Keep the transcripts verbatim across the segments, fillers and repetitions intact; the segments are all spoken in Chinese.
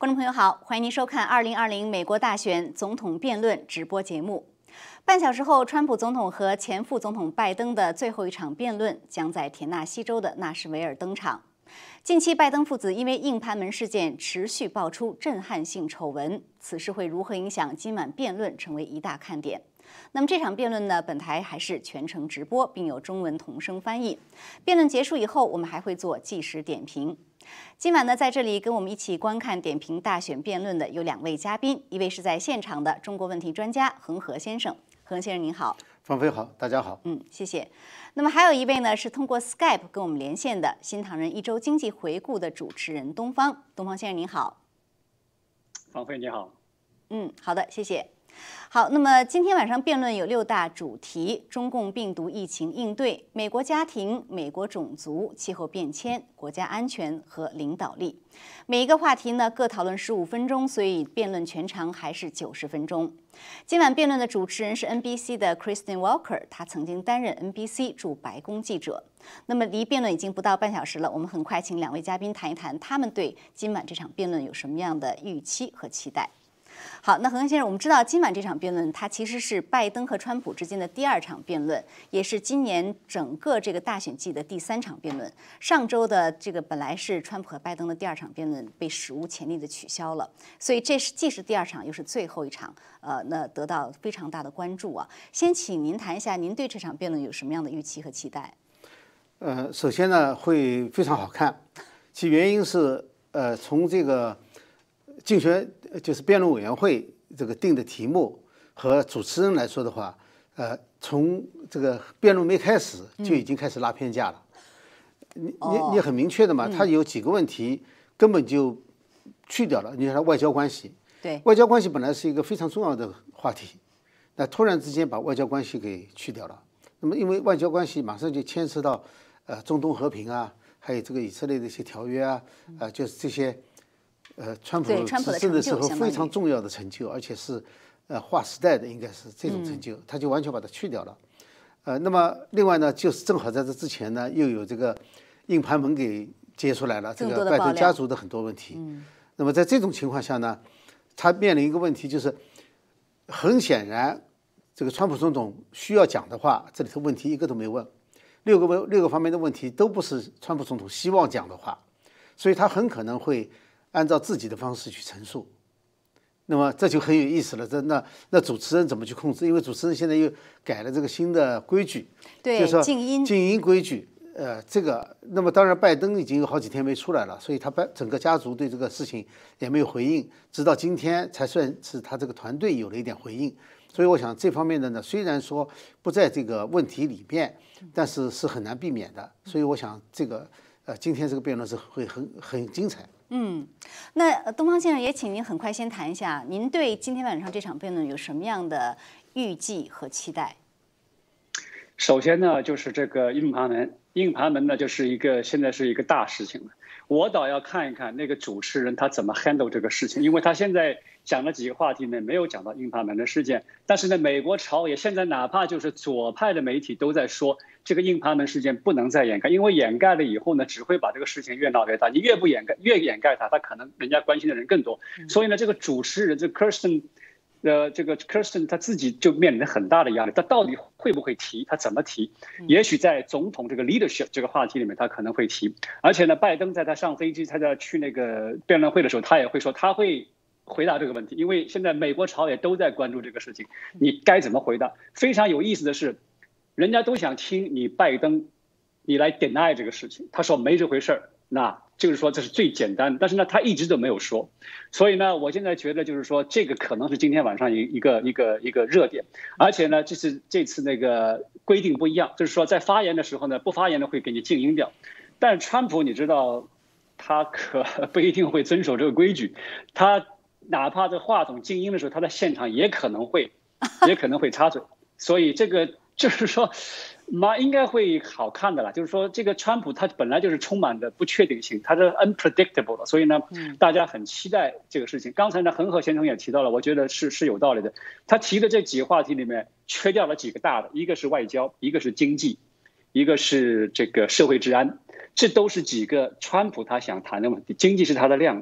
观众朋友好，欢迎您收看二零二零美国大选总统辩论直播节目。半小时后，川普总统和前副总统拜登的最后一场辩论将在田纳西州的纳什维尔登场。近期，拜登父子因为硬盘门事件持续爆出震撼性丑闻，此事会如何影响今晚辩论，成为一大看点。那么这场辩论呢，本台还是全程直播，并有中文同声翻译。辩论结束以后，我们还会做即时点评。今晚呢，在这里跟我们一起观看点评大选辩论的有两位嘉宾，一位是在现场的中国问题专家恒河先生，恒河先生您好。 方飞好，大家好。 嗯，谢谢。那么还有一位呢，是通过 Skype 跟我们连线的新唐人一周经济回顾的主持人东方，东方先生您好。 方飞你好。 嗯，好的，谢谢。好，那么今天晚上辩论有六大主题：中共病毒疫情应对、美国家庭、美国种族、气候变迁、国家安全和领导力。每一个话题呢各讨论十五分钟，所以辩论全长还是九十分钟。今晚辩论的主持人是 N B C 的 Kristen Welker， 他曾经担任 N B C 驻白宫记者。那么离辩论已经不到半小时了，我们很快请两位嘉宾谈一谈他们对今晚这场辩论有什么样的预期和期待。好，那恒河先生，我们知道今晚这场辩论，它其实是拜登和川普之间的第二场辩论，也是今年整个这个大选季的第三场辩论。上周的这个本来是川普和拜登的第二场辩论，被史无前例的取消了，所以这是既是第二场，又是最后一场，呃，那得到非常大的关注啊。先请您谈一下，您对这场辩论有什么样的预期和期待？ 呃，首先呢，会非常好看，其原因是，呃，从这个竞选就是辩论委员会这个定的题目和主持人来说的话，呃，从这个辩论没开始就已经开始拉偏架了。嗯、你你你很明确的嘛， 嗯、 他有几个问题根本就去掉了。你看外交关系， 对， 外交关系本来是一个非常重要的话题，那突然之间把外交关系给去掉了。那么因为外交关系马上就牵涉到呃中东和平啊，还有这个以色列的一些条约啊，呃，就是这些。呃，川普执政的时候非常重要的成就，而且是呃划时代的，应该是这种成就，他就完全把它去掉了。呃，那么另外呢，就是正好在这之前呢，又有这个硬盘门给揭出来了，这个拜登家族的很多问题。嗯、那么在这种情况下呢，他面临一个问题，就是很显然，这个川普总统需要讲的话，这里头问题一个都没问，六个问六个方面的问题都不是川普总统希望讲的话，所以他很可能会按照自己的方式去陈述，那么这就很有意思了。这那那主持人怎么去控制？因为主持人现在又改了这个新的规矩， 对， 就是说静音静音规矩。呃，这个那么当然，拜登已经有好几天没出来了，所以他拜整个家族对这个事情也没有回应，直到今天才算是他这个团队有了一点回应。所以我想这方面的呢，虽然说不在这个问题里面，但是是很难避免的。所以我想这个呃，今天这个辩论是会很很精彩。 嗯，那东方先生也请您很快先谈一下，您对今天晚上这场辩论有什么样的预计和期待？ 首先呢，就是这个硬盘门，硬盘门呢就是一个现在是一个大事情了。我倒要看一看那个主持人他怎么 handle 这个事情，因为他现在讲了几个话题呢，没有讲到硬盘门的事件。但是呢，美国朝野现在哪怕就是左派的媒体都在说，这个硬盘门事件不能再掩盖，因为掩盖了以后呢，只会把这个事情越闹越大。你越不掩盖，越掩盖它，它可能人家关心的人更多。所以呢，这个主持人这 Kirsten。呃，这个 Kirsten 他自己就面临很大的压力，他到底会不会提？他怎么提？也许在总统这个 leadership 这个话题里面，他可能会提。而且呢，拜登在他上飞机，他在去那个辩论会的时候，他也会说他会回答这个问题，因为现在美国朝野都在关注这个事情，你该怎么回答？非常有意思的是，人家都想听你拜登，你来 deny 这个事情。他说没这回事儿，那就是说这是最简单的，但是呢，他一直都没有说。所以呢，我现在觉得就是说，这个可能是今天晚上一一个一个一个热点，而且呢，这是这次那个规定不一样，就是说在发言的时候呢，不发言的会给你静音掉。但是川普你知道，他可不一定会遵守这个规矩，他哪怕这话筒静音的时候，他在现场也可能会也可能会插嘴，所以这个就是说。嘛，应该会好看的啦。就是说，这个川普他本来就是充满的不确定性，他是 unpredictable 的，所以呢，大家很期待这个事情。刚才呢，恒河先生也提到了，我觉得是是有道理的。他提的这几个话题里面，缺掉了几个大的，一个是外交，一个是经济，一个是这个社会治安，这都是几个川普他想谈的问题。经济是他的亮点，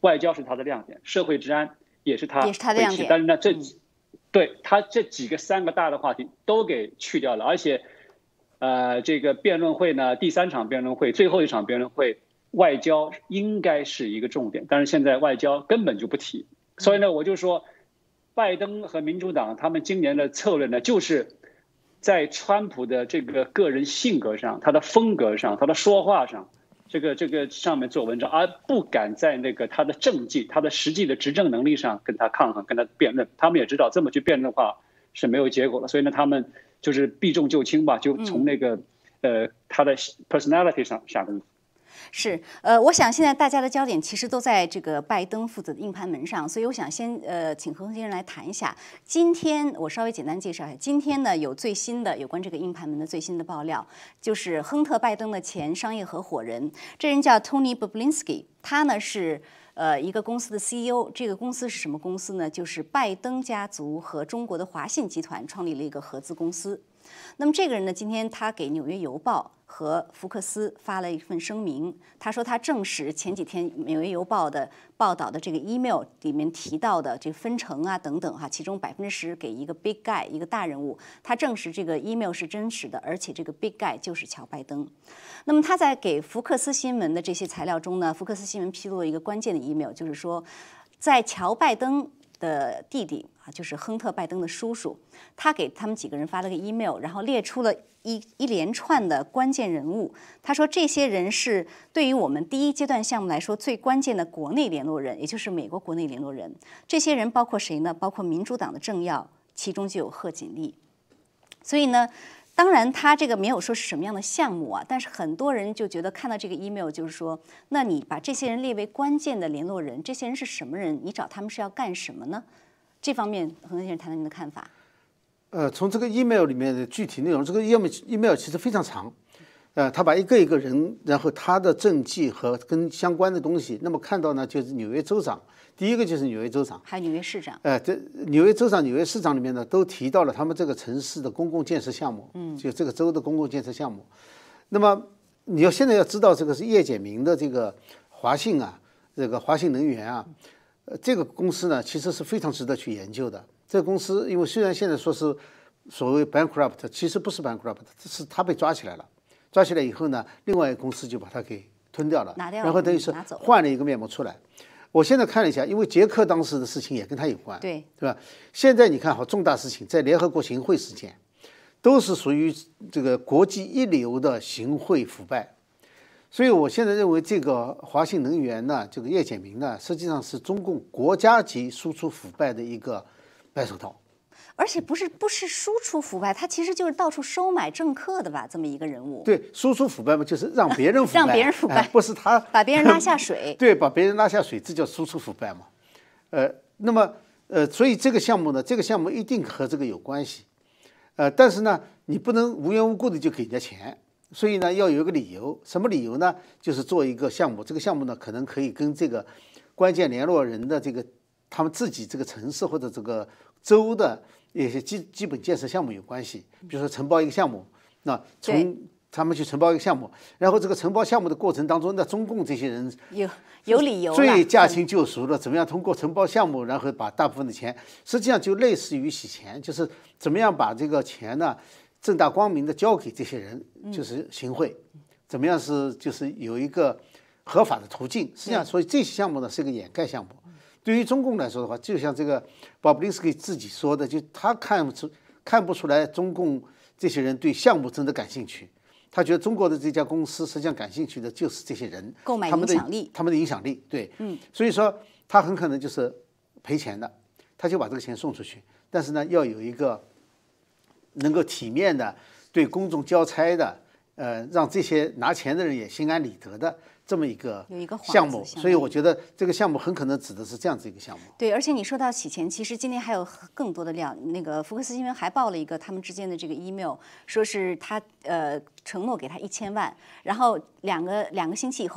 外交是他的亮点，社会治安也是他也是他的亮点。 但是呢，这、 嗯、 对他这几个三个大的话题都给去掉了，而且，呃，这个辩论会呢，第三场辩论会，最后一场辩论会，外交应该是一个重点，但是现在外交根本就不提。所以呢，我就说，拜登和民主党他们今年的策略呢，就是在川普的这个个人性格上、他的风格上、他的说话上。这个这个上面做文章，而不敢在那个他的政绩、他的实际的执政能力上跟他抗衡、跟他辩论。他们也知道这么去辩论的话是没有结果的，所以呢，他们就是避重就轻吧，就从那个、嗯、呃他的 personality 上下功夫。 是，呃，我想现在大家的焦点其实都在这个拜登负责的硬盘门上，所以我想先呃请何先生来谈一下。今天我稍微简单介绍一下，今天呢有最新的有关这个硬盘门的最新的爆料，就是亨特·拜登的前商业合伙人，这人叫 Tony Bobulinski， 他呢是呃一个公司的 C E O， 这个公司是什么公司呢？就是拜登家族和中国的华信集团创立了一个合资公司。那么这个人呢，今天他给《纽约邮报》和福克斯发了一份声明，他说他证实前几天《纽约邮报》的报道的这个 email 里面提到的这分成啊等等哈，其中百分之十给一个 big guy 一个大人物，他证实这个 email 是真实的，而且这个 big guy 就是乔拜登。那么他在给福克斯新闻的这些材料中呢，福克斯新闻披露了一个关键的 email， 就是说在乔拜登的弟弟啊，就是亨特·拜登的叔叔，他给他们几个人发了个 email， 然后列出了一一连串的关键人物。他说，这些人是对于我们第一阶段项目来说最关键的国内联络人，也就是美国国内联络人。这些人包括谁呢？包括民主党的政要，其中就有贺锦丽。所以呢，当然他这个没有说是什么样的项目啊，但是很多人就觉得看到这个 email 就是说，那你把这些人列为关键的联络人，这些人是什么人？你找他们是要干什么呢？这方面，何先生谈谈您的看法。 呃，从这个 email 里面的具体内容，这个 email email 其实非常长，呃，他把一个一个人，然后他的政绩和跟相关的东西，那么看到呢，就是纽约州长，第一个就是纽约州长， 还有纽约市长， 呃，这纽约州长、纽约市长里面呢，都提到了他们这个城市的公共建设项目，嗯，就这个州的公共建设项目。那么你要现在要知道，这个是叶简明的这个华信啊，这个华信能源啊。呃，这个公司呢，其实是非常值得去研究的。这个公司，因为虽然现在说是所谓 bankrupt， 其实不是 bankrupt， 是他被抓起来了。抓起来以后呢，另外一个公司就把它给吞掉了， 拿掉了， 然后等于是换了一个面目出来。我现在看了一下，因为捷克当时的事情也跟他有关， 对对吧？现在你看好重大事情，在联合国行贿事件，都是属于这个国际一流的行贿腐败。所以我现在认为，这个华信能源呢，这个叶简明呢，实际上是中共国家级输出腐败的一个白手套， 而且不是不是输出腐败，他其实就是到处收买政客的吧，这么一个人物。 对，输出腐败嘛，就是让别人腐败， 让别人腐败， 哎、不是他把别人拉下水。 对，把别人拉下水，这叫输出腐败嘛。呃，那么呃，所以这个项目呢，这个项目一定和这个有关系，呃，但是呢，你不能无缘无故的就给人家钱。所以呢，要有一个理由，什么理由呢？就是做一个项目，这个项目呢，可能可以跟这个关键联络人的这个他们自己这个城市或者这个州的一些基基本建设项目有关系。比如说承包一个项目，那从他们去承包一个项目，然后这个承包项目的过程当中，那中共这些人有有理由， 最驾轻就熟了，怎么样通过承包项目，然后把大部分的钱，实际上就类似于洗钱，就是怎么样把这个钱呢？正大光明的交给这些人，就是行贿，怎么样是就是有一个合法的途径。实际上，所以这些项目呢是一个掩盖项目。对于中共来说的话，就像这个鲍布林斯基自己说的，就他看不出看不出来中共这些人对项目真的感兴趣。他觉得中国的这家公司实际上感兴趣的就是这些人， 购买影响力， 他们的影响力，对， 嗯， 所以说他很可能就是赔钱的，他就把这个钱送出去，但是呢，要有一个能够体面的对公众交差的，呃，让这些拿钱的人也心安理得的这么一个项目，所以我觉得这个项目很可能指的是这样子一个项目。 对，而且你说到洗钱，其实今天还有更多的料。那个福克斯新闻还报了一个他们之间的这个 email， 说是他呃承诺给他一千万，然后两个两个星期以后。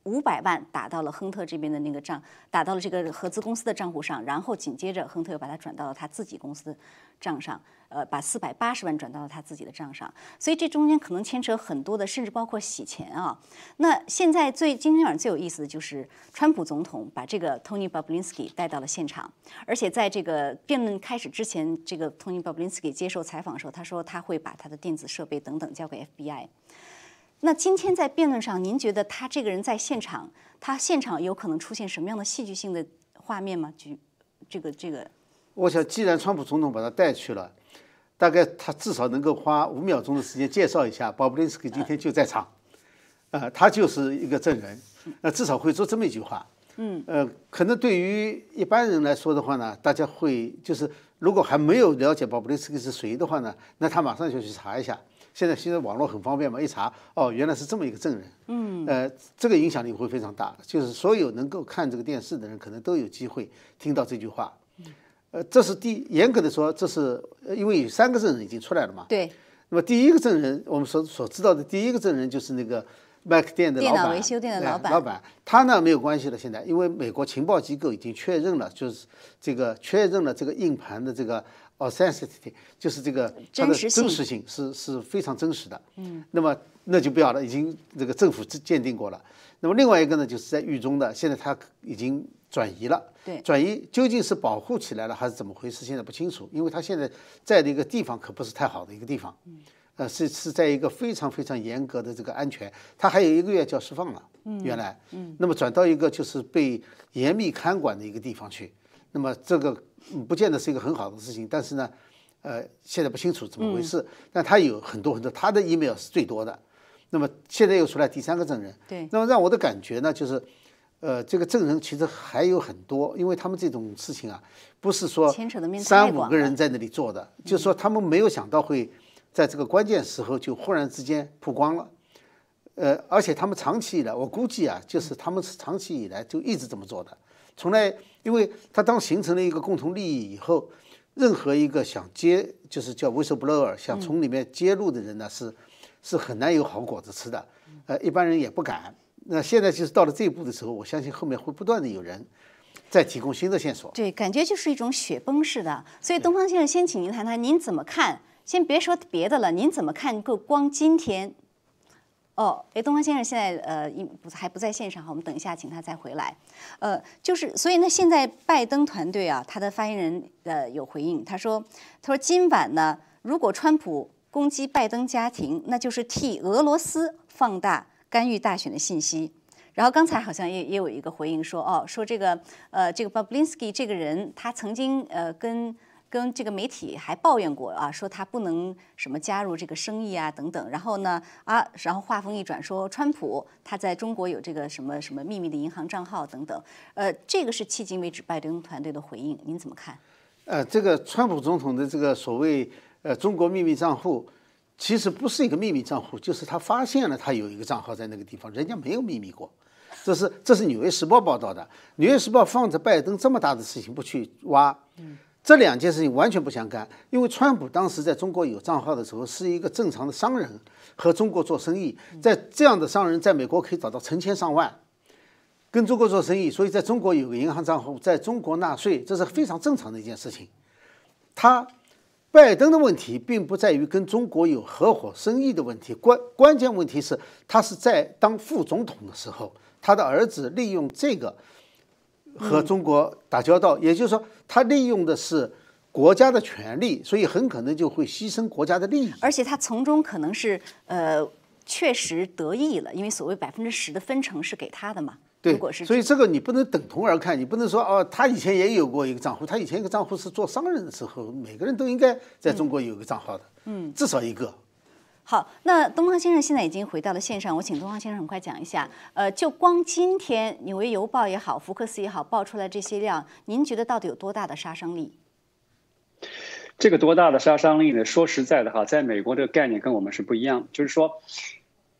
五百万打到了亨特这边的那个账，打到了这个合资公司的账户上，然后紧接着亨特又把它转到了他自己公司的账上，呃，把四百八十万转到了他自己的账上，所以这中间可能牵扯很多的，甚至包括洗钱啊。那现在最今天晚上最有意思的就是川普总统把这个 Tony Bobulinski 带到了现场，而且在这个辩论开始之前，这个 Tony Bobulinski 接受采访的时候，他说他会把他的电子设备等等交给 F B I。那今天在辩论上，您觉得他这个人在现场，他现场有可能出现什么样的戏剧性的画面吗？举这个这个， 我想，既然川普总统把他带去了，大概他至少能够花五秒钟的时间介绍一下，鲍布林斯基今天就在场，呃，他就是一个证人，那至少会说这么一句话。嗯，呃，可能对于一般人来说的话呢，大家会就是如果还没有了解鲍布林斯基是谁的话呢，那他马上就去查一下。现在现在网络很方便嘛，一查哦，原来是这么一个证人，嗯，呃，这个影响力会非常大，就是所有能够看这个电视的人，可能都有机会听到这句话，呃，这是第严格的说，这是因为有三个证人已经出来了嘛， 对。 那么第一个证人，我们所所知道的第一个证人就是那个 Mac 店的老板， 电脑维修店的老板， 老板他呢没有关系了，现在因为美国情报机构已经确认了，就是这个确认了这个硬盘的这个。authenticity 就是这个它的真实性是是非常真实的，嗯，那么那就不要了，已经这个政府鉴定过了。那么另外一个呢，就是在狱中的，现在他已经转移了， 对， 转移究竟是保护起来了还是怎么回事，现在不清楚，因为他现在在的一个地方可不是太好的一个地方，嗯，呃，是是在一个非常非常严格的这个安全，他还有一个月就要释放了，嗯，原来，嗯，那么转到一个就是被严密看管的一个地方去，那么这个。嗯，不见得是一个很好的事情，但是呢，呃，现在不清楚怎么回事。嗯、但他有很多很多，他的 email 是最多的。那么现在又出来第三个证人， 对。 那么让我的感觉呢，就是，呃，这个证人其实还有很多，因为他们这种事情啊，不是说三五个人在那里做的，就是说他们没有想到会在这个关键时候就忽然之间曝光了。呃，而且他们长期以来，我估计啊，就是他们是长期以来就一直这么做的。从来，因为他当形成了一个共同利益以后，任何一个想揭，就是叫 whistleblower， 想从里面揭露的人呢，是是很难有好果子吃的。呃，一般人也不敢。那现在就是到了这一步的时候，我相信后面会不断的有人再提供新的线索。 对，感觉就是一种雪崩式的。所以东方先生，先请您谈谈，您怎么看？先别说别的了，您怎么看？够光今天。哦，哎，东方先生现在呃不还不在线上哈，我们等一下请他再回来。呃，就是所以呢，现在拜登团队啊，他的发言人呃有回应，他说他说今晚呢，如果川普攻击拜登家庭，那就是替俄罗斯放大干预大选的信息。然后刚才好像也也有一个回应说，哦，说这个呃这个 Bobulinski 这个人，他曾经呃跟。跟这个媒体还抱怨过啊，说他不能什么加入这个生意啊等等。然后呢啊，然后话锋一转说，川普他在中国有这个什么什么秘密的银行账号等等。呃，这个是迄今为止拜登团队的回应，您怎么看？ 呃，这个川普总统的这个所谓呃中国秘密账户，其实不是一个秘密账户，就是他发现了他有一个账号在那个地方，人家没有秘密过。这是这是《纽约时报》报道的，《纽约时报》放着拜登这么大的事情不去挖。嗯。这两件事情完全不相干，因为川普当时在中国有账号的时候，是一个正常的商人，和中国做生意，在这样的商人在美国可以找到成千上万，跟中国做生意，所以在中国有个银行账户，在中国纳税，这是非常正常的一件事情。他拜登的问题并不在于跟中国有合伙生意的问题，关关键问题是他是在当副总统的时候，他的儿子利用这个。和中国打交道，也就是说，他利用的是国家的权利，所以很可能就会牺牲国家的利益。 而且他从中可能是呃确实得益了，因为所谓百分之十的分成是给他的嘛。 对， 如果是所以这个你不能等同而看，你不能说哦，他以前也有过一个账户，他以前一个账户是做商人的时候，每个人都应该在中国有一个账号的，嗯，至少一个。 好，那东方先生现在已经回到了线上，我请东方先生很快讲一下。呃，就光今天《纽约邮报》也好，福克斯也好爆出来这些量，您觉得到底有多大的杀伤力？ 这个多大的杀伤力呢？说实在的哈，在美国这个概念跟我们是不一样，就是说，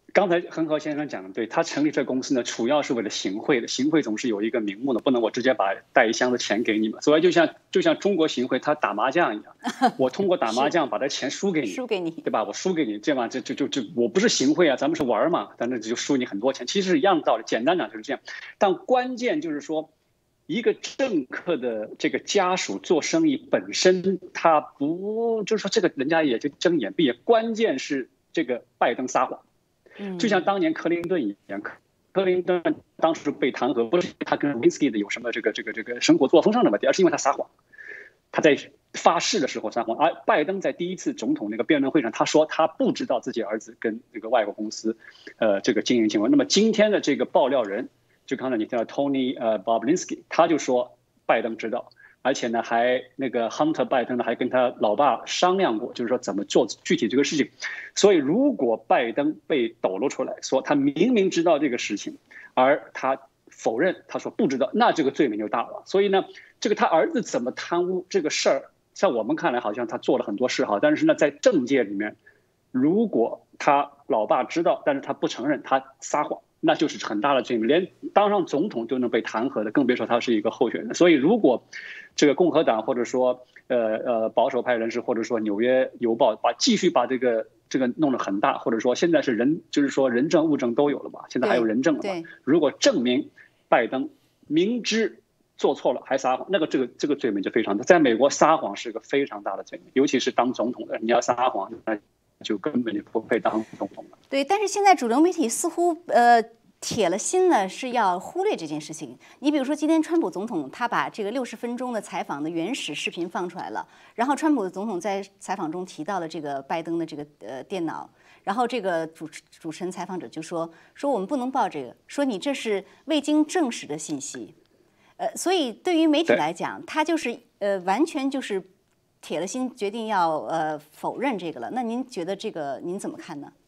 刚才恒河先生讲的对，他成立这公司呢，主要是为了行贿的。行贿总是有一个名目的，不能我直接把带一箱子钱给你嘛。所以就像就像中国行贿，他打麻将一样，我通过打麻将把这钱输给你， 输给你， 对吧？我输给你，这嘛这就就就我不是行贿啊，咱们是玩嘛，但是就输你很多钱，其实是一样的道理。简单讲就是这样，但关键就是说，一个政客的这个家属做生意本身，他不就是说这个人家也就睁眼闭眼，关键是这个拜登撒谎。就像当年克林顿一样，克林顿当时被弹劾，不是他跟 Lewinsky 的有什么这个这个这个生活作风上的问题，而是因为他撒谎。他在发誓的时候撒谎，而拜登在第一次总统那个辩论会上，他说他不知道自己儿子跟这个外国公司，呃，这个经营情况。那么今天的这个爆料人，就刚才你提到 Tony 呃 Bobulinski， 他就说拜登知道。而且呢，还那个 Hunter 拜登呢，还跟他老爸商量过，就是说怎么做具体这个事情。所以，如果拜登被抖露出来说他明明知道这个事情，而他否认，他说不知道，那这个罪名就大了。所以呢，这个他儿子怎么贪污这个事儿，在我们看来好像他做了很多事哈，但是呢，在政界里面，如果他老爸知道，但是他不承认，他撒谎，那就是很大的罪名，连当上总统都能被弹劾的，更别说他是一个候选人。所以，如果这个共和党或者说呃呃保守派人士，或者说纽约邮报把继续把这个这个弄得很大，或者说现在是人就是说人证物证都有了吧，现在还有人证了嘛？如果证明拜登明知做错了还撒谎，那个这个这个罪名就非常大。在美国撒谎是个非常大的罪名，尤其是当总统的，你要撒谎，那就根本就不配当总统了。 对，但是现在主流媒体似乎呃。铁了心呢是要忽略这件事情。你比如说，今天川普总统他把这个六十分钟的采访的原始视频放出来了，然后川普总统在采访中提到了这个拜登的这个呃电脑，然后这个主持主持人采访者就说说我们不能报这个，说你这是未经证实的信息，呃，所以对于媒体来讲，他就是呃完全就是铁了心决定要呃否认这个了。那您觉得这个您怎么看呢？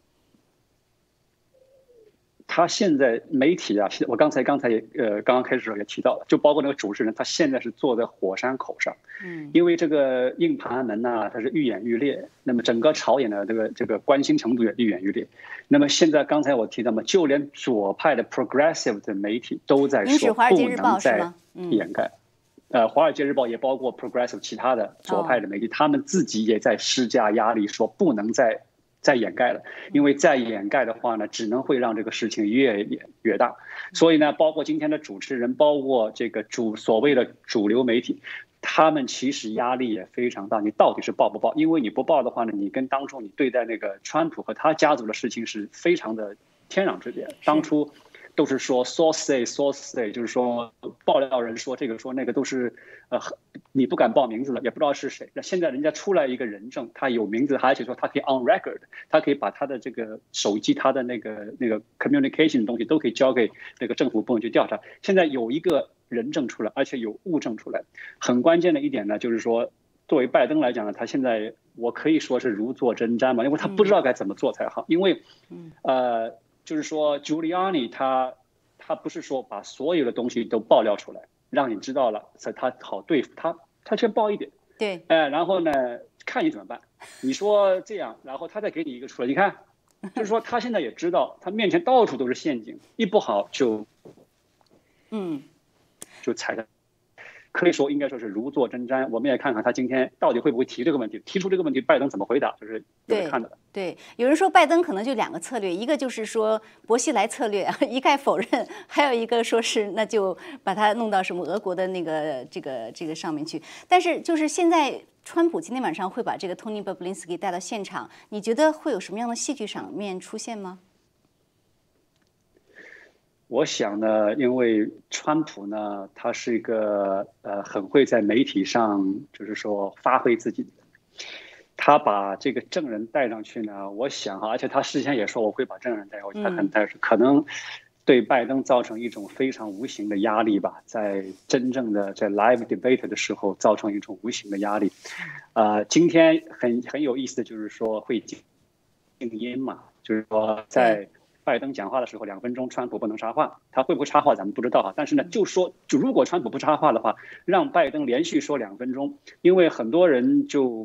他现在媒体啊，我刚才刚才呃刚刚开始的时候也提到了，就包括那个主持人，他现在是坐在火山口上，嗯，因为这个硬盘门呐、啊，它是愈演愈烈，那么整个朝野的这个这个关心程度也愈演愈烈。那么现在刚才我提到嘛，就连左派的 progressive 的媒体都在说不能再掩盖。呃，《华尔街日报》也包括 progressive 其他的左派的媒体，他们自己也在施加压力，说不能再。再掩盖了，因为再掩盖的话呢，只能会让这个事情越演越大。所以呢，包括今天的主持人，包括这个主所谓的主流媒体，他们其实压力也非常大。你到底是报不报？因为你不报的话呢，你跟当初你对待那个川普和他家族的事情是非常的天壤之别。当初都是说 source say source say， 就是说爆料人说这个说那个都是呃你不敢报名字了，也不知道是谁。那现在人家出来一个人证，他有名字，而且说他可以 on record， 他可以把他的这个手机、他的那个那个 communication 的东西都可以交给那个政府部门去调查。现在有一个人证出来，而且有物证出来。很关键的一点呢，就是说作为拜登来讲呢，他现在我可以说是如坐针毡嘛，因为他不知道该怎么做才好，因为呃。就是说 ，Giuliani 他他不是说把所有的东西都爆料出来，让你知道了，所以他好对付他，他先爆一点， 对， 哎，然后呢，看你怎么办。你说这样，然后他再给你一个出来，你看，就是说他现在也知道，他面前到处都是陷阱，一不好就， 嗯， 就踩着。可以说应该说是如坐针毡。我们也看看他今天到底会不会提这个问题，提出这个问题，拜登怎么回答，就是有得看的。 对，有人说拜登可能就两个策略，一个就是说薄熙来策略，一概否认；还有一个说是那就把他弄到什么俄国的那个这个这个上面去。但是就是现在，川普今天晚上会把这个 Tony Bobulinski 带到现场，你觉得会有什么样的戏剧场面出现吗？ 我想呢，因为川普呢，他是一个呃很会在媒体上就是说发挥自己的，他把这个证人带上去呢，我想啊，而且他事先也说我会把证人带过去，他可能带可能对拜登造成一种非常无形的压力吧，在真正的在 live debate 的时候造成一种无形的压力。呃，今天很很有意思的就是说会静音嘛，就是说在。拜登讲话的时候，两分钟，川普不能插话，他会不会插话咱们不知道哈。但是呢，就说就如果川普不插话的话，让拜登连续说两分钟，因为很多人就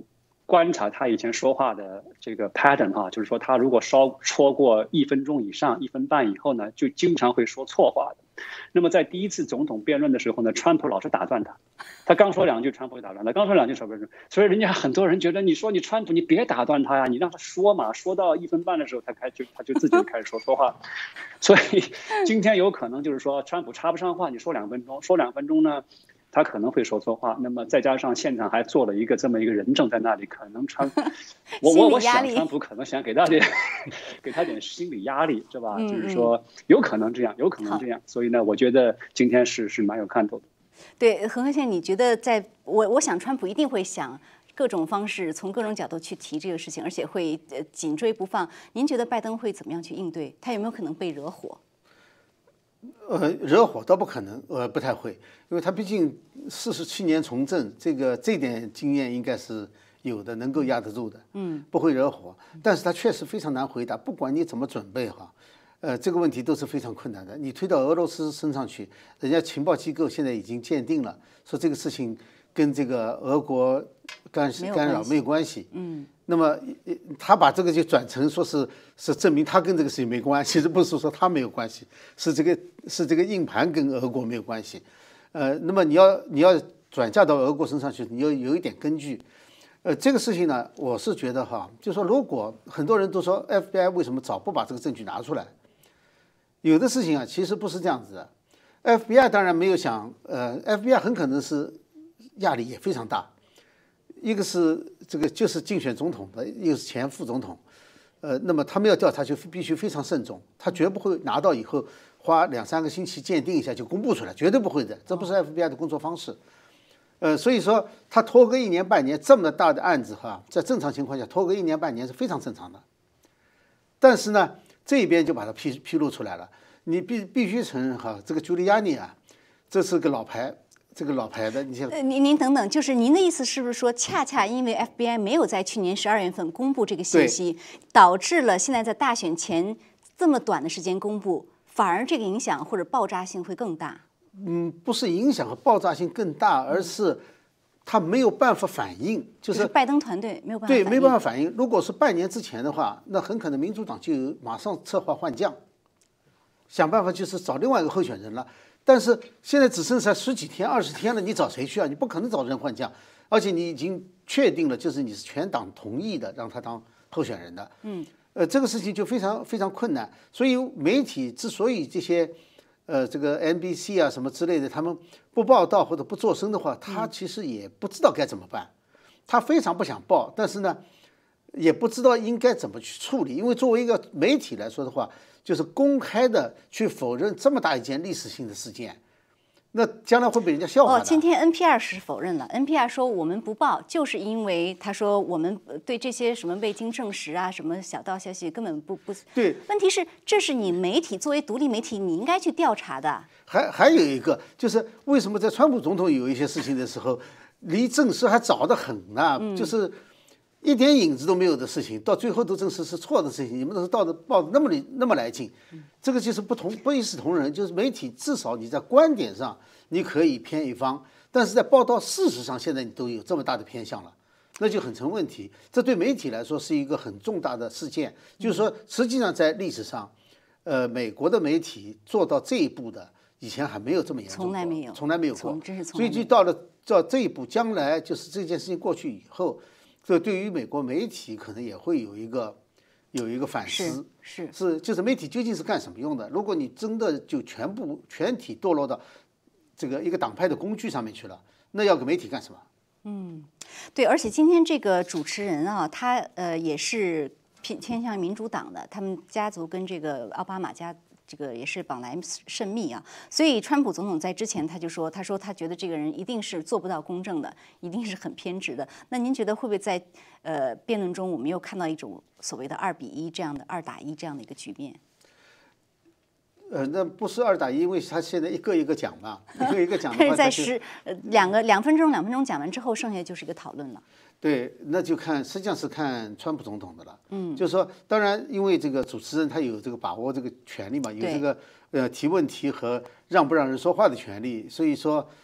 观察他以前说话的这个 pattern 哈，就是说他如果稍超过一分钟以上，一分半以后呢，就经常会说错话的。那么在第一次总统辩论的时候呢，川普老是打断他，他刚说两句，川普会打断他，刚说两句，川普，所以人家很多人觉得，你说你川普，你别打断他呀，你让他说嘛，说到一分半的时候，他开就他就自己开始说错话。所以今天有可能就是说，川普插不上话，你说两分钟，说两分钟呢，他可能会说错话。那么再加上现场还坐了一个这么一个人证在那里，可能川，我我我想川普可能想给他点给他点心理压力，是吧？ 嗯嗯就是说有可能这样，有可能这样。所以呢，我觉得今天是是蛮有看头的。 对，何和先生，你觉得在我我想川普一定会想各种方式，从各种角度去提这个事情，而且会呃紧追不放。您觉得拜登会怎么样去应对？他有没有可能被惹火？ 呃，惹火倒不可能，呃，不太会，因为他毕竟四十七年从政，这个这点经验应该是有的，能够压得住的，嗯，不会惹火。但是他确实非常难回答，不管你怎么准备哈，呃，这个问题都是非常困难的。你推到俄罗斯身上去，人家情报机构现在已经鉴定了，说这个事情跟这个俄国干干扰没有关系，嗯。那么他把这个就转成说是是证明他跟这个事情没关系，其实不是说他没有关系，是这个是这个硬盘跟俄国没有关系。呃，那么你要你要转嫁到俄国身上去，你要有一点根据。呃，这个事情呢，我是觉得哈，就说如果很多人都说 F B I 为什么早不把这个证据拿出来，有的事情啊其实不是这样子的。F B I 当然没有想，呃 ，F B I 很可能是压力也非常大。一个是这个就是竞选总统的，一个是前副总统，呃，那么他们要调查就必须非常慎重，他绝不会拿到以后花两三个星期鉴定一下就公布出来，绝对不会的，这不是 F B I 的工作方式。呃，所以说他拖个一年半年这么大的案子哈，在正常情况下拖个一年半年是非常正常的。但是呢，这边就把它披披露出来了，你必必须承认哈，这个 Giuliani 啊，这是个老牌。这个老牌的，你像呃，您您等等，就是您的意思是不是说，恰恰因为 F B I 没有在去年十二月份公布这个信息，导致了现在在大选前这么短的时间公布，反而这个影响或者爆炸性会更大？ 嗯，不是影响和爆炸性更大，而是他没有办法反应，就就是拜登团队没有办法对，没办法反应。如果是半年之前的话，那很可能民主党就马上策划换将，想办法就是找另外一个候选人了。但是现在只剩下十几天、二十天了，你找谁去啊？你不可能找人换将，而且你已经确定了，就是你是全党同意的，让他当候选人的。嗯，呃，这个事情就非常非常困难。所以媒体之所以这些，呃，这个 N B C 啊什么之类的，他们不报道或者不做声的话，他其实也不知道该怎么办。他非常不想报，但是呢，也不知道应该怎么去处理。因为作为一个媒体来说的话，就是公开的去否认这么大一件历史性的事件，那将来会被人家笑话的。 哦，今天 N P R 是否认了 ，N P R 说我们不报，就是因为他说我们对这些什么未经证实啊，什么小道消息根本不不。 对， 问题是这是你媒体作为独立媒体，你应该去调查的。 还还有一个就是为什么在川普总统有一些事情的时候，离证实还早得很呢？嗯、就是一点影子都没有的事情，到最后都证实是错的事情，你们都是到的报的那么那么来劲，这个就是不同不一视同仁。就是媒体至少你在观点上你可以偏一方，但是在报道事实上，现在你都有这么大的偏向了，那就很成问题。这对媒体来说是一个很重大的事件，就是说实际上在历史上，呃，美国的媒体做到这一步的，以前还没有这么严重过， 从来没有， 从来没有过， 真是从所以就到了到这一步，将来就是这件事情过去以后。这对于美国媒体可能也会有一个有一个反思， 是是就是媒体究竟是干什么用的？如果你真的就全部全体堕落到这个一个党派的工具上面去了，那要给媒体干什么？ 嗯，对，而且今天这个主持人啊，他呃也是偏偏向民主党的，他们家族跟这个奥巴马家。这个也是绑来甚密啊，所以川普总统在之前他就说，他说他觉得这个人一定是做不到公正的，一定是很偏执的。那您觉得会不会在呃辩论中，我们又看到一种所谓的二比一这样的二打一这样的一个局面？ 呃，那不是二打一，因为他现在一个一个讲嘛，一个一个讲的话， 但是在十呃两个两分钟两分钟讲完之后，剩下就是一个讨论了。 对，那就看实际上是看川普总统的了。嗯，就是说，当然，因为这个主持人他有这个把握这个权利嘛，有这个呃提问题和让不让人说话的权利，所以说，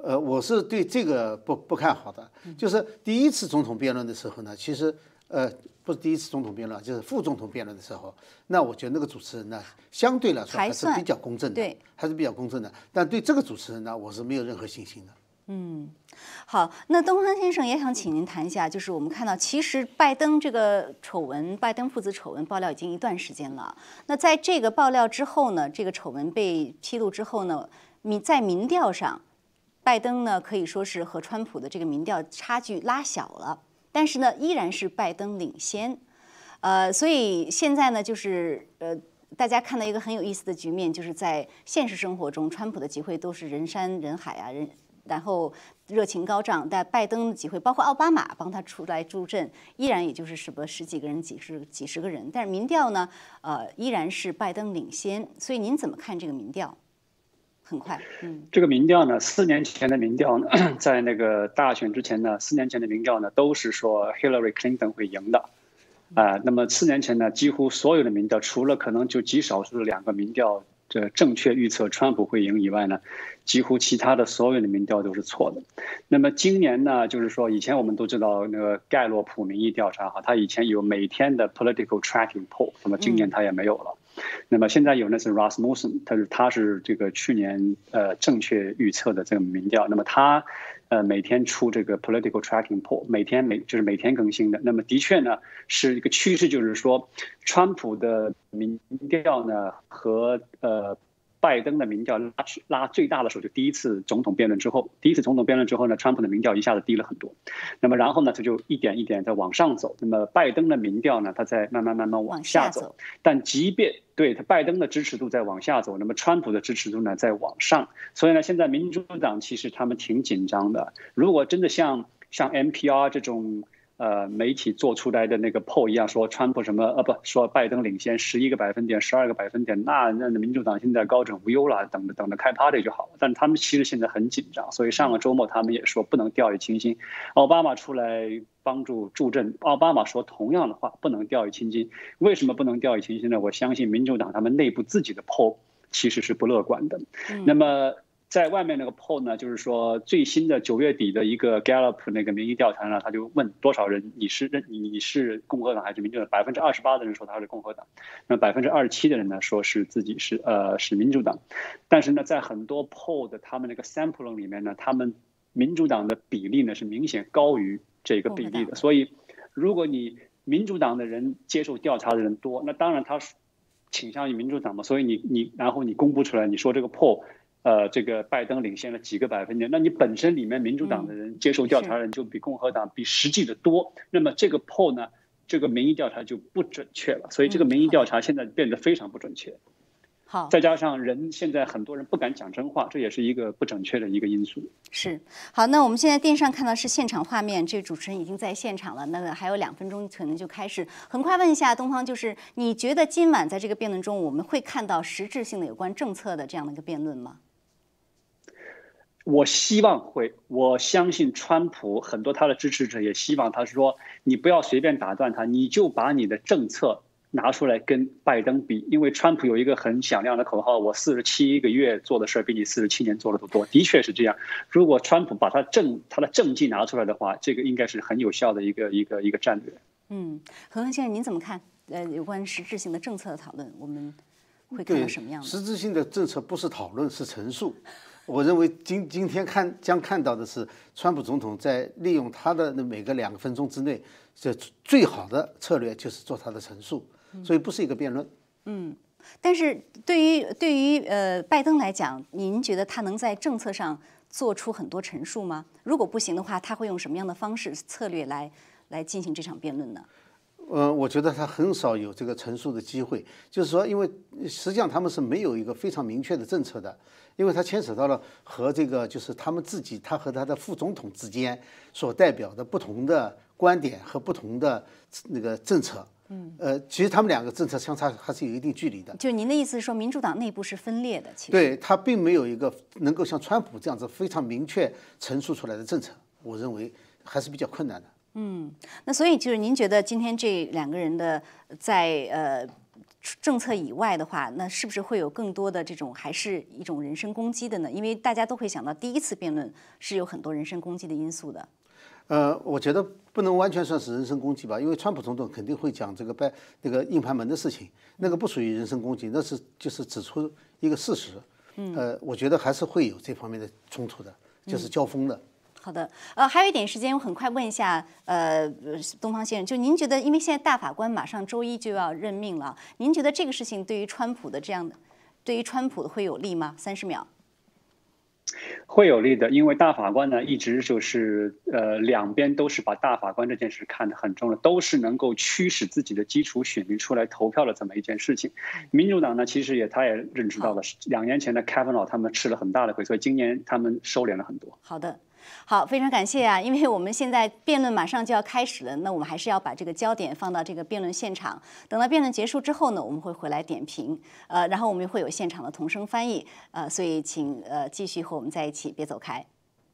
呃，我是对这个不不看好的。就是第一次总统辩论的时候呢，其实呃不是第一次总统辩论，就是副总统辩论的时候，那我觉得那个主持人呢，相对来说还是比较公正的， 对， 还是比较公正的。但对这个主持人呢，我是没有任何信心的。 嗯，好，那东方先生也想请您谈一下，就是我们看到，其实拜登这个丑闻，拜登父子丑闻爆料已经一段时间了。那在这个爆料之后呢，这个丑闻被披露之后呢，民在民调上，拜登呢可以说是和川普的这个民调差距拉小了，但是呢，依然是拜登领先。呃，所以现在呢，就是呃。大家看到一个很有意思的局面，就是在现实生活中，川普的集会都是人山人海啊，人然后热情高涨，但拜登的集会，包括奥巴马帮他出来助阵，依然也就是什么十几个人、几十几十个人，但是民调呢，呃，依然是拜登领先。所以您怎么看这个民调？很快，嗯， 这个民调呢，四年前的民调呢，在那个大选之前呢，四年前的民调呢，都是说 Hillary Clinton 会赢的。啊、呃，那么四年前呢，几乎所有的民调，除了可能就极少数的两个民调，这正确预测川普会赢以外呢，几乎其他的所有的民调都是错的。那么今年呢，就是说以前我们都知道那个盖洛普民意调查哈，它以前有每天的 political tracking poll， 那么今年它也没有了。嗯、那么现在有那是 Rasmussen， 他是他是这个去年呃正确预测的这个民调，那么他。呃，每天出这个 political tracking poll， 每天每就是每天更新的。那么的确呢，是一个趋势，就是说，川普的民调呢和呃拜登的民调拉拉最大的时候，就第一次总统辩论之后，第一次总统辩论之后呢，川普的民调一下子低了很多。那么然后呢，他就一点一点在往上走。那么拜登的民调呢，他在慢慢慢慢往下走。但即便对他拜登的支持度在往下走，那么川普的支持度呢在往上，所以呢，现在民主党其实他们挺紧张的。如果真的像像 N P R 这种呃媒体做出来的那个 poll 一样，说川普什么呃不说拜登领先十一个百分点、十二个百分点，那那民主党现在高枕无忧了，等着等着开 party 就好了。但他们其实现在很紧张，所以上个周末他们也说不能掉以轻心。奥巴马出来帮助助阵，奥巴马说同样的话，不能掉以轻心。为什么不能掉以轻心呢？我相信民主党他们内部自己的 poll 其实是不乐观的。嗯、那么在外面那个 poll 呢，就是说最新的九月底的一个 Gallup 那个民意调查呢，他就问多少人你是认你是共和党还是民主党？百分之二十八的人说他是共和党，那百分之二十七的人呢说是自己是呃是民主党。但是呢，在很多 poll 的他们那个 sampling 里面呢，他们民主党的比例呢是明显高于这个比例的。所以如果你民主党的人接受调查的人多，那当然他倾向于民主党嘛，所以你你然后你公布出来，你说这个 poll。呃，这个拜登领先了几个百分点，那你本身里面民主党的人接受调查人就比共和党比实际的多，那么这个 poll 呢，这个民意调查就不准确了，所以这个民意调查现在变得非常不准确。 好， 再加上人现在很多人不敢讲真话，这也是一个不准确的一个因素。 是，好，那我们现在电视上看到是现场画面，这个主持人已经在现场了，那个还有两分钟可能就开始。很快问一下东方，就是你觉得今晚在这个辩论中，我们会看到实质性的有关政策的这样的一个辩论吗？ 我希望会，我相信川普很多他的支持者也希望他说，你不要随便打断他，你就把你的政策拿出来跟拜登比，因为川普有一个很响亮的口号，我四十七个月做的事儿比你四十七年做的都多，的确是这样。如果川普把他政他的政绩拿出来的话，这个应该是很有效的一个一个一个战略。 嗯，何恒先生您怎么看？呃，有关实质性的政策的讨论，我们会看到什么样的？ 实质性的政策不是讨论，是陈述。我认为今今天看将看到的是，川普总统在利用他的每个两个分钟之内，这最好的策略就是做他的陈述，所以不是一个辩论。 嗯，但是对于对于呃拜登来讲，您觉得他能在政策上做出很多陈述吗？如果不行的话，他会用什么样的方式策略来来进行这场辩论呢？ 呃，我觉得他很少有这个陈述的机会，就是说，因为实际上他们是没有一个非常明确的政策的，因为他牵扯到了和这个就是他们自己，他和他的副总统之间所代表的不同的观点和不同的那个政策。嗯，呃，其实他们两个政策相差还是有一定距离的。 就您的意思是说，民主党内部是分裂的，其实对他并没有一个能够像川普这样子非常明确陈述出来的政策，我认为还是比较困难的。 嗯，那所以就是您觉得今天这两个人的在呃政策以外的话，那是不是会有更多的这种还是一种人身攻击的呢？因为大家都会想到第一次辩论是有很多人身攻击的因素的。 呃，我觉得不能完全算是人身攻击吧，因为川普总统肯定会讲这个拜那个硬盘门的事情，那个不属于人身攻击，那是就是指出一个事实。嗯，呃，我觉得还是会有这方面的冲突的，就是交锋的。嗯好的，呃，还有一点时间，我很快问一下，呃，东方先生，就您觉得，因为现在大法官马上周一就要任命了，您觉得这个事情对于川普的这样的，对于川普会有利吗？三十秒。 会有利的，因为大法官呢一直就是呃两边都是把大法官这件事看得很重的，都是能够驱使自己的基础选民出来投票的这么一件事情。民主党呢其实也他也认知到了，两年前的 Kavanaugh 他们吃了很大的亏，所以今年他们收敛了很多。 好的。好，非常感谢啊！因为我们现在辩论马上就要开始了，那我们还是要把这个焦点放到这个辩论现场。等到辩论结束之后呢，我们会回来点评，呃，然后我们会有现场的同声翻译，呃，所以请呃继续和我们在一起，别走开。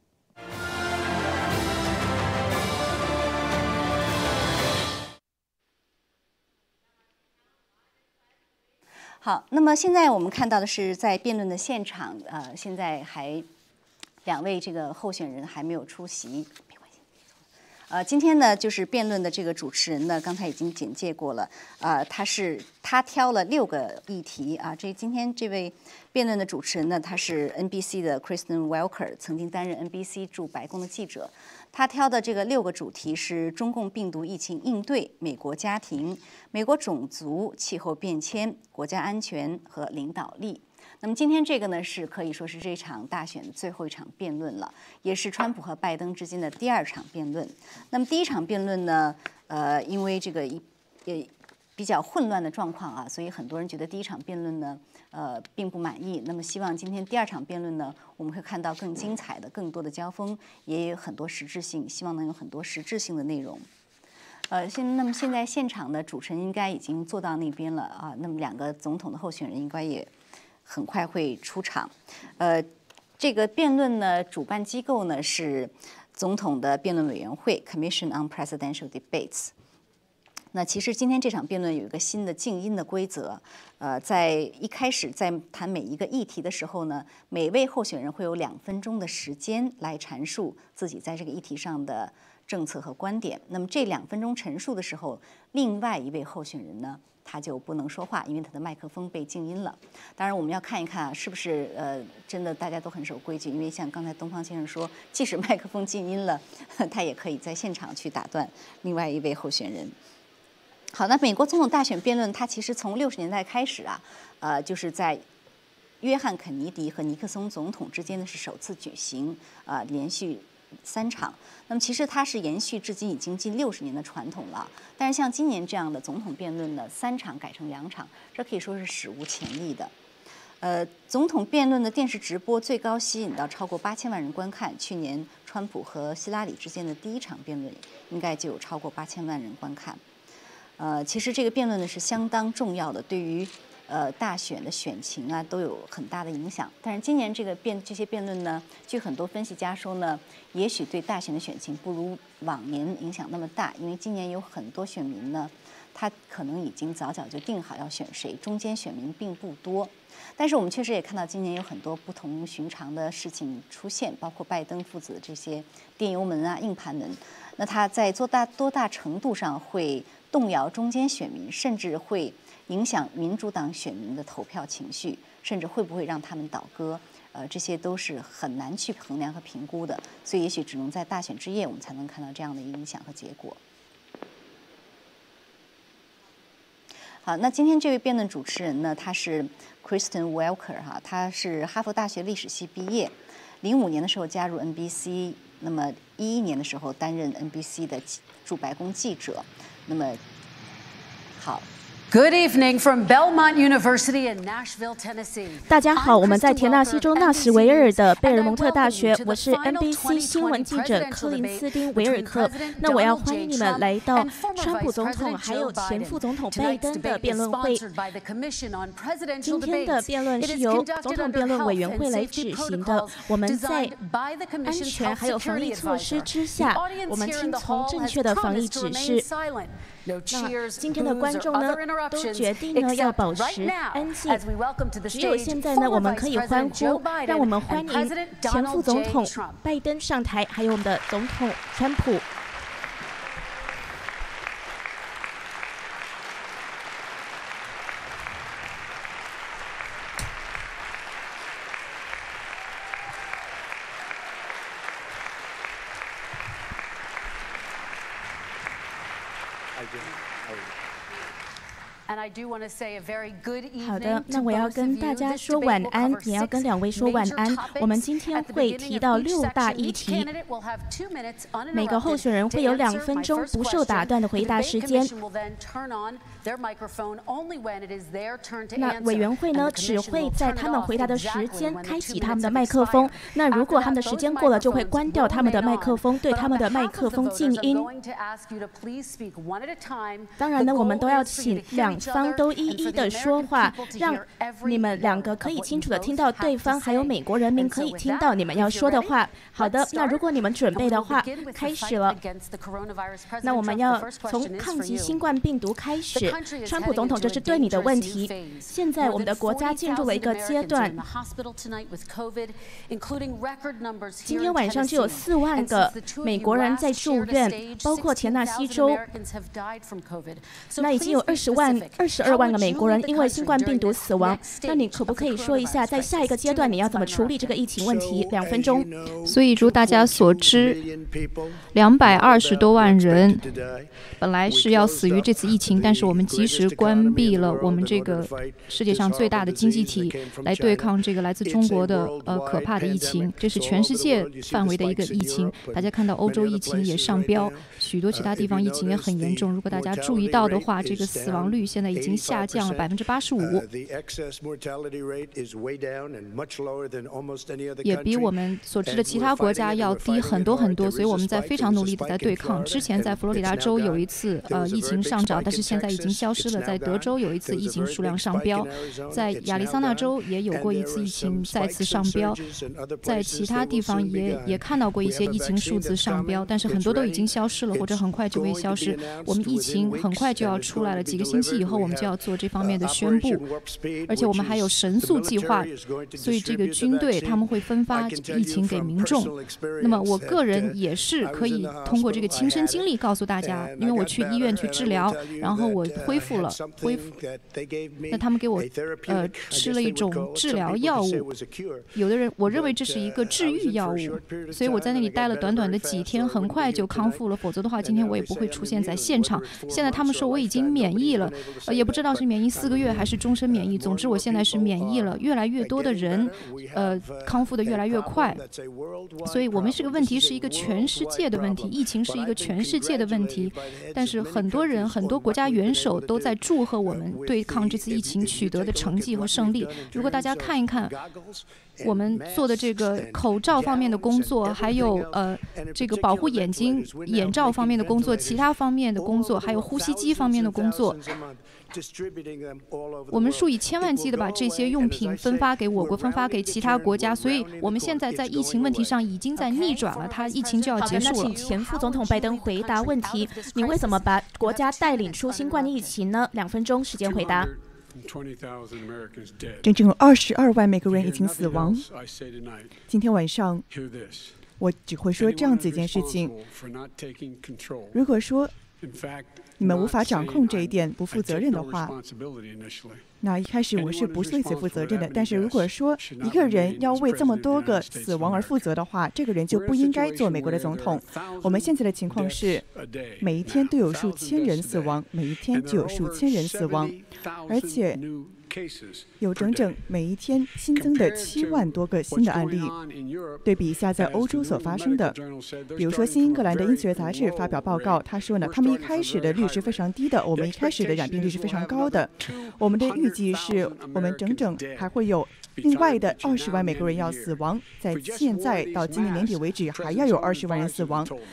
好，那么现在我们看到的是在辩论的现场，呃，现在还。两位这个候选人还没有出席，没关系。呃，今天呢，就是辩论的这个主持人呢，刚才已经简介过了。呃，他是他挑了六个议题啊。这今天这位辩论的主持人呢，他是 N B C 的 Kristen Welker， 曾经担任 N B C 驻白宫的记者。他挑的这个六个主题是中共病毒疫情应对、美国家庭、美国种族、气候变迁、国家安全和领导力。那么今天这个呢，是可以说是这场大选的最后一场辩论了，也是川普和拜登之间的第二场辩论。那么第一场辩论呢，呃，因为这个一也比较混乱的状况啊，所以很多人觉得第一场辩论呢，呃，并不满意。那么希望今天第二场辩论呢，我们会看到更精彩的、更多的交锋，也有很多实质性，希望能有很多实质性的内容。呃，现那么现在现场的主持人应该已经坐到那边了啊，那么两个总统的候选人应该也。很快会出场，呃，这个辩论呢，主办机构呢是总统的辩论委员会 （Commission on Presidential Debates）。那其实今天这场辩论有一个新的静音的规则，呃，在一开始在谈每一个议题的时候呢，每位候选人会有两分钟的时间来阐述自己在这个议题上的政策和观点。那么这两分钟陈述的时候，另外一位候选人呢？他就不能说话，因为他的麦克风被静音了。当然，我们要看一看啊，是不是呃真的大家都很守规矩？因为像刚才东方先生说，即使麦克风静音了，他也可以在现场去打断另外一位候选人。好，那美国总统大选辩论，它其实从六十年代开始啊，呃，就是在约翰肯尼迪和尼克松总统之间呢是首次举行，啊、呃，连续。三场，那么其实它是延续至今已经近六十年的传统了。但是像今年这样的总统辩论呢，三场改成两场，这可以说是史无前例的。呃，总统辩论的电视直播最高吸引到超过八千万人观看。去年川普和希拉里之间的第一场辩论，应该就有超过八千万人观看。呃，其实这个辩论呢是相当重要的，对于。呃，大选的选情啊，都有很大的影响。但是今年这个辩这些辩论呢，据很多分析家说呢，也许对大选的选情不如往年影响那么大，因为今年有很多选民呢，他可能已经早早就定好要选谁，中间选民并不多。但是我们确实也看到今年有很多不同寻常的事情出现，包括拜登父子的这些电邮门啊、硬盘门，那他在多大多大程度上会动摇中间选民，甚至会。影响民主党选民的投票情绪，甚至会不会让他们倒戈？呃，这些都是很难去衡量和评估的，所以也许只能在大选之夜，我们才能看到这样的影响和结果。好，那今天这位辩论主持人呢，他是 Kristen Welker 哈，他是哈佛大学历史系毕业，零五年的时候加入 N B C， 那么一一年的时候担任 N B C 的驻白宫记者，那么好。 Good evening from Belmont University in Nashville, Tennessee. 大家好，我们在田纳西州纳什维尔的贝尔蒙特大学，我是 N B C 新闻记者科林斯汀·维尔克。那我要欢迎你们来到川普总统还有前副总统拜登的辩论会。今天的辩论是由总统辩论委员会来举行的。我们在安全还有防疫措施之下，我们听从正确的防疫指示。那今天的观众呢， 都决定呢要保持安静。只有现在呢，我们可以欢呼，让我们欢迎前副总统拜登上台，还有我们的总统川普。好的，那我要跟大家说晚安，也要跟两位说晚安。我们今天会提到六大议题，每个候选人会有两分钟不受打断的回答时间。那委员会呢，只会在他们回答的时间开启他们的麦克风。那如果他们的时间过了，就会关掉他们的麦克风，对他们的麦克风静音。当然呢，我们都要请两方都一一的说话，让你们两个可以清楚的听到对方，还有美国人民可以听到你们要说的话。好的，那如果你们准备的话，开始了。那我们要从抗击新冠病毒开始。川普总统，这是对你的问题。现在我们的国家进入了一个阶段，今天晚上就有四万个美国人在住院，包括田纳西州。那已经有二十万、二十二万个美国人因为新冠病毒死亡。那你可不可以说一下，在下一个阶段你要怎么处理这个疫情问题？两分钟。 所以，如大家所知，两百二十多万人本来是要死于这次疫情，但是我们及时关闭了我们这个世界上最大的经济体，来对抗这个来自中国的呃可怕的疫情。这是全世界范围的一个疫情。大家看到欧洲疫情也上飙，许多其他地方疫情也很严重。如果大家注意到的话，这个死亡率现在已经下降了百分之八十五，也比我们所知的其他国家要低很多很多。所以我们在非常努力的在对抗。之前在佛罗里达州有一次呃疫情上涨，但是现在已经消失了。在德州有一次疫情数量上飙，在亚利桑那州也有过一次疫情再次上飙，在其他地方也也看到过一些疫情数字上飙，但是很多都已经消失了，或者很快就会消失。我们疫情很快就要出来了，几个星期以后我们就要做这方面的宣布，而且我们还有神速计划，所以这个军队他们会分发疫情给民众。那么我个人也是可以通过这个亲身经历告诉大家，因为我去医院去治疗，然后我恢复了，恢复。那他们给我呃吃了一种治疗药物，有的人我认为这是一个治愈药物，所以我在那里待了短短的几天，很快就康复了。否则的话，今天我也不会出现在现场。现在他们说我已经免疫了，呃，也不知道是免疫四个月还是终身免疫。总之，我现在是免疫了。越来越多的人，呃，康复的越来越快。所以我们这个问题是一个全世界的问题，疫情是一个全世界的问题。但是很多人、很多国家元首都在祝贺我们对抗这次疫情取得的成绩和胜利。如果大家看一看我们做的这个口罩方面的工作，还有呃这个保护眼睛眼罩方面的工作，其他方面的工作，还有呼吸机方面的工作，我们数以千万计的把这些用品分发给我国，分发给其他国家。所以我们现在在疫情问题上已经在逆转了，它疫情就要结束了。 好的，那请前副总统拜登回答问题。你为什么把国家带领出新冠疫情呢？两分钟时间回答。 整整有二十二万美国人已经死亡。今天晚上，我只会说这样子一件事情：如果说你们无法掌控这一点，不负责任的话，那一开始我是不是对此负责任的？但是如果说一个人要为这么多个死亡而负责的话，这个人就不应该做美国的总统。我们现在的情况是，每一天都有数千人死亡，每一天就有数千人死亡，而且有整整每一天新增的七万多个新的案例。对比一下在欧洲所发生的，比如说新英格兰的医学杂志发表报告，他说呢，他们一开始的率是非常低的，我们一开始的染病率是非常高的。我们的预计是我们整整还会有另外的二十万美国人要死亡，在现在到今年年底为止还要有二十万人死亡。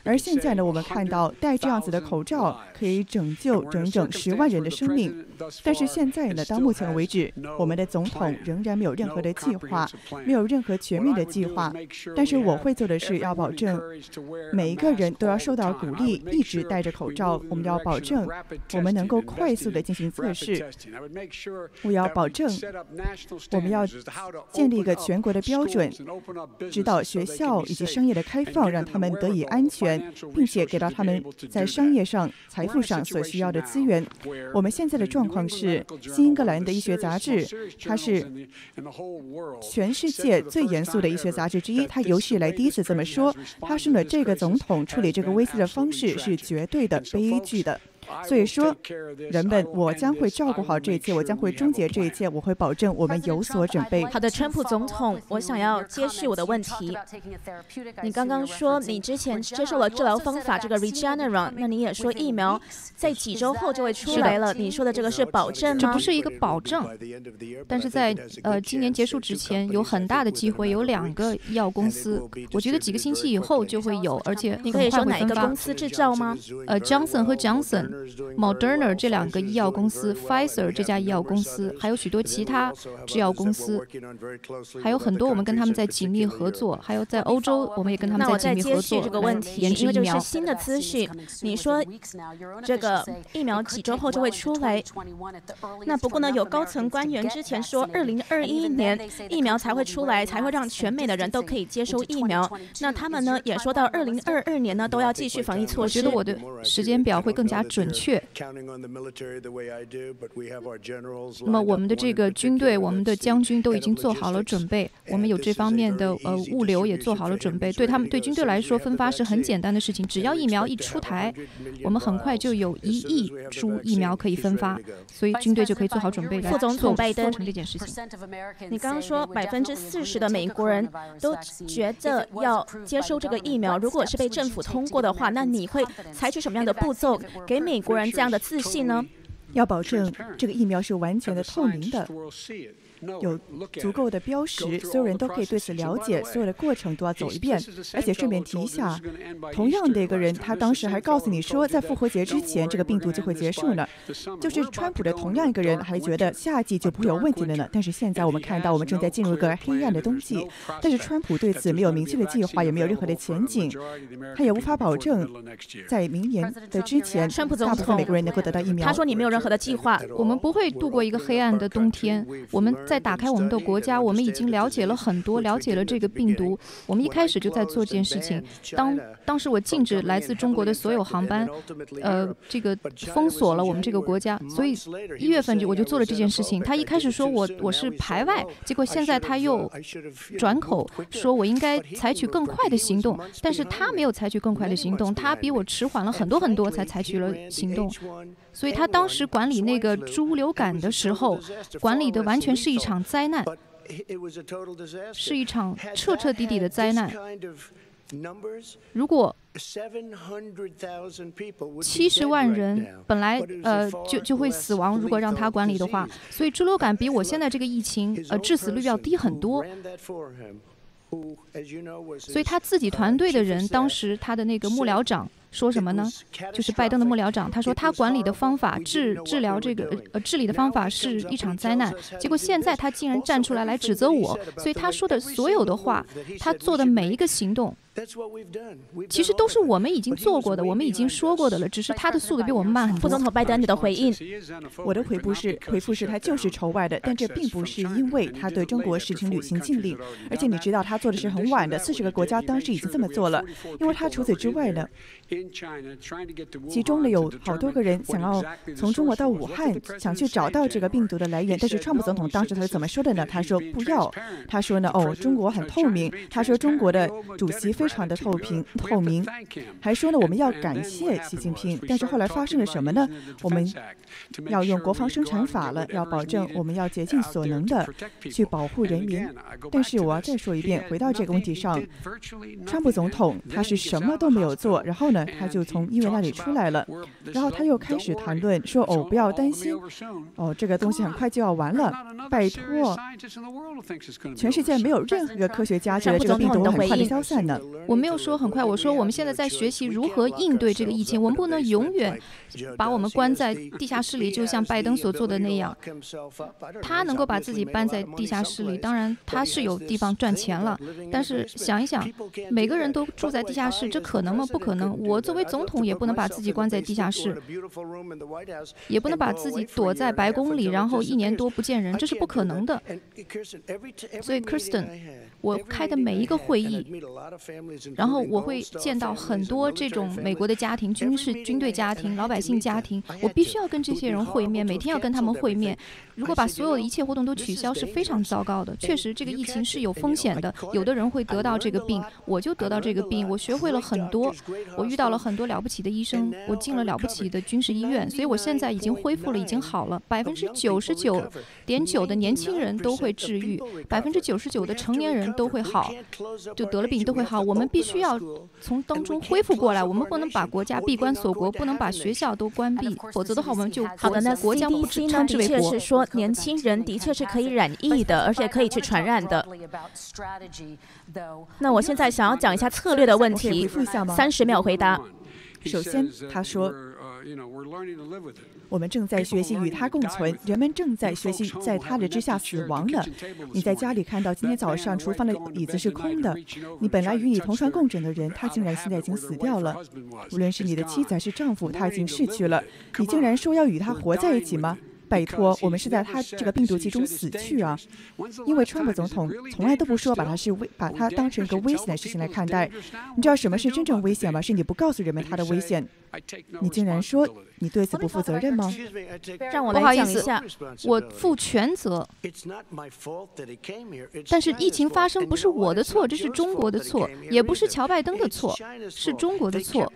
而现在呢，我们看到戴这样子的口罩可以拯救整整十万人的生命。但是现在呢，到目前为止，我们的总统仍然没有任何的计划，没有任何全面的计划。但是我会做的是要保证每一个人都要受到鼓励，一直戴着口罩。我们要保证我们能够快速的进行测试。我要保证我们要建立一个全国的标准，指导学校以及商业的开放，让他们得以安全，并且给到他们在商业上、财富上所需要的资源。我们现在的状况是，新英格兰的医学杂志，它是全世界最严肃的医学杂志之一，它有史以来第一次这么说。他说呢，这个总统处理这个危机的方式是绝对的悲剧的。所以说，人们，我将会照顾好这一切，我将会终结这一切，我会保证我们有所准备。 好的，川普总统，我想要接续我的问题。你刚刚说你之前接受了治疗方法这个 Regeneron， 那你也说疫苗在几周后就会出来了，你说的这个是保证吗？ 这不是一个保证，但是在呃今年结束之前，有很大的机会有两个医药公司，我觉得几个星期以后就会有，而且你可以说哪一个公司制造吗？ 呃 ，Johnson 和 Johnson。Moderna 这两个医药公司 ，Pfizer 这家医药公司，还有许多其他制药公司，还有很多我们跟他们在紧密合作，还有在欧洲我们也跟他们在紧密合作。 这个问题，因为这是新的资讯，你说这个疫苗几周后就会出来，那不过呢，有高层官员之前说，二零二一年疫苗才会出来，才会让全美的人都可以接收疫苗。那他们呢也说到二零二二年呢都要继续防疫措施。 我觉得我的时间表会更加准确。那么我们的这个军队，我们的将军都已经做好了准备，我们有这方面的呃物流也做好了准备。对他们对军队来说，分发是很简单的事情，只要疫苗一出台，我们很快就有一亿株疫苗可以分发，所以军队就可以做好准备来副总统拜登做成这件事情。 你刚刚说百分之四十的美国人都觉得要接收这个疫苗，如果是被政府通过的话，那你会采取什么样的步骤给美国人这样的自信呢？ 要保证这个疫苗是完全的透明的，有足够的标识，所有人都可以对此了解，所有的过程都要走一遍。而且顺便提一下，同样的一个人，他当时还告诉你说，在复活节之前，这个病毒就会结束了。就是川普的同样一个人，还觉得夏季就不会有问题了呢。但是现在我们看到，我们正在进入一个黑暗的冬季。但是川普对此没有明确的计划，也没有任何的前景，他也无法保证在明年的之前， 川普总统大部分美国人能够得到疫苗。 他说你没有任何的计划， 我们不会度过一个黑暗的冬天。我们在打开我们的国家，我们已经了解了很多，了解了这个病毒。我们一开始就在做这件事情。当当时我禁止来自中国的所有航班，呃，这个封锁了我们这个国家，所以一月份就我就做了这件事情。他一开始说我我是排外，结果现在他又转口说我应该采取更快的行动，但是他没有采取更快的行动，他比我迟缓了很多很多才采取了行动。所以他当时管理那个猪流感的时候，管理的完全是一场灾难，是一场彻彻底底的灾难。如果七十万人本来呃就就会死亡，如果让他管理的话，所以猪流感比我现在这个疫情呃致死率要低很多。所以他自己团队的人，当时他的那个幕僚长说什么呢？就是拜登的幕僚长，他说他管理的方法治治疗这个呃治理的方法是一场灾难。结果现在他竟然站出来来指责我，所以他说的所有的话，他做的每一个行动，其实都是我们已经做过的，我们已经说过的了，只是他的速度比我们慢很多。 副总统拜登，你的回应？ 我的回复是，回复是他就是仇外的，但这并不是因为他对中国实行旅行禁令，而且你知道他做的是很晚的，四十个国家当时已经这么做了，因为他除此之外呢，其中呢有好多个人想要从中国到武汉，想去找到这个病毒的来源，但是川普总统当时他是怎么说的呢？他说不要，他说呢，哦，中国很透明，他说中国的主席非常的透明透明，还说呢我们要感谢习近平。但是后来发生了什么呢？我们要用国防生产法了，要保证我们要竭尽所能的去保护人民。但是我要再说一遍，回到这个问题上，川普总统他是什么都没有做，然后呢他就从医院那里出来了，然后他又开始谈论说，哦，不要担心，哦，这个东西很快就要完了，拜托，全世界没有任何一个科学家觉得这个病毒很快的消散呢。 我没有说很快，我说我们现在在学习如何应对这个疫情，我们不能永远把我们关在地下室里，就像拜登所做的那样。他能够把自己搬在地下室里，当然他是有地方赚钱了，但是想一想，每个人都住在地下室，这可能吗？不可能。我作为总统也不能把自己关在地下室，也不能把自己躲在白宫里，然后一年多不见人，这是不可能的。所以 Kirsten， 我开的每一个会议，然后我会见到很多这种美国的家庭、军事军队家庭、老百姓家庭，我必须要跟这些人会面，每天要跟他们会面。如果把所有的一切活动都取消，是非常糟糕的。确实，这个疫情是有风险的，有的人会得到这个病，我就得到这个病。我学会了很多，我遇到了很多了不起的医生，我进了了不起的军事医院，所以我现在已经恢复了，已经好了。百分之九十九点九的年轻人都会治愈，百分之九十九的成年人都会好，就得了病都会好。我们必须要从当中恢复过来，我们不能把国家闭关锁国，不能把学校都关闭，否则的话我们就好的。那国将不 C D C 呢， 称之为国。 的确是说年轻人的确是可以染疫的，而且可以去传染的。那我现在想要讲一下策略的问题，三十秒回答。 首先，他说，我们正在学习与它共存，人们正在学习在它的之下死亡了。你在家里看到今天早上厨房的椅子是空的，你本来与你同床共枕的人，他竟然现在已经死掉了。无论是你的妻子还是丈夫，他已经逝去了，你竟然说要与他活在一起吗？拜托，我们是在他这个病毒其中死去啊！因为川普总统从来都不说把它是危，把它当成一个危险的事情来看待。你知道什么是真正危险吗？是你不告诉人们它的危险。你竟然说你对此不负责任吗？ 让我来讲一下， 我负全责。但是疫情发生不是我的错，这是中国的错，也不是乔拜登的错，是中国的错。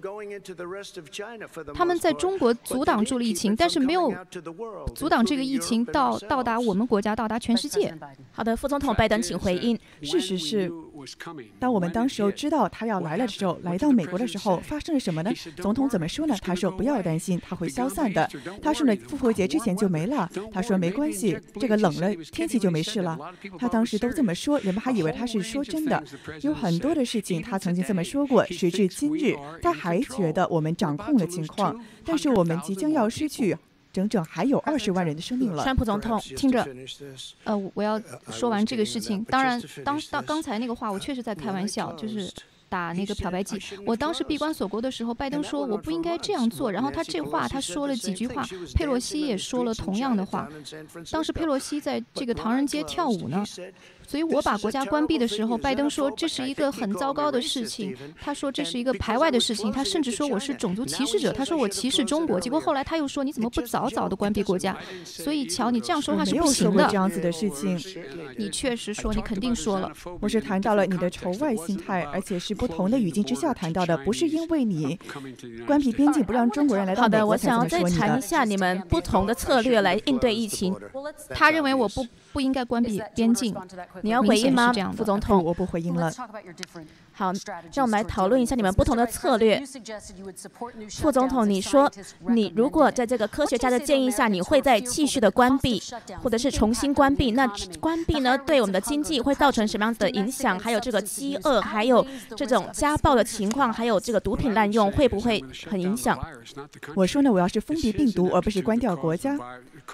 他们在中国阻挡住了疫情，但是没有阻挡这个疫情到到达我们国家，到达全世界。 好的，副总统拜登，请回应。 事实是，当我们当时候知道他要来了的时候，来到美国的时候，发生了什么呢？总统怎么说呢？他说不要担心，他会消散的。他说呢，复活节之前就没了。他说没关系，这个冷了天气就没事了。他当时都这么说，人们还以为他是说真的。有很多的事情他曾经这么说过，时至今日，他还觉得我们掌控了情况，但是我们即将要失去整整还有二十万人的生命了。 川普总统， 听着，呃，我要说完这个事情。当然，当当刚才那个话，我确实在开玩笑，就是打那个漂白剂。我当时闭关锁国的时候，拜登说我不应该这样做，然后他这话他说了几句话，佩洛西也说了同样的话。当时佩洛西在这个唐人街跳舞呢。所以我把国家关闭的时候，拜登说这是一个很糟糕的事情，他说这是一个排外的事情，他甚至说我是种族歧视者，他说我歧视中国。结果后来他又说你怎么不早早的关闭国家？所以乔，你这样说话是不行的。 没有说过这样子的事情。 你确实说，你肯定说了。 我是谈到了你的仇外心态，而且是不同的语境之下谈到的，不是因为你关闭边境不让中国人来到美国才这么说你的。 好的，我想要再谈一下你们不同的策略来应对疫情。 他认为我不不应该关闭边境。 你要回应吗，副总统？ 我不回应了。 好，让我们来讨论一下你们不同的策略。副总统，你说你如果在这个科学家的建议下，你会再继续的关闭，或者是重新关闭？那关闭呢，对我们的经济会造成什么样子的影响？还有这个饥饿，还有这种家暴的情况，还有这个毒品滥用，会不会很影响？ 我说呢，我要是封闭病毒，而不是关掉国家。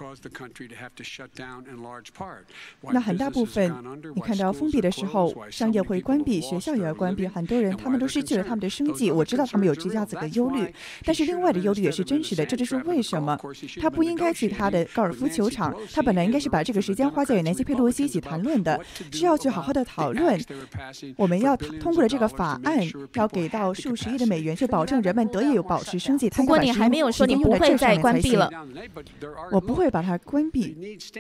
那很大部分，你看到封闭的时候，商业会关闭，学校也要关闭，很多人他们都失去了他们的生计。我知道他们有这样子的忧虑，但是另外的忧虑也是真实的。这就是为什么他不应该去他的高尔夫球场，他本来应该是把这个时间花在与南希佩洛西一起谈论的，是要去好好的讨论。我们要通过了这个法案，要给到数十亿的美元，去保证人们得以有保持生计。 不过你还没有说你不会再关闭了。 我不会把它关闭。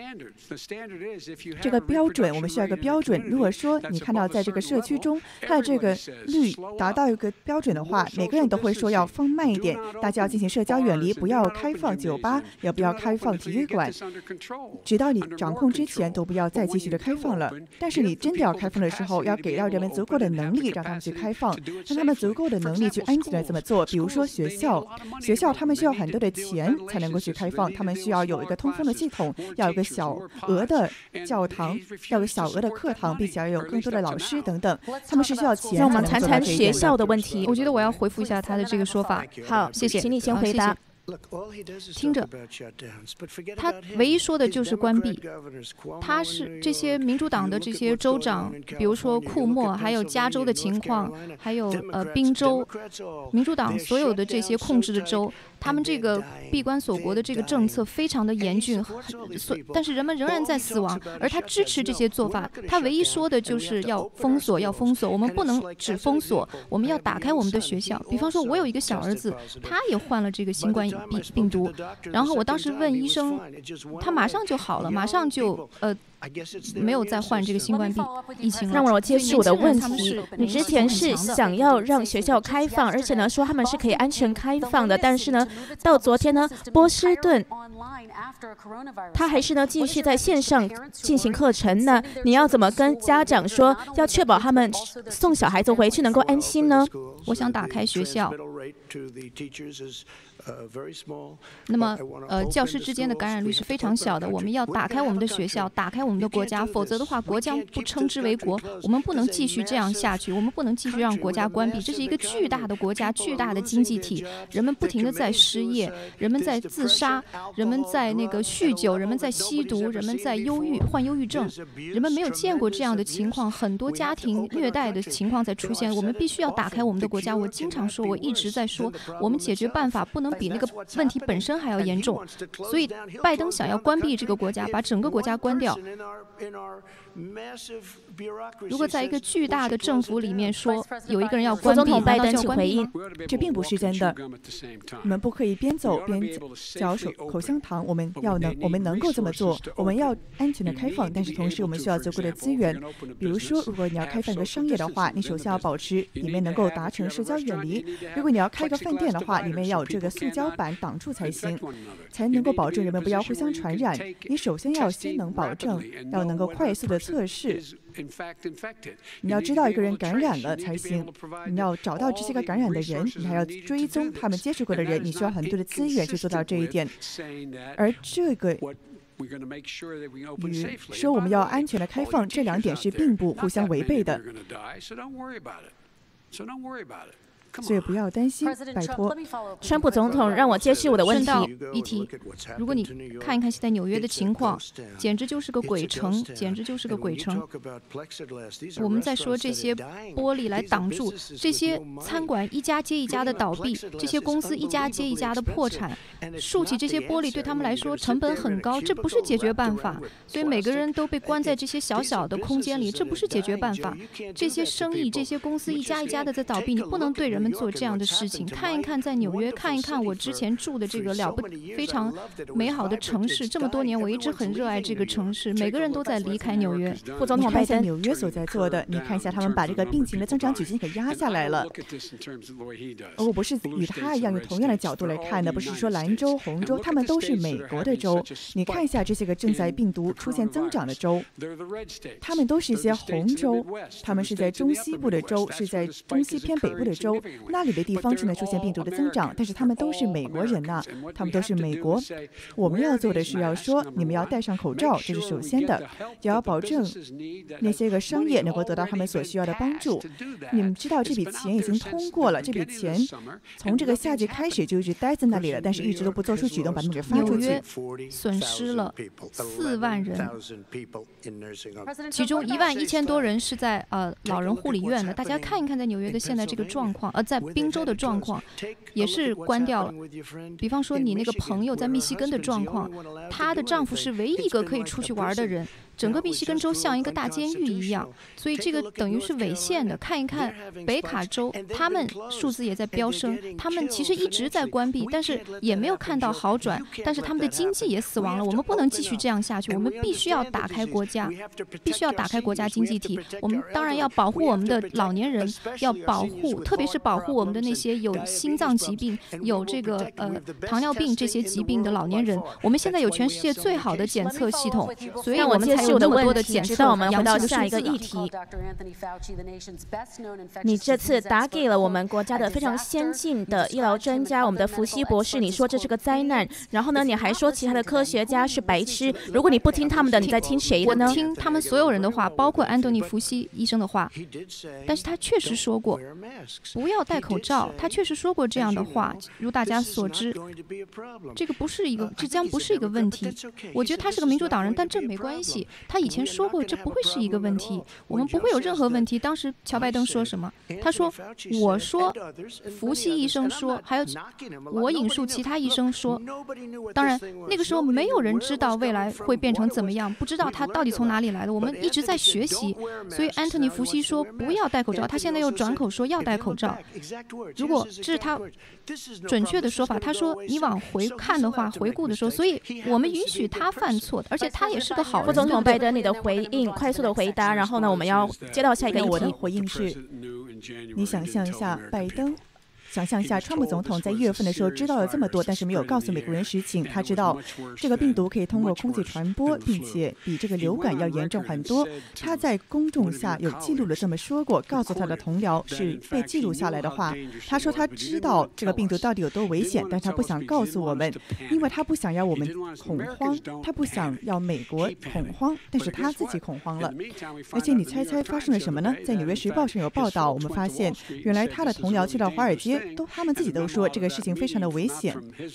这个标准，我们需要一个标准。如果说你看到在这个社区中，它的这个率达到一个标准的话，每个人都会说要放慢一点，大家要进行社交远离，不要开放酒吧，也不要开放体育馆，直到你掌控之前都不要再继续的开放了。但是你真的要开放的时候，要给到人们足够的能力，让他们去开放，让他们足够的能力去安全的这么做。比如说学校，学校他们需要很多的钱才能够去开放，他们需要有一个通风的系统，要有个小额的教堂，要有小额的课堂，并且要有更多的老师等等，他们是需要钱。 让我们谈谈学校的问题。 我觉得我要回复一下他的这个说法。 好， 谢谢， 请你先回答。 听着，他唯一说的就是关闭。他是这些民主党的这些州长，比如说库莫，还有加州的情况，还有呃宾州，民主党所有的这些控制的州，他们这个闭关锁国的这个政策非常的严峻，所但是人们仍然在死亡，而他支持这些做法。他唯一说的就是要封锁，要封锁。我们不能只封锁，我们要打开我们的学校。比方说，我有一个小儿子，他也患了这个新冠病病毒，然后我当时问医生，他马上就好了，马上就呃。没有再患这个新冠病疫情了。 让我接续我的问题，你之前是想要让学校开放，而且呢说他们是可以安全开放的，但是呢到昨天呢波士顿他还是呢继续在线上进行课程呢，你要怎么跟家长说，要确保他们送小孩子回去能够安心呢？ 我想打开学校，那么呃教师之间的感染率是非常小的，我们要打开我们的学校，打开我们的国家，否则的话国将不称之为国。我们不能继续这样下去，我们不能继续让国家关闭。这是一个巨大的国家，巨大的经济体，人们不停地在失业，人们在自杀，人们在那个酗酒，人们在吸毒，人们在忧郁患忧郁症，人们没有见过这样的情况，很多家庭虐待的情况在出现。我们必须要打开我们的国家。我经常说，我一直在说，我们解决办法不能比那个问题本身还要严重。所以拜登想要关闭这个国家，把整个国家关掉。如果在一个巨大的政府里面说有一个人要关闭， 副总统拜登请回应， 这并不是真的。我们不可以边走边嚼手口香糖，我们要能，我们能够这么做。我们要安全的开放，但是同时我们需要足够的资源。比如说，如果你要开放一个商业的话，你首先要保持里面能够达成社交远离。如果你要开一个饭店的话，里面要有这个塑胶板挡住才行，才能够保证人们不要互相传染。你首先要先能保证，要能够快速的测试。你要知道一个人感染了才行，你要找到这些个感染的人，你还要追踪他们接触过的人，你需要很多的资源去做到这一点。而这个与说我们要安全的开放，这两点是并不互相违背的。所以不要担心，拜托。 川普总统让我接续我的问题。 顺道一提，如果你看一看现在纽约的情况，简直就是个鬼城，简直就是个鬼城。我们在说这些玻璃来挡住这些餐馆一家接一家的倒闭，这些公司一家接一家的破产，竖起这些玻璃对他们来说成本很高，这不是解决办法。所以每个人都被关在这些小小的空间里，这不是解决办法。这些生意，这些公司一家一家的在倒闭，你不能对人们做这样的事情。看一看在纽约，看一看我之前住的这个了不非常美好的城市，这么多年我一直很热爱这个城市，每个人都在离开纽约。 副总统拜登，纽约所在做的，你看一下他们把这个病情的增长曲线给压下来了。而我不是与他一样用同样的角度来看的，不是说蓝州、红州，他们都是美国的州。你看一下这些个正在病毒出现增长的州，他们都是一些红州，他们是在中西部的州，是在中西偏北部的州。那里的地方正在出现病毒的增长，但是他们都是美国人呐、啊，他们都是美国。我们要做的是要说，你们要戴上口罩，这是首先的，也要保证那些个商业能够得到他们所需要的帮助。你们知道这笔钱已经通过了，这笔钱从这个夏季开始就一直待在那里了，但是一直都不做出举动把他们给发出去。 纽约损失了四万人，其中一万一千多人是在呃老人护理院的。大家看一看在纽约的现在这个状况，呃，在宾州的状况也是关掉了。比方说你那个朋友在密西根的状况，她的丈夫是唯一一个可以出去玩的人。整个密西根州像一个大监狱一样，所以这个等于是违宪的。看一看北卡州，他们数字也在飙升，他们其实一直在关闭，但是也没有看到好转，但是他们的经济也死亡了。我们不能继续这样下去，我们必须要打开国家，必须要打开国家经济体。我们当然要保护我们的老年人，要保护，特别是保保护我们的那些有心脏疾病、有这个呃糖尿病这些疾病的老年人。我们现在有全世界最好的检测系统，所以我们才有那么多的检测。 直到我们回到下一个议题，你这次打给了我们国家的非常先进的医疗专家，我们的福西博士，你说这是个灾难，然后呢，你还说其他的科学家是白痴。如果你不听他们的，你在听谁的呢？ 我听他们所有人的话，包括安东尼·福西医生的话。但是他确实说过不要戴口罩，他确实说过这样的话。如大家所知，这个不是一个，这将不是一个问题。我觉得他是个民主党人，但这没关系。他以前说过，这不会是一个问题，我们不会有任何问题。当时乔拜登说什么？他说：“我说，福西医生说，还有我引述其他医生说。当然，那个时候没有人知道未来会变成怎么样，不知道他到底从哪里来的。我们一直在学习，所以安东尼·福西说不要戴口罩，他现在又转口说要戴口罩。如果这是他准确的说法，他说你往回看的话，回顾的时候，所以我们允许他犯错的，而且他也是个好人。” 副总统拜登，你的回应，快速的回答，然后呢，我们要接到下一个议题。 我的回应是，你想象一下，拜登。想象一下，川普总统在一月份的时候知道了这么多，但是没有告诉美国人实情。他知道这个病毒可以通过空气传播，并且比这个流感要严重很多。他在公众下有记录的这么说过，告诉他的同僚是被记录下来的话。他说他知道这个病毒到底有多危险，但他不想告诉我们，因为他不想要我们恐慌，他不想要美国恐慌，但是他自己恐慌了。而且你猜猜发生了什么呢？在《纽约时报》上有报道，我们发现原来他的同僚去到华尔街。都他们自己都说这个事情非常的危险。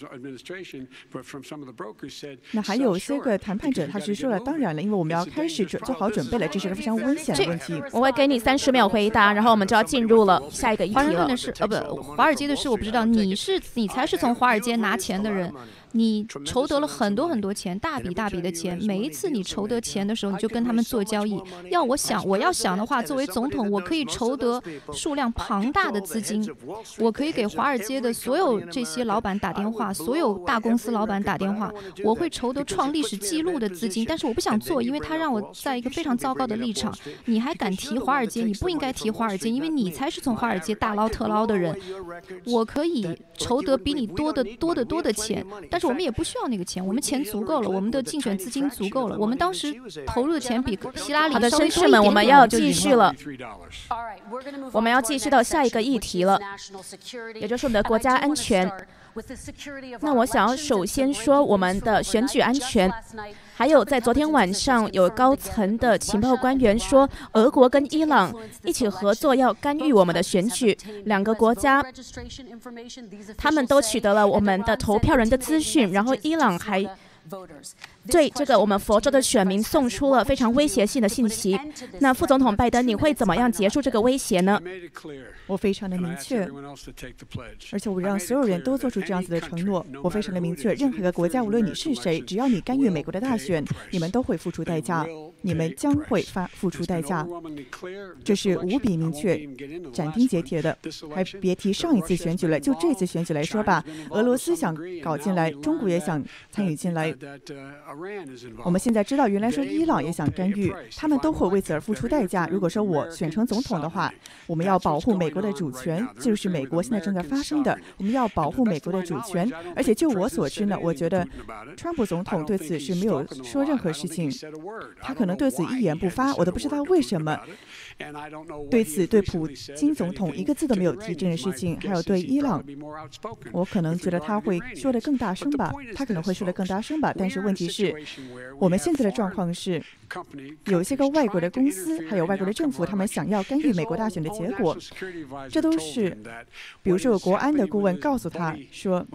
那还有些个谈判者他是说了，当然了，因为我们要开始准做好准备了，这是个非常危险的问题。 我会给你三十秒回答，然后我们就要进入了下一个议题了。 华盛顿的事，呃，不，华尔街的事我不知道。你是你才是从华尔街拿钱的人。你筹得了很多很多钱，大笔大笔的钱。每一次你筹得钱的时候，你就跟他们做交易。要我想，我要想的话，作为总统，我可以筹得数量庞大的资金，我可以给华尔街的所有这些老板打电话，所有大公司老板打电话，我会筹得创历史记录的资金。但是我不想做，因为他让我在一个非常糟糕的立场。你还敢提华尔街？你不应该提华尔街，因为你才是从华尔街大捞特捞的人。我可以筹得比你多得多得多的钱，但是我们也不需要那个钱，我们钱足够了，我们的竞选资金足够了。我们当时投入的钱比希拉里稍微多一点点。 好的，绅士们，我们要继续了，我们要继续到下一个议题了，也就是我们的国家安全。那我想要首先说我们的选举安全。还有，在昨天晚上，有高层的情报官员说，俄国跟伊朗一起合作要干预我们的选举。两个国家，他们都取得了我们的投票人的资讯，然后伊朗还对这个我们佛州的选民送出了非常威胁性的信息。那副总统拜登，你会怎么样结束这个威胁呢？ 我非常的明确，而且我让所有人都做出这样子的承诺。我非常的明确，任何一个国家，无论你是谁，只要你干预美国的大选，你们都会付出代价，你们将会发付出代价。这是无比明确、斩钉截铁的。还别提上一次选举了，就这次选举来说吧，俄罗斯想搞进来，中国也想参与进来。我们现在知道，原来说伊朗也想干预，他们都会为此而付出代价。如果说我选成总统的话，我们要保护美国的主权，这就是美国现在正在发生的。我们要保护美国的主权，而且就我所知呢，我觉得川普总统对此是没有说任何事情，他可能对此一言不发，我都不知道为什么。对此，对普京总统一个字都没有提这件事情。还有对伊朗，我可能觉得他会说得更大声吧，他可能会说得更大声吧。但是问题是，我们现在的状况是，有一些个外国的公司，还有外国的政府，他们想要干预美国大选的结果。这都是，比如说有国安的顾问告诉他说，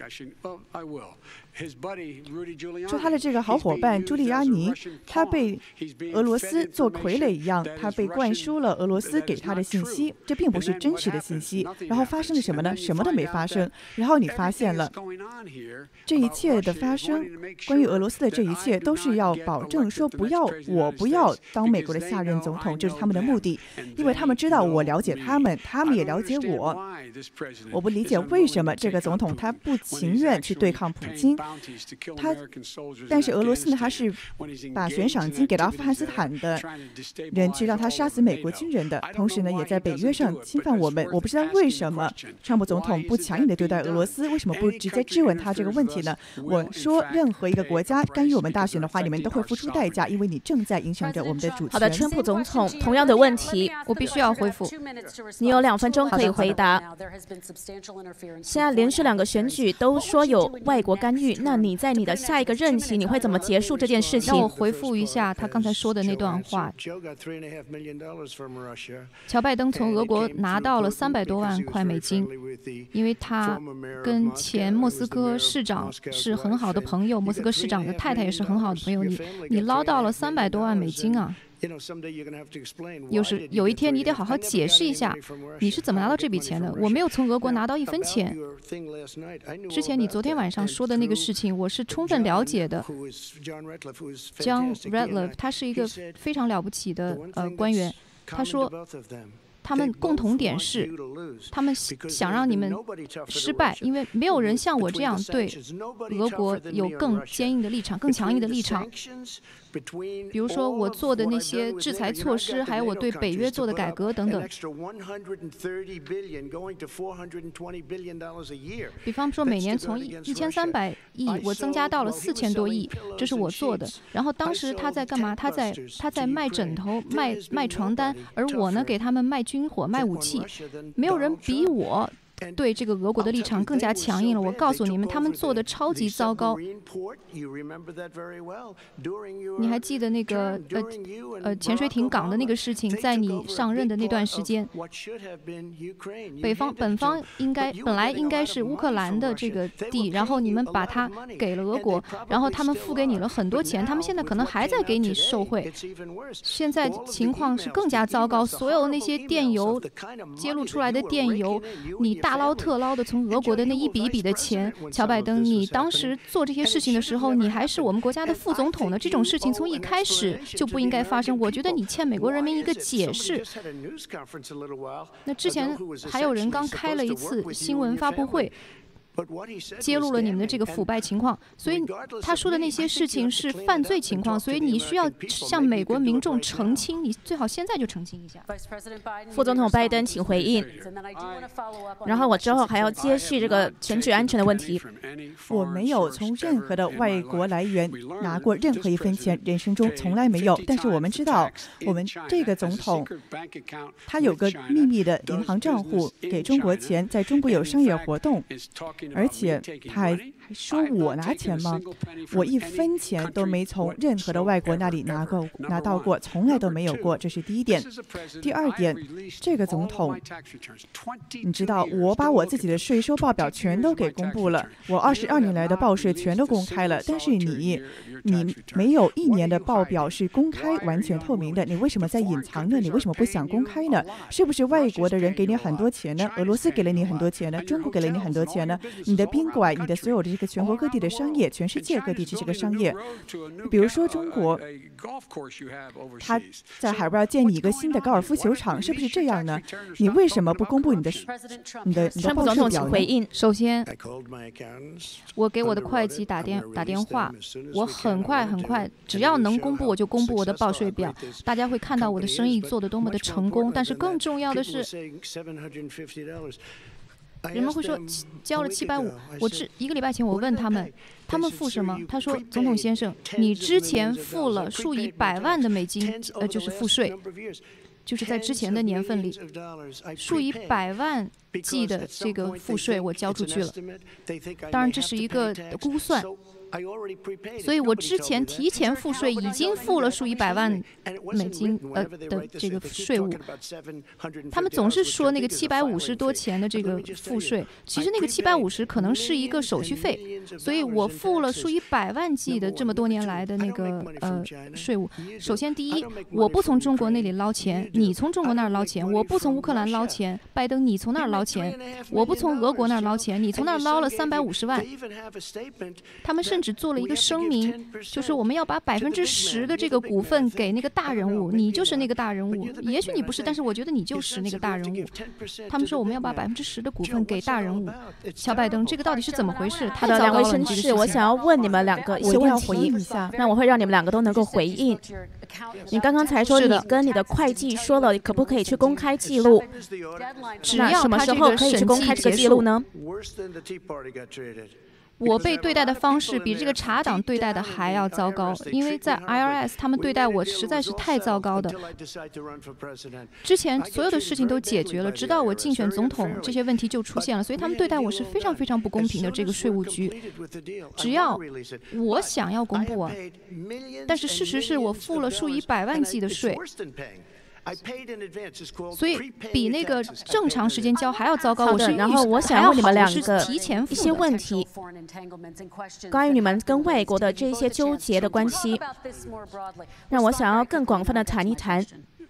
说他的这个好伙伴朱利安尼，他被俄罗斯做傀儡一样，他被灌输了俄罗斯给他的信息，这并不是真实的信息。然后发生了什么呢？什么都没发生。然后你发现了这一切的发生， 关于俄罗斯的这一切都是要保证说不要我不要当美国的下任总统，这是他们的目的，因为他们知道我了解他们，他们也了解我。我不理解为什么这个总统他不情愿去对抗普京，他但是俄罗斯呢，他是把悬赏金给到阿富汗斯坦的人去让他杀死美国军人的，同时呢也在北约上侵犯我们。我不知道为什么川普总统不强硬的对待俄罗斯，为什么不直接质问他这个问题呢？我说任何一个国家干预我们大选的话，你们都会付出代价，因为你正在影响着我们的主权。 好的，川普总统同样的问题我必须要回复，你有两分钟可以回答。现在连续两个选举都说有外国干预，那你在你的下一个任期你会怎么结束这件事情？ 让我回复一下他刚才说的那段话。乔拜登从俄国拿到了三百多万块美金，因为他跟前莫斯科市长是很好的朋友，莫斯科市长的太太也是很好的朋友。你你捞到了三百多万美金啊！有时有一天你得好好解释一下，你是怎么拿到这笔钱的？我没有从俄国拿到一分钱。之前你昨天晚上说的那个事情，我是充分了解的。John Ratcliffe 他是一个非常了不起的呃官员，他说他们共同点是，他们想让你们失败，因为没有人像我这样对俄国有更坚硬的立场、更强硬的立场。比如说我做的那些制裁措施，还有我对北约做的改革等等。比方说每年从一千三百亿我增加到了四千多亿，这是我做的。然后当时他在干嘛？他在他在卖枕头、卖卖床单，而我呢给他们卖军火、卖武器。没有人比我对这个俄国的立场更加强硬了。我告诉你们，他们做的超级糟糕。你还记得那个呃呃潜水艇港的那个事情，在你上任的那段时间，北方本方应该本来应该是乌克兰的这个地，然后你们把它给了俄国，然后他们付给你了很多钱，他们现在可能还在给你受贿。现在情况是更加糟糕，所有那些电邮揭露出来的电邮，你大捞特捞的从俄国的那一笔一笔的钱，乔拜登，你当时做这些事情的时候，你还是我们国家的副总统呢。这种事情从一开始就不应该发生。我觉得你欠美国人民一个解释。那之前还有人刚开了一次新闻发布会，揭露了你们的这个腐败情况，所以他说的那些事情是犯罪情况，所以你需要向美国民众澄清，你最好现在就澄清一下。 副总统拜登，请回应。然后我之后还要接续这个选举安全的问题。 我没有从任何的外国来源拿过任何一分钱，人生中从来没有。但是我们知道，我们这个总统他有个秘密的银行账户，给中国钱，在中国有商业活动。而且他还说我拿钱吗？我一分钱都没从任何的外国那里拿过拿到过，从来都没有过。这是第一点。第二点，这个总统，你知道，我把我自己的税收报表全都给公布了，我二十二年来的报税全都公开了。但是你，你没有一年的报表是公开、完全透明的，你为什么在隐藏呢？你为什么不想公开呢？是不是外国的人给你很多钱呢？俄罗斯给了你很多钱呢？中国给了你很多钱呢？你的宾馆，你的所有的这个全国各地的商业，全世界各地这些个商业，比如说中国，他在海外要建你一个新的高尔夫球场，是不是这样呢？你为什么不公布你的你的你的报税表呢？ 首先，我给我的会计打电打电话，我很快很快，只要能公布我就公布我的报税表，大家会看到我的生意做得多么的成功。但是更重要的是，人们会说交了七百五，我这一个礼拜前我问他们，他们付什么？他说，总统先生，你之前付了数以百万的美金，呃，就是付税，就是在之前的年份里，数以百万计的这个赋税我交出去了。当然，这是一个估算。所以我之前提前付税，已经付了数以百万美金呃的这个税务。他们总是说那个七百五十多钱的这个付税，其实那个七百五十可能是一个手续费， 所以我付了数以百万计的这么多年来的那个呃税务。首先，第一，我不从中国那里捞钱，你从中国那儿捞钱；我不从乌克兰捞钱，拜登你从那儿捞钱；我不从俄国那儿捞钱，你从那儿捞了三百五十万。他们甚至做了一个声明，就是我们要把百分之十的这个股份给那个大人物，你就是那个大人物。也许你不是，但是我觉得你就是那个大人物。他们说我们要把百分之十的股份给大人物。乔拜登，这个到底是怎么回事？ 好的，两位绅士，我想要问你们两个一些问题，那我会让你们两个都能够回应。你刚刚才说你跟你的会计说了，可不可以去公开记录？ 只要什么时候可以去公开这个记录呢？ 我被对待的方式比这个茶党对待的还要糟糕，因为在 I R S 他们对待我实在是太糟糕的。之前所有的事情都解决了，直到我竞选总统，这些问题就出现了，所以他们对待我是非常非常不公平的。这个税务局，只要我想要公布啊，但是事实是我付了数以百万计的税。所以比那个正常时间交还要糟糕。 好的，然后我想问你们两个一些问题，关于你们跟外国的这些纠结的关系，让我想要更广泛的谈一谈。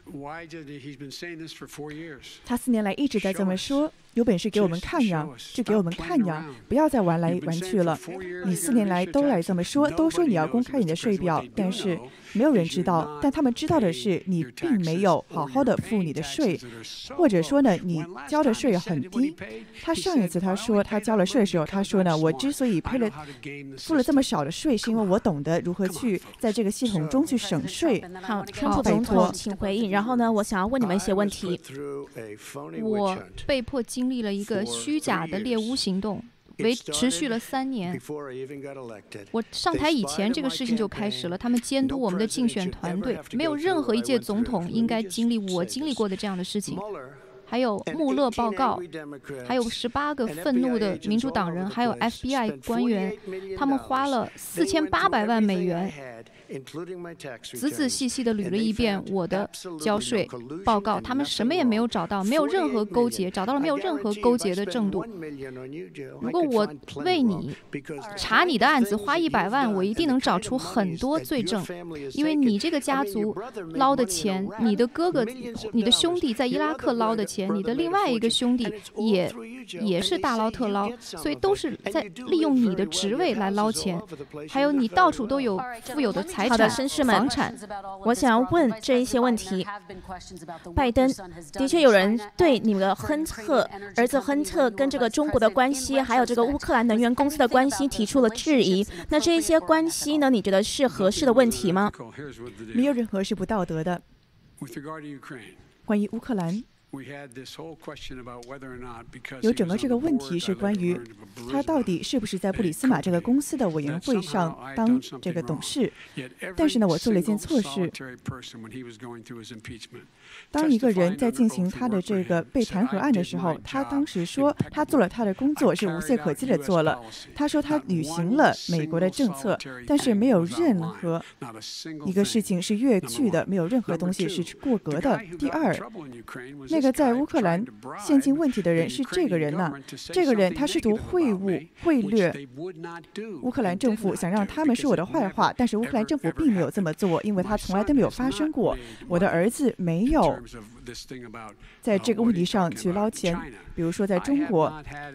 他四年来一直在这么说，有本事给我们看呀，就给我们看呀，不要再玩来玩去了。你四年来都来这么说，都说你要公开你的税表，但是没有人知道。但他们知道的是，你并没有好好的付你的税，或者说呢，你交的税很低。他上一次他说他交了税的时候，他说呢，我之所以赔了付了这么少的税，是因为我懂得如何去在这个系统中去省税。 好，川普总统，请回应。然后呢，我想要问你们一些问题。 我被迫经历了一个虚假的猎巫行动，维持续了三年。我上台以前，这个事情就开始了。他们监督我们的竞选团队，没有任何一届总统应该经历我经历过的这样的事情。还有穆勒报告，还有十八个愤怒的民主党人，还有 F B I 官员，他们花了四千八百万美元。仔仔细细地捋了一遍我的交税报告，他们什么也没有找到，没有任何勾结，找到了没有任何勾结的证据。如果我为你查你的案子花一百万，我一定能找出很多罪证，因为你这个家族捞的钱，你的哥哥、你的兄弟在伊拉克捞的钱，你的另外一个兄弟也也是大捞特捞，所以都是在利用你的职位来捞钱，还有你到处都有富有的财。 好的，绅士们，我想要问这一些问题。拜登的确有人对你们的亨特儿子亨特跟这个中国的关系，还有这个乌克兰能源公司的关系提出了质疑。那这一些关系呢？你觉得是合适的问题吗？ 没有任何是不道德的。关于乌克兰，有整个这个问题是关于他到底是不是在布里斯马这个公司的委员会上当这个董事。但是呢，我做了一件错事。当一个人在进行他的这个被弹劾案的时候，他当时说他做了他的工作，是无懈可击的做了。他说他履行了美国的政策，但是没有任何一个事情是越矩的，没有任何东西是过格的。第二，那个在乌克兰陷进问题的人是这个人呢、啊，这个人他试图贿赂、贿赂乌克兰政府，想让他们说我的坏话，但是乌克兰政府并没有这么做，因为他从来都没有发生过。我的儿子没有在这个问题上去捞钱，比如说在中国，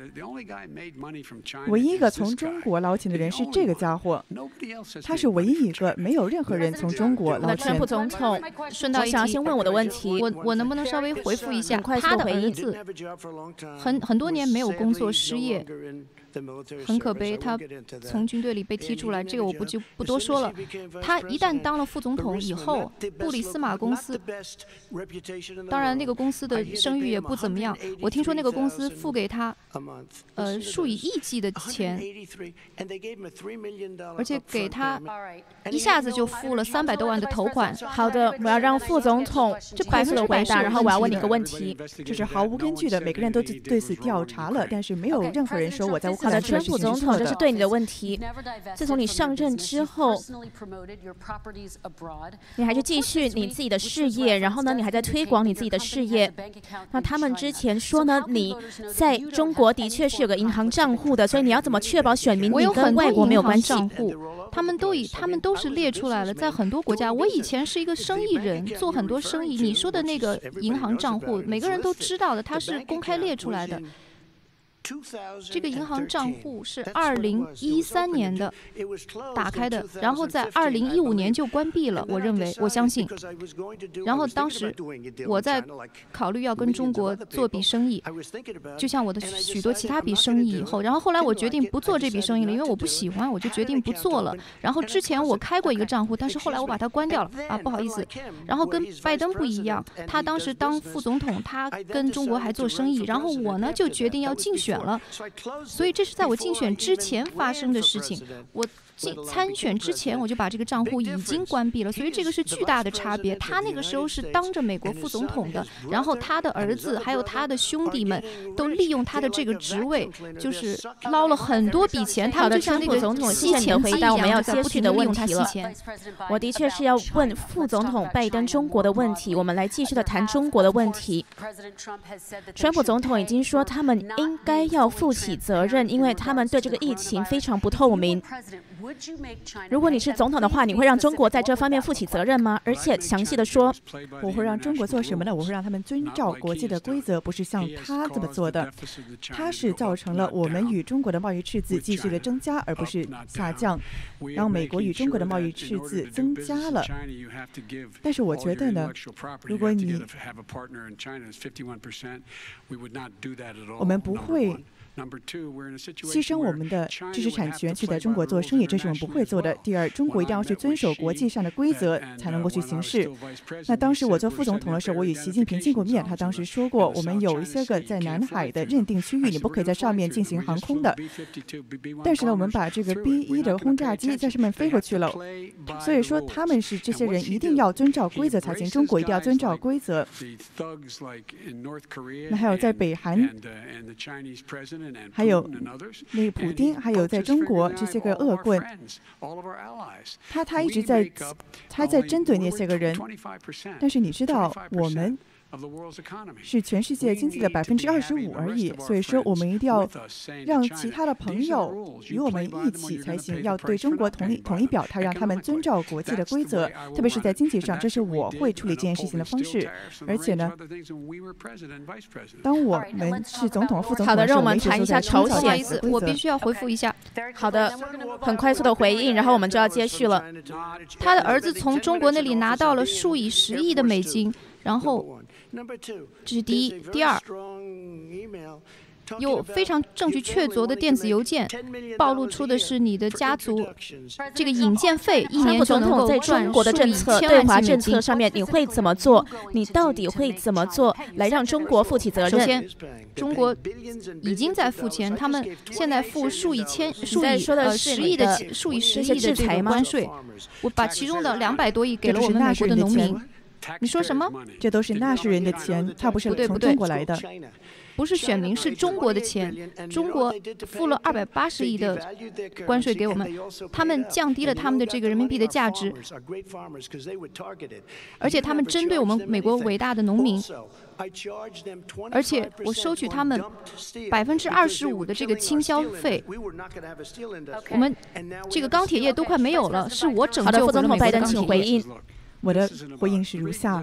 唯一一个从中国捞钱的人是这个家伙，他是唯一一个，没有任何人从中国捞钱。 川普总统，顺道一提，先问我的问题， 我我能不能稍微回复一下？他的儿子很很多年没有工作，失业。很可悲，他从军队里被踢出来，这个我不就不多说了。他一旦当了副总统以后，布里斯马公司，当然那个公司的声誉也不怎么样。我听说那个公司付给他，呃，数以亿计的钱，而且给他一下子就付了三百多万的头款。 好的，我要让副总统这百分之百答，然后我要问你一个问题， 这是毫无根据的，每个人都对此调查了，但是没有任何人说我在乌克好的，川普总统，这是对你的问题。自从你上任之后，你还是继续你自己的事业，然后呢，你还在推广你自己的事业。那他们之前说呢，你在中国的确是有个银行账户的，所以你要怎么确保选民你跟外国没有关系？ 他们都以他们都是列出来了，在很多国家，我以前是一个生意人，做很多生意。你说的那个银行账户，每个人都知道的，它是公开列出来的。这个银行账户是二零一三年的打开的，然后在二零一五年就关闭了。我认为，我相信。然后当时我在考虑要跟中国做笔生意，就像我的许多其他笔生意以后，然后后来我决定不做这笔生意了，因为我不喜欢，我就决定不做了。然后之前我开过一个账户，但是后来我把它关掉了啊，不好意思。然后跟拜登不一样，他当时当副总统，他跟中国还做生意，然后我呢就决定要竞选了，所以这是在我竞选之前发生的事情。我进参选之前，我就把这个账户已经关闭了，所以这个是巨大的差别。他那个时候是当着美国副总统的，然后他的儿子还有他的兄弟们都利用他的这个职位，就是捞了很多笔钱。他们就像那个总统吸钱回答我们要接续的问题了。我的确是要问副总统拜登中国的问题，我们来继续的谈中国的问题。川普总统已经说他们应该要负起责任，因为他们对这个疫情非常不透明。如果你是总统的话，你会让中国在这方面负起责任吗？而且详细的说， 我会让中国做什么呢？我会让他们遵照国际的规则，不是像他这么做的。他是造成了我们与中国的贸易赤字继续的增加，而不是下降。然后美国与中国的贸易赤字增加了。但是我觉得呢，如果你我们不会牺牲我们的知识产权去在中国做生意，这是我们不会做的。第二，中国一定要去遵守国际上的规则，才能够去行事。那当时我做副总统的时候，我与习近平见过面，他当时说过，我们有一些个在南海的认定区域，你不可以在上面进行航空的。但是呢，我们把这个 B 一 的轰炸机在上面飞过去了，所以说他们是这些人一定要遵照规则才行，中国一定要遵照规则。那还有在北韩，还有那个普丁，还有在中国这些个恶棍，他他一直在他在针对那些个人。但是你知道，我们是全世界经济的百分之二十五而已，所以说我们一定要让其他的朋友与我们一起才行，要对中国统一统一表态，让他们遵照国际的规则，特别是在经济上，这是我会处理这件事情的方式。而且呢，当我们是总统、副总统， 好的，让我们谈一下朝鲜。 我必须要回复一下。 好的，很快速的回应，然后我们就要接续了。 他的儿子从中国那里拿到了数以十亿的美金。然后，这是第一。第二，有非常证据确凿的电子邮件，暴露出的是你的家族这个引荐费一年就能够在中国的政策对华政策上面，你会怎么做？你到底会怎么做来让中国负起责任？ 首先，中国已经在付钱，他们现在付数以千、数以呃十亿的、数以十亿的这个关税。我把其中的两百多亿给了我们美国的农民。你说什么？ 这都是纳税人的钱，它不是从中国来的。 不是选民，是中国的钱。中国付了二百八十亿的关税给我们，他们降低了他们的这个人民币的价值，而且他们针对我们美国伟大的农民，而且我收取他们百分之二十五的这个倾销费。我们这个钢铁业都快没有了，是我拯救了美国的钢铁业。回应。 我的回应是如下。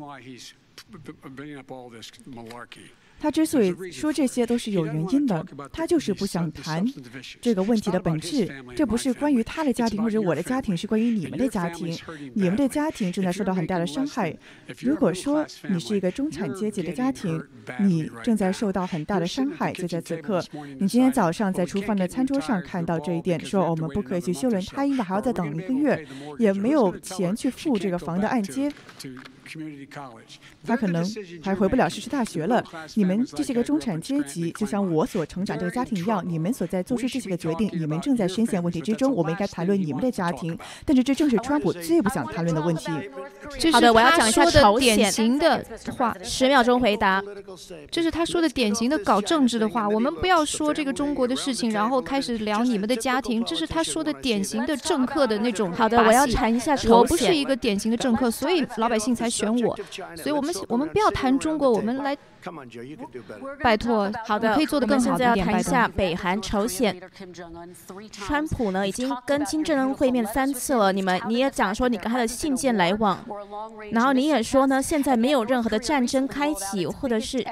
他之所以说这些都是有原因的，他就是不想谈这个问题的本质。这不是关于他的家庭或者我的家庭，是关于你们的家庭。你们的家庭正在受到很大的伤害。如果说你是一个中产阶级的家庭，你正在受到很大的伤害，就在此刻，你今天早上在厨房的餐桌上看到这一点，说我们不可以去修轮胎，因为还要再等一个月，也没有钱去付这个房的按揭。 他可能还回不了社区大学了。你们这些个中产阶级，就像我所成长这个家庭一样，你们所在做出这些个决定，你们正在深陷问题之中。我们应该谈论你们的家庭，但是这正是川普最不想谈论的问题。 好的，我要讲一下朝鲜典型的话， 十秒钟回答。 这是他说的典型的搞政治的话。我们不要说这个中国的事情，然后开始聊你们的家庭，这是他说的典型的政客的那种把戏。 好的，我要谈一下朝鲜。 我不是一个典型的政客，所以老百姓才选我。所以我们我们不要谈中国，我们来。拜托， 好的， 可以做得更好一点。 我们现在要谈一下北韩、朝鲜。川普呢已经跟金正恩会面三次了，你们你也讲说你跟他的信件来往，然后你也说呢，现在没有任何的战争开启，或者是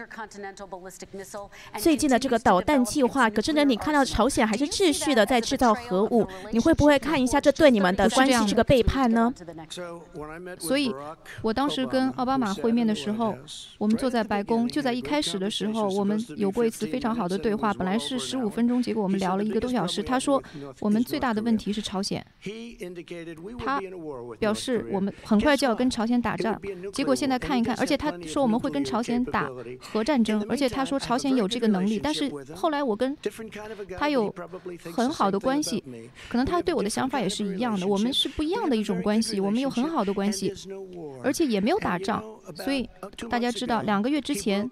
最近的这个导弹计划。可是呢，你看到朝鲜还是继续的在制造核武，你会不会看一下这对你们的关系是个背叛呢？ 所以，我当时跟奥巴马会面的时候，我们坐在白宫，就在一开始的时候，我们有过一次非常好的对话。本来是十五分钟，结果我们聊了一个多小时。他说，我们最大的问题是朝鲜。他表示我们很快就要跟朝鲜打仗。结果现在看一看，而且他说我们会跟朝鲜打核战争，而且他说朝鲜有这个能力。但是后来我跟他有很好的关系，可能他对我的想法也是一样的。我们是不一样的一种关系，我们有很好的关系，而且也没有打仗。所以大家知道，两个月之前，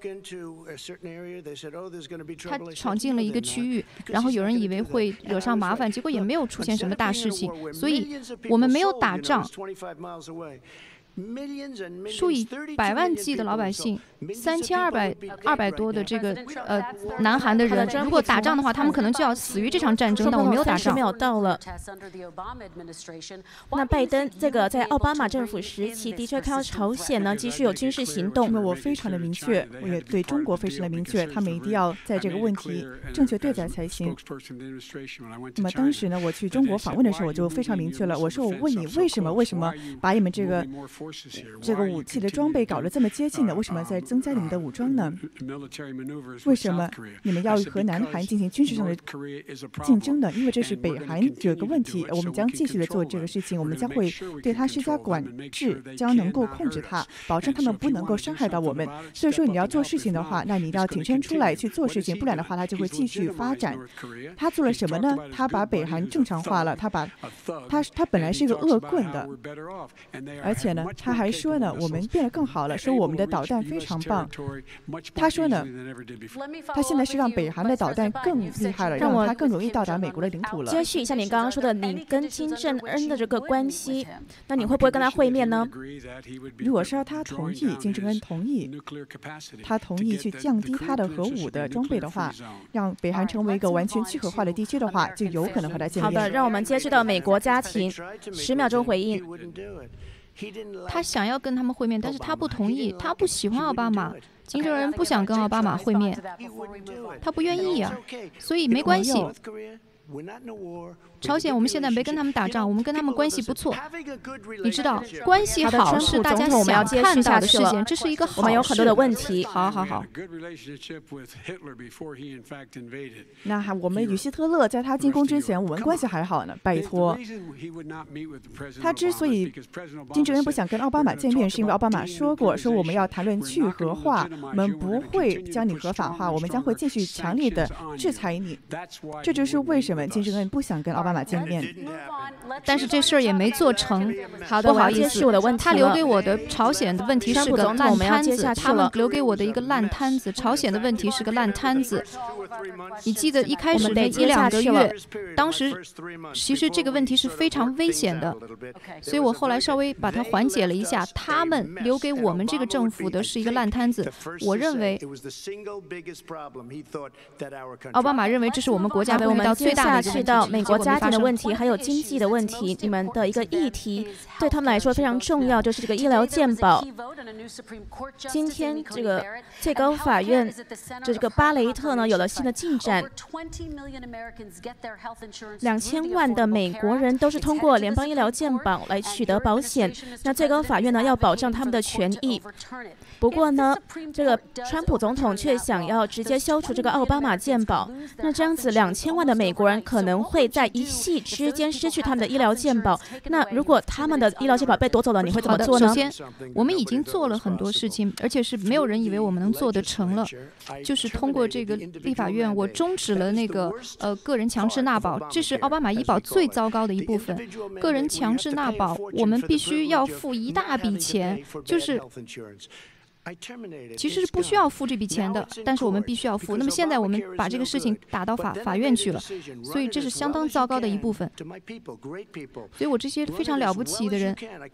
他闯进了一个区域，然后有人以为会惹上麻烦，结果也没有出现什么大事情。所以我们没有打仗。数以百万计的老百姓，三千二百二百多的这个呃南韩的人，如果打仗的话，他们可能就要死于这场战争。但我没有打仗。 三十秒到了。那拜登这个在奥巴马政府时期的确看到朝鲜呢继续有军事行动。 那我非常的明确，我也对中国非常的明确，他们一定要在这个问题正确对待才行。那么当时呢，我去中国访问的时候，我就非常明确了，我说我问你为什么为什么把你们这个。这个武器的装备搞得这么接近呢？为什么在增加你们的武装呢？为什么你们要和南韩进行军事上的竞争呢？因为这是北韩有个问题，我们将继续的做这个事情，我们将会对它施加管制，将能够控制它，保证他们不能够伤害到我们。所以说你要做事情的话，那你一定要挺身出来去做事情，不然的话它就会继续发展。他做了什么呢？他把北韩正常化了，他把他他本来是一个恶棍的，而且呢。他还说呢，我们变得更好了，说我们的导弹非常棒。他说呢，他现在是让北韩的导弹更厉害了，让它更容易到达美国的领土了。 接续一下你刚刚说的，你跟金正恩的这个关系，那你会不会跟他会面呢？ 如果是他同意，金正恩同意，他同意去降低他的核武的装备的话，让北韩成为一个完全去核化的地区的话，就有可能和他见面。 好的，让我们接续到美国家庭，十秒钟回应。 他想要跟他们会面，但是他不同意，他不喜欢奥巴马。金正恩不想跟奥巴马会面，他不愿意啊，所以没关系。朝鲜我们现在没跟他们打仗，我们跟他们关系不错。你知道，关系好是大家想看到的事情，这是一个好事。 我们有很多的问题。 好好好。 那还我们与希特勒在他进攻之前，我们关系还好呢。拜托，他之所以金正恩不想跟奥巴马见面，是因为奥巴马说过，说我们要谈论去核化，我们不会将你合法化，我们将会继续强烈的制裁你。这就是为什么金正恩不想跟奥巴马见面。 但是这事儿也没做成。 好的， 不好意思， 我的问题他留给我的朝鲜的问题是个烂摊子，他们留给我的一个烂摊子。朝鲜的问题是个烂摊子。你记得一开始的一两个月，当时其实这个问题是非常危险的，所以我后来稍微把它缓解了一下。他们留给我们这个政府的是一个烂摊子。我认为，奥巴马认为这是我们国家会遇到最大的一个问题。 接下去到美国家庭的问题，还有经济的问题，你们的一个议题对他们来说非常重要，就是这个医疗健保。今天这个最高法院这个巴雷特呢有了新的进展，两千万的美国人都是通过联邦医疗健保来取得保险。那最高法院呢要保障他们的权益。不过呢，这个川普总统却想要直接消除这个奥巴马健保。那这样子，两千万的美国人人可能会在一夕之间失去他们的医疗健保。那如果他们的医疗健保被夺走了，你会怎么做呢？ 首先，我们已经做了很多事情，而且是没有人以为我们能做得成了。就是通过这个立法院，我终止了那个呃个人强制纳保，这是奥巴马医保最糟糕的一部分。个人强制纳保，我们必须要付一大笔钱，就是。其实是不需要付这笔钱的，但是我们必须要付。那么现在我们把这个事情打到法法院去了，所以这是相当糟糕的一部分。所以我这些非常了不起的人，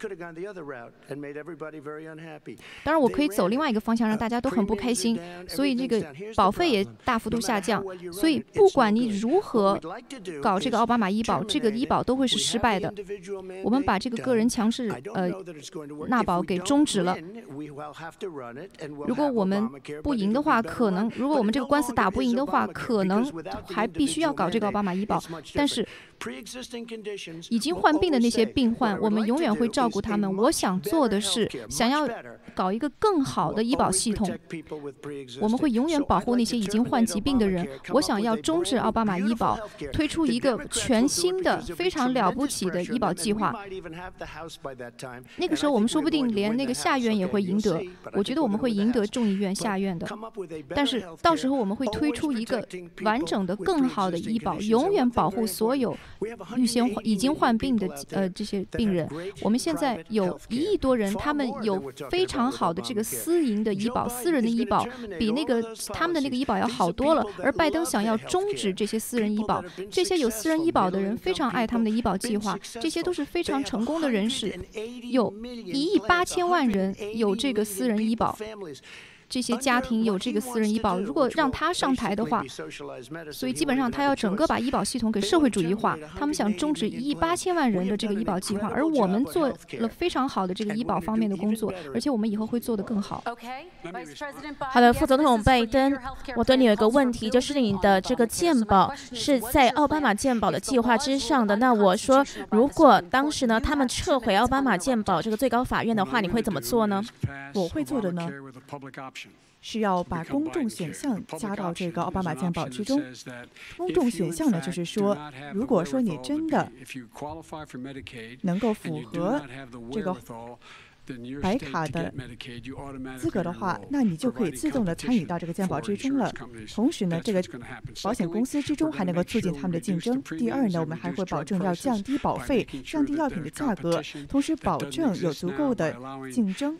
当然我可以走另外一个方向，让大家都很不开心。所以这个保费也大幅度下降。所以不管你如何搞这个奥巴马医保，这个医保都会是失败的。我们把这个个人强制呃纳保给终止了。如果我们不赢的话，可能如果我们这个官司打不赢的话，可能还必须要搞这个奥巴马医保。但是已经患病的那些病患，我们永远会照顾他们。我想做的是，想要搞一个更好的医保系统。我们会永远保护那些已经患疾病的人。我想要终止奥巴马医保，推出一个全新的、非常了不起的医保计划。那个时候，我们说不定连那个下院也会赢得。我觉得我们会赢得众议院、下院的。但是到时候我们会推出一个完整的、更好的医保，永远保护所有预先已经患病的呃这些病人。我们现在有一亿多人，他们有非常好的这个私营的医保、私人的医保，比那个他们的那个医保要好多了。而拜登想要终止这些私人医保，这些有私人医保的人非常爱他们的医保计划，这些都是非常成功的人士，有一亿八千万人有这个私人医保。这些家庭有这个私人医保，如果让他上台的话，所以基本上他要整个把医保系统给社会主义化。他们想终止一亿八千万人的这个医保计划，而我们做了非常好的这个医保方面的工作，而且我们以后会做得更好。 好的，副总统拜登，我对你有一个问题，就是你的这个健保是在奥巴马健保的计划之上的。那我说，如果当时呢他们撤回奥巴马健保这个最高法院的话，你会怎么做呢？ 我会做的呢，是要把公众选项加到这个奥巴马健保之中。公众选项呢，就是说，如果说你真的能够符合这个白卡的资格的话，那你就可以自动的参与到这个健保之中了。同时呢，这个保险公司之中还能够促进他们的竞争。第二呢，我们还会保证要降低保费，降低药品的价格，同时保证有足够的竞争。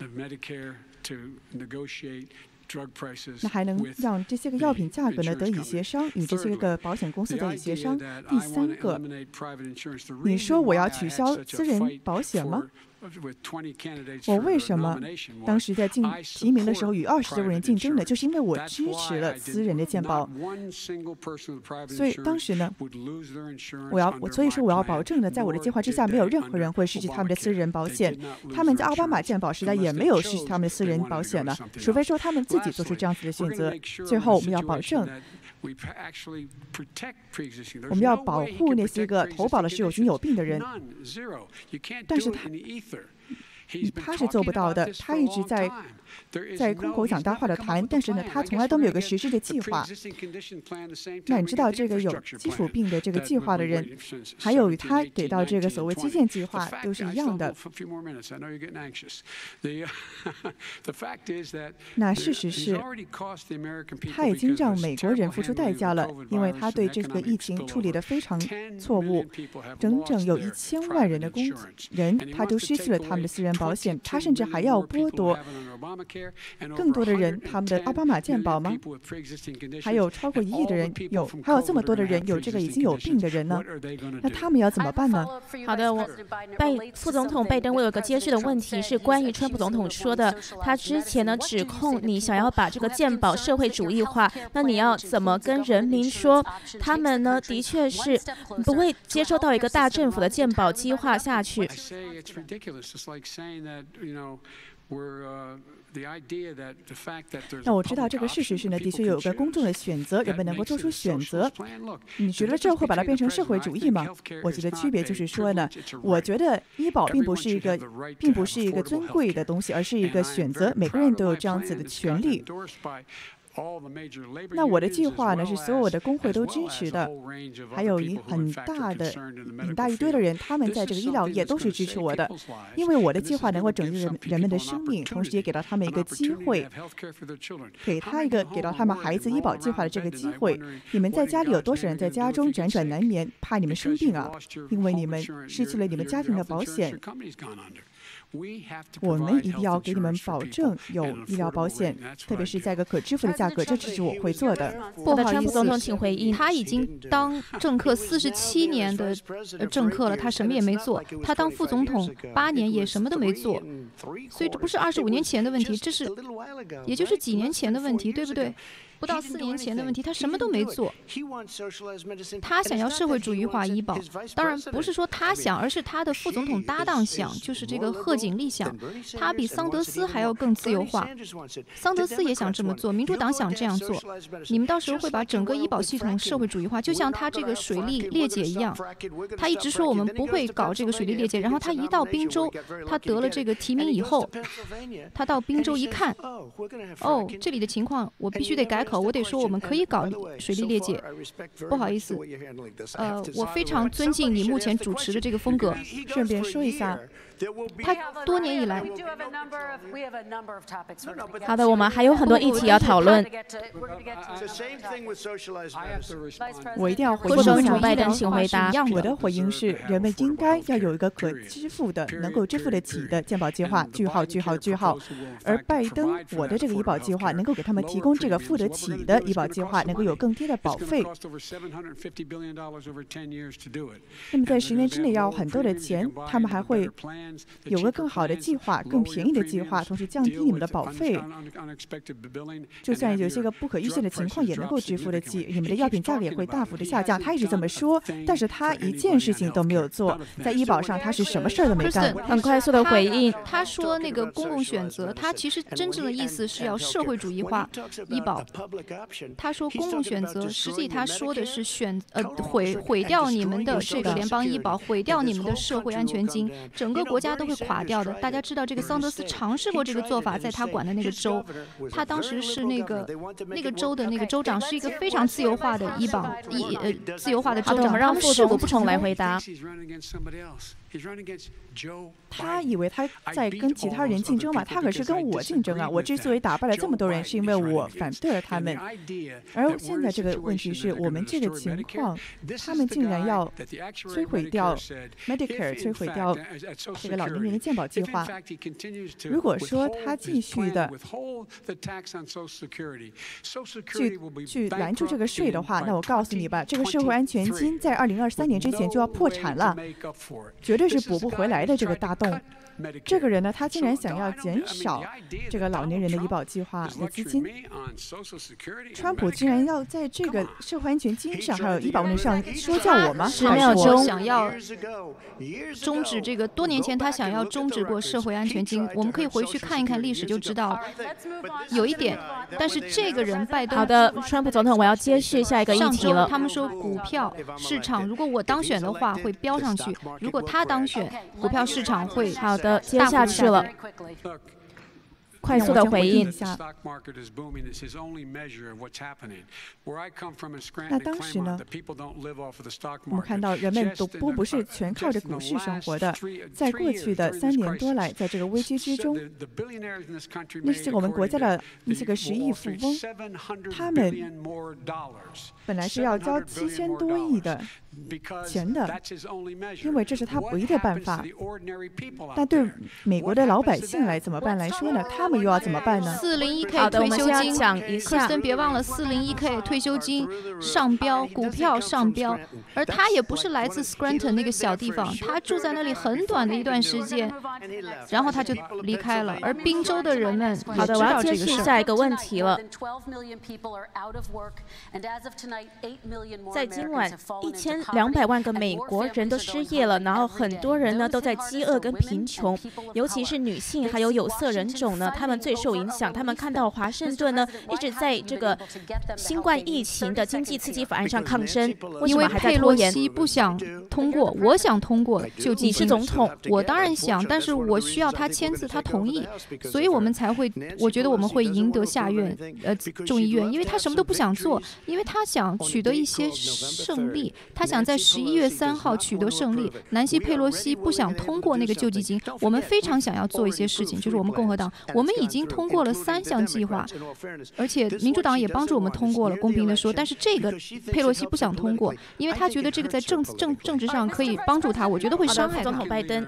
那还能让这些个药品价格呢得以协商，与这些个保险公司得以协商。第三个，你说我要取消私人保险吗？我为什么当时在竞提名的时候与二十多个人竞争呢？就是因为我支持了私人的健保，所以当时呢，我要我所以说我要保证呢，在我的计划之下，没有任何人会失去他们的私人保险。他们在奥巴马健保时代也没有失去他们的私人保险了，除非说他们自己做出这样子的选择。最后，我们要保证。我们要保护那些个投保的是有心有病的人，但是他他是做不到的。他一直在在空口讲大话的谈，但是呢，他从来都没有个实施的计划。那你知道这个有基础病的这个计划的人，还有与他给到这个所谓基建计划都是一样的。那事实是，他已经让美国人付出代价了，因为他对这个疫情处理得非常错误。整整有一千万人的工人，他都失去了他们的私人保险，他甚至还要剥夺更多的人他们的奥巴马健保吗？还有超过一亿的人有，还有这么多的人有这个已经有病的人呢？那他们要怎么办呢？ 好的，我拜副总统拜登，我有个接续的问题是关于川普总统说的，他之前呢指控你想要把这个健保社会主义化，那你要怎么跟人民说，他们呢的确是不会接受到一个大政府的健保计划下去？ 那我知道这个事实是呢，的确有个公众的选择，人们能够做出选择。你觉得这会把它变成社会主义吗？我觉得区别就是说呢，我觉得医保并不是一个，并不是一个尊贵的东西，而是一个选择，每个人都有这样子的权利。 那我的计划呢，是所有的工会都支持的，还有一很大的、很大一堆的人，他们在这个医疗业都是支持我的，因为我的计划能够拯救人人们的生命，同时也给到他们一个机会，给他一个给到他们孩子医保计划的这个机会。你们在家里有多少人在家中辗转难眠，怕你们生病啊？因为你们失去了你们家庭的保险。我们一定要给你们保证有医疗保险，特别是在一个可支付的价格，这只是我会做的。 不好意思，总统，请回应。他已经当政客四十七年的政客了，他什么也没做。他当副总统八年也什么都没做，所以这不是二十五年前的问题，这是也就是几年前的问题，对不对？不到四年前的问题，他什么都没做。他想要社会主义化医保，当然不是说他想，而是他的副总统搭档想，就是这个贺锦丽想。他比桑德斯还要更自由化。桑德斯也想这么做，民主党想这样做。你们到时候会把整个医保系统社会主义化，就像他这个水利裂解一样。他一直说我们不会搞这个水利裂解，然后他一到宾州，他得了这个提名以后，他到宾州一看，哦，这里的情况我必须得改口，我得说我们可以搞水利裂解。不好意思，呃，我非常尊敬你目前主持的这个风格。 顺便说一下， 他多年以来， 好的，我们还有很多议题要讨论。 我一定要回应一下拜登，请回答。 我的回应是，人们应该要有一个可支付的、能够支付得起的健保计划。句号句号句号。而拜登，我的这个医保计划能够给他们提供这个付得起的医保计划，能够有更低的保费。那么在十年之内要很多的钱，他们还会有个更好的计划、更便宜的计划，同时降低你们的保费。就算有些个不可预见的情况，也能够支付得起。你们的药品价格也会大幅的下降。他一直这么说，但是他一件事情都没有做，在医保上他是什么事儿都没干。 很快速的回应， 他说那个公共选择，他其实真正的意思是要社会主义化医保。他说公共选择，实际他说的是选呃毁毁掉你们的这个联邦医保，毁掉你们的社会安全金，整个国家都会垮掉的。大家知道这个桑德斯尝试过这个做法，在他管的那个州，他当时是那个那个州的那个州长，是一个非常自由化的医保医呃自由化的州长。 我们让副总统来回答。 他以为他在跟其他人竞争嘛？他可是跟我竞争啊！我之所以打败了这么多人，是因为我反对了他们。而现在这个问题是我们这个情况，他们竟然要摧毁掉 Medicare， 摧毁掉这个老年人的健保计划。如果说他继续的去去拦住这个税的话，那我告诉你吧，这个社会安全金在二零二三年之前就要破产了，绝对是补不回来的这个大洞。这个人呢，他竟然想要减少这个老年人的医保计划的资金。川普竟然要在这个社会安全金上还有医保问题上说教我吗？ 十秒钟想要终止这个，多年前他想要终止过社会安全金，我们可以回去看一看历史就知道。有一点，但是这个人拜登。 好的，川普总统，我要接续下一个议题了。 他们说股票市场，如果我当选的话会飙上去；如果他当选，股票市场会好的接下去了。快速的回应。 那当时呢，我们看到人们都不不是全靠着股市生活的。在过去的三年多来，在这个危机之中，那些我们国家的那些个十亿富翁，他们本来是要交七千多亿的钱的，因为这是他唯一的办法。但对美国的老百姓来怎么办来说呢？他们又要怎么办呢？ 四零一 K 退休金，克斯登别忘了，四零一 K 退休金上标，股票上标，而他也不是来自 Scranton 那个小地方，他住在那里很短的一段时间，然后他就离开了。而宾州的人们也知道这个事。 下一个问题了。在今晚，一千两百万个美国人都失业了，然后很多人呢都在饥饿跟贫穷，尤其是女性还有有色人种呢，他们最受影响。他们看到华盛顿呢一直在这个新冠疫情的经济刺激法案上抗争，为什么还在拖延？ 因为佩洛西不想通过，我想通过救济金。 你是总统， 我当然想，但是我需要他签字，他同意，所以我们才会，我觉得我们会赢得下院，呃，众议院，因为他什么都不想做，因为他想取得一些胜利，他想在十一月三号取得胜利。南希佩洛西不想通过那个救济金，我们非常想要做一些事情，就是我们共和党，我们已经通过了三项计划，而且民主党也帮助我们通过了。公平的说，但是这个佩洛西不想通过，因为他觉得这个在政政政治上可以帮助他，我觉得会伤害他。 总统拜登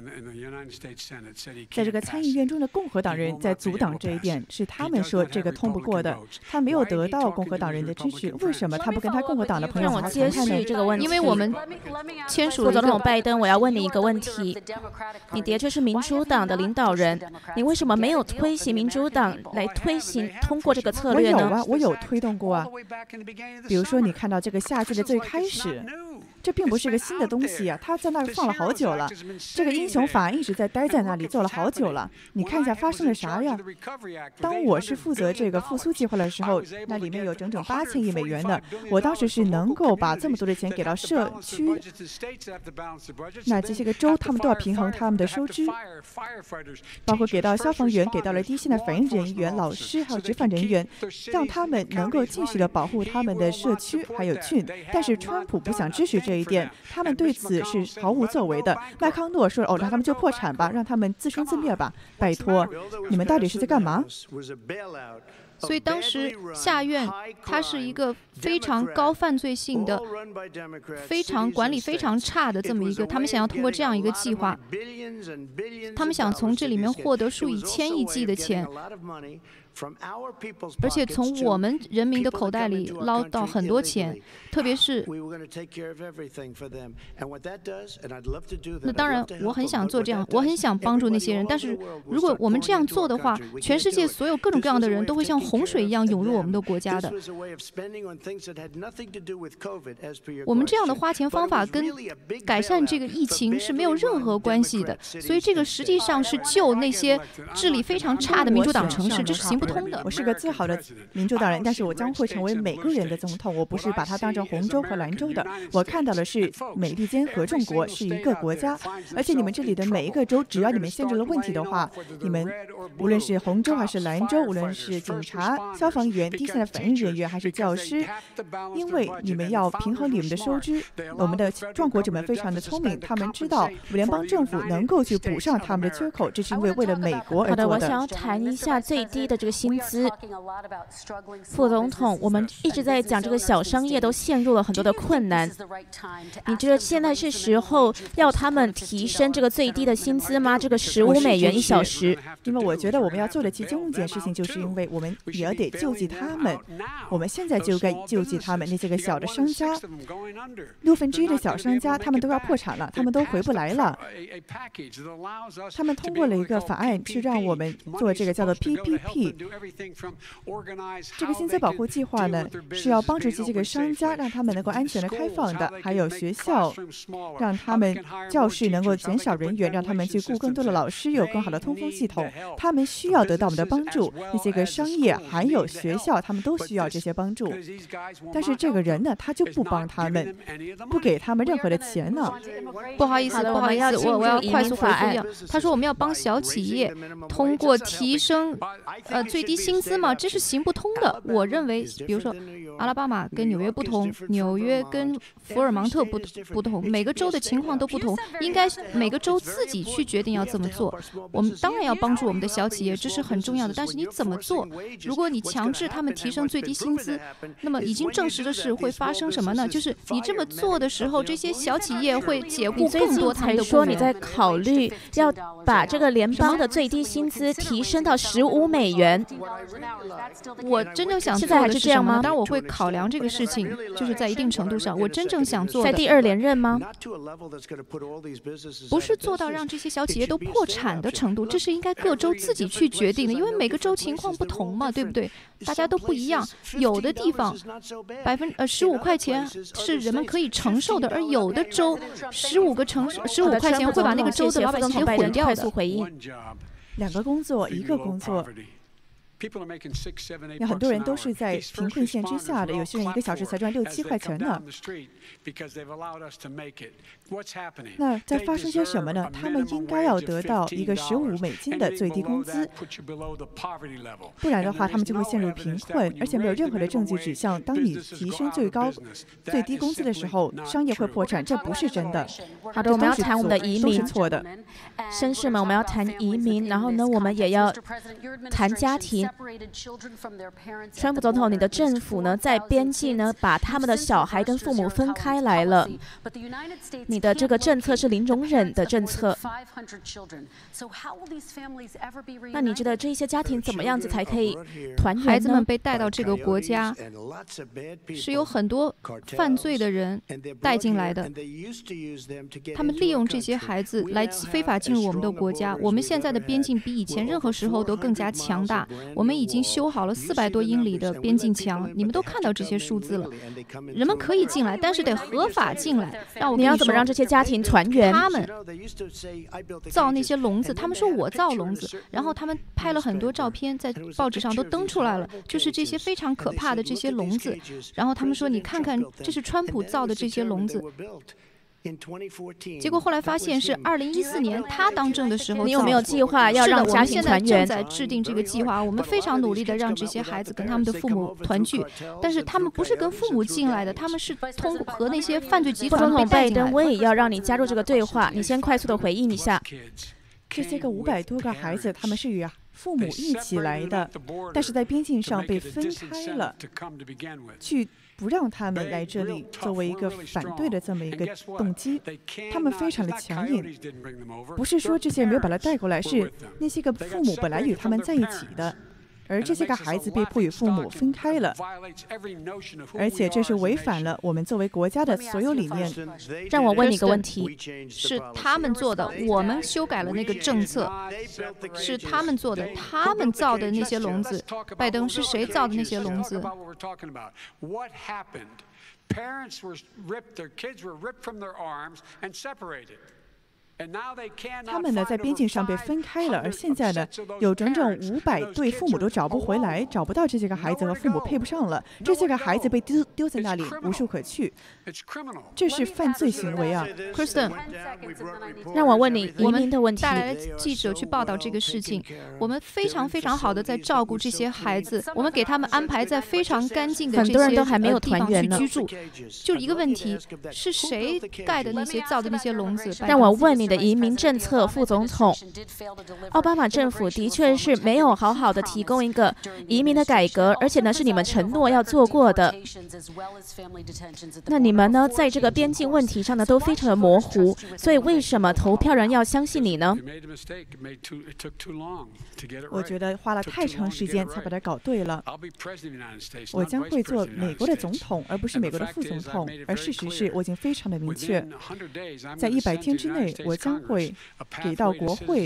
在这个参议院中的共和党人在阻挡这一点，是他们说这个通不过的，他没有得到共和党人的支持。为什么他不跟他共和党的朋友好好谈谈呢？ 这个问题， 因为我们签署了总统拜登，我要问你一个问题：你的确是民主党的领导人，你为什么没有推行民主党来推行通过这个策略呢？ 我有啊，我有推动过啊。比如说，你看到这个夏季的最开始。这并不是个新的东西啊，他在那儿放了好久了。这个英雄法案一直在待在那里做了好久了。你看一下发生了啥呀？当我是负责这个复苏计划的时候，那里面有整整八千亿美元的。我当时是能够把这么多的钱给到社区，那这些个州他们都要平衡他们的收支，包括给到消防员，给到了第一线的反应人员、老师还有执法人员，让他们能够继续的保护他们的社区还有郡。但是川普不想支持这。这一点，他们对此是毫无作为的。麦康诺说：“哦，让他们就破产吧，让他们自生自灭吧。”拜托，你们到底是在干嘛？ 所以当时下院它是一个非常高犯罪性的、非常管理非常差的这么一个，他们想要通过这样一个计划，他们想从这里面获得数以千亿计的钱。而且从我们人民的口袋里捞到很多钱，特别是那当然我很想做这样，我很想帮助那些人，但是如果我们这样做的话，全世界所有各种各样的人都会像洪水一样涌入我们的国家的。我们这样的花钱方法跟改善这个疫情是没有任何关系的，所以这个实际上是救那些治理非常差的民主党城市，这是行不通的。 我是个自豪的民主党人，但是我将会成为每个人的总统。我不是把它当成红州和蓝州的，我看到的是美利坚合众国是一个国家，而且你们这里的每一个州，只要你们限制了问题的话，你们无论是红州还是蓝州，无论是警察、消防员、第一线的反应人员还是教师，因为你们要平衡你们的收支。我们的壮国者们非常的聪明，他们知道联邦政府能够去补上他们的缺口，这是因为为了美国而做的。 好的，我想要谈一下最低的这个薪资。副总统，我们一直在讲这个小商业都陷入了很多的困难。你觉得现在是时候要他们提升这个最低的薪资吗？这个十五美元一小时？ 因为我觉得我们要做的其中一件事情，就是因为我们也要得救济他们。我们现在就该救济他们那些个小的商家，六分之一的小商家，他们都要破产了，他们都回不来了。他们通过了一个法案，去让我们做这个叫做 P P P。这个薪资保护计划呢，是要帮助这些个商家，让他们能够安全的开放的，还有学校，让他们教室能够减少人员，让他们去雇更多的老师，有更好的通风系统。他们需要得到我们的帮助，那些个商业还有学校，他们都需要这些帮助。但是这个人呢，他就不帮他们，不给他们任何的钱呢。 不好意思，不好意思，我我要快速回复一下。他说我们要帮小企业通过提升呃最低薪资嘛，这是行不通的。我认为，比如说阿拉巴马跟纽约不同，纽约跟福尔芒特不不同，每个州的情况都不同，应该每个州自己去决定要怎么做。我们当然要帮助我们的小企业，这是很重要的。但是你怎么做？如果你强制他们提升最低薪资，那么已经证实的是会发生什么呢？就是你这么做的时候，这些小企业会解雇更多他们的雇员。 说你在考虑要把这个联邦的最低薪资提升到十五美元。 我真正想做现在还的是什么呢？ 是这样吗？ 当然我会考量这个事情，就是在一定程度上，我真正想做的， 在第二连任吗？ 不是做到让这些小企业都破产的程度，这是应该各州自己去决定的，因为每个州情况不同嘛，对不对？大家都不一样，有的地方百分呃十五块钱是人们可以承受的，而有的州十五个城市十五块钱会把那个州的老百姓给毁掉的。 两个工作，一个工作。那很多人都是在贫困线之下的，有些人一个小时才赚六七块钱呢。那在发生些什么呢？他们应该要得到一个十五美金的最低工资，不然的话，他们就会陷入贫困，而且没有任何的证据指向，当你提升最高最低工资的时候，商业会破产，这不是真的。 好的，我们要谈我们的移民， 都是错的。 绅士们，我们要谈移民，然后呢，我们也要谈家庭。川普总统，你的政府呢，在边境呢，把他们的小孩跟父母分开来了。你的这个政策是零容忍的政策。那你觉得这些家庭怎么样子才可以团圆呢？ 孩子们被带到这个国家，是有很多犯罪的人带进来的。他们利用这些孩子来非法进入我们的国家。我们现在的边境比以前任何时候都更加强大。我们已经修好了四百多英里的边境墙，你们都看到这些数字了。人们可以进来，但是得合法进来。让我你要怎么让这些家庭团圆？ 他们造那些笼子，他们说我造笼子，然后他们拍了很多照片，在报纸上都登出来了，就是这些非常可怕的这些笼子。然后他们说，你看看，这是川普造的这些笼子。结果后来发现是二零一四年他当政的时候。 你有没有计划要让家庭团圆？ 我们现在正在制定这个计划，我们非常努力的让这些孩子跟他们的父母团聚，但是他们不是跟父母进来的，他们是通过和那些犯罪集团被带进来的。 拜登，我也要让你加入这个对话，你先快速的回应一下。 这些个五百多个孩子，他们是与父母一起来的，但是在边境上被分开了，去不让他们来这里，作为一个反对的这么一个动机。他们非常的强硬，不是说这些人没有把他带过来，是那些个父母本来与他们在一起的。而这些个孩子被迫与父母分开了，而且这是违反了我们作为国家的所有理念。 让我问你一个问题， 是他们做的，我们修改了那个政策，是他们做的，他们造的那些笼子。拜登，是谁造的那些笼子他们呢，在边境上被分开了，而现在呢，有整整五百对父母都找不回来，找不到这些个孩子和父母配不上了，这些个孩子被丢丢在那里，无处可去，这是犯罪行为啊 ！Kristen， 让我问你移民的问题。 带来了记者去报道这个事情，我们非常非常好的在照顾这些孩子，我们给他们安排在非常干净的这些很多人都还没有地方去居住。就一个问题，是谁盖的那些造的那些笼子？ 让我问你。的移民政策，副总统，奥巴马政府的确是没有好好的提供一个移民的改革，而且呢是你们承诺要做过的。那你们呢，在这个边境问题上呢都非常的模糊，所以为什么投票人要相信你呢？ 我觉得花了太长时间才把它搞对了。我将会做美国的总统，而不是美国的副总统。而事实是我已经非常的明确，在一百天之内，我将会给到国会，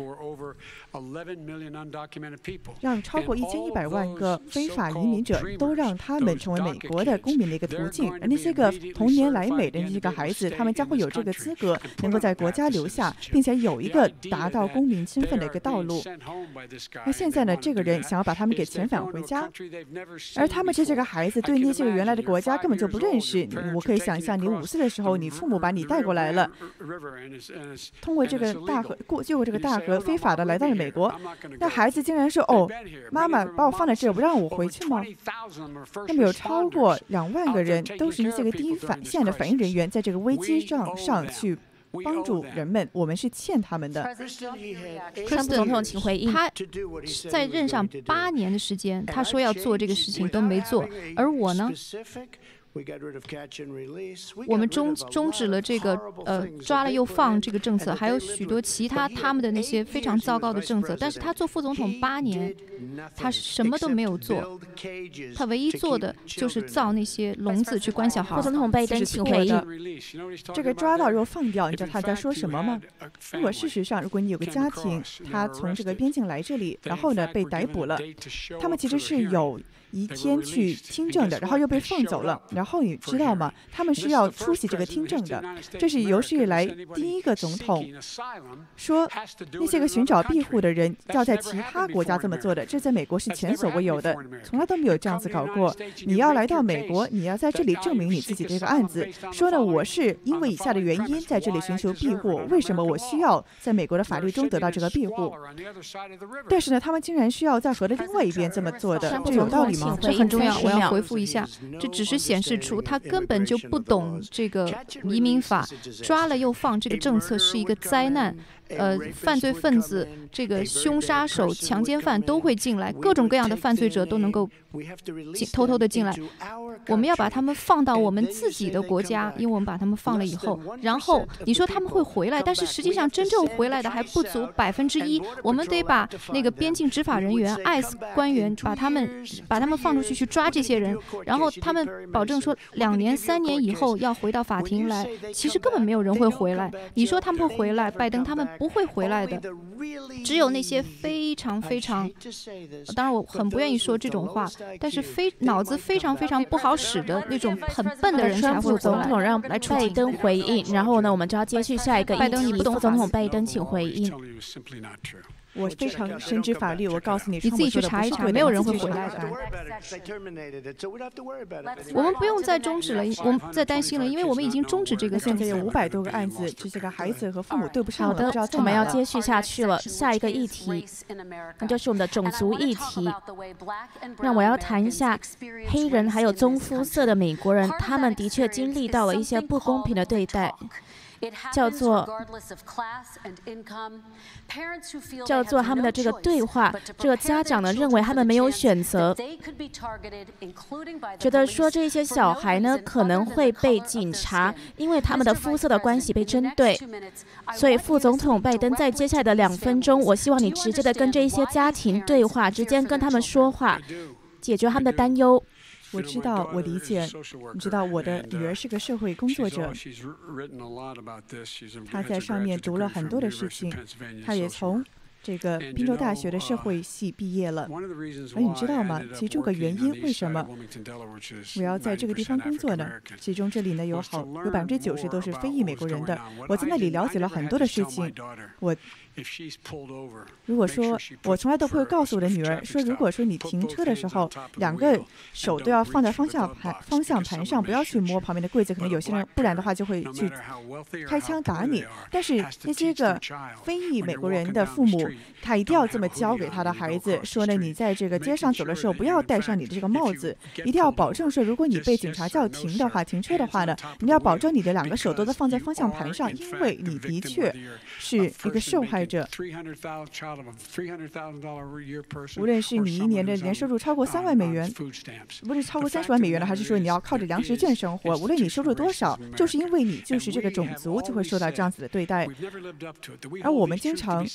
让超过一千一百万个非法移民者都让他们成为美国的公民的一个途径。而那些个童年来美的那些个孩子，他们将会有这个资格，能够在国家留下，并且有一个达到公民身份的一个道路。那现在呢，这个人想要把他们给遣返回家，而他们这些个孩子对那些个原来的国家根本就不认识。我可以想象，你五岁的时候，你父母把你带过来了。通过这个大河过，越过这个大河，非法的来到了美国。那孩子竟然说：“哦，妈妈把我放在这儿，不让我回去吗？”那么有超过两万个人都是这个第一反线的反应人员，在这个危机上上去帮助人们，我们是欠他们的。 川普总统，请回应。 他在任上八年的时间，他说要做这个事情都没做，而我呢？ 我们终终止了这个呃抓了又放这个政策，还有许多其他他们的那些非常糟糕的政策。但是他做副总统八年，他什么都没有做，他唯一做的就是造那些笼子去关小孩。 副总统拜登请回应。 这个抓到又放掉，你知道他在说什么吗？如果事实上，如果你有个家庭，他从这个边境来这里，然后呢被逮捕了，他们其实是有一天去听证的，然后又被放走了。然后你知道吗？他们是要出席这个听证的。这是有史以来第一个总统说那些个寻找庇护的人要在其他国家这么做的，这在美国是前所未有的，从来都没有这样子搞过。你要来到美国，你要在这里证明你自己这个案子，说呢我是因为以下的原因在这里寻求庇护，为什么我需要在美国的法律中得到这个庇护？但是呢，他们竟然需要在河的另外一边这么做的，这有道理吗？ 这很重要，我要回复一下，这只是显示出他根本就不懂这个移民法，抓了又放这个政策是一个灾难。呃，犯罪分子、这个凶杀手、强奸犯都会进来，各种各样的犯罪者都能够进偷偷的进来。我们要把他们放到我们自己的国家，因为我们把他们放了以后，然后你说他们会回来，但是实际上真正回来的还不足百分之一。我们得把那个边境执法人员、I C E 官员把他们把他们放出去去抓这些人，然后他们保证说两年、三年以后要回到法庭来。其实根本没有人会回来。你说他们会回来，拜登他们不会回来的，只有那些非常非常，当然我很不愿意说这种话，但是非脑子非常非常不好使的那种很笨的人才会回来。 总统让拜登回应，然后呢，我们就要接续下一个议题。 拜登你不懂， 副总统拜登请回应。 我非常深知法律，我告诉你， 你自己去查一查，没有人会回来的。我们不用再终止了，我们再担心了，因为我们已经终止这个。 现在有五百多个案子，这些个孩子和父母对不上了。 好的，我们要接续下去了。下一个议题，那就是我们的种族议题。那我要谈一下黑人还有棕肤色的美国人，他们的确经历到了一些不公平的对待。叫做叫做他们的这个对话，这个家长呢认为他们没有选择，觉得说这些小孩呢可能会被警察因为他们的肤色的关系被针对。所以副总统拜登在接下来的两分钟，我希望你直接的跟这些家庭对话，直接跟他们说话，解决他们的担忧。 我知道，我理解。你知道，我的女儿是个社会工作者，她在上面读了很多的事情，她也从这个宾州大学的社会系毕业了。而你知道吗？其中个原因为什么我要在这个地方工作呢？其中这里呢有好有百分之九十都是非裔美国人的。我在那里了解了很多的事情。我如果说我从来都不会告诉我的女儿说，如果说你停车的时候，两个手都要放在方向盘方向盘上，不要去摸旁边的柜子，可能有些人不然的话就会去开枪打你。但是那些个非裔美国人的父母，他一定要这么教给他的孩子，说呢，你在这个街上走的时候，不要戴上你的这个帽子，一定要保证说，如果你被警察叫停的话，停车的话呢，你要保证你的两个手都在放在方向盘上，因为你的确是一个受害者。无论是你一年的年收入超过三万美元，不是超过三十万美元的，还是说你要靠着粮食券生活，无论你收入多少，就是因为你就是这个种族，就会受到这样子的对待。而我们经常，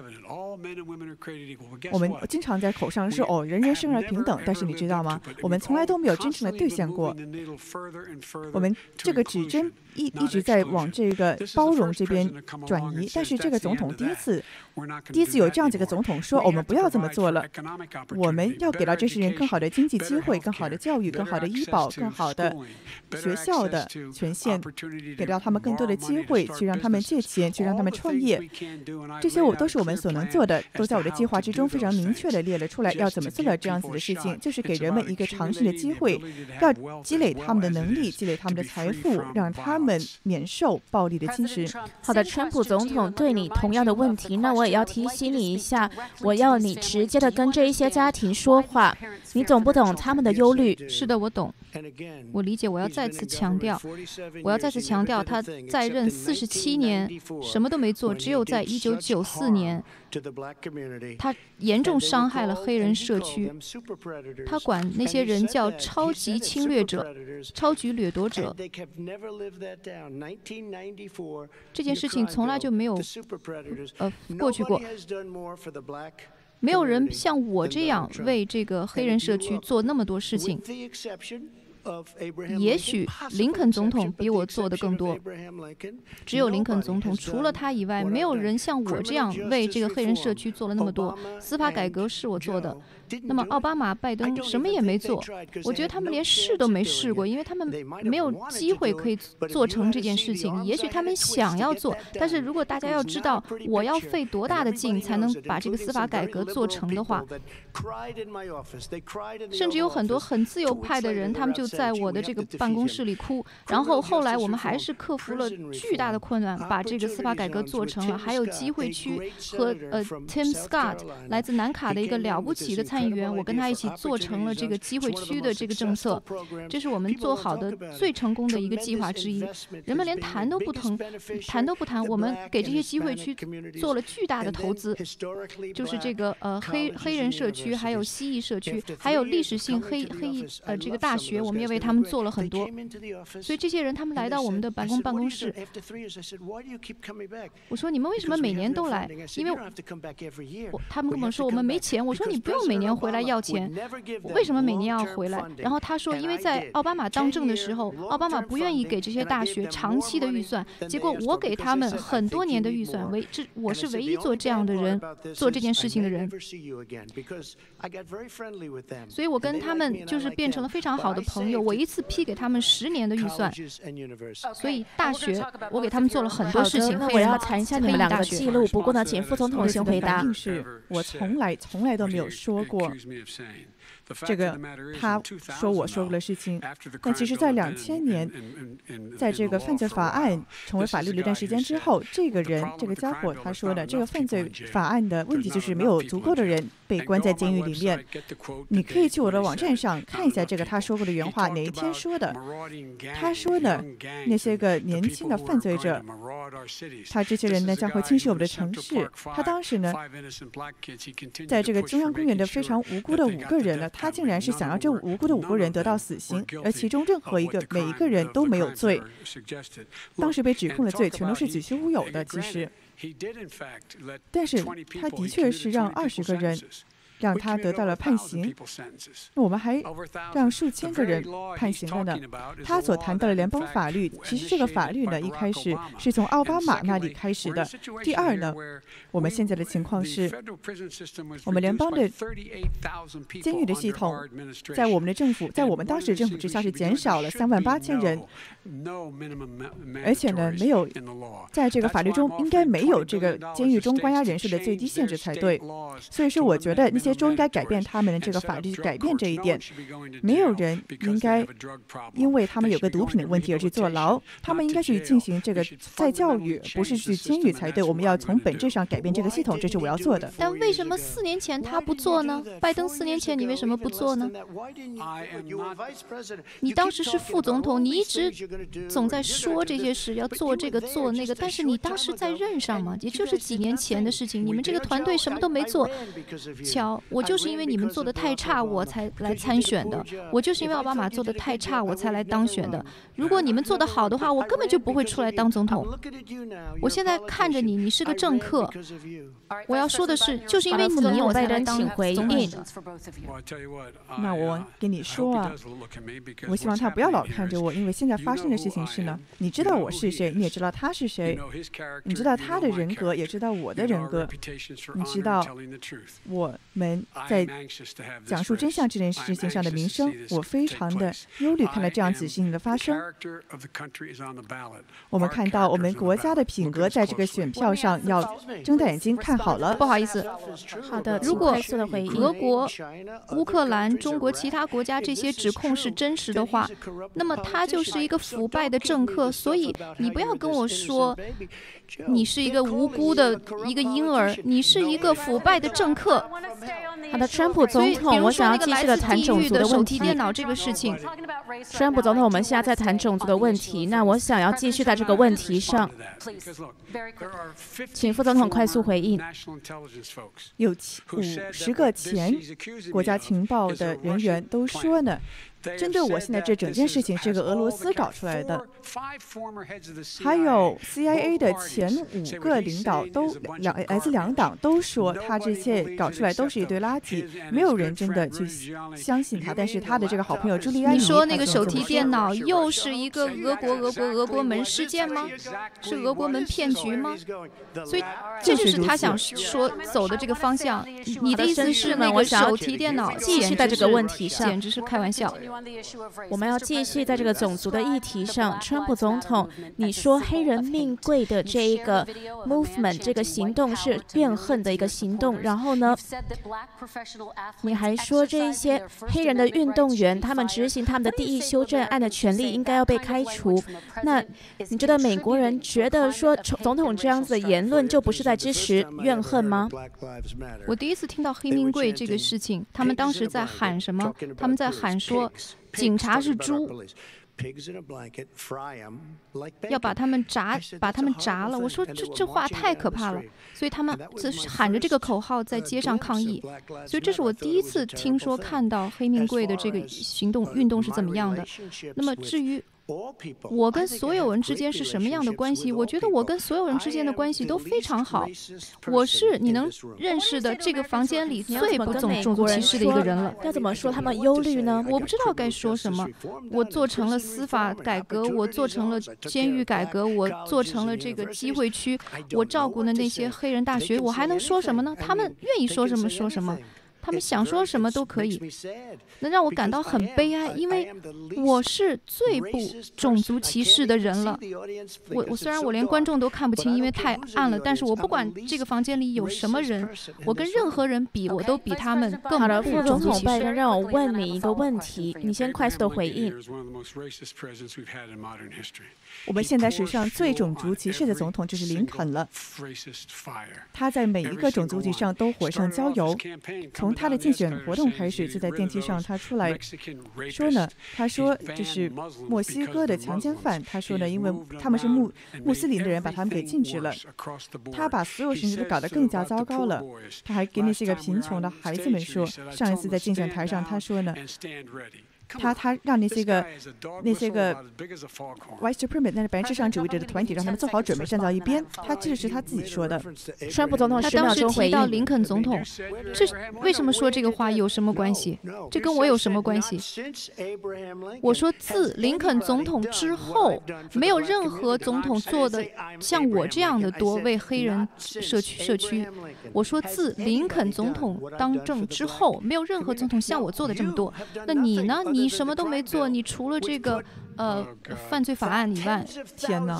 我们经常在口上说哦，人人生而平等，但是你知道吗？我们从来都没有真正的兑现过。我们这个指针一一直在往这个包容这边转移，但是这个总统第一次，第一次有这样子一个总统说，我们不要这么做了，我们要给到这些人更好的经济机会、更好的教育、更好的医保、更好的学校的权限，给到他们更多的机会，去让他们借钱，去让他们创业。这些我都是我们所能做的，都在我的计划之中非常明确的列了出来，要怎么做到这样子的事情，就是给人们一个尝试的机会，要积累他们的能力，积累他们的财富，让他们们免受暴力的侵蚀。 好的，川普总统对你同样的问题，那我也要提醒你一下，我要你直接的跟这一些家庭说话，你懂不懂他们的忧虑？ 是的，我懂，我理解。我要再次强调，我要再次强调，他在任四十七年，什么都没做，只有在一九九四年，他严重伤害了黑人社区。他管那些人叫超级侵略者、超级掠夺者。这件事情从来就没有呃过去过。没有人像我这样为这个黑人社区做那么多事情。也许林肯总统比我做的更多，只有林肯总统，除了他以外，没有人像我这样为这个黑人社区做了那么多。司法改革是我做的，那么奥巴马、拜登什么也没做。我觉得他们连试都没试过，因为他们没有机会可以做成这件事情。也许他们想要做，但是如果大家要知道我要费多大的劲才能把这个司法改革做成的话，甚至有很多很自由派的人，他们就在我的这个办公室里哭，然后后来我们还是克服了巨大的困难，把这个司法改革做成了。还有机会区和呃 Tim Scott 来自南卡的一个了不起的参议员，我跟他一起做成了这个机会区的这个政策，这是我们做好的最成功的一个计划之一。人们连谈都不谈，谈都不谈，我们给这些机会区做了巨大的投资，就是这个呃黑黑人社区，还有蜥蜴社区，还有历史性黑黑呃这个大学，我们也为他们做了很多。所以这些人他们来到我们的白宫办公室，我说你们为什么每年都来？因为我他们跟我说我们没钱。我说你不用每年回来要钱，为什么每年要回来？然后他说因为在奥巴马当政的时候，奥巴马不愿意给这些大学长期的预算，结果我给他们很多年的预算，唯这我是唯一做这样的人，做这件事情的人。所以我跟他们就是变成了非常好的朋友，我一次批给他们十年的预算。所以大学我给他们做了很多事情。 那我要谈一下你们两个记录，不过呢，请副总统先回答。 是我从来从来都没有说过这个他说我说过的事情，但其实在两千年，在这个犯罪法案成为法律的一段时间之后，这个人这个家伙他说的这个犯罪法案的问题就是没有足够的人被关在监狱里面。你可以去我的网站上看一下这个他说过的原话，哪一天说的。他说的那些个年轻的犯罪者，他这些人呢将会侵蚀我们的城市。他当时呢在这个中央公园的非常无辜的五个人呢，他竟然是想要这无辜的五个人得到死刑，而其中任何一个每一个人都没有罪，当时被指控的罪全都是子虚乌有的。其实，但是他的确是让二十个人让他得到了判刑，那我们还让数千个人判刑了呢。他所谈到的联邦法律，其实这个法律呢，一开始是从奥巴马那里开始的。第二呢，我们现在的情况是，我们联邦的监狱的系统，在我们的政府，在我们当时的政府之下是减少了三万八千人，而且呢，没有在这个法律中应该没有这个监狱中关押人数的最低限制才对。所以说，我觉得那些州应该改变他们的这个法律，改变这一点。没有人应该因为他们有个毒品的问题而去坐牢，他们应该去进行这个再教育，不是去监狱才对。我们要从本质上改变这个系统，这是我要做的。 但为什么四年前他不做呢？拜登四年前你为什么不做呢？你当时是副总统，你一直总在说这些事，要做这个做那个，但是你当时在任上嘛，也就是几年前的事情，你们这个团队什么都没做。瞧，我就是因为你们做的太差，我才来参选的。我就是因为奥巴马做的太差，我才来当选的。如果你们做得好的话，我根本就不会出来当总统。我现在看着你，你是个政客。我要说的是，就是因为你，我才来当总统。 那我跟你说啊，我希望他不要老看着我，因为现在发生的事情是呢，你知道我是谁，你也知道他是谁，你知道他的人格，也知道我的人格，你知道我们们在讲述真相这件事情上的名声，我非常的忧虑看到这样子事情的发生。我们看到我们国家的品格在这个选票上要睁大眼睛看好了。 不好意思， 好的， 如果俄国、乌克兰、中国其他国家这些指控是真实的话，那么他就是一个腐败的政客。所以你不要跟我说你是一个无辜的一个婴儿，你是一个腐败的政客。 好的，川普总统，我想要继续的谈种族的问题。 手提电脑这个事情， 川普总统，我们现在在谈种族的问题，那我想要继续在这个问题上，请副总统快速回应。 有五十个前国家情报的人员都说呢，针对我现在这整件事情是个俄罗斯搞出来的，还有 C I A 的前五个领导都两来自两党都说他这些搞出来都是一堆垃圾，没有人真的去相信他。但是他的这个好朋友朱利安尼， 你说那个手提电脑又是一个俄国俄国俄国门事件吗？是俄国门骗局吗？所以这就是他想说走的这个方向。你的意思是那个手提电脑继续在这个问题上， 简直是开玩笑。 我们要继续在这个种族的议题上。川普总统，你说黑人命贵的这一个 movement 这个行动是怨恨的一个行动，然后呢，你还说这一些黑人的运动员他们执行他们的第一修正案的权利应该要被开除。那你觉得美国人觉得说总统这样子的言论就不是在支持怨恨吗？ 我第一次听到黑命贵这个事情，他们当时在喊什么？他们在喊说警察是猪，要把他们炸，把他们炸了。我说这这话太可怕了，所以他们喊着这个口号在街上抗议。所以这是我第一次听说看到黑命贵的这个行动运动是怎么样的。那么至于我跟所有人之间是什么样的关系？我觉得我跟所有人之间的关系都非常好。我是你能认识的这个房间里最不种种族歧视的一个人了。 要怎么说他们忧虑呢？ 我不知道该说什么。我做成了司法改革，我做成了监狱改革，我做成了这个机会区，我照顾的那些黑人大学，我还能说什么呢？他们愿意说什么说什么。他们想说什么都可以，能让我感到很悲哀，因为我是最不种族歧视的人了。我我虽然我连观众都看不清，因为太暗了，但是我不管这个房间里有什么人，我跟任何人比，我都比他们更好的。 不副总统拜登， 种族歧视。 让我问你一个问题，你先快速的回应。 我们现在史上最种族歧视的总统就是林肯了，他在每一个种族议题上都火上浇油。从他的竞选活动开始，就在电梯上他出来说呢，他说这是墨西哥的强奸犯，他说呢，因为他们是穆穆斯林的人，把他们给禁止了。他把所有事情都搞得更加糟糕了。他还给那些个贫穷的孩子们说，上一次在竞选台上他说呢，他他让那些个那些个 white supremacist 那是白人至上主义者的团体让他们做好准备站到一边。他这是他自己说的。 川普总统他十秒当时钟回应。 提到林肯总统，这为什么说这个话有什么关系？这跟我有什么关系？我说自林肯总统之后，没有任何总统做的像我这样的多为黑人社区社区。我说自林肯总统当政之后，没有任何总统像我做的这么多。那你呢？你什么都没做，你除了这个呃犯罪法案以外， 天哪！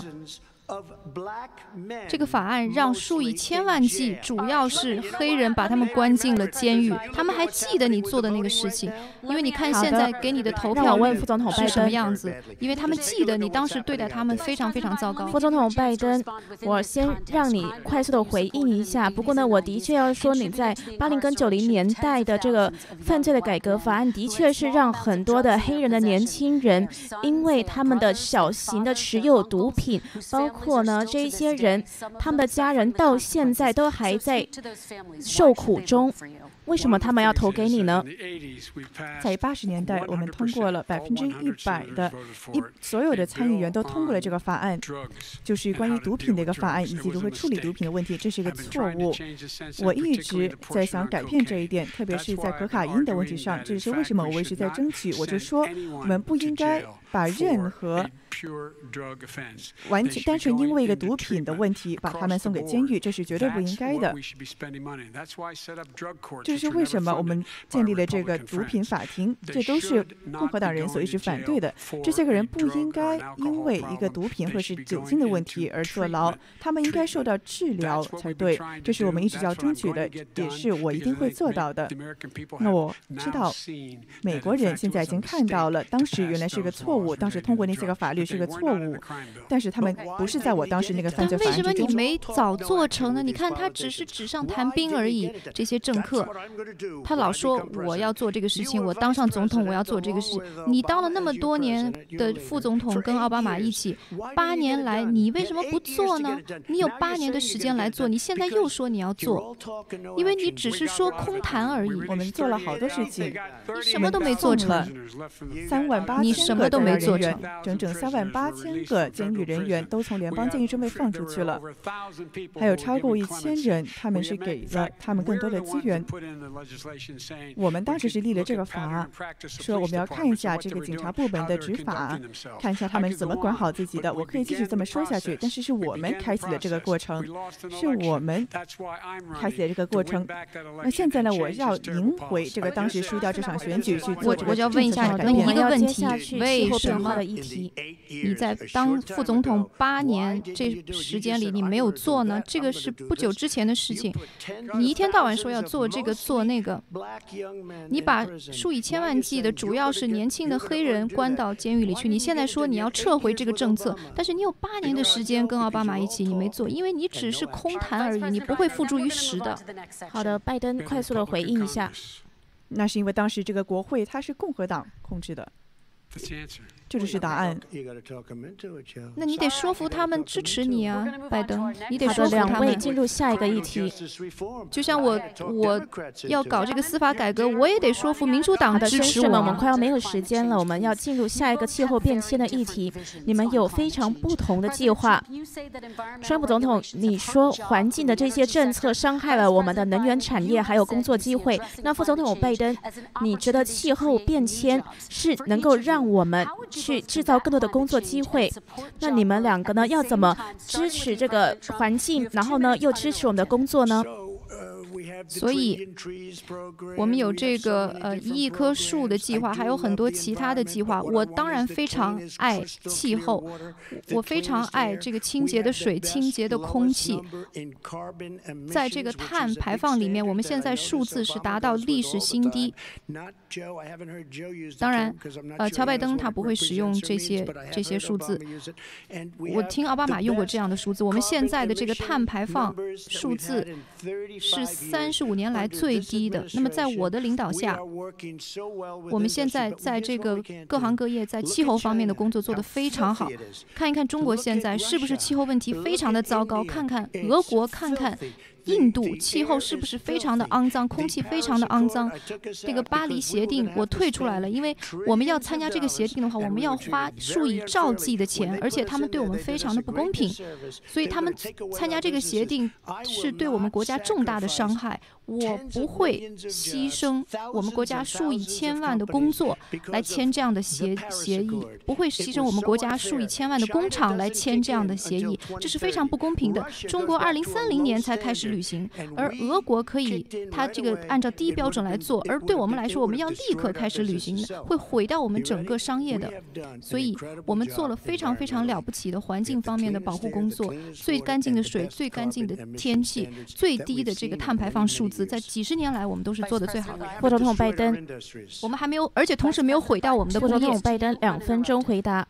这个法案让数以千万计主要是黑人把他们关进了监狱，他们还记得你做的那个事情，因为你看现在给你的投票率是什么样子，因为他们记得你当时对待他们非常非常糟糕。 副总统拜登，我先让你快速的回应一下。不过呢，我的确要说，你在八零跟九零年代的这个犯罪的改革法案，的确是让很多的黑人的年轻人，因为他们的小型的持有毒品，包括包括呢，这些人他们的家人到现在都还在受苦中。为什么他们要投给你呢？ 在八十年代，我们通过了百分之一百的一所有的参议员都通过了这个法案，就是关于毒品的一个法案，以及如何处理毒品的问题。这是一个错误。我一直在想改变这一点，特别是在可卡因的问题上。这是为什么我一直在争取。我就说，我们不应该把任何完全单纯因为一个毒品的问题把他们送给监狱，这是绝对不应该的。这是为什么我们建立了这个毒品法庭，这都是共和党人所一直反对的。这些个人不应该因为一个毒品或是酒精的问题而坐牢，他们应该受到治疗才对。这是我们一直要争取的，也是我一定会做到的。那我知道美国人现在已经看到了，当时原来是个错误，当时通过那些个法律是个错误，但是他们不是在我当时那个犯罪法案之中。 但为什么你没早做成呢？你看他只是纸上谈兵而已，这些政客，他老说我要做这个事情，我当上总统我要做这个事。你当了那么多年的副总统，跟奥巴马一起，八年来你为什么不做呢？你有八年的时间来做，你现在又说你要做，因为你只是说空谈而已。 我们做了好多事情， 你什么都没做成。 三万八千个人员，整整三万八千个监狱人员都从联邦监狱中被放出去了，还有超过一千人，他们是给了他们更多的资源。我们当时是立了这个法，说我们要看一下这个警察部门的执法，看一下他们怎么管好自己的。我可以继续这么说下去，但是是我们开启了这个过程，是我们开启了这个过程。那现在呢，我要赢回这个当时输掉这场选举，去做这个政策上的改变。 一个问题，为什么你在当副总统八年这时间里你没有做呢？这个是不久之前的事情。你一天到晚说要做这个做那个，你把数以千万计的主要是年轻的黑人关到监狱里去。你现在说你要撤回这个政策，但是你有八年的时间跟奥巴马一起，你没做，因为你只是空谈而已，你不会付诸于实的。 好的，拜登快速的回应一下。 那是因为当时这个国会它是共和党控制的，这就是答案。 那你得说服他们支持你啊，拜登，你得说服他们。 两位进入下一个议题。 就像我我要搞这个司法改革，我也得说服民主党支持我。 我们快要没有时间了，我们要进入下一个气候变迁的议题。你们有非常不同的计划。川普总统，你说环境的这些政策伤害了我们的能源产业，还有工作机会。那副总统拜登，你觉得气候变迁是能够让我们去制造更多的工作机会？那你们两个呢，要怎么支持这个环境，然后呢，又支持我们的工作呢？ 所以，我们有这个呃一亿棵树的计划，还有很多其他的计划。我当然非常爱气候，我非常爱这个清洁的水、清洁的空气。在这个碳排放里面，我们现在数字是达到历史新低。当然，呃，乔拜登他不会使用这些这些数字。我听奥巴马用过这样的数字。我们现在的这个碳排放数字是三十五年来最低的。那么在我的领导下，我们现在在这个各行各业在气候方面的工作做得非常好。看一看中国现在是不是气候问题非常的糟糕？看看俄国，看看印度，气候是不是非常的肮脏，空气非常的肮脏？这个巴黎协定我退出来了，因为我们要参加这个协定的话，我们要花数以兆计的钱，而且他们对我们非常的不公平，所以他们参加这个协定是对我们国家重大的伤害。我不会牺牲我们国家数以千万的工作来签这样的协协议，不会牺牲我们国家数以千万的工厂来签这样的协议，这是非常不公平的。中国二零三零年才开始履行，而俄国可以它这个按照低标准来做，而对我们来说，我们要立刻开始履行的，会毁掉我们整个商业的。所以我们做了非常非常了不起的环境方面的保护工作，最干净的水、最干净的天气、最低的这个碳排放数字，在几十年来我们都是做的最好的。 副总统拜登， 我们还没有，而且同时没有毁掉我们的工业。 副总统拜登，两分钟回答。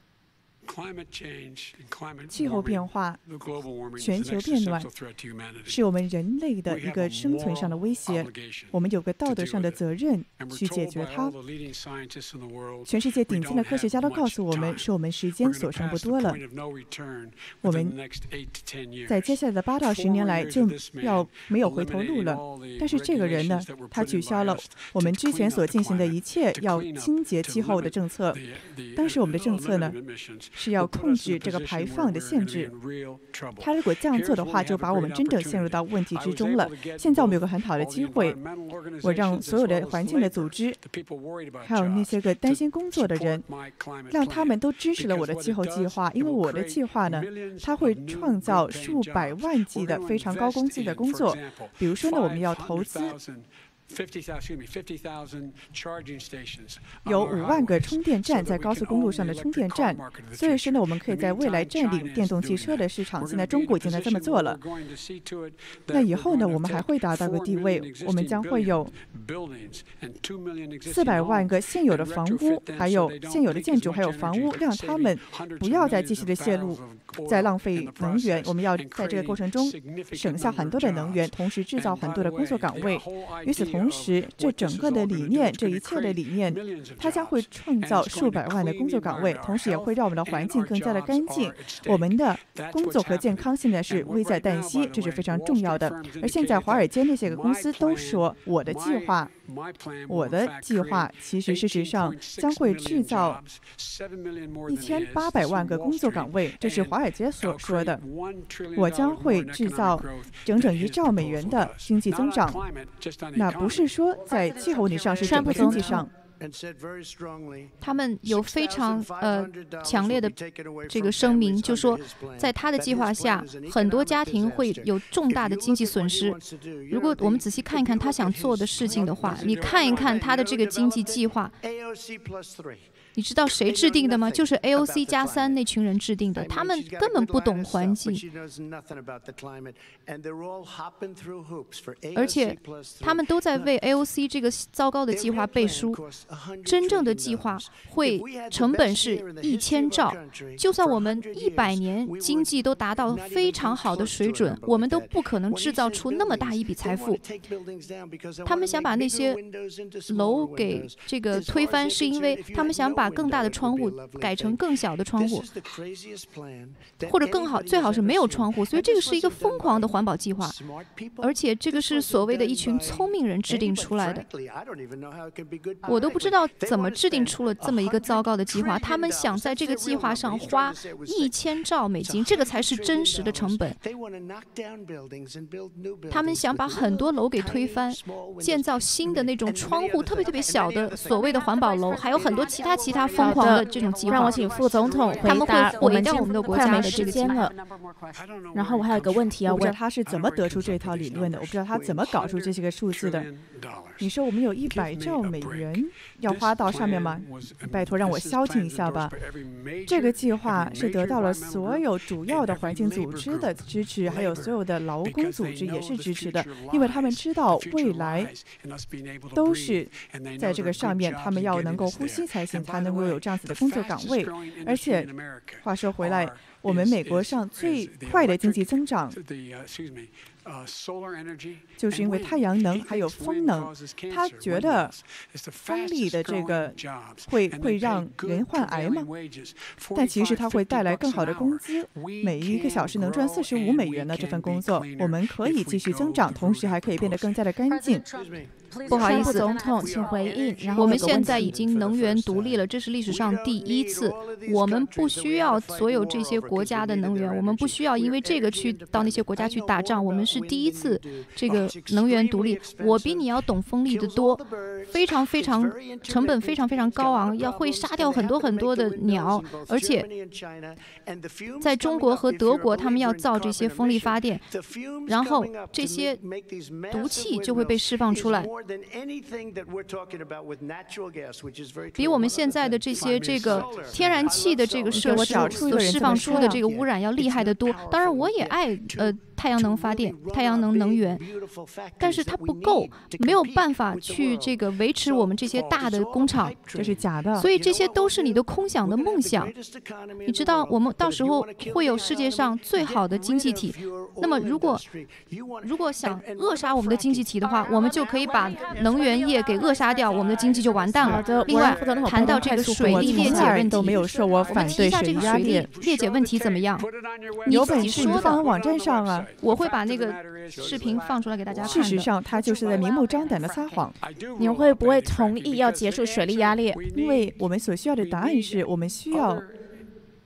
气候变化、全球变暖是我们人类的一个生存上的威胁，我们有个道德上的责任去解决它。全世界顶尖的科学家都告诉我们，说我们时间所剩不多了，我们在接下来的八到十年来就要没有回头路了。但是这个人呢，他取消了我们之前所进行的一切要清洁气候的政策。当时我们的政策呢， 是要控制这个排放的限制。他如果这样做的话，就把我们真正陷入到问题之中了。现在我们有个很好的机会，我让所有的环境的组织，还有那些个担心工作的人，让他们都支持了我的气候计划。因为我的计划呢，它会创造数百万计的非常高工资的工作。比如说呢，我们要投资有五万个充电站，在高速公路上的充电站，所以说呢，我们可以在未来占领电动汽车的市场。现在中国已经在这么做了。那以后呢，我们还会达到个地位，我们将会有四百万个现有的房屋，还有现有的建筑，还有房屋，让他们不要再继续的泄露，再浪费能源。我们要在这个过程中省下很多的能源，同时制造很多的工作岗位。与此同时，这整个的理念，这一切的理念，它将会创造数百万的工作岗位，同时也会让我们的环境更加的干净。我们的工作和健康现在是危在旦夕，这是非常重要的。而现在华尔街那些个公司都说，我的计划，我的计划其实事实上将会制造一千八百万个工作岗位，这是华尔街所说的。我将会制造整整一兆美元的经济增长。那不是说在气候问题上，是整个经济上。 他们有非常呃强烈的这个声明，就说在他的计划下，很多家庭会有重大的经济损失。如果我们仔细看一看他想做的事情的话，你看一看他的这个经济计划。你知道谁制定的吗？就是 A O C 加三那群人制定的，他们根本不懂环境，而且他们都在为 A O C 这个糟糕的计划背书。真正的计划会成本是一千兆，就算我们一百年经济都达到非常好的水准，我们都不可能制造出那么大一笔财富。他们想把那些楼给这个推翻，是因为他们想把更大的窗户改成更小的窗户，或者更好，最好是没有窗户。所以这个是一个疯狂的环保计划，而且这个是所谓的一群聪明人制定出来的。我都不知道怎么制定出了这么一个糟糕的计划。他们想在这个计划上花一千兆美金，这个才是真实的成本。他们想把很多楼给推翻，建造新的那种窗户特别特别小的所谓的环保楼，还有很多其他其他疯狂的这种计划。 让我请副总统回答。我们我们的国家没时间了。然后我还有个问题要问， 我不知道他是怎么得出这套理论的，我不知道他怎么搞出这些个数字的。你说我们有一百兆美元要花到上面吗？拜托让我消停一下吧。这个计划是得到了所有主要的环境组织的支持，还有所有的劳工组织也是支持的，因为他们知道未来都是在这个上面，他们要能够呼吸才行，才能够有这样子的工作岗位。而且话说回来，我们美国上最快的经济增长就是因为太阳能还有风能。他觉得风力的这个会会让人患癌吗？但其实它会带来更好的工资，每一个小时能赚四十五美元的这份工作，我们可以继续增长，同时还可以变得更加的干净。 不好意思， 总统，请回应。然后我们现在已经能源独立了，这是历史上第一次。我们不需要所有这些国家的能源，我们不需要因为这个去到那些国家去打仗。我们是第一次这个能源独立。我比你要懂风力的多，非常非常成本非常非常高昂，要会杀掉很多很多的鸟，而且在中国和德国，他们要造这些风力发电，然后这些毒气就会被释放出来。比我们现在的这些这个天然气的这个设施所释放出的这个污染要厉害得多。当然，我也爱呃太阳能发电、太阳能能源，但是它不够，没有办法去这个维持我们这些大的工厂， 这是假的。 所以这些都是你的空想的梦想。你知道，我们到时候会有世界上最好的经济体。那么，如果如果想扼杀我们的经济体的话，我们就可以把能源业给扼杀掉，我们的经济就完蛋了。另外，谈到这个水利裂解问题， 都没有说我反对水利压裂。 裂解问题怎么样？你自己说的，网站上啊。 我会把那个视频放出来给大家看的。 事实上，他就是在明目张胆的撒谎。 你会不会同意要结束水力压裂？ 因为我们所需要的答案是我们需要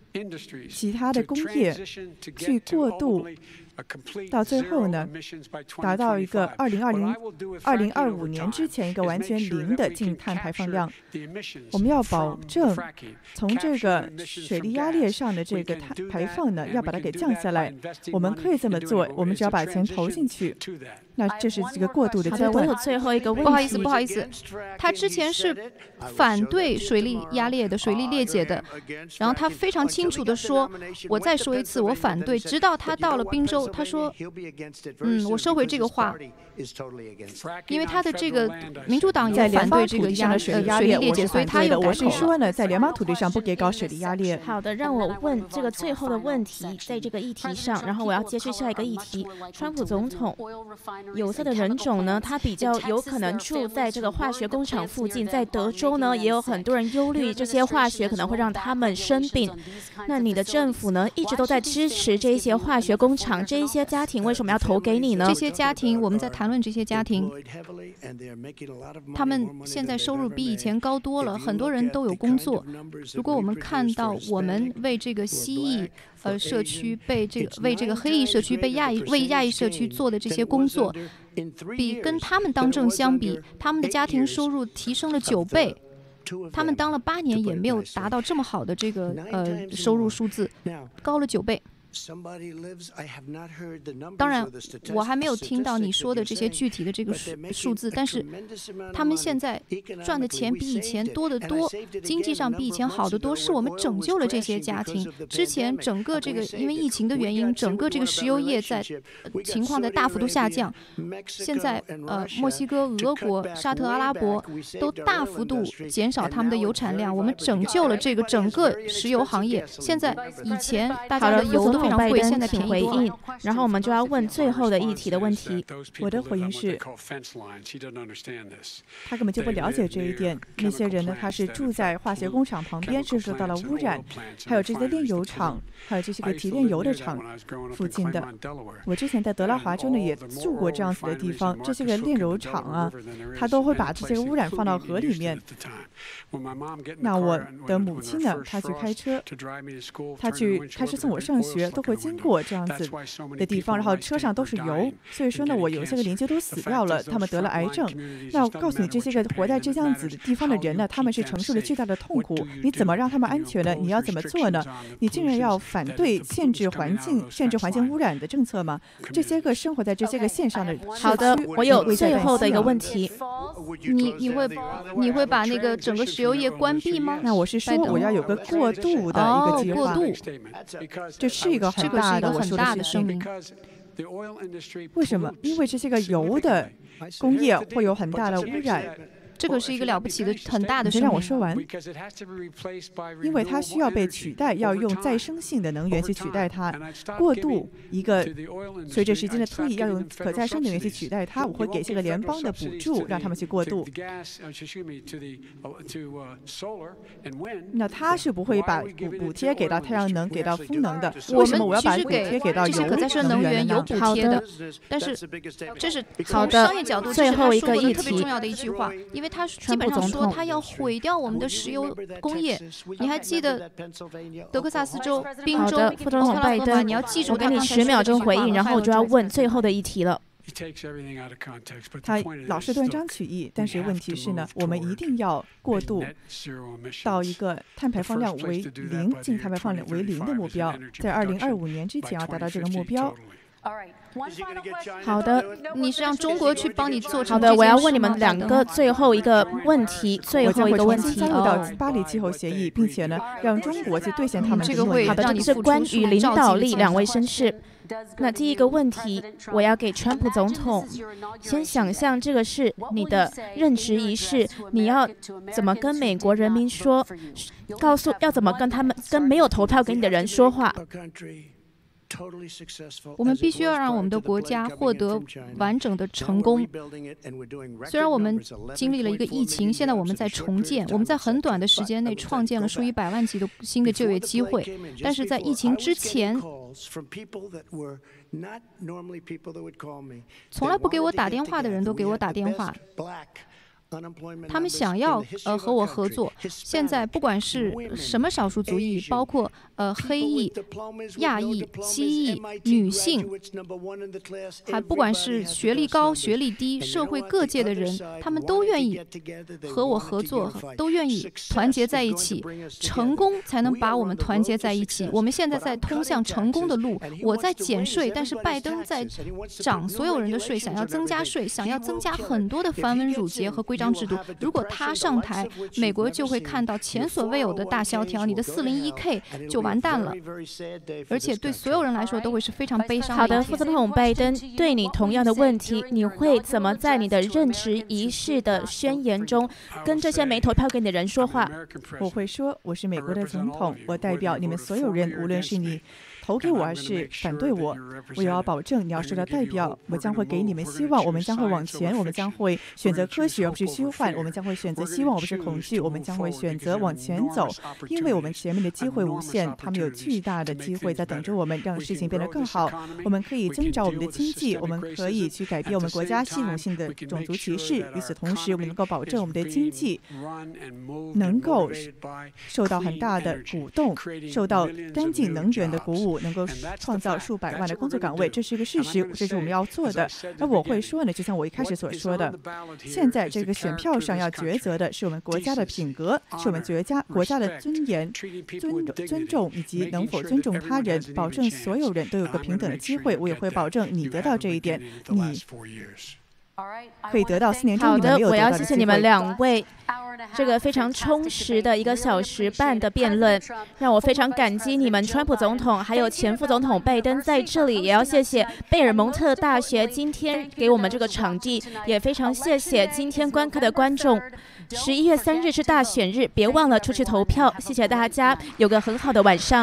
其他的工业去过渡，到最后呢，达到一个二零二零、二零二五年之前一个完全零的净碳排放量。我们要保证从这个水力压裂上的这个碳排放呢，要把它给降下来。我们可以这么做，我们只要把钱投进去。那这是这个过渡的阶段。 我有最后一个问题， 不好意思，不好意思，他之前是反对水力压裂的、水力裂解的，然后他非常清楚地说，我再说一次，我反对。直到他到了宾州，他说，嗯，我收回这个话，因为他的这个民主党也反对这个压水力压裂裂解，所以他有我是说呢，在联邦土地上不给搞水力压裂。 好的，让我问这个最后的问题，在这个议题上，然后我要接续下一个议题。川普总统有色的人种呢，他比较有可能住在这个化学工厂附近，在德州呢，也有很多人忧虑这些化学可能会让他们生病。那你的政府呢，一直都在支持这些化学工厂，这一些家庭为什么要投给你呢？ 这些家庭，我们在谈论这些家庭，他们现在收入比以前高多了，很多人都有工作。如果我们看到我们为这个蜥蜴呃社区被这个为这个黑裔社区被亚裔为亚裔社区做的这些工作，比跟他们当政相比，他们的家庭收入提升了九倍。他们当了八年也没有达到这么好的这个呃收入数字，高了九倍。当然，我还没有听到你说的这些具体的这个数数字，但是他们现在赚的钱比以前多得多，经济上比以前好得多，是我们拯救了这些家庭。之前整个这个因为疫情的原因，整个这个石油业在情况在大幅度下降。现在呃，墨西哥、俄国、沙特阿拉伯都大幅度减少他们的油产量，我们拯救了这个整个石油行业。现在以前大家的油都非常贵，现在便宜回应，然后我们就要问最后的议题的问题。 我的回应是，他根本就不了解这一点。那些人呢，他是住在化学工厂旁边，是受到了污染，还有这些炼油厂，还有这些个提炼油的厂附近的。我之前在德拉华州呢也住过这样子的地方，这些个炼油厂啊，他都会把这些个污染放到河里面。那我的母亲呢，她去开车，她去开车送我上学，都会经过这样子的地方，然后车上都是油，所以说呢，我有些个邻居都死掉了，他们得了癌症。那我告诉你，这些个活在这样子的地方的人呢，他们是承受了巨大的痛苦。你怎么让他们安全呢？你要怎么做呢？你竟然要反对限制环境、限制环境污染的政策吗？这些个生活在这些个线上的， 好的，我有最后的一个问题， 你你会你会把那个整个石油业关闭吗？ 那我是说，我要有个过渡的一个计划。 哦，过渡， 这是一个很大的， 这个是一个很大的声明。 为什么？因为这些个油的工业会有很大的污染。 这个是一个了不起的很大的声明。 你让我说完。因为它需要被取代，要用再生性的能源去取代它。过渡一个随着时间的推移，要用可再生能源去取代它。我会给这个联邦的补助，让他们去过渡。那他是不会把补补贴给到太阳能、给到风能的。为什么我要把补贴给到这些可再生能源有补贴的？但是这是从商业角度， 最后一个议题特别重要的一句话，因为他基本上说他要毁掉我们的石油工业。你还记得德克萨斯州、宾州、 副总统拜登， 你要记住， 我给你十秒钟回应，然后我就要问最后的议题了。 他老是断章取义，但是问题是呢，我们一定要过渡到一个碳排放量为零、净碳排放量为零的目标，在二零二五年之前要达到这个目标。 好的， 你是让中国去帮你做成？ 好的，我要问你们两个最后一个问题，最后一个问题。 加入到巴黎气候协议，并且呢，让中国去兑现他们这个会好的，这是关于领导力，两位绅士。那第一个问题，我要给川普总统，先想象这个是你的任职仪式，你要怎么跟美国人民说，告诉要怎么跟他们跟没有投票给你的人说话。 我们必须要让我们的国家获得完整的成功。虽然我们经历了一个疫情，现在我们在重建，我们在很短的时间内创建了数以百万计的新的就业机会。但是在疫情之前，从来不给我打电话的人都给我打电话。 他们想要呃和我合作。现在不管是什么少数族裔，包括呃黑裔、亚裔、西裔、女性，还不管是学历高、学历低，社会各界的人，他们都愿意和我合作，都愿意团结在一起。成功才能把我们团结在一起。我们现在在通向成功的路。我在减税，但是拜登在涨所有人的税，想要增加税，想要增加很多的繁文缛节和规章制度。如果他上台，美国就会看到前所未有的大萧条，你的四零一 K 就完蛋了，而且对所有人来说都会是非常悲伤的。 好的，副总统拜登，对你同样的问题，你会怎么在你的任职仪式的宣言中跟这些没投票给你的人说话？ 我会说，我是美国的总统，我代表你们所有人，无论是你投给我还是反对我，我也要保证你要受到代表。我将会给你们希望，我们将会往前，我们将会选择科学而不是虚幻，我们将会选择希望而不是恐惧，我们将会选择往前走，因为我们前面的机会无限，他们有巨大的机会在等着我们，让事情变得更好。我们可以增长我们的经济，我们可以去改变我们国家系统性的种族歧视。与此同时，我们能够保证我们的经济能够受到很大的鼓动，受到干净能源的鼓舞，能够创造数百万的工作岗位，这是一个事实，这是我们要做的。而我会说呢，就像我一开始所说的，现在这个选票上要抉择的是我们国家的品格，是我们国家国家的尊严、尊尊重以及能否尊重他人，保证所有人都有个平等的机会。我也会保证你得到这一点，你可以得到四年中你们没有得到的机会。 好的，我要谢谢你们两位。这个非常充实的一个小时半的辩论，让我非常感激你们，川普总统还有前副总统拜登在这里，也要谢谢贝尔蒙特大学今天给我们这个场地，也非常谢谢今天观看的观众。十一月三日是大选日，别忘了出去投票。谢谢大家，有个很好的晚上。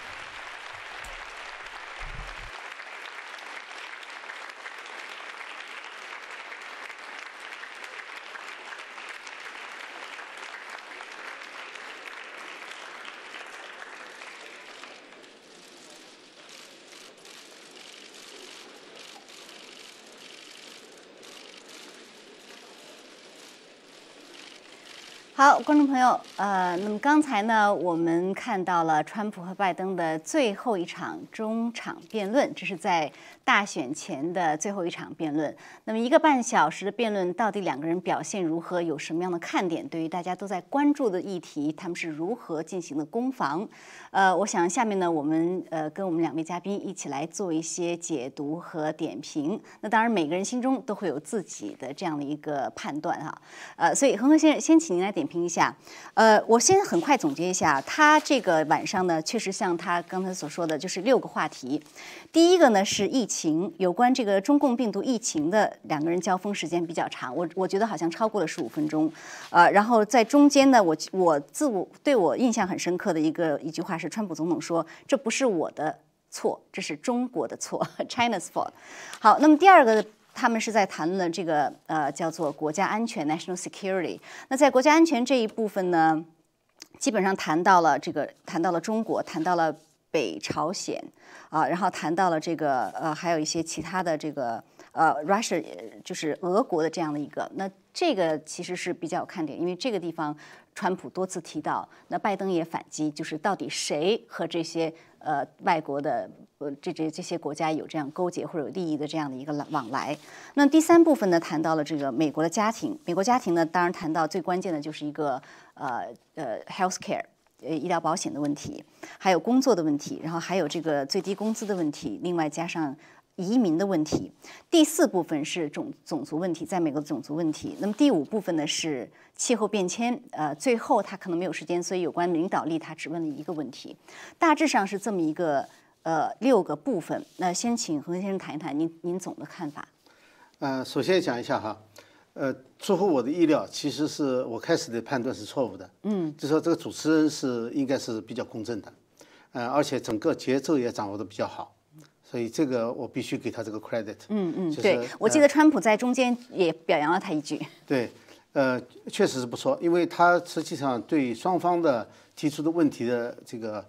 好，观众朋友，呃，那么刚才呢，我们看到了川普和拜登的最后一场中场辩论，这是在大选前的最后一场辩论。那么一个半小时的辩论，到底两个人表现如何，有什么样的看点？对于大家都在关注的议题，他们是如何进行的攻防？呃，我想下面呢，我们呃跟我们两位嘉宾一起来做一些解读和点评。那当然，每个人心中都会有自己的这样的一个判断哈。呃，所以恒河先生，先请您来点评一下。呃，我先很快总结一下，他这个晚上呢，确实像他刚才所说的，就是六个话题。第一个呢是疫情，有关这个中共病毒疫情的两个人交锋时间比较长，我我觉得好像超过了十五分钟。呃，然后在中间呢，我我自我对我印象很深刻的一个一句话是，川普总统说：“这不是我的错，这是中国的错 ，China's fault。”好，那么第二个。他们是在谈论这个呃叫做国家安全 （national security）。那在国家安全这一部分呢，基本上谈到了这个，谈到了中国，谈到了北朝鲜啊，然后谈到了这个呃还有一些其他的这个呃 Russia 就是俄国的这样的一个。那这个其实是比较有看点，因为这个地方川普多次提到，那拜登也反击，就是到底谁和这些呃外国的。呃，这这这些国家有这样勾结或者有利益的这样的一个往来。那第三部分呢，谈到了这个美国的家庭。美国家庭呢，当然谈到最关键的就是一个呃呃 health care 呃医疗保险的问题，还有工作的问题，然后还有这个最低工资的问题，另外加上移民的问题。第四部分是种种族问题，在美国的种族问题。那么第五部分呢是气候变迁。呃，最后他可能没有时间，所以有关领导力他只问了一个问题。大致上是这么一个。呃，六个部分。那先请恒河先生谈一谈您您总的看法。 呃，首先讲一下哈，呃，出乎我的意料，其实是我开始的判断是错误的。嗯，就说这个主持人是应该是比较公正的，呃，而且整个节奏也掌握的比较好，所以这个我必须给他这个 credit。 嗯嗯， 就是、 对，我记得川普在中间也表扬了他一句。 呃、对，呃，确实是不错，因为他实际上对双方的提出的问题的这个。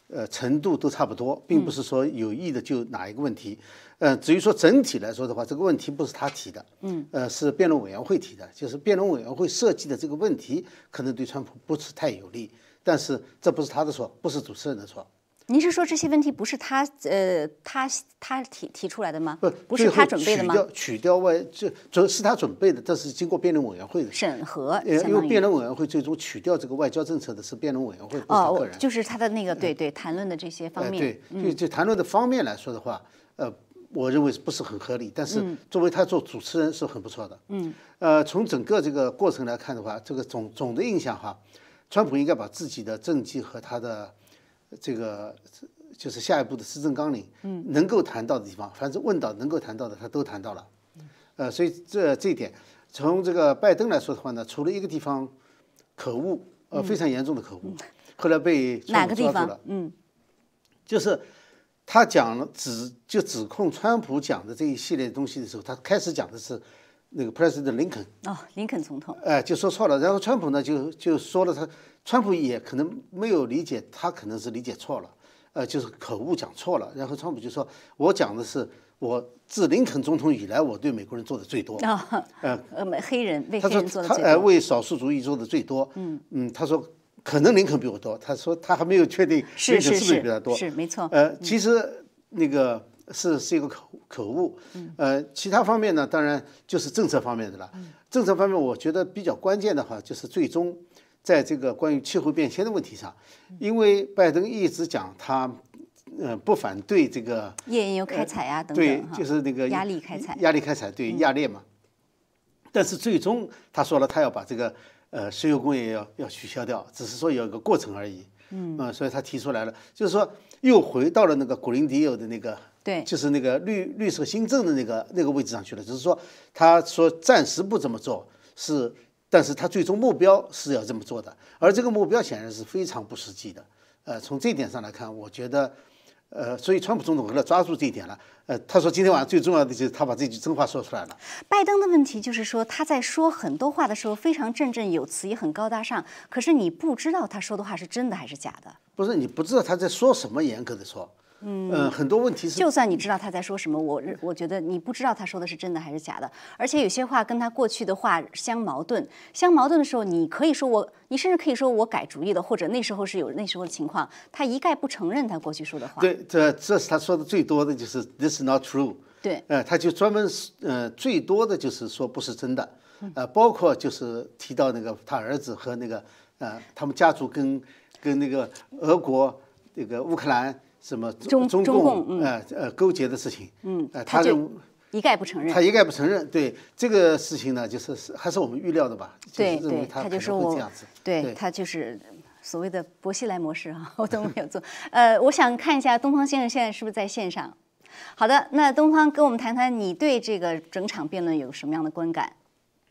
呃程度都差不多，并不是说有意的就哪一个问题。呃，至于说整体来说的话，这个问题不是他提的，嗯，呃，是辩论委员会提的，就是辩论委员会设计的这个问题可能对川普不是太有利，但是这不是他的错，不是主持人的错。 您是说这些问题不是他呃他他提提出来的吗？ 不， 不是他准备的吗？ 取掉取掉外，这这是他准备的，这是经过辩论委员会的审核。 呃，因为辩论委员会最终取掉这个外交政策的是辩论委员会，不是他个人。 哦，就是他的那个对对谈论的这些方面。 呃、对，就就谈论的方面来说的话，呃，我认为不是很合理，但是作为他做主持人是很不错的。嗯。呃，从整个这个过程来看的话，这个总总的印象哈，川普应该把自己的政绩和他的这个就是下一步的施政纲领，嗯，能够谈到的地方，凡是问到能够谈到的，他都谈到了。呃，所以这这一点，从这个拜登来说的话呢，除了一个地方可恶，呃，非常严重的可恶，嗯、后来被川普抓住了， 嗯， 就是他讲了指就指控川普讲的这一系列东西的时候，他开始讲的是那个 President Lincoln， 哦，林肯总统， 哎、呃，就说错了，然后川普呢就就说了他，川普也可能没有理解，他可能是理解错了。呃，就是口误讲错了，然后川普就说：“我讲的是我自林肯总统以来，我对美国人做的最多。 哦”呃呃，黑人为黑人做的最多。 他说他呃为少数族裔做的最多。嗯嗯，他说可能林肯比我多，他说他还没有确定林肯是不是比他多。 是是是是没错。 呃，其实那个是是一个口口误。呃，其他方面呢，当然就是政策方面的了。政策方面，我觉得比较关键的话，就是最终。在这个关于气候变迁的问题上，因为拜登一直讲他，呃，不反对这个页岩油开采啊、呃、等等， 对，就是那个压力开采， 压力开采对压裂嘛。嗯、但是最终他说了，他要把这个呃石油工业要要取消掉，只是说有一个过程而已。嗯，呃、所以他提出来了，就是说又回到了那个古林迪欧的那个， 对， 就是那个绿绿色新政的那个那个位置上去了。只是说他说暂时不这么做是。但是他最终目标是要这么做的，而这个目标显然是非常不实际的。呃，从这点上来看，我觉得，呃，所以川普总统为了抓住这一点了，呃，他说今天晚上最重要的就是他把这句真话说出来了。 拜登的问题就是说他在说很多话的时候非常振振有词，也很高大上，可是你不知道他说的话是真的还是假的。 不是，你不知道他在说什么，严格的说。嗯、呃，很多问题是， 就算你知道他在说什么，我我觉得你不知道他说的是真的还是假的，而且有些话跟他过去的话相矛盾，相矛盾的时候，你可以说我，你甚至可以说我改主意了，或者那时候是有那时候的情况，他一概不承认他过去说的话。 对，这这是他说的最多的就是 "This is not true"。 对， 呃，他就专门呃最多的就是说不是真的，呃，包括就是提到那个他儿子和那个呃他们家族跟跟那个俄国那个乌克兰。什么中中共嗯、呃呃勾结的事情， 嗯， 呃， 他就一概不承认。 他一概不承认，对这个事情呢，就是还是我们预料的吧？ 对就是、认为他就说我这样子， 对, 对他就是所谓的薄熙来模式哈、啊，我都没有做。呃，我想看一下东方先生现在是不是在线上？好的，那东方跟我们谈谈你对这个整场辩论有什么样的观感？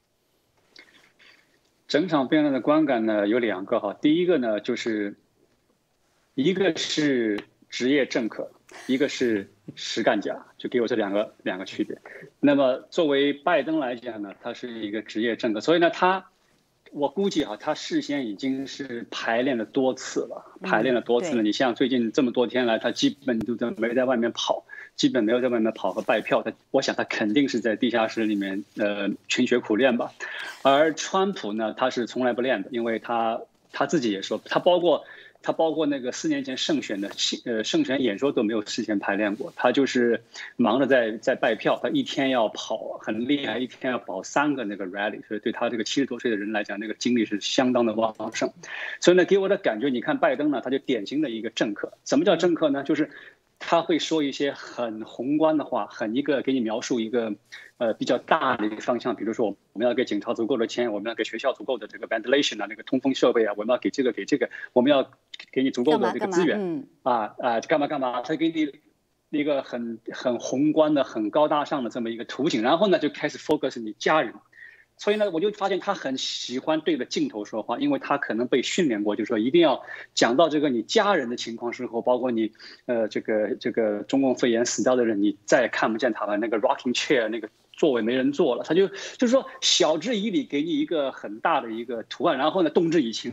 整场辩论的观感呢有两个哈，第一个呢就是一个是职业政客，一个是实干家，就给我这两个两个区别。那么作为拜登来讲呢，他是一个职业政客，所以呢，他我估计啊，他事先已经是排练了多次了，排练了多次了。 嗯、 你像最近这么多天来，他基本都没在外面跑，基本没有在外面跑和拜票。他我想他肯定是在地下室里面呃勤学苦练吧。而川普呢，他是从来不练的，因为他他自己也说，他包括。他包括那个四年前胜选的呃胜选演说都没有事先排练过，他就是忙着在在拜票，他一天要跑很厉害，一天要跑三个那个 rally， 所以对他这个七十多岁的人来讲，那个精力是相当的旺盛。所以呢，给我的感觉，你看拜登呢，他就典型的一个政客。什么叫政客呢？就是他会说一些很宏观的话，很一个给你描述一个呃比较大的一个方向，比如说我们要给警察足够的钱，我们要给学校足够的这个 ventilation 啊，那个通风设备啊，我们要给这个给这个，我们要给你足够的这个资源， 嗯、 啊啊，干嘛干嘛，他给你一个很很宏观的、很高大上的这么一个图景，然后呢就开始 focus 你家人。所以呢，我就发现他很喜欢对着镜头说话，因为他可能被训练过，就是说一定要讲到这个你家人的情况时候，包括你呃这个这个中共肺炎死掉的人，你再也看不见他了，那个 rocking chair 那个座位没人坐了，他就就是说晓之以理，给你一个很大的一个图案，然后呢动之以情，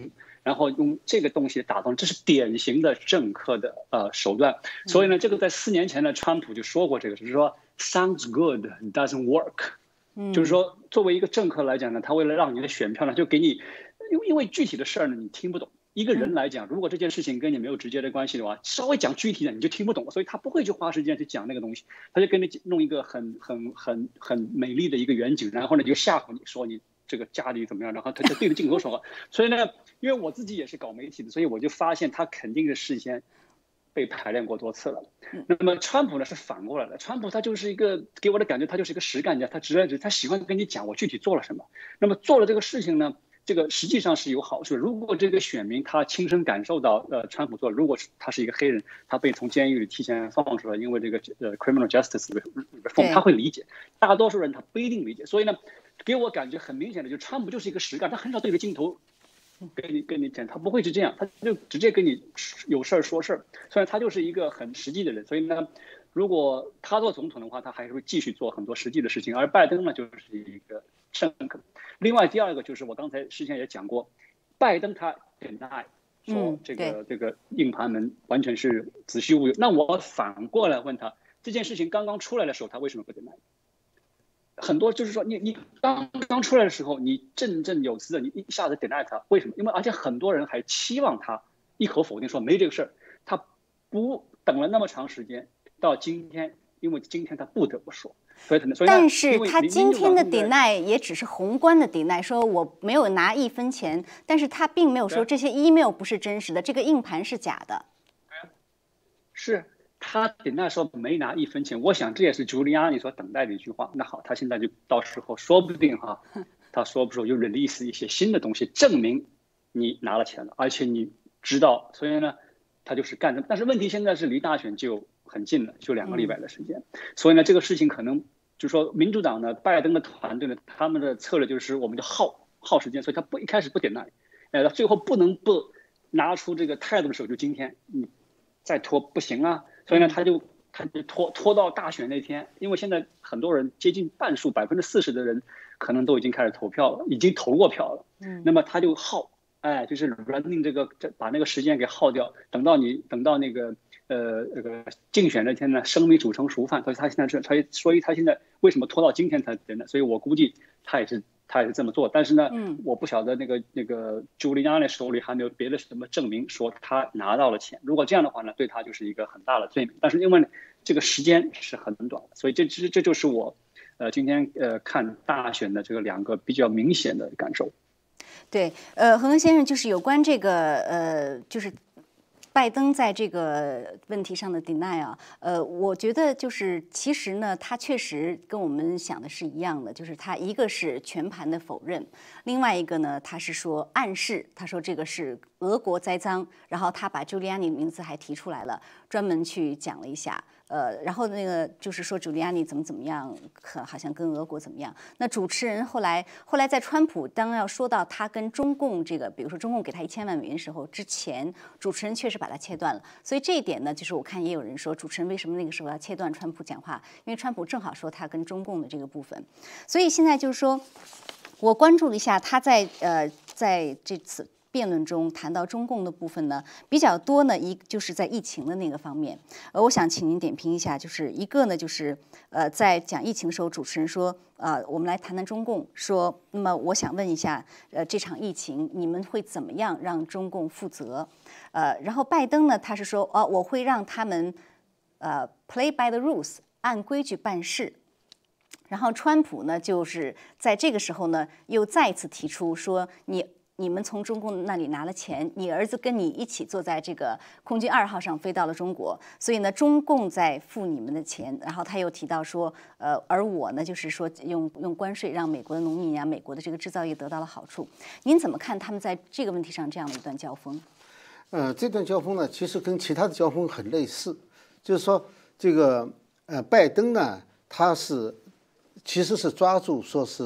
然后用这个东西打动，这是典型的政客的呃手段。所以呢，这个在四年前呢，川普就说过这个，就是说 sounds good doesn't work， 就是说作为一个政客来讲呢，他为了让你的选票呢，就给你，因为因为具体的事儿呢你听不懂。一个人来讲，如果这件事情跟你没有直接的关系的话，稍微讲具体的你就听不懂，所以他不会去花时间去讲那个东西，他就给你弄一个很很很很美丽的一个远景，然后呢就吓唬你说你这个家里怎么样，然后他就对着镜头说话。所以呢，因为我自己也是搞媒体的，所以我就发现他肯定是事先被排练过多次了。那么川普呢是反过来的，川普他就是一个给我的感觉，他就是一个实干家，他直来直，他喜欢跟你讲我具体做了什么。那么做了这个事情呢？这个实际上是有好处的。如果这个选民他亲身感受到，呃，川普做，如果他是一个黑人，他被从监狱里提前放出来，因为这个呃 criminal justice reform， 他会理解。大多数人他不一定理解，所以呢，给我感觉很明显的，就川普就是一个实干，他很少对着镜头跟你跟你讲，他不会是这样，他就直接跟你有事儿说事儿。虽然他就是一个很实际的人，所以呢，如果他做总统的话，他还是会继续做很多实际的事情，而拜登呢，就是一个政客。另外第二个就是我刚才之前也讲过，拜登他 deny 说这个、嗯、这个硬盘门完全是子虚乌有。那我反过来问他，这件事情刚刚出来的时候，他为什么不 deny？ 很多就是说你你刚刚出来的时候，你振振有词的，你一下子 deny 他，为什么？因为而且很多人还期望他一口否定说没这个事儿，他不等了那么长时间，到今天，因为今天他不得不说。所以但是他今天的 deny 也只是宏观的 deny， 说我没有拿一分钱，但是他并没有说这些 email 不是真实的，这个硬盘是假的。 是他 deny 说没拿一分钱，我想这也是朱利安尼所等待的一句话。那好，他现在就到时候说不定哈，他说不说就 release 一些新的东西，证明你拿了钱了，而且你知道，所以呢，他就是干的。但是问题现在是离大选就很近了，就两个礼拜的时间，嗯、所以呢，这个事情可能就是说，民主党呢，拜登的团队呢，他们的策略就是我们就耗耗时间，所以他不一开始不点那，呃，最后不能不拿出这个态度的时候，就今天你再拖不行啊，所以呢，他就他就拖拖到大选那天，因为现在很多人接近半数百分之四十的人可能都已经开始投票了，已经投过票了，嗯，那么他就耗，哎，就是 running 这个把那个时间给耗掉，等到你等到那个。呃，这个竞选那天呢，生米煮成熟饭，所以他现在是，他所以他现在为什么拖到今天才等呢？所以我估计他也是他也是这么做，但是呢，嗯，我不晓得那个那个朱利安尼手里还没有别的什么证明说他拿到了钱。如果这样的话呢，对他就是一个很大的罪名。但是因为这个时间是很短的，所以这这这就是我呃今天呃看大选的这个两个比较明显的感受。 对，呃，恒恒先生就是有关这个呃就是。拜登在这个问题上的 deny 啊，呃，我觉得就是其实呢，他确实跟我们想的是一样的，就是他一个是全盘的否认，另外一个呢，他是说暗示，他说这个是俄国栽赃，然后他把 Giuliani 的名字还提出来了，专门去讲了一下。呃，然后那个就是说朱利安尼怎么怎么样，可好像跟俄国怎么样。那主持人后来后来在川普当要说到他跟中共这个，比如说中共给他一千万美元的时候，之前主持人确实把他切断了。所以这一点呢，就是我看也有人说，主持人为什么那个时候要切断川普讲话？因为川普正好说他跟中共的这个部分。所以现在就是说，我关注了一下他在呃在这次。辩论中谈到中共的部分呢，比较多呢，一就是在疫情的那个方面。呃，我想请您点评一下，就是一个呢，就是呃，在讲疫情的时候，主持人说，呃，我们来谈谈中共，说，那么我想问一下，呃，这场疫情你们会怎么样让中共负责？呃，然后拜登呢，他是说，哦，我会让他们呃 play by the rules， 按规矩办事。然后川普呢，就是在这个时候呢，又再次提出说，你。你们从中共那里拿了钱，你儿子跟你一起坐在这个空军二号上飞到了中国，所以呢，中共在付你们的钱。然后他又提到说，呃，而我呢，就是说用用关税让美国的农民啊、美国的这个制造业得到了好处。您怎么看他们在这个问题上这样的一段交锋？ 呃，这段交锋呢，其实跟其他的交锋很类似，就是说这个呃，拜登呢，他是其实是抓住说是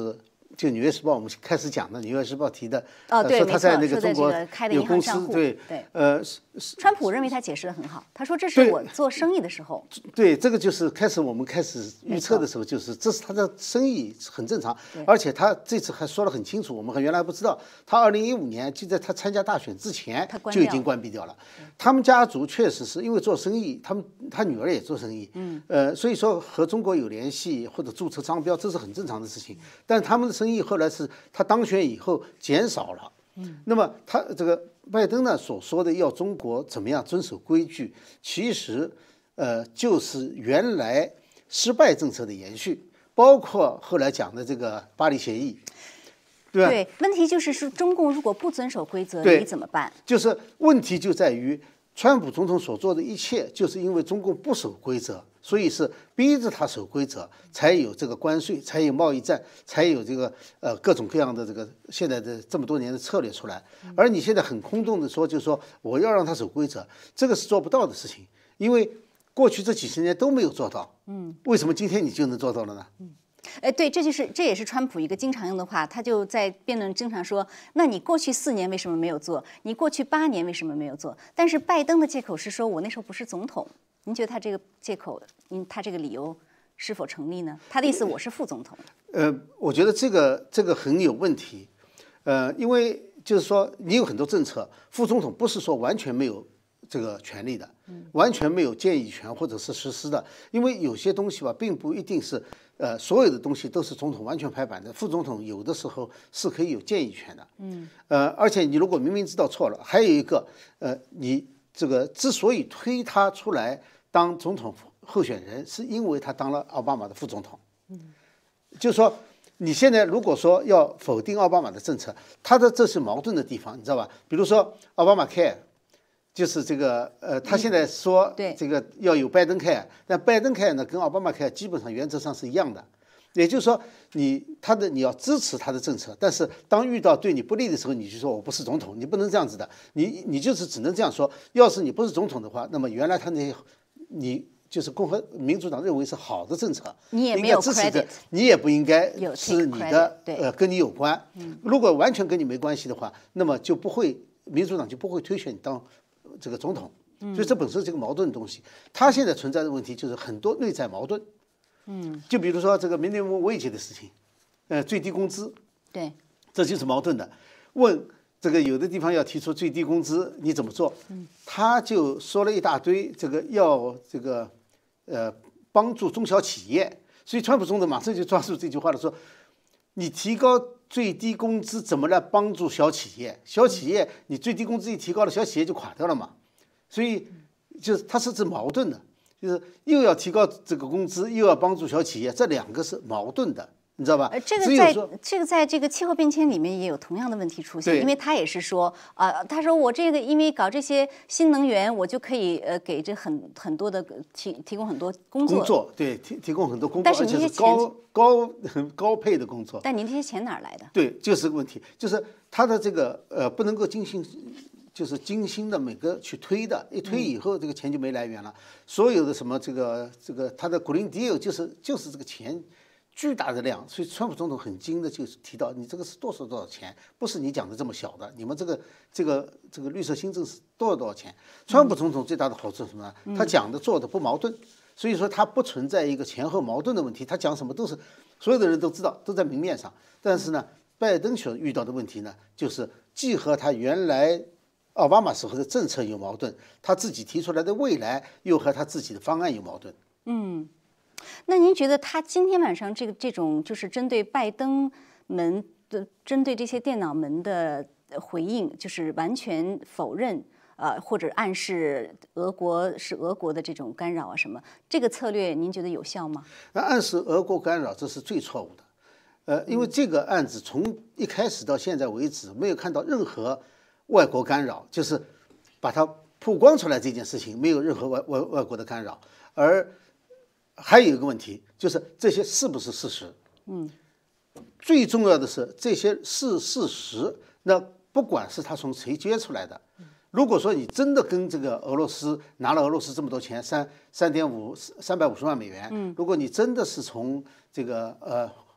就《纽约时报》我们开始讲的，《纽约时报》提的， 哦，对， 呃、说他在那个中国有公司，对对， 呃， 川普认为他解释的很好，他说这是我做生意的时候， 对，这个就是开始我们开始预测的时候，就是这是他的生意很正常，而且他这次还说得很清楚，我们原来不知道，他二零一五年就在他参加大选之前就已经关闭掉了。他们家族确实是因为做生意，他们他女儿也做生意，嗯，呃，所以说和中国有联系或者注册商标，这是很正常的事情。但是他们的生意后来是他当选以后减少了。嗯，那么他这个拜登呢所说的要中国怎么样遵守规矩，其实呃就是原来失败政策的延续，包括后来讲的这个巴黎协议，对吧？ 对，问题就是说中共如果不遵守规则，你怎么办？ 就是问题就在于川普总统所做的一切，就是因为中共不守规则。所以是逼着他守规则，才有这个关税，才有贸易战，才有这个呃各种各样的这个现在的这么多年的策略出来。而你现在很空洞的说，就是说我要让他守规则，这个是做不到的事情，因为过去这几十年都没有做到。嗯，为什么今天你就能做到了呢？ 嗯。哎，对，这就是这也是川普一个经常用的话，他就在辩论经常说：“那你过去四年为什么没有做？你过去八年为什么没有做？”但是拜登的借口是说：“我那时候不是总统。”您觉得他这个借口，您他这个理由是否成立呢？他的意思我是副总统。 呃，我觉得这个这个很有问题，呃，因为就是说你有很多政策，副总统不是说完全没有这个权利的，完全没有建议权或者是实施的，因为有些东西吧，并不一定是呃所有的东西都是总统完全拍板的，副总统有的时候是可以有建议权的。嗯，呃，而且你如果明明知道错了，还有一个呃，你这个之所以推他出来当总统候选人，是因为他当了奥巴马的副总统。嗯，就是说你现在如果说要否定奥巴马的政策，他的这是矛盾的地方，你知道吧？比如说奥巴马 care。就是这个，呃，他现在说这个要有拜登 care，但拜登 care 呢跟奥巴马 care 基本上原则上是一样的，也就是说你他的你要支持他的政策，但是当遇到对你不利的时候，你就说我不是总统，你不能这样子的，你你就是只能这样说。要是你不是总统的话，那么原来他那些你就是共和民主党认为是好的政策， 你也没有 credit， 你也不应该是你的呃跟你有关。如果完全跟你没关系的话，那么就不会民主党就不会推选你当这个总统，所以这本身是个矛盾的东西。他现在存在的问题就是很多内在矛盾，嗯，就比如说这个 minimum wage 的事情，呃，最低工资， 对， 这就是矛盾的。问这个有的地方要提出最低工资，你怎么做？嗯，他就说了一大堆，这个要这个呃帮助中小企业，所以川普总统马上就抓住这句话了，说你提高最低工资怎么来帮助小企业？小企业你最低工资一提高了，小企业就垮掉了嘛。所以就是它是指矛盾的，就是又要提高这个工资，又要帮助小企业，这两个是矛盾的，你知道吧？ 呃，这个在这个在这个气候变迁里面也有同样的问题出现，因为他也是说啊、呃，他说我这个因为搞这些新能源，我就可以呃给这很很多的提提供很多工作， 工作对提提供很多工作， 但是而且是高高很高配的工作。 但您这些钱哪儿来的？ 对，就是个问题，就是他的这个呃不能够精心。就是精心的每个去推的，一推以后这个钱就没来源了。所有的什么这个这个他的 Green Deal 就是就是这个钱巨大的量，所以川普总统很精的就是提到你这个是多少多少钱，不是你讲的这么小的，你们这个这个这个绿色新政是多少多少钱。川普总统最大的好处是什么呢？他讲的做的不矛盾，所以说他不存在一个前后矛盾的问题，他讲什么都是所有的人都知道，都在明面上。但是呢，拜登所遇到的问题呢，就是既和他原来奥巴马时候的政策有矛盾，他自己提出来的未来又和他自己的方案有矛盾。 嗯，那您觉得他今天晚上这个这种就是针对拜登门的、针对这些电脑门的回应，就是完全否认呃或者暗示俄国是俄国的这种干扰啊什么，这个策略您觉得有效吗？ 那暗示俄国干扰，这是最错误的。呃，因为这个案子从一开始到现在为止，没有看到任何外国干扰，就是把它曝光出来这件事情没有任何外外外国的干扰。而还有一个问题就是这些是不是事实？嗯，最重要的是这些是事实。那不管是他从谁接出来的，如果说你真的跟这个俄罗斯拿了俄罗斯这么多钱，三三点五三百五十万美元，嗯，如果你真的是从这个呃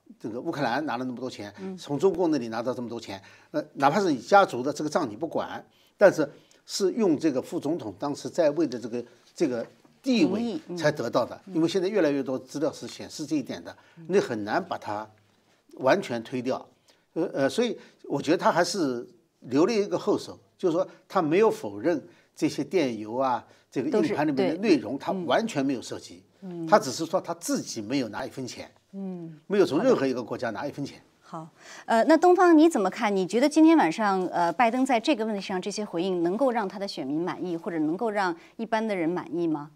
这个乌克兰拿了那么多钱，从中共那里拿到这么多钱，呃，哪怕是你家族的这个账你不管，但是是用这个副总统当时在位的这个这个地位才得到的，因为现在越来越多资料是显示这一点的，你很难把它完全推掉，呃呃，所以我觉得他还是留了一个后手，就是说他没有否认这些电邮啊，这个硬盘里面的内容，他完全没有涉及，他只是说他自己没有拿一分钱。嗯，没有从任何一个国家拿一分钱。 好，呃，那东方你怎么看？你觉得今天晚上，呃，拜登在这个问题上这些回应，能够让他的选民满意，或者能够让一般的人满意吗？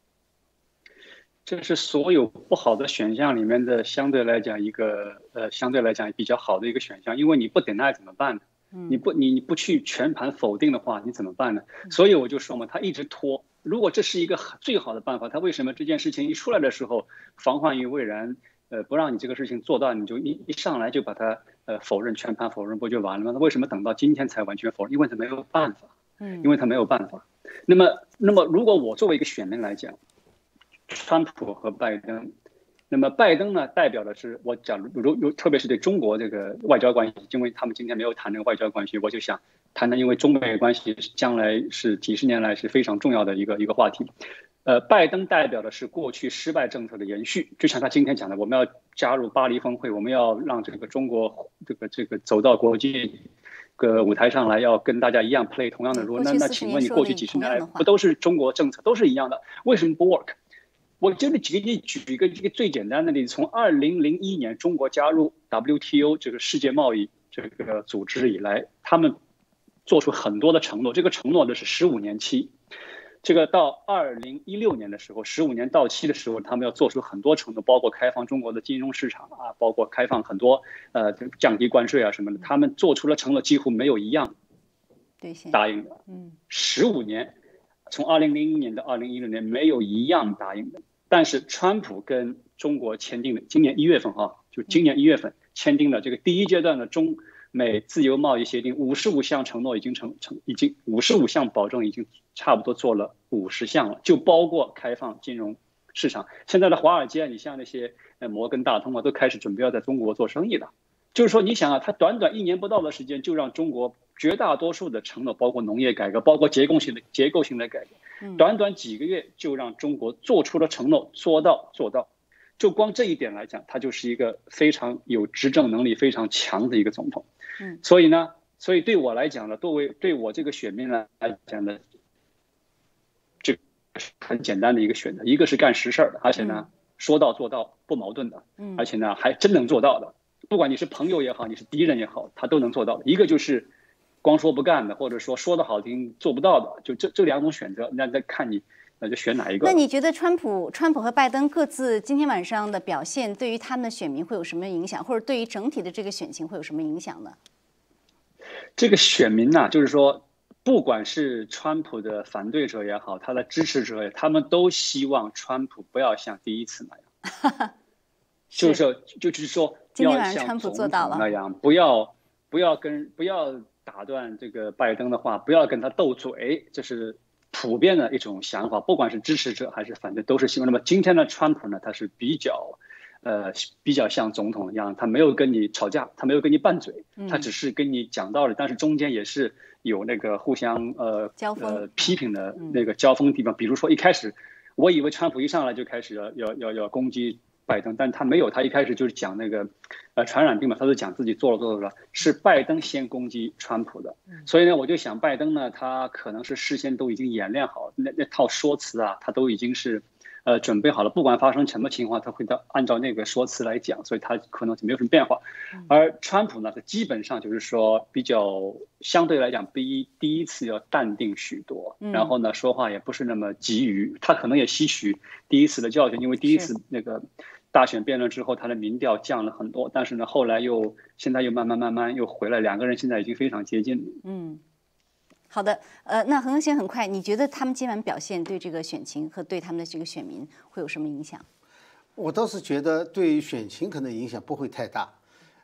这是所有不好的选项里面的相对来讲一个呃相对来讲比较好的一个选项，因为你不等待怎么办呢？你不你你不去全盘否定的话，你怎么办呢？所以我就说嘛，他一直拖。如果这是一个最好的办法，他为什么这件事情一出来的时候防患于未然？呃，不让你这个事情做到，你就一一上来就把它呃否认，全盘否认，不就完了吗？那为什么等到今天才完全否认？因为他没有办法，嗯，因为他没有办法。那么，那么如果我作为一个选民来讲，川普和拜登，那么拜登呢，代表的是我讲如如特别是对中国这个外交关系，因为他们今天没有谈这个外交关系，我就想谈谈，因为中美关系将来是几十年来是非常重要的一个一个话题。呃，拜登代表的是过去失败政策的延续，就像他今天讲的，我们要加入巴黎峰会，我们要让这个中国这个这个走到国际个舞台上来，要跟大家一样 play 同样的 role。那那请问你过去几十年来不都是中国政策都是一样的，为什么不 work？ 我这里举个举一个这个最简单的例子，从二零零一年中国加入 W T O 这个世界贸易这个组织以来，他们做出很多的承诺，这个承诺的是十五年期。这个到二零一六年的时候，十五年到期的时候，他们要做出很多承诺，包括开放中国的金融市场啊，包括开放很多呃降低关税啊什么的。他们做出了承诺，几乎没有一样答应的。嗯，十五年，从二零零一年到二零一六年，没有一样答应的。但是川普跟中国签订的，今年一月份哈，就今年一月份签订了这个第一阶段的中美自由贸易协定，五十五项承诺已经成成已经五十五项保证已经差不多做了五十项了，就包括开放金融市场。现在的华尔街，你像那些呃摩根大通啊，都开始准备要在中国做生意了。就是说，你想啊，他短短一年不到的时间，就让中国绝大多数的承诺，包括农业改革，包括结构性的结构性的改革，短短几个月就让中国做出了承诺，做到做到。就光这一点来讲，他就是一个非常有执政能力非常强的一个总统。嗯，所以呢，所以对我来讲呢，作为对我这个选民来讲呢，这很简单的一个选择，一个是干实事的，而且呢说到做到不矛盾的，而且呢还真能做到的，不管你是朋友也好，你是敌人也好，他都能做到的。一个就是光说不干的，或者说说的好听做不到的，就这这两种选择，那再看你。那就选哪一个？ 那你觉得川普、川普和拜登各自今天晚上的表现，对于他们的选民会有什么影响，或者对于整体的这个选情会有什么影响呢？ 这个选民呐、啊，就是说，不管是川普的反对者也好，他的支持者也，他们都希望川普不要像第一次那样，是就是说，就是说， 今天晚上川普做到了那样，不要不要跟不要打断这个拜登的话，不要跟他斗嘴，这是普遍的一种想法，不管是支持者还是反对，都是希望。那么今天的川普呢，他是比较，呃，比较像总统一样，他没有跟你吵架，他没有跟你拌嘴，他只是跟你讲道理，但是中间也是有那个互相呃呃批评的那个交锋地方。比如说一开始，我以为川普一上来就开始要要要要攻击拜登，但他没有，他一开始就是讲那个呃传染病嘛，他就讲自己做了做了了，是拜登先攻击川普的。所以呢，我就想拜登呢，他可能是事先都已经演练好那那套说辞啊，他都已经是呃准备好了，不管发生什么情况，他会到按照那个说辞来讲，所以他可能就没有什么变化。而川普呢，他基本上就是说比较相对来讲比第一次要淡定许多，然后呢说话也不是那么急于，他可能也吸取第一次的教训，因为第一次那个大选辩论之后，他的民调降了很多，但是呢，后来又现在又慢慢慢慢又回来，两个人现在已经非常接近了。 嗯，好的，呃，那恒恒先很快，你觉得他们今晚表现对这个选情和对他们的这个选民会有什么影响？ 我倒是觉得对选情可能影响不会太大，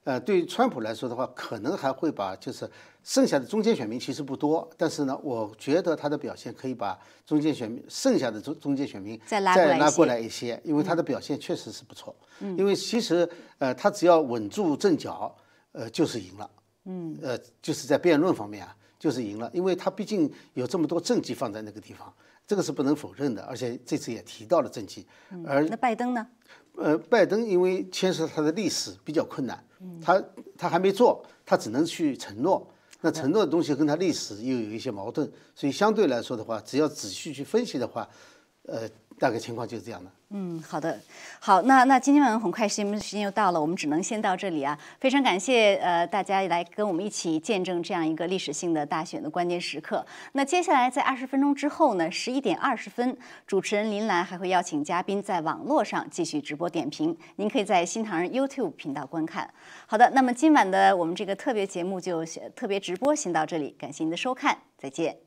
呃，对于川普来说的话，可能还会把就是剩下的中间选民其实不多，但是呢，我觉得他的表现可以把中间选民剩下的中中间选民再拉过来再拉过来一些，因为他的表现确实是不错。嗯，因为其实呃，他只要稳住阵脚，呃，就是赢了。嗯，呃，就是在辩论方面啊，就是赢了，因为他毕竟有这么多政绩放在那个地方，这个是不能否认的，而且这次也提到了政绩。而那拜登呢？ 呃，拜登因为牵涉他的历史比较困难，他他还没做，他只能去承诺。那承诺的东西跟他历史又有一些矛盾，所以相对来说的话，只要仔细去分析的话，呃，大概情况就是这样的。 嗯，好的，好，那那今天晚上很快时间时间又到了，我们只能先到这里啊。非常感谢呃大家来跟我们一起见证这样一个历史性的大选的关键时刻。那接下来在二十分钟之后呢，十一点二十分，主持人林兰还会邀请嘉宾在网络上继续直播点评，您可以在新唐人 YouTube 频道观看。好的，那么今晚的我们这个特别节目就特别直播先到这里，感谢您的收看，再见。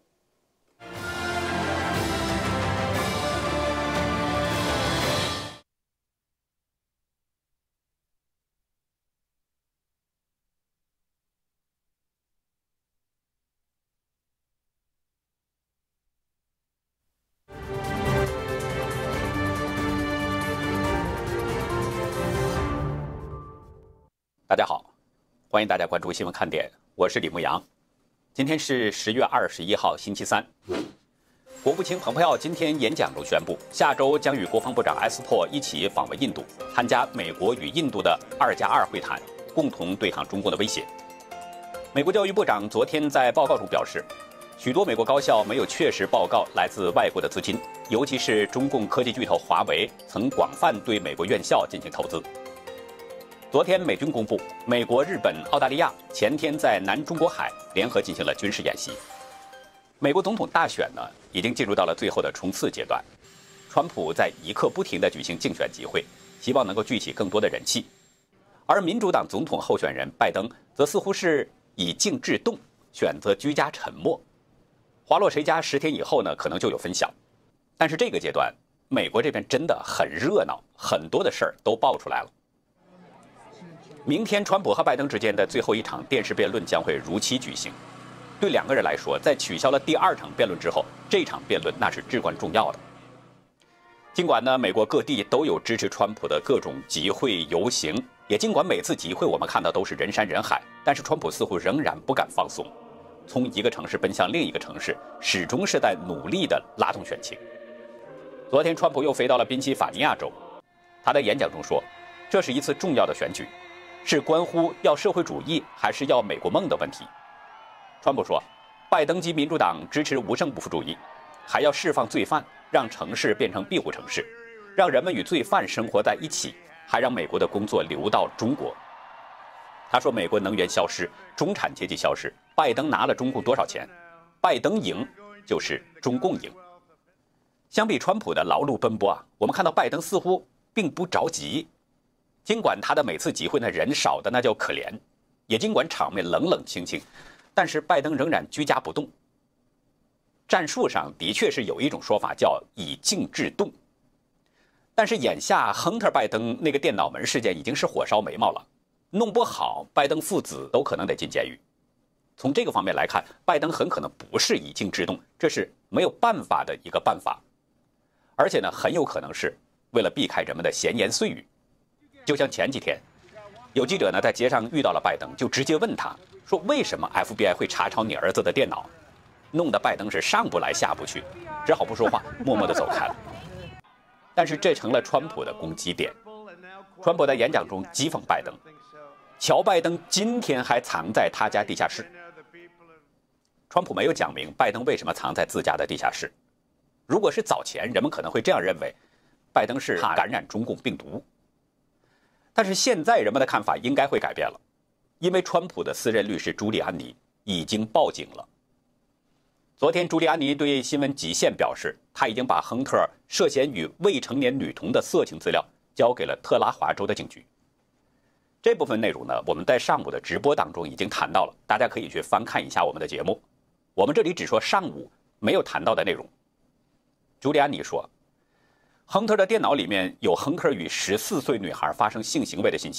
大家好，欢迎大家关注新闻看点，我是李牧阳。今天是十月二十一号，星期三。国务卿蓬佩奥今天演讲中宣布，下周将与国防部长埃斯珀一起访问印度，参加美国与印度的二加二会谈，共同对抗中共的威胁。美国教育部长昨天在报告中表示，许多美国高校没有确实报告来自外国的资金，尤其是中共科技巨头华为曾广泛对美国院校进行投资。昨天，美军公布，美国、日本、澳大利亚前天在南中国海联合进行了军事演习。美国总统大选呢，已经进入到了最后的冲刺阶段。川普在一刻不停地举行竞选集会，希望能够聚起更多的人气。而民主党总统候选人拜登则似乎是以静制动，选择居家沉默。花落谁家十天以后呢，可能就有分晓。但是这个阶段，美国这边真的很热闹，很多的事儿都爆出来了。明天，川普和拜登之间的最后一场电视辩论将会如期举行。对两个人来说，在取消了第二场辩论之后，这场辩论那是至关重要的。尽管呢，美国各地都有支持川普的各种集会游行，也尽管每次集会我们看到都是人山人海，但是川普似乎仍然不敢放松，从一个城市奔向另一个城市，始终是在努力地拉动选情。昨天，川普又飞到了宾夕法尼亚州，他在演讲中说，这是一次重要的选举。是关乎要社会主义还是要美国梦的问题。川普说，拜登及民主党支持无政府主义，还要释放罪犯，让城市变成庇护城市，让人们与罪犯生活在一起，还让美国的工作流到中国。他说，美国能源消失，中产阶级消失，拜登拿了中共多少钱？拜登赢就是中共赢。相比川普的劳碌奔波啊，我们看到拜登似乎并不着急。尽管他的每次集会呢人少的那叫可怜，也尽管场面冷冷清清，但是拜登仍然居家不动。战术上的确是有一种说法叫以静制动，但是眼下亨特拜登那个电脑门事件已经是火烧眉毛了，弄不好拜登父子都可能得进监狱。从这个方面来看，拜登很可能不是以静制动，这是没有办法的一个办法，而且呢很有可能是为了避开人们的闲言碎语。就像前几天，有记者呢在街上遇到了拜登，就直接问他说：“为什么 F B I 会查抄你儿子的电脑？”弄得拜登是上不来下不去，只好不说话，默默地走开了。但是这成了川普的攻击点。川普在演讲中讥讽拜登，乔拜登今天还藏在他家地下室。川普没有讲明拜登为什么藏在自家的地下室。如果是早前，人们可能会这样认为，拜登是怕感染中共病毒。但是现在人们的看法应该会改变了，因为川普的私人律师朱利安尼已经报警了。昨天，朱利安尼对新闻极限表示，他已经把亨特涉嫌与未成年女童的色情资料交给了特拉华州的警局。这部分内容呢，我们在上午的直播当中已经谈到了，大家可以去翻看一下我们的节目。我们这里只说上午没有谈到的内容。朱利安尼说，亨特的电脑里面有亨特与十四岁女孩发生性行为的信息，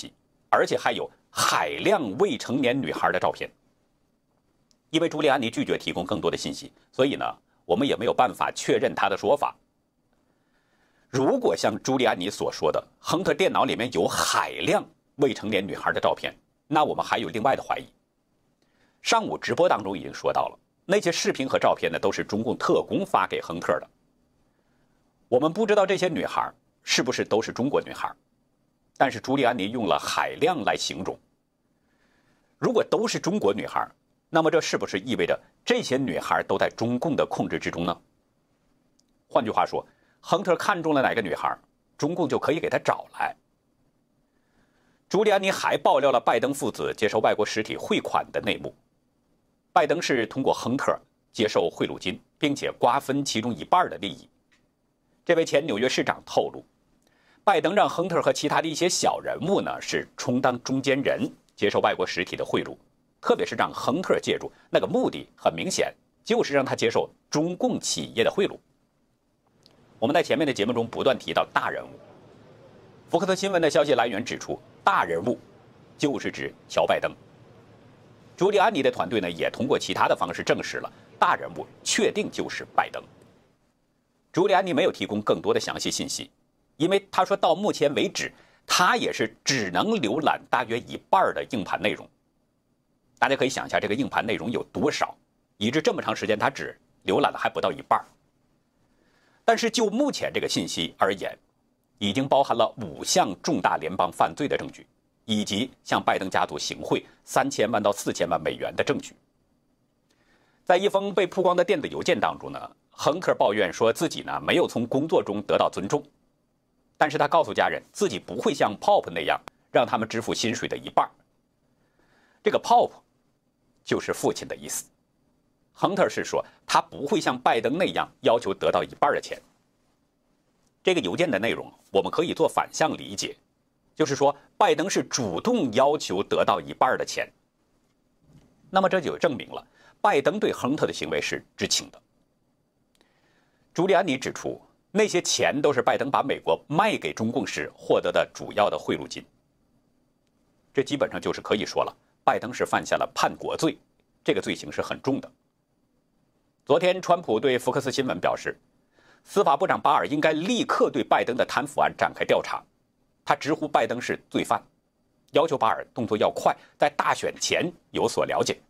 而且还有海量未成年女孩的照片。因为朱利安尼拒绝提供更多的信息，所以呢，我们也没有办法确认他的说法。如果像朱利安尼所说的，亨特电脑里面有海量未成年女孩的照片，那我们还有另外的怀疑。上午直播当中已经说到了，那些视频和照片呢，都是中共特工发给亨特的。我们不知道这些女孩是不是都是中国女孩，但是朱利安尼用了海量来形容。如果都是中国女孩，那么这是不是意味着这些女孩都在中共的控制之中呢？换句话说，亨特看中了哪个女孩，中共就可以给她找来。朱利安尼还爆料了拜登父子接受外国实体汇款的内幕。拜登是通过亨特接受贿赂金，并且瓜分其中一半的利益。这位前纽约市长透露，拜登让亨特和其他的一些小人物呢，是充当中间人，接受外国实体的贿赂，特别是让亨特介入，那个目的很明显，就是让他接受中共企业的贿赂。我们在前面的节目中不断提到大人物，福克斯新闻的消息来源指出，大人物就是指乔拜登。朱利安尼的团队呢，也通过其他的方式证实了大人物确定就是拜登。朱利安尼没有提供更多的详细信息，因为他说到目前为止，他也是只能浏览大约一半的硬盘内容。大家可以想一下这个硬盘内容有多少，以致这么长时间他只浏览了还不到一半。但是就目前这个信息而言，已经包含了五项重大联邦犯罪的证据，以及向拜登家族行贿三千万到四千万美元的证据。在一封被曝光的电子邮件当中呢，亨特抱怨说自己呢没有从工作中得到尊重，但是他告诉家人自己不会像 Pop 那样让他们支付薪水的一半。这个 Pop 就是父亲的意思。亨特是说他不会像拜登那样要求得到一半的钱。这个邮件的内容我们可以做反向理解，就是说拜登是主动要求得到一半的钱。那么这就证明了拜登对亨特的行为是知情的。朱利安尼指出，那些钱都是拜登把美国卖给中共时获得的主要的贿赂金。这基本上就是可以说了，拜登是犯下了叛国罪，这个罪行是很重的。昨天川普对福克斯新闻表示，司法部长巴尔应该立刻对拜登的贪腐案展开调查，他直呼拜登是罪犯，要求巴尔动作要快，在大选前有所了解。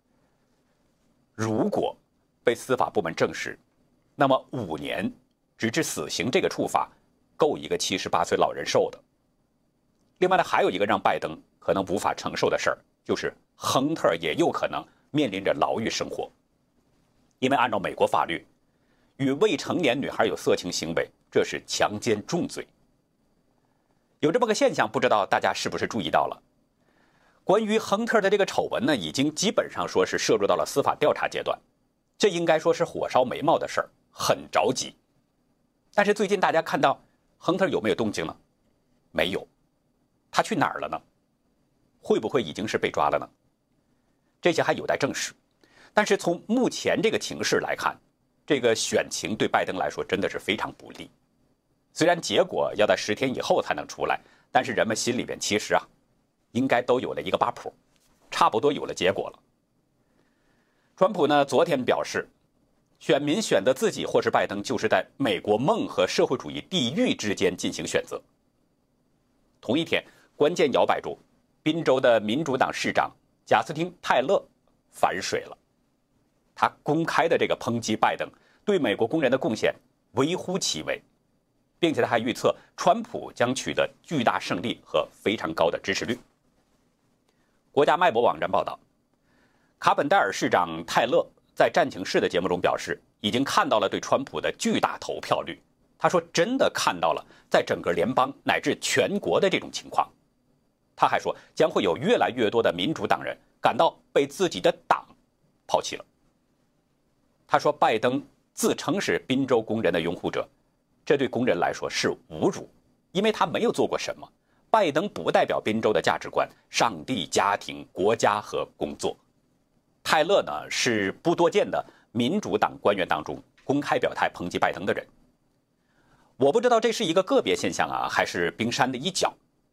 如果被司法部门证实，那么五年直至死刑这个处罚够一个七十八岁老人受的。另外呢，还有一个让拜登可能无法承受的事儿，就是亨特也有可能面临着牢狱生活。因为按照美国法律，与未成年女孩有色情行为，这是强奸重罪。有这么个现象，不知道大家是不是注意到了？关于亨特的这个丑闻呢，已经基本上说是涉入到了司法调查阶段，这应该说是火烧眉毛的事儿，很着急。但是最近大家看到亨特有没有动静呢？没有。他去哪儿了呢？会不会已经是被抓了呢？这些还有待证实。但是从目前这个情势来看，这个选情对拜登来说真的是非常不利。虽然结果要在十天以后才能出来，但是人们心里边其实啊，应该都有了一个把谱，差不多有了结果了。川普呢，昨天表示，选民选择自己或是拜登，就是在美国梦和社会主义地狱之间进行选择。同一天，关键摇摆州宾州的民主党市长贾斯汀·泰勒反水了，他公开的这个抨击拜登对美国工人的贡献微乎其微，并且他还预测川普将取得巨大胜利和非常高的支持率。国家脉搏网站报道，卡本戴尔市长泰勒在战情室的节目中表示，已经看到了对川普的巨大投票率。他说真的看到了在整个联邦乃至全国的这种情况。他还说将会有越来越多的民主党人感到被自己的党抛弃了。他说拜登自称是宾州工人的拥护者，这对工人来说是侮辱，因为他没有做过什么。拜登不代表宾州的价值观、上帝、家庭、国家和工作。泰勒呢，是不多见的民主党官员当中公开表态抨击拜登的人。我不知道这是一个个别现象啊，还是冰山的一角。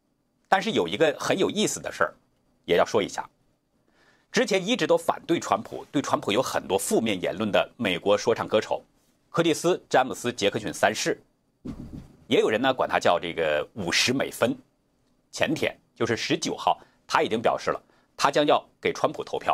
但是有一个很有意思的事儿，也要说一下。之前一直都反对川普，对川普有很多负面言论的美国说唱歌手柯蒂斯·詹姆斯·杰克逊三世，也有人呢管他叫这个五十美分。前天就是十九号，他已经表示了，他将要给川普投票。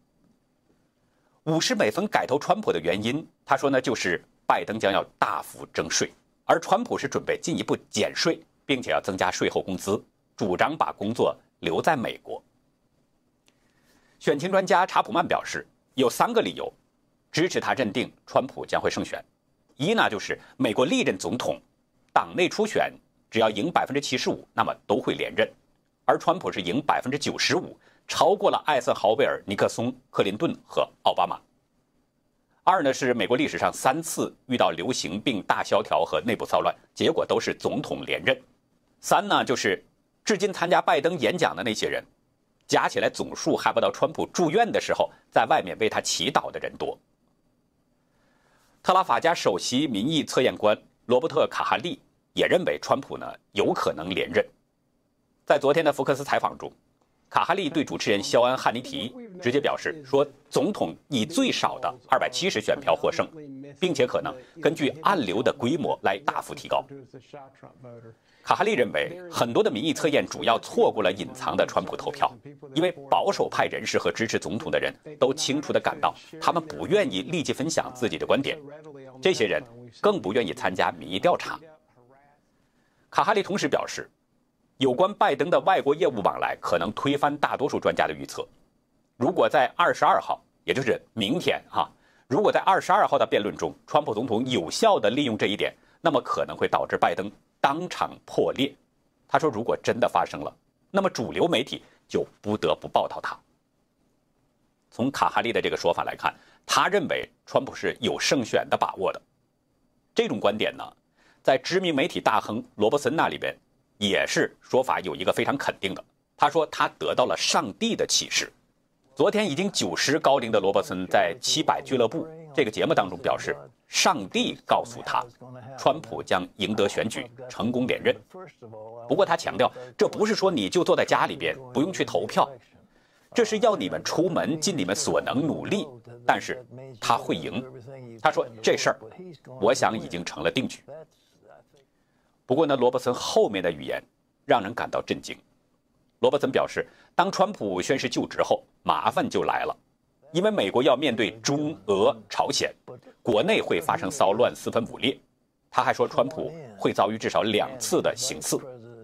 五十美分改投川普的原因，他说呢，就是拜登将要大幅征税，而川普是准备进一步减税，并且要增加税后工资，主张把工作留在美国。选情专家查普曼表示，有三个理由支持他认定川普将会胜选。一呢，就是美国历任总统党内初选只要赢百分之七十五，那么都会连任，而川普是赢百分之九十五，超过了艾森豪威尔、尼克松、克林顿和奥巴马。二呢，是美国历史上三次遇到流行病大萧条和内部骚乱，结果都是总统连任。三呢，就是至今参加拜登演讲的那些人，加起来总数还不到川普住院的时候在外面为他祈祷的人多。特拉法加首席民意测验官罗伯特·卡哈利也认为川普呢有可能连任。在昨天的福克斯采访中，卡哈利对主持人肖恩·汉尼提直接表示说，总统以最少的二百七十选票获胜，并且可能根据暗流的规模来大幅提高。卡哈利认为，很多的民意测验主要错过了隐藏的川普投票，因为保守派人士和支持总统的人都清楚地感到，他们不愿意立即分享自己的观点，这些人更不愿意参加民意调查。卡哈利同时表示，有关拜登的外国业务往来可能推翻大多数专家的预测。如果在二十二号，也就是明天哈，如果在二十二号的辩论中，川普总统有效地利用这一点，那么可能会导致拜登当场破裂。他说，如果真的发生了，那么主流媒体就不得不报道他。从卡哈利的这个说法来看，他认为川普是有胜选的把握的。这种观点呢，在知名媒体大亨罗伯森那里边也是说法有一个非常肯定的。他说他得到了上帝的启示。昨天已经九十高龄的罗伯森在七百俱乐部这个节目当中表示，上帝告诉他，川普将赢得选举，成功连任。不过他强调，这不是说你就坐在家里边不用去投票，这是要你们出门尽你们所能努力，但是他会赢。他说这事儿我想已经成了定局。不过呢，罗伯森后面的语言让人感到震惊。罗伯森表示，当川普宣誓就职后，麻烦就来了，因为美国要面对中俄朝鲜，国内会发生骚乱、四分五裂。他还说，川普会遭遇至少两次的刑刺。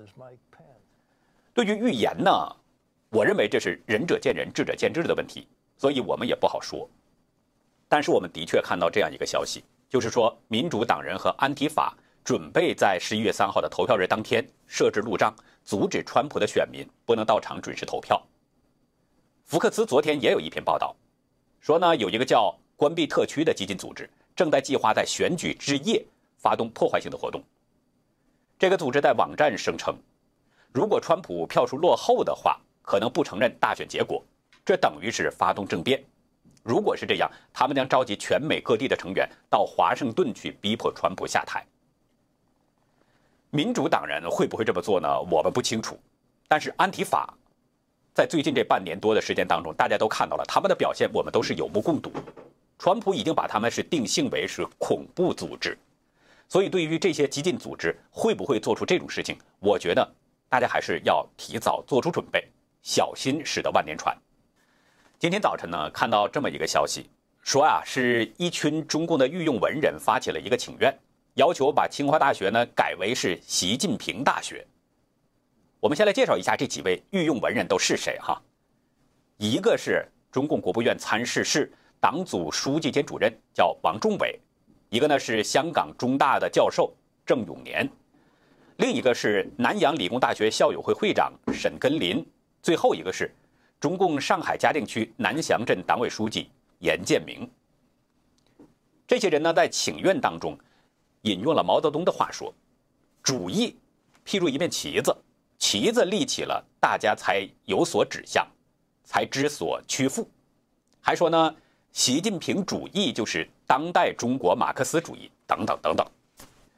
对于预言呢，我认为这是仁者见仁，智者见智的问题，所以我们也不好说。但是我们的确看到这样一个消息，就是说民主党人和安提法准备在十一月三号的投票日当天设置路障，阻止川普的选民不能到场准时投票。福克斯昨天也有一篇报道，说呢有一个叫关闭特区的激进组织正在计划在选举之夜发动破坏性的活动。这个组织在网站声称，如果川普票数落后的话，可能不承认大选结果，这等于是发动政变。如果是这样，他们将召集全美各地的成员到华盛顿去逼迫川普下台。民主党人会不会这么做呢？我们不清楚。但是安提法在最近这半年多的时间当中，大家都看到了他们的表现，我们都是有目共睹。川普已经把他们是定性为是恐怖组织，所以对于这些激进组织会不会做出这种事情，我觉得大家还是要提早做出准备，小心驶得万年船。今天早晨呢，看到这么一个消息，说啊，是一群中共的御用文人发起了一个请愿，要求把清华大学呢改为是习近平大学。我们先来介绍一下这几位御用文人都是谁哈。一个是中共国务院参事室党组书记兼主任，叫王仲伟；一个呢是香港中大的教授郑永年；另一个是南洋理工大学校友会会长沈根林；最后一个是中共上海嘉定区南翔镇党委书记严建明。这些人呢，在请愿当中引用了毛泽东的话说，主义譬如一面旗子，旗子立起了，大家才有所指向，才知所屈服。还说呢，习近平主义就是当代中国马克思主义等等等等。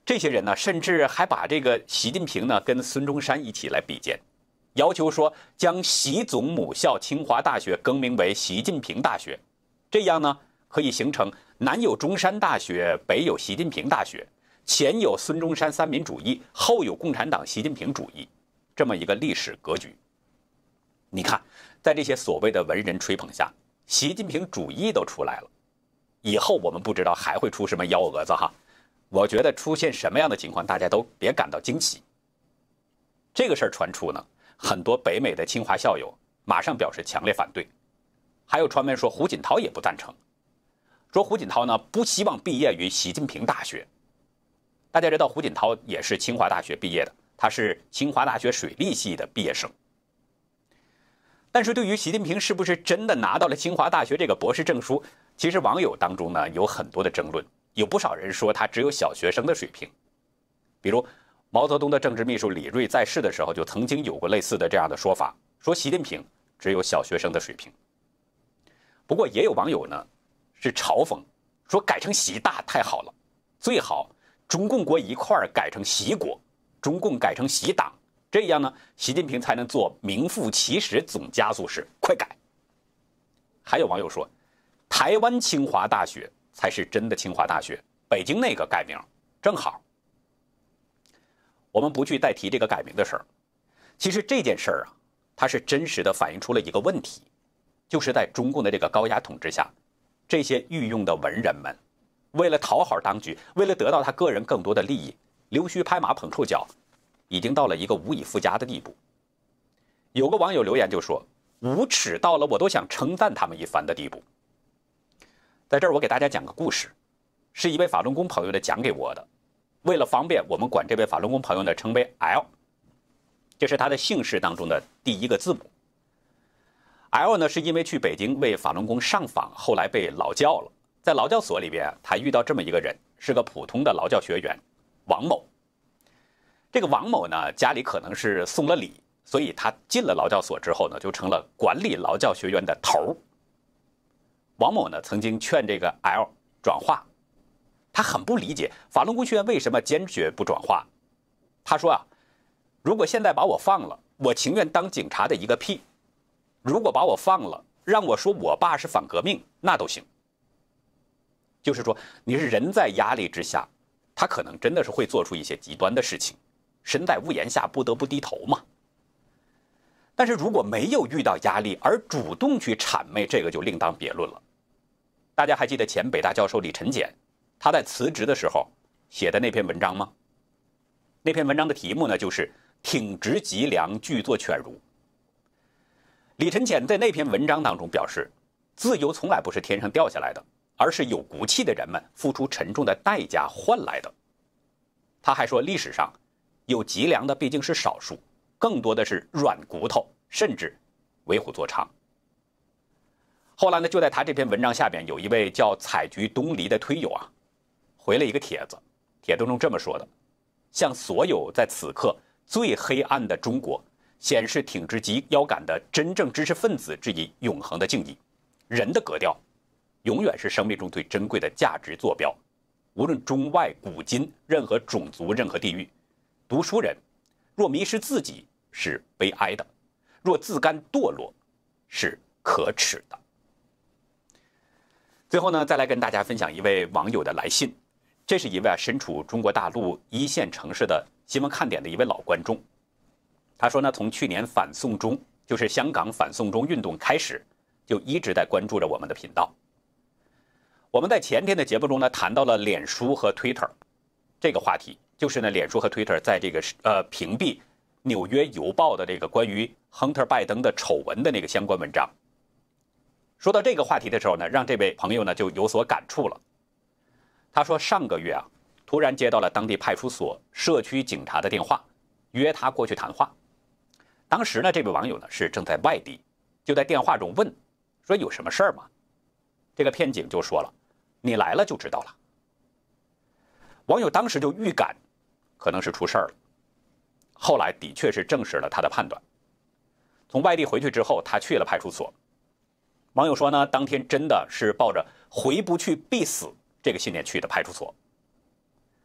这些人呢，甚至还把这个习近平呢跟孙中山一起来比肩，要求说将习总母校清华大学更名为习近平大学，这样呢可以形成南有中山大学，北有习近平大学，前有孙中山三民主义，后有共产党习近平主义，这么一个历史格局。你看，在这些所谓的文人吹捧下，习近平主义都出来了。以后我们不知道还会出什么幺蛾子哈。我觉得出现什么样的情况，大家都别感到惊奇。这个事儿传出呢，很多北美的清华校友马上表示强烈反对，还有传闻说胡锦涛也不赞成，说胡锦涛呢不希望毕业于习近平大学。大家知道胡锦涛也是清华大学毕业的，他是清华大学水利系的毕业生。但是对于习近平是不是真的拿到了清华大学这个博士证书，其实网友当中呢有很多的争论。有不少人说他只有小学生的水平，比如毛泽东的政治秘书李锐在世的时候就曾经有过类似的这样的说法，说习近平只有小学生的水平。不过也有网友呢是嘲讽，说改成习大太好了，最好中共国一块儿改成习国，中共改成习党，这样呢习近平才能做名副其实总加速师，快改。还有网友说，台湾清华大学才是真的清华大学，北京那个改名正好。我们不去再提这个改名的事儿，其实这件事儿啊，它是真实的反映出了一个问题，就是在中共的这个高压统治下，这些御用的文人们，为了讨好当局，为了得到他个人更多的利益，溜须拍马捧臭脚，已经到了一个无以复加的地步。有个网友留言就说，无耻到了我都想称赞他们一番的地步。在这儿我给大家讲个故事，是一位法轮功朋友的讲给我的。为了方便，我们管这位法轮功朋友呢称为 L， 这是他的姓氏当中的第一个字母。L 呢是因为去北京为法轮功上访，后来被劳教了。在劳教所里边，他遇到这么一个人，是个普通的劳教学员王某。这个王某呢家里可能是送了礼，所以他进了劳教所之后呢，就成了管理劳教学员的头。王某呢曾经劝这个 L 转化，他很不理解法轮功学员为什么坚决不转化。他说啊，如果现在把我放了，我情愿当警察的一个屁；如果把我放了，让我说我爸是反革命，那都行。就是说，你是人在压力之下，他可能真的是会做出一些极端的事情，身在屋檐下不得不低头嘛。但是如果没有遇到压力而主动去谄媚，这个就另当别论了。大家还记得前北大教授李晨俭他在辞职的时候写的那篇文章吗？那篇文章的题目呢就是挺直脊梁，拒作犬儒。李晨俭在那篇文章当中表示，自由从来不是天上掉下来的，而是有骨气的人们付出沉重的代价换来的。他还说，历史上有脊梁的毕竟是少数，更多的是软骨头，甚至为虎作伥。后来呢，就在他这篇文章下边，有一位叫采菊东篱的推友啊，回了一个帖子，帖子中这么说的：向所有在此刻最黑暗的中国显示挺直及腰杆的真正知识分子致以永恒的敬意。人的格调永远是生命中最珍贵的价值坐标，无论中外古今，任何种族，任何地域，读书人若迷失自己是悲哀的，若自甘堕落是可耻的。最后呢，再来跟大家分享一位网友的来信。这是一位啊身处中国大陆一线城市的新闻看点的一位老观众。他说呢，从去年反送中，就是香港反送中运动开始，就一直在关注着我们的频道。我们在前天的节目中呢，谈到了脸书和 Twitter 这个话题，就是呢，脸书和 Twitter 在这个呃屏蔽纽约邮报的这个关于亨特拜登的丑闻的那个相关文章。说到这个话题的时候呢，让这位朋友呢就有所感触了。他说上个月啊，突然接到了当地派出所社区警察的电话，约他过去谈话。当时呢，这位网友呢是正在外地，就在电话中问说有什么事儿吗？这个片警就说了，你来了就知道了。网友当时就预感可能是出事儿了，后来的确是证实了他的判断。从外地回去之后，他去了派出所。网友说呢，当天真的是抱着回不去必死这个信念去的派出所。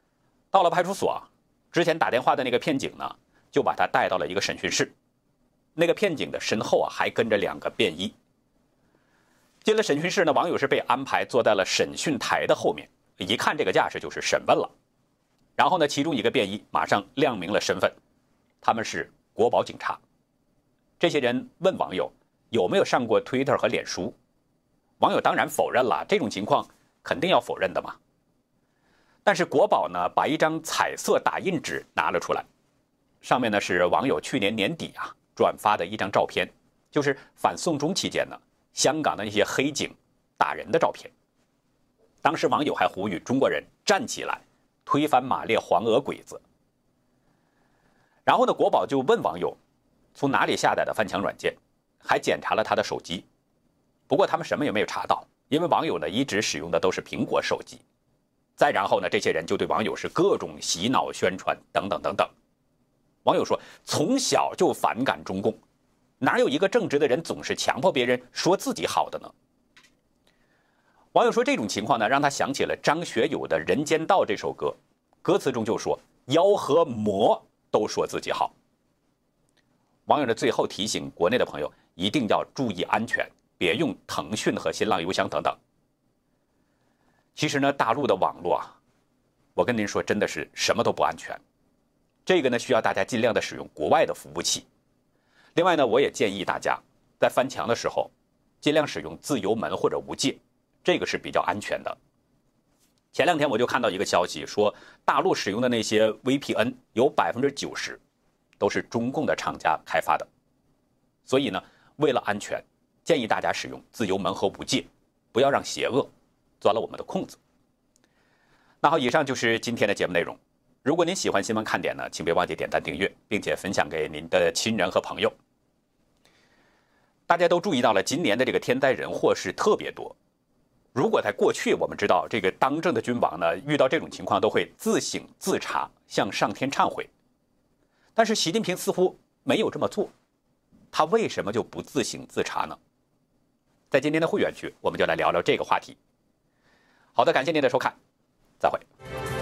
到了派出所，之前打电话的那个骗警呢，就把他带到了一个审讯室。那个骗警的身后啊，还跟着两个便衣。进了审讯室呢，网友是被安排坐在了审讯台的后面，一看这个架势就是审问了。然后呢，其中一个便衣马上亮明了身份，他们是国保警察。这些人问网友有没有上过 Twitter 和脸书，网友当然否认了，这种情况肯定要否认的嘛。但是国保呢，把一张彩色打印纸拿了出来，上面呢是网友去年年底啊转发的一张照片，就是反送中期间呢，香港的那些黑警打人的照片。当时网友还呼吁中国人站起来，推翻马列黄俄鬼子。然后呢，国保就问网友从哪里下载的翻墙软件，还检查了他的手机。不过他们什么也没有查到，因为网友呢一直使用的都是苹果手机。再然后呢，这些人就对网友是各种洗脑宣传等等等等。网友说，从小就反感中共，哪有一个正直的人总是强迫别人说自己好的呢？网友说，这种情况呢，让他想起了张学友的《人间道》这首歌，歌词中就说妖和魔都说自己好。网友的最后提醒国内的朋友一定要注意安全，别用腾讯和新浪邮箱等等。其实呢，大陆的网络啊，我跟您说，真的是什么都不安全。这个呢，需要大家尽量的使用国外的服务器。另外呢，我也建议大家在翻墙的时候，尽量使用自由门或者无界，这个是比较安全的。前两天我就看到一个消息说，大陆使用的那些 V P N 有 百分之九十 都是中共的厂家开发的。所以呢，为了安全，建议大家使用自由门和无界，不要让邪恶钻了我们的空子。那好，以上就是今天的节目内容。如果您喜欢新闻看点呢，请别忘记点赞订阅，并且分享给您的亲人和朋友。大家都注意到了，今年的这个天灾人祸是特别多。如果在过去我们知道这个当政的君王呢，遇到这种情况都会自省自查，向上天忏悔。但是习近平似乎没有这么做，他为什么就不自省自查呢？在今天的会员区，我们就来聊聊这个话题。好的，感谢您的收看，再会。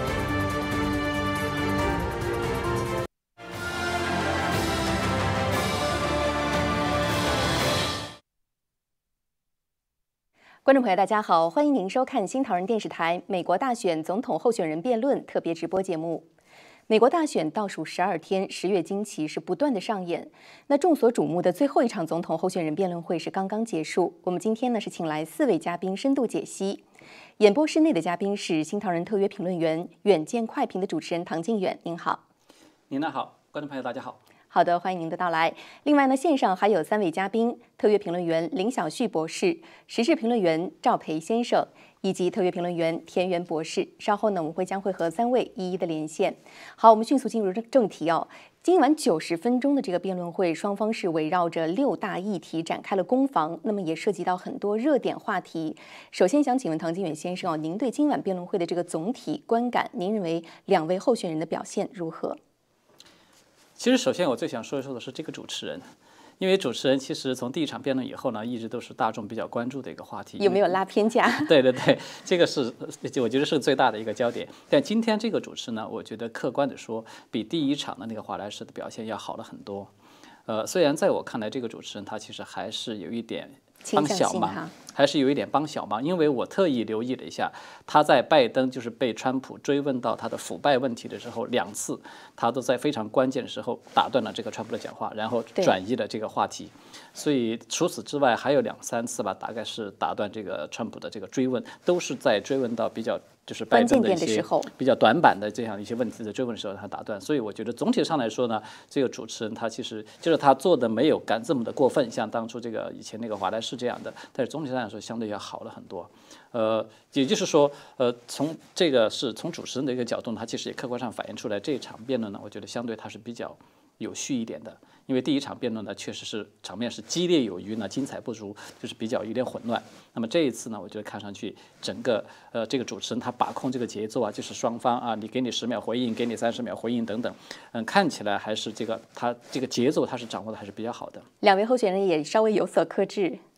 观众朋友，大家好，欢迎您收看新唐人电视台美国大选总统候选人辩论特别直播节目。美国大选倒数十二天，十月惊奇是不断的上演。那众所瞩目的最后一场总统候选人辩论会是刚刚结束。我们今天呢是请来四位嘉宾深度解析。演播室内的嘉宾是新唐人特约评论员、远见快评的主持人唐靖远，您好。 您好，观众朋友大家好。 好的，欢迎您的到来。另外呢，线上还有三位嘉宾：特约评论员林小旭博士、时事评论员赵培先生，以及特约评论员田园博士。稍后呢，我们会将会和三位一一的连线。好，我们迅速进入正题哦。今晚九十分钟的这个辩论会，双方是围绕着六大议题展开了攻防，那么也涉及到很多热点话题。首先想请问唐靖远先生哦，您对今晚辩论会的这个总体观感，您认为两位候选人的表现如何？ 其实，首先我最想说一说的是这个主持人，因为主持人其实从第一场辩论以后呢，一直都是大众比较关注的一个话题。 有没有拉偏架？ 对对对，这个是我觉得是最大的一个焦点。但今天这个主持呢，我觉得客观的说，比第一场的那个华莱士的表现要好了很多。呃，虽然在我看来，这个主持人他其实还是有一点帮小忙，还是有一点帮小忙，因为我特意留意了一下，他在拜登就是被川普追问到他的腐败问题的时候，两次他都在非常关键的时候打断了这个川普的讲话，然后转移了这个话题。所以除此之外还有两三次吧，大概是打断这个川普的这个追问，都是在追问到比较就是拜登的一些比较短板的这样一些问题的追问的时候，他打断。所以我觉得总体上来说呢，这个主持人他其实就是他做的没有敢这么的过分，像当初这个以前那个华莱士这样的，但是总体上来说相对要好了很多。呃，也就是说，呃，从这个是从主持人的一个角度，他其实也客观上反映出来，这一场辩论呢，我觉得相对它是比较有序一点的。因为第一场辩论呢，确实是场面是激烈有余呢，精彩不足，就是比较有点混乱。那么这一次呢，我觉得看上去整个呃这个主持人他把控这个节奏啊，就是双方啊，你给你十秒回应，给你三十秒回应等等，嗯，看起来还是这个他这个节奏他是掌握的还是比较好的。 两位候选人也稍微有所克制。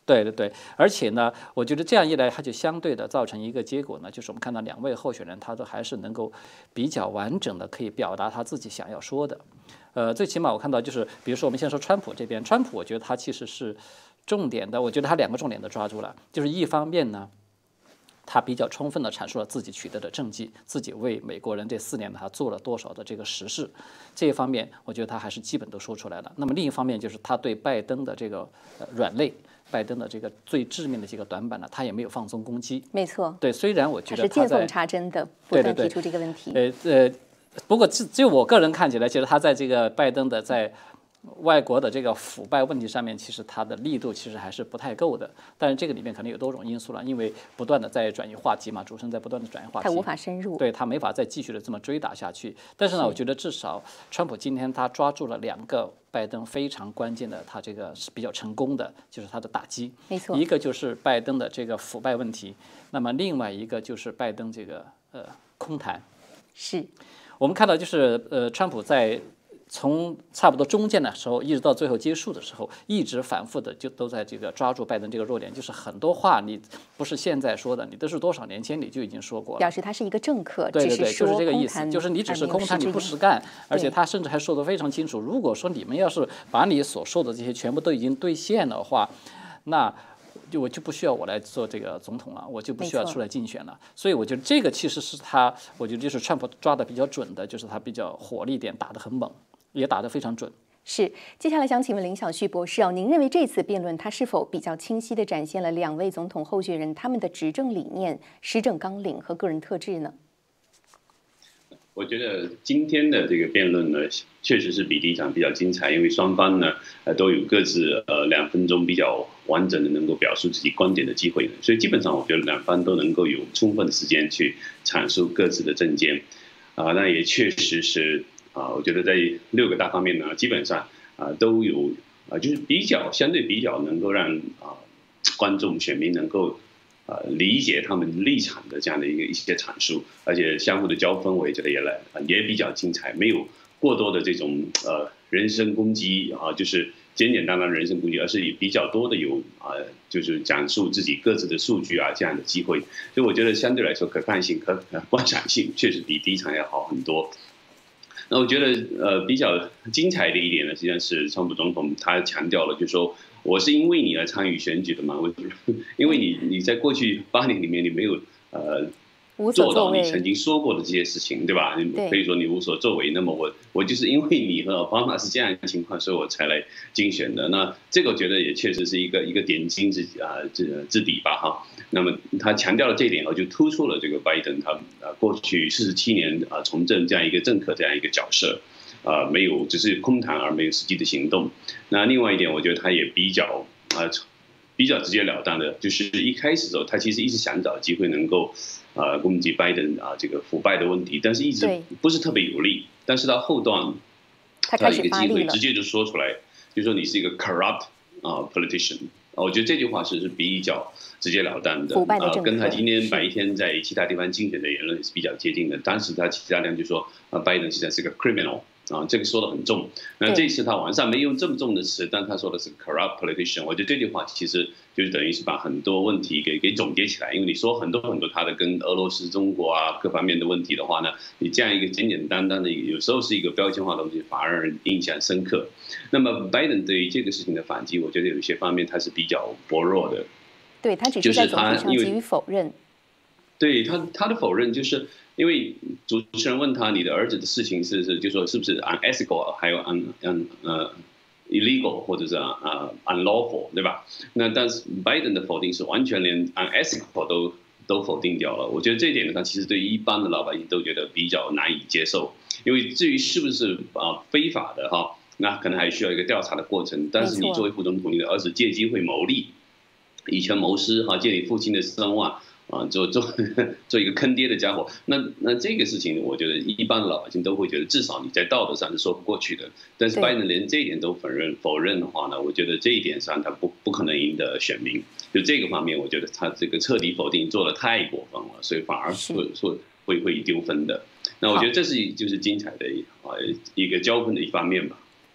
对对对，而且呢，我觉得这样一来，它就相对的造成一个结果呢，就是我们看到两位候选人，他都还是能够比较完整的可以表达他自己想要说的。呃，最起码我看到就是，比如说我们先说川普这边，川普我觉得他其实是重点的，我觉得他两个重点都抓住了，就是一方面呢，他比较充分地阐述了自己取得的政绩，自己为美国人这四年他做了多少的这个实事，这一方面我觉得他还是基本都说出来了。那么另一方面就是他对拜登的这个呃软肋。拜登的这个最致命的几个短板呢，他也没有放松攻击。 没错， 对，虽然我觉得他是见缝插针的，不断提出这个问题。 对对对呃呃，不过只只有我个人看起来，觉得他在这个拜登的在外国的这个腐败问题上面，其实他的力度其实还是不太够的。但是这个里面可能有多种因素了，因为不断的在转移话题嘛，主持人在不断的转移话题， 他无法深入， 对他没法再继续的这么追打下去。但是呢，我觉得至少川普今天他抓住了两个拜登非常关键的，他这个是比较成功的，就是他的打击。 没错， 一个就是拜登的这个腐败问题，那么另外一个就是拜登这个呃空谈。 是我们看到就是呃，川普在从差不多中间的时候，一直到最后结束的时候，一直反复的就都在这个抓住拜登这个弱点，就是很多话你不是现在说的，你都是多少年前你就已经说过了。 表示他是一个政客， 对对对，就是这个意思， 空谈就是你只是空谈，你不实干，而且他甚至还说得非常清楚，如果说你们要是把你所说的这些全部都已经兑现的话，那就我就不需要我来做这个总统了，我就不需要出来竞选了。所以我觉得这个其实是他，我觉得就是川普抓的比较准的，就是他比较火力点打得很猛，也打得非常准。 是，接下来想请问林小旭博士哦，您认为这次辩论它是否比较清晰地展现了两位总统候选人他们的执政理念、施政纲领和个人特质呢？ 我觉得今天的这个辩论呢，确实是比第一场比较精彩，因为双方呢，呃，都有各自呃两分钟比较完整的能够表述自己观点的机会，所以基本上我觉得两方都能够有充分的时间去阐述各自的政见，啊，那也确实是啊，我觉得在六个大方面呢，基本上啊都有啊，就是比较相对比较能够让啊观众选民能够。呃，理解他们立场的这样的一个一些阐述，而且相互的交锋，我也觉得也来也比较精彩，没有过多的这种呃人身攻击啊，就是简简单单的人身攻击，而是以比较多的有啊、呃，就是讲述自己各自的数据啊这样的机会，所以我觉得相对来说可看性、可观赏性确实比第一场要好很多。那我觉得呃比较精彩的一点呢，实际上是川普总统他强调了，就是说。我是因为你而参与选举的嘛？我因为你你在过去八年里面你没有呃做到你曾经说过的这些事情，对吧？可以说你无所作为。那么我我就是因为你和奥巴马是这样的情况，所以我才来竞选的。那这个我觉得也确实是一个一个点睛之啊之之笔吧哈。那么他强调了这一点后，就突出了这个拜登他啊过去四十七年啊从政这样一个政客这样一个角色。呃，没有，只是空谈而没有实际的行动。那另外一点，我觉得他也比较啊、呃，比较直截了当的，就是一开始的时候，他其实一直想找机会能够呃攻击拜登啊这个腐败的问题，但是一直不是特别有力。但是到后段， 他开始一个机会直接就说出来，就说你是一个 corrupt 啊、uh, politician。我觉得这句话是是比较直截了当的， 啊， 跟他今天白天在其他地方竞选的言论是比较接近的。当时他其他人就说啊，拜登现在是个 criminal。啊，这个说的很重。那这次他晚上没用这么重的词，但他说的是 corrupt politician。我觉得这句话其实就是等于是把很多问题给给总结起来。因为你说很多很多他的跟俄罗斯、中国啊各方面的问题的话呢，你这样一个简简单单的，有时候是一个标签化的东西，反而让人印象深刻。那么拜登对于这个事情的反击，我觉得有一些方面他是比较薄弱的。 对他只是在总体上给予否认。 对他他的否认就是。因为主持人问他你的儿子的事情是是就说是不是 unethical 还有 un un 呃 illegal 或者是呃 unlawful 对吧？那但是拜登的否定是完全连 unethical 都都否定掉了。我觉得这一点呢，他其实对于一般的老百姓都觉得比较难以接受。因为至于是不是啊非法的哈，那可能还需要一个调查的过程。但是你作为副总统，你的儿子借机会牟利，以权谋私哈，借你父亲的声望。啊，做做做一个坑爹的家伙，那那这个事情，我觉得一般的老百姓都会觉得，至少你在道德上是说不过去的。但是拜登连这一点都否认否认的话呢，我觉得这一点上他不不可能赢得选民。就这个方面，我觉得他这个彻底否定做得太过分了，所以反而会会会会丢分的。那我觉得这是就是精彩的啊一个交锋的一方面吧。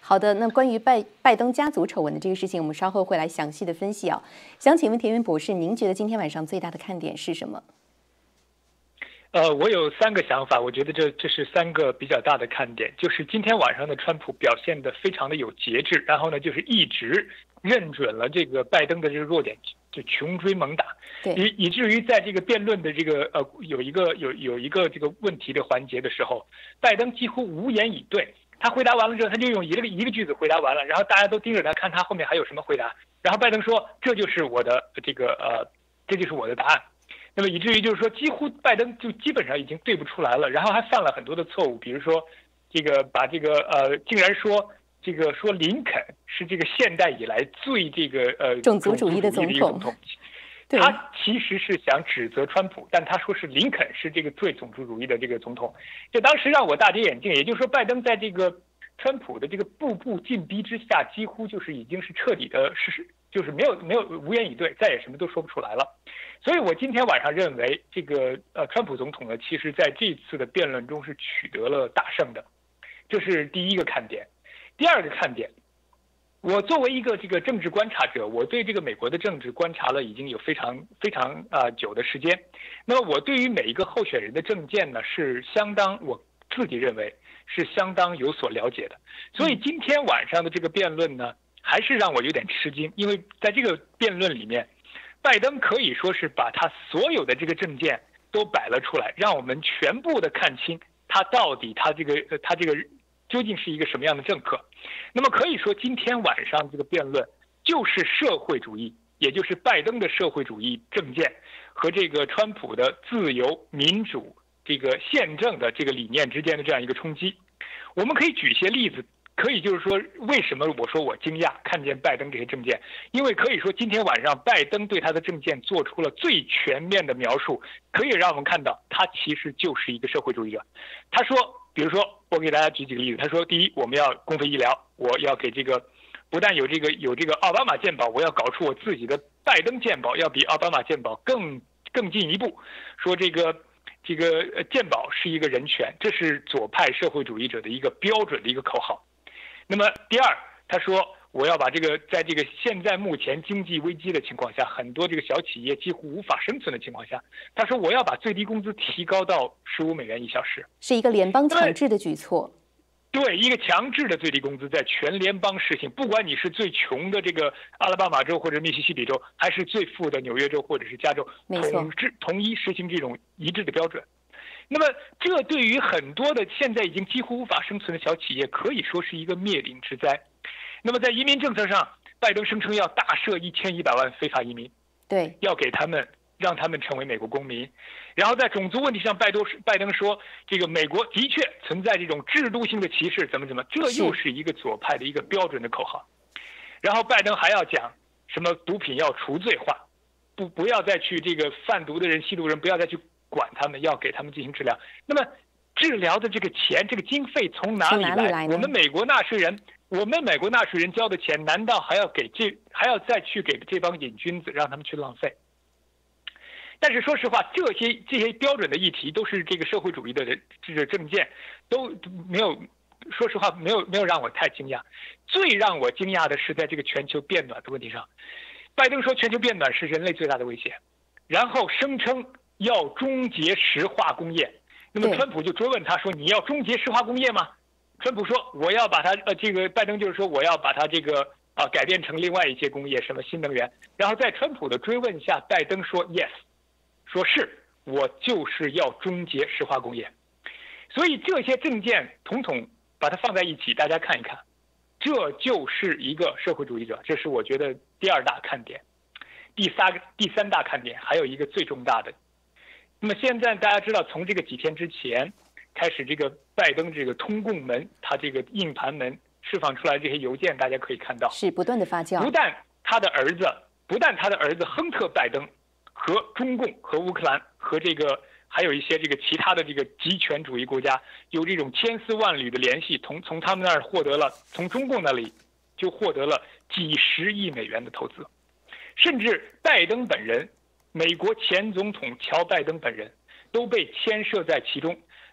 好的，那关于拜拜登家族丑闻的这个事情，我们稍后会来详细的分析啊。想请问田园博士，您觉得今天晚上最大的看点是什么？ 呃，我有三个想法，我觉得这这是三个比较大的看点，就是今天晚上的川普表现得非常的有节制，然后呢，就是一直认准了这个拜登的这个弱点，就穷追猛打，以以至于在这个辩论的这个呃有一个有有一个这个问题的环节的时候，拜登几乎无言以对。他回答完了之后，他就用一个一个句子回答完了，然后大家都盯着他看他后面还有什么回答，然后拜登说这就是我的这个呃这就是我的答案。那么以至于就是说，几乎拜登就基本上已经对不出来了，然后还犯了很多的错误，比如说，这个把这个呃，竟然说这个说林肯是这个现代以来最这个呃种族主义的总统， 他其实是想指责川普，但他说是林肯是这个最种族主义的这个总统，这当时让我大跌眼镜。也就是说，拜登在这个川普的这个步步进逼之下，几乎就是已经是彻底的是就是没有没有无言以对，再也什么都说不出来了。所以我今天晚上认为，这个呃，川普总统呢，其实在这次的辩论中是取得了大胜的，这是第一个看点。第二个看点，我作为一个这个政治观察者，我对这个美国的政治观察了已经有非常非常啊、呃、久的时间。那么我对于每一个候选人的政见呢，是相当我自己认为是相当有所了解的。所以今天晚上的这个辩论呢，还是让我有点吃惊，因为在这个辩论里面，拜登可以说是把他所有的这个政见都摆了出来，让我们全部的看清他到底他这个他这个究竟是一个什么样的政客。那么可以说今天晚上这个辩论就是社会主义，也就是拜登的社会主义政见和这个川普的自由民主这个宪政的这个理念之间的这样一个冲击。我们可以举一些例子，可以就是说，为什么我说我惊讶看见拜登这些政见？因为可以说今天晚上拜登对他的政见做出了最全面的描述，可以让我们看到他其实就是一个社会主义者。他说，比如说我给大家举几个例子，他说，第一，我们要公费医疗，我要给这个不但有这个有这个奥巴马健保，我要搞出我自己的拜登健保，要比奥巴马健保更更进一步。说这个这个健保是一个人权，这是左派社会主义者的一个标准的一个口号。那么第二，他说我要把这个在这个现在目前经济危机的情况下，很多这个小企业几乎无法生存的情况下，他说我要把最低工资提高到十五美元一小时， 是一个联邦强制的举措。 对，一个强制的最低工资在全联邦实行，不管你是最穷的这个阿拉巴马州或者密西西比州，还是最富的纽约州或者是加州，统治统一实行这种一致的标准。那么这对于很多的现在已经几乎无法生存的小企业可以说是一个灭顶之灾。那么在移民政策上，拜登声称要大赦一千一百万非法移民， 对， 要给他们让他们成为美国公民。然后在种族问题上，拜登拜登说这个美国的确存在这种制度性的歧视，怎么怎么，这又是一个左派的一个标准的口号。然后拜登还要讲什么毒品要除罪化，不不要再去这个贩毒的人、吸毒人不要再去管他们，要给他们进行治疗。那么治疗的这个钱，这个经费从哪里来？ 里来我们美国纳税人，我们美国纳税人交的钱，难道还要给这还要再去给这帮瘾君子，让他们去浪费？但是说实话，这些这些标准的议题都是这个社会主义的这个政见，都没有，说实话没有没有让我太惊讶。最让我惊讶的是在这个全球变暖的问题上，拜登说全球变暖是人类最大的威胁，然后声称要终结石化工业。那么川普就追问他说：“你要终结石化工业吗？”川普说：“我要把它呃，这个拜登就是说我要把它这个啊改变成另外一些工业，什么新能源。”然后在川普的追问下，拜登说 ：“Yes， 说是我就是要终结石化工业。”所以这些政见统统把它放在一起，大家看一看，这就是一个社会主义者。这是我觉得第二大看点。第三个第三大看点还有一个最重大的。那么现在大家知道，从这个几天之前开始，这个拜登这个通共门，他这个硬盘门释放出来这些邮件，大家可以看到是不断的发酵。 不但他的儿子，不但他的儿子亨特·拜登和中共、和乌克兰、和这个还有一些这个其他的这个极权主义国家有这种千丝万缕的联系，从从他们那儿获得了，从中共那里就获得了几十亿美元的投资，甚至拜登本人。美国前总统乔·拜登本人都被牵涉在其中。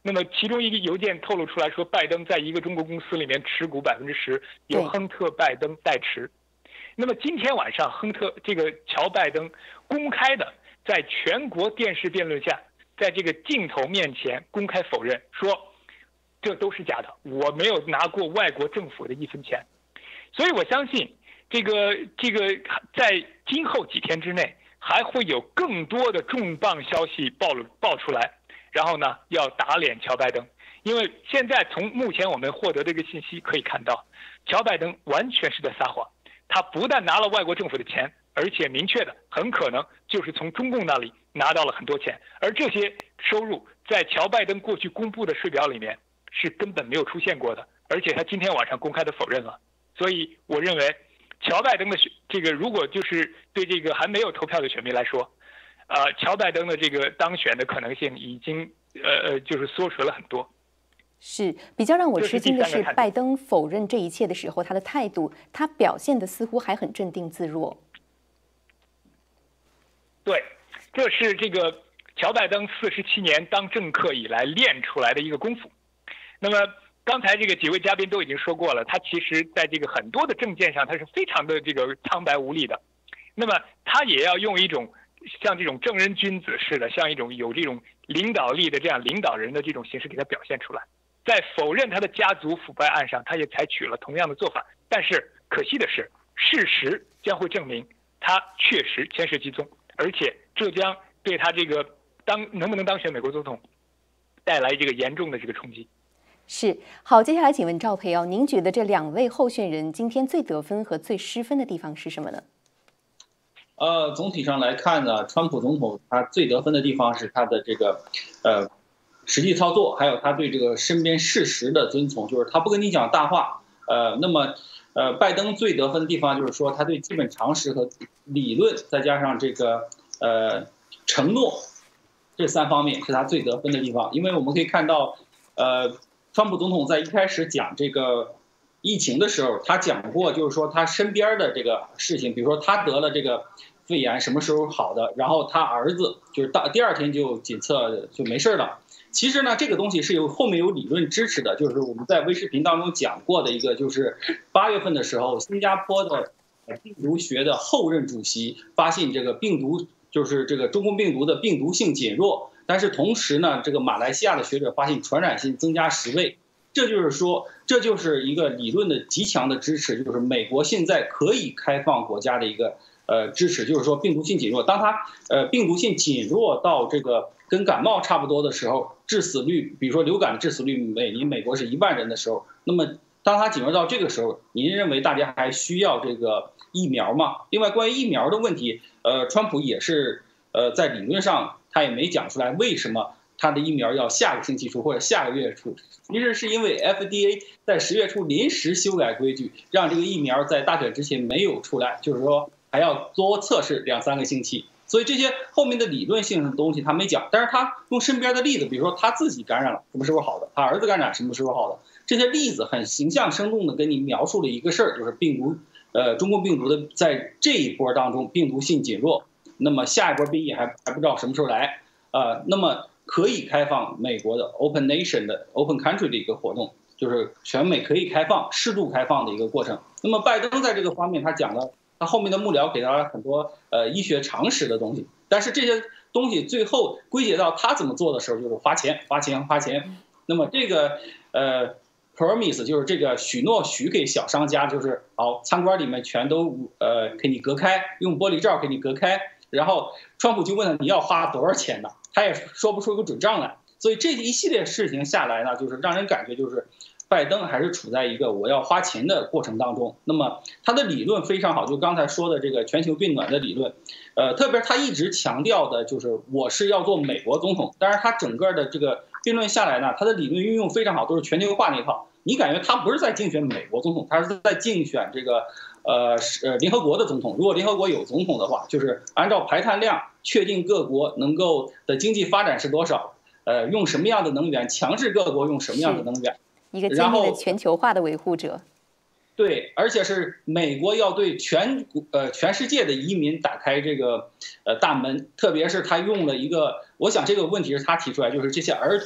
那么其中一个邮件透露出来说，拜登在一个中国公司里面持股百分之十，由亨特·拜登代持。那么今天晚上，亨特这个乔拜登公开的在全国电视辩论下，在这个镜头面前公开否认说，这都是假的，我没有拿过外国政府的一分钱。所以我相信，这个这个在今后几天之内，还会有更多的重磅消息爆爆出来，然后呢，要打脸乔拜登。因为现在从目前我们获得这个信息可以看到，乔拜登完全是在撒谎。他不但拿了外国政府的钱，而且明确的很可能就是从中共那里拿到了很多钱，而这些收入在乔拜登过去公布的税表里面是根本没有出现过的，而且他今天晚上公开的否认了。所以我认为，乔拜登的这个如果就是对这个还没有投票的选民来说，呃，乔拜登的这个当选的可能性已经呃呃就是缩水了很多。 是比较让我吃惊的是，拜登否认这一切的时候，他的态度，他表现的似乎还很镇定自若。 对，这是这个乔拜登四十七年当政客以来练出来的一个功夫。那么刚才这个几位嘉宾都已经说过了，他其实在这个很多的政见上，他是非常的这个苍白无力的。那么他也要用一种像这种正人君子似的，像一种有这种领导力的这样领导人的这种形式给他表现出来。在否认他的家族腐败案上，他也采取了同样的做法。但是可惜的是，事实将会证明他确实牵涉其中，而且这将对他这个当能不能当选美国总统带来这个严重的这个冲击。 是，好，接下来请问赵培哦，您觉得这两位候选人今天最得分和最失分的地方是什么呢？ 呃，总体上来看呢，川普总统他最得分的地方是他的这个，呃。实际操作，还有他对这个身边事实的遵从，就是他不跟你讲大话。呃，那么，呃，拜登最得分的地方就是说，他对基本常识和理论，再加上这个呃承诺，这三方面是他最得分的地方。因为我们可以看到，呃，川普总统在一开始讲这个疫情的时候，他讲过，就是说他身边的这个事情，比如说他得了这个肺炎什么时候好的，然后他儿子就是到第二天就检测就没事了。其实呢，这个东西是有后面有理论支持的，就是我们在微视频当中讲过的一个，就是八月份的时候，新加坡的病毒学的后任主席发现这个病毒就是这个中共病毒的病毒性减弱，但是同时呢，这个马来西亚的学者发现传染性增加十倍，这就是说，这就是一个理论的极强的支持，就是美国现在可以开放国家的一个呃支持，就是说病毒性减弱，当它呃病毒性减弱到这个跟感冒差不多的时候，致死率，比如说流感的致死率每年美国是一万人的时候，那么当它减弱到这个时候，您认为大家还需要这个疫苗吗？另外，关于疫苗的问题，呃，川普也是呃在理论上他也没讲出来为什么他的疫苗要下个星期出或者下个月出，其实是因为 F D A 在十月初临时修改规矩，让这个疫苗在大选之前没有出来，就是说还要多测试两三个星期。所以这些后面的理论性的东西他没讲，但是他用身边的例子，比如说他自己感染了什么时候好的，他儿子感染什么时候好的，这些例子很形象生动的跟你描述了一个事儿，就是病毒，呃，中共病毒的在这一波当中病毒性减弱，那么下一波变异还还不知道什么时候来，呃，那么可以开放美国的 Open Nation 的 Open Country 的一个活动，就是全美可以开放、适度开放的一个过程。那么拜登在这个方面他讲了。他后面的幕僚给他了很多呃医学常识的东西，但是这些东西最后归结到他怎么做的时候，就是花钱花钱花钱。那么这个呃 promise 就是这个许诺许给小商家，就是好餐馆里面全都呃给你隔开，用玻璃罩给你隔开，然后川普就问他你要花多少钱呢？他也说不出个准账来。所以这一系列事情下来呢，就是让人感觉就是拜登还是处在一个我要花钱的过程当中。那么他的理论非常好，就刚才说的这个全球变暖的理论，呃，特别他一直强调的就是我是要做美国总统。但是他整个的这个辩论下来呢，他的理论运用非常好，都是全球化那一套。你感觉他不是在竞选美国总统，他是在竞选这个呃呃联合国的总统。如果联合国有总统的话，就是按照排碳量确定各国能够的经济发展是多少，呃，用什么样的能源，强制各国用什么样的能源。 一个坚定的全球化的维护者， 对，而且是美国要对全呃全世界的移民打开这个呃大门，特别是他用了一个，我想这个问题是他提出来，就是这些儿童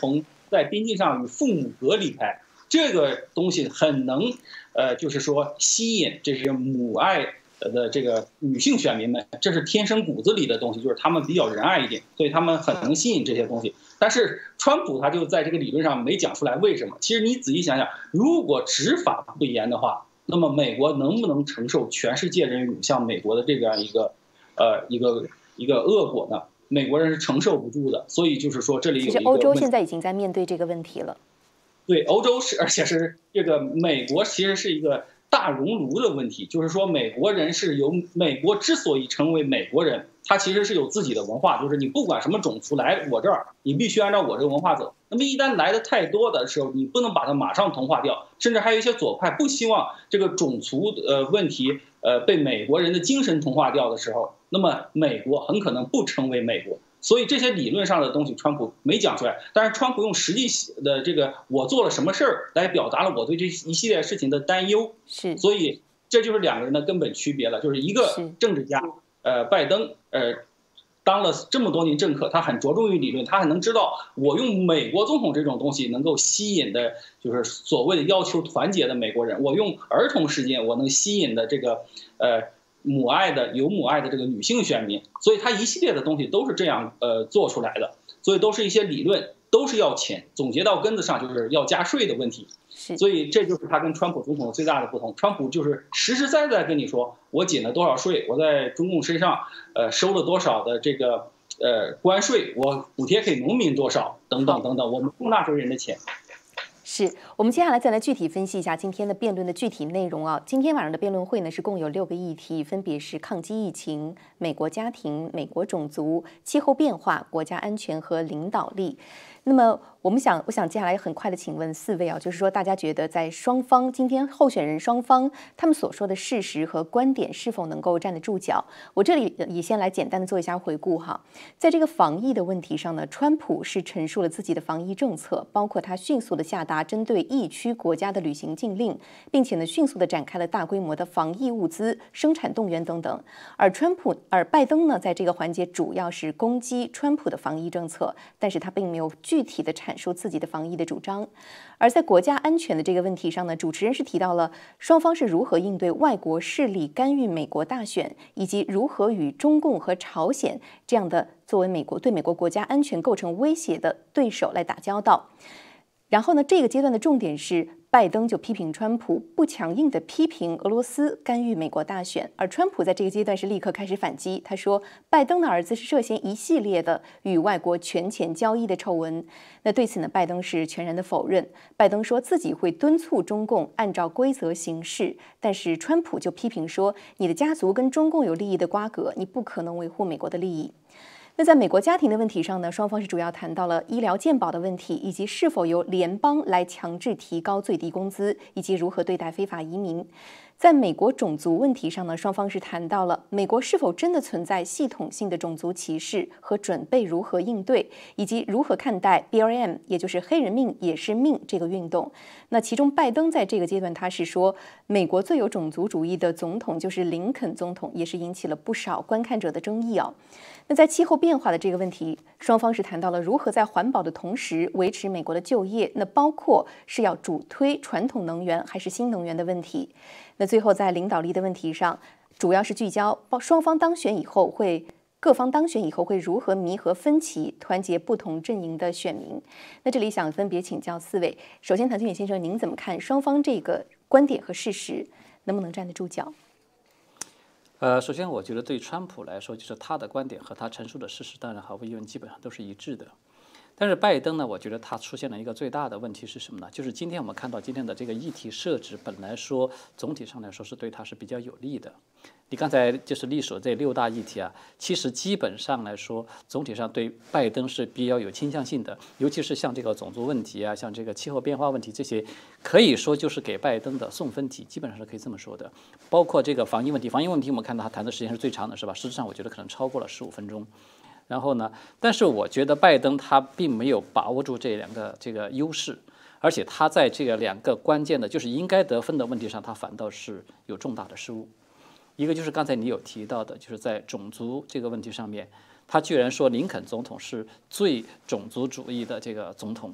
在边境上与父母隔离开，这个东西很能，呃，就是说吸引这些母爱的这个女性选民们，这是天生骨子里的东西，就是他们比较仁爱一点，所以他们很能吸引这些东西。但是川普他就在这个理论上没讲出来为什么。其实你仔细想想，如果执法不严的话，那么美国能不能承受全世界人涌向美国的这样一个，呃，一个一个恶果呢？美国人是承受不住的。所以就是说，这里有一个其实欧洲现在已经在面对这个问题了。 对，欧洲是，而且是这个美国其实是一个大熔炉的问题，就是说美国人是由美国之所以成为美国人，他其实是有自己的文化，就是你不管什么种族来我这儿，你必须按照我这个文化走。那么一旦来的太多的时候，你不能把它马上同化掉，甚至还有一些左派不希望这个种族呃问题呃被美国人的精神同化掉的时候，那么美国很可能不成为美国。所以这些理论上的东西，川普没讲出来，但是川普用实际的这个我做了什么事儿来表达了我对这一系列事情的担忧。 是， 所以这就是两个人的根本区别了，就是一个政治家，呃，拜登，呃，当了这么多年政客，他很着重于理论，他很能知道我用美国总统这种东西能够吸引的，就是所谓的要求团结的美国人，我用儿童事件我能吸引的这个，呃。母爱的有母爱的这个女性选民，所以他一系列的东西都是这样呃做出来的，所以都是一些理论，都是要钱，总结到根子上就是要加税的问题。所以这就是他跟川普总统最大的不同。川普就是实实在在跟你说，我减了多少税，我在中共身上呃收了多少的这个呃关税，我补贴给农民多少，等等等等，我们共纳税人的钱。 是我们接下来再来具体分析一下今天的辩论的具体内容啊。今天晚上的辩论会呢是共有六个议题，分别是抗击疫情、美国家庭、美国种族、气候变化、国家安全和领导力。那么我们想，我想接下来很快的请问四位啊，就是说大家觉得在双方今天候选人双方他们所说的事实和观点是否能够站得住脚？我这里也先来简单的做一下回顾哈。在这个防疫的问题上呢，川普是陈述了自己的防疫政策，包括他迅速的下达针对疫区国家的旅行禁令，并且呢迅速的展开了大规模的防疫物资生产动员等等。而川普，而拜登呢，在这个环节主要是攻击川普的防疫政策，但是他并没有具体的阐述自己的防疫的主张。而在国家安全的这个问题上呢，主持人是提到了双方是如何应对外国势力干预美国大选，以及如何与中共和朝鲜这样的作为美国对美国国家安全构成威胁的对手来打交道。然后呢，这个阶段的重点是拜登就批评川普不强硬地批评俄罗斯干预美国大选，而川普在这个阶段是立刻开始反击。他说，拜登的儿子是涉嫌一系列的与外国权钱交易的丑闻。那对此呢，拜登是全然的否认。拜登说自己会敦促中共按照规则行事，但是川普就批评说，你的家族跟中共有利益的瓜葛，你不可能维护美国的利益。那在美国家庭的问题上呢，双方是主要谈到了医疗健保的问题，以及是否由联邦来强制提高最低工资，以及如何对待非法移民。在美国种族问题上呢，双方是谈到了美国是否真的存在系统性的种族歧视和准备如何应对，以及如何看待 B L M， 也就是黑人命也是命这个运动。那其中拜登在这个阶段他是说，美国最有种族主义的总统就是林肯总统，也是引起了不少观看者的争议啊。那在气候变化的这个问题，双方是谈到了如何在环保的同时维持美国的就业，那包括是要主推传统能源还是新能源的问题。那最后在领导力的问题上，主要是聚焦双方当选以后会各方当选以后会如何弥合分歧，团结不同阵营的选民。那这里想分别请教四位，首先唐金远先生，您怎么看双方这个观点和事实能不能站得住脚？ 呃，首先我觉得对川普来说，就是他的观点和他陈述的事实，当然毫无疑问基本上都是一致的。但是拜登呢，我觉得他出现了一个最大的问题是什么呢？就是今天我们看到今天的这个议题设置，本来说总体上来说是对他是比较有利的。你刚才就是历数这六大议题啊，其实基本上来说，总体上对拜登是比较有倾向性的，尤其是像这个种族问题啊，像这个气候变化问题这些，可以说就是给拜登的送分题，基本上是可以这么说的。包括这个防疫问题，防疫问题我们看到他谈的时间是最长的，是吧？实质上我觉得可能超过了十五分钟。然后呢，但是我觉得拜登他并没有把握住这两个这个优势，而且他在这个两个关键的，就是应该得分的问题上，他反倒是有重大的失误。一个就是刚才你有提到的，就是在种族这个问题上面，他居然说林肯总统是最种族主义的这个总统。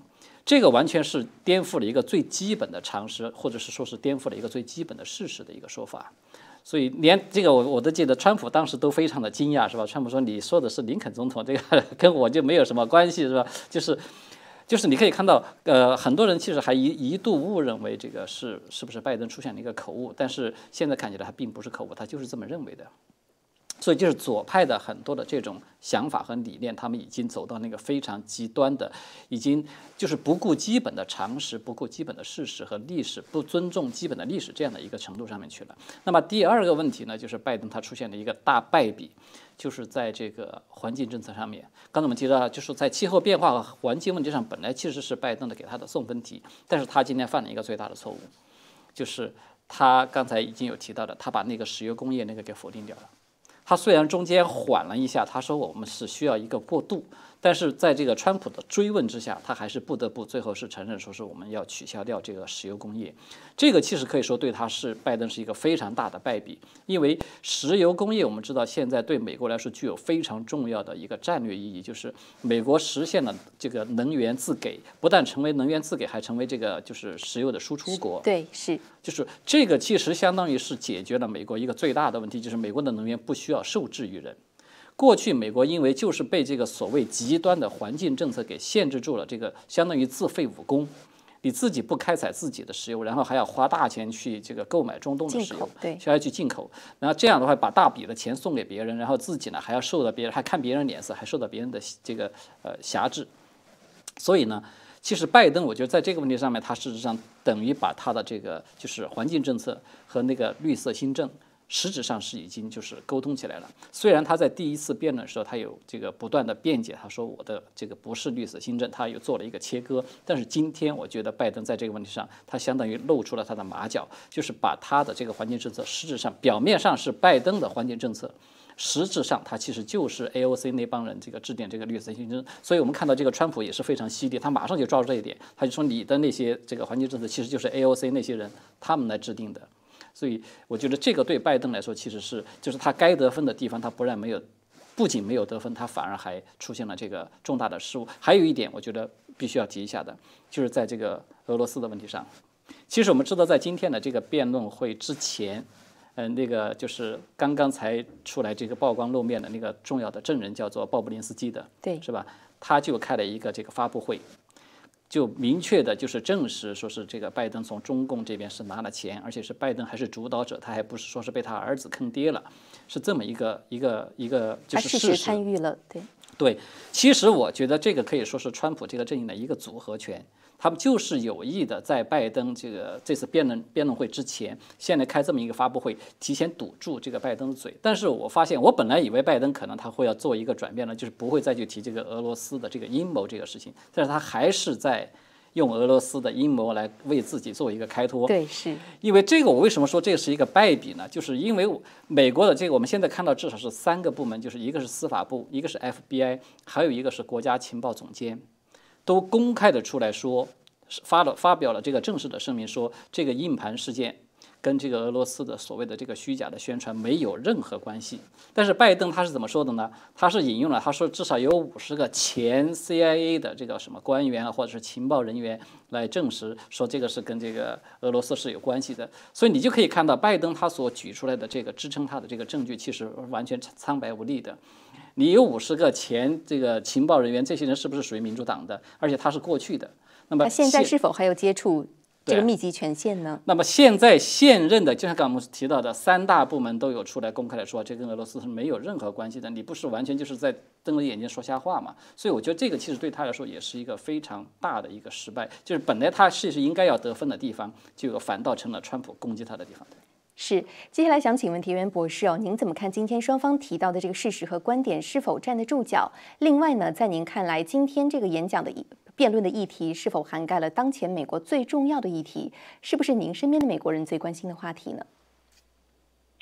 这个完全是颠覆了一个最基本的常识，或者是说是颠覆了一个最基本的事实的一个说法。所以连这个我我都记得，川普当时都非常的惊讶，是吧？川普说：“你说的是林肯总统，这个跟我就没有什么关系，是吧？”就是。就是你可以看到，呃，很多人其实还一一度误认为这个是是不是拜登出现了一个口误，但是现在看起来他并不是口误，他就是这么认为的。所以就是左派的很多的这种想法和理念，他们已经走到那个非常极端的，已经就是不顾基本的常识、不顾基本的事实和历史、不尊重基本的历史这样的一个程度上面去了。那么第二个问题呢，就是拜登他出现了一个大败笔，就是在这个环境政策上面。刚才我们提到，就是在气候变化和环境问题上，本来其实是拜登的给他的送分题，但是他今天犯了一个最大的错误，就是他刚才已经有提到的，他把那个石油工业那个给否定掉了。他虽然中间缓了一下，他说我们是需要一个过渡，但是在这个川普的追问之下，他还是不得不最后是承认说是我们要取消掉这个石油工业。这个其实可以说对他是拜登是一个非常大的败笔，因为石油工业我们知道现在对美国来说具有非常重要的一个战略意义，就是美国实现了这个能源自给，不但成为能源自给，还成为这个就是石油的输出国。 对，是。 就是这个其实相当于是解决了美国一个最大的问题，就是美国的能源不需要受制于人。过去美国因为就是被这个所谓极端的环境政策给限制住了，这个相当于自废武功，你自己不开采自己的石油，然后还要花大钱去这个购买中东的石油， 对， 需要去进口，然后这样的话把大笔的钱送给别人，然后自己呢还要受到别人还看别人脸色，还受到别人的这个呃辖制，所以呢。其实拜登，我觉得在这个问题上面，他事实上等于把他的这个就是环境政策和那个绿色新政，实质上是已经就是沟通起来了。虽然他在第一次辩论的时候，他有这个不断的辩解，他说我的这个不是绿色新政，他又做了一个切割。但是今天，我觉得拜登在这个问题上，他相当于露出了他的马脚，就是把他的这个环境政策，实质上表面上是拜登的环境政策。实质上，他其实就是 A O C 那帮人这个制定这个绿色新政，所以我们看到这个川普也是非常犀利，他马上就抓住这一点，他就说你的那些这个环境政策其实就是 A O C 那些人他们来制定的，所以我觉得这个对拜登来说其实是就是他该得分的地方他不但没有，不仅没有得分，他反而还出现了这个重大的失误。还有一点我觉得必须要提一下的，就是在这个俄罗斯的问题上，其实我们知道在今天的这个辩论会之前。嗯、呃，那个就是刚刚才出来这个曝光露面的那个重要的证人叫做鲍布林斯基的， 对， 是吧？他就开了一个这个发布会，就明确的就是证实说是这个拜登从中共这边是拿了钱，而且是拜登还是主导者，他还不是说是被他儿子坑爹了，是这么一个一个一个就是事实。 他事实参与了，对。 对，其实我觉得这个可以说是川普这个阵营的一个组合拳。他们就是有意的，在拜登这个这次辩论辩论会之前，现在开这么一个发布会，提前堵住这个拜登的嘴。但是我发现，我本来以为拜登可能他会要做一个转变呢，就是不会再去提这个俄罗斯的这个阴谋这个事情，但是他还是在用俄罗斯的阴谋来为自己做一个开脱。 对，是因为这个，我为什么说这是一个败笔呢？就是因为美国的这个，我们现在看到至少是三个部门，就是一个是司法部，一个是 F B I， 还有一个是国家情报总监。都公开的出来说，发了发表了这个正式的声明，说这个硬盘事件跟这个俄罗斯的所谓的这个虚假的宣传没有任何关系。但是拜登他是怎么说的呢？他是引用了他说至少有五十个前 C I A 的这个什么官员啊，或者是情报人员来证实说这个是跟这个俄罗斯是有关系的。所以你就可以看到拜登他所举出来的这个支撑他的这个证据，其实完全苍白无力的。你有五十个前这个情报人员，这些人是不是属于民主党的？而且他是过去的。那么他现在是否还有接触这个密集权限呢？ 那么现在现任的，就像刚刚我们提到的，三大部门都有出来公开的说，这跟俄罗斯是没有任何关系的。你不是完全就是在瞪着眼睛说瞎话嘛？所以我觉得这个其实对他来说也是一个非常大的一个失败，就是本来他是是应该要得分的地方，结果反倒成了川普攻击他的地方。 是，接下来想请问田园博士哦，您怎么看今天双方提到的这个事实和观点是否站得住脚？另外呢，在您看来，今天这个演讲的辩论的议题是否涵盖了当前美国最重要的议题？是不是您身边的美国人最关心的话题呢？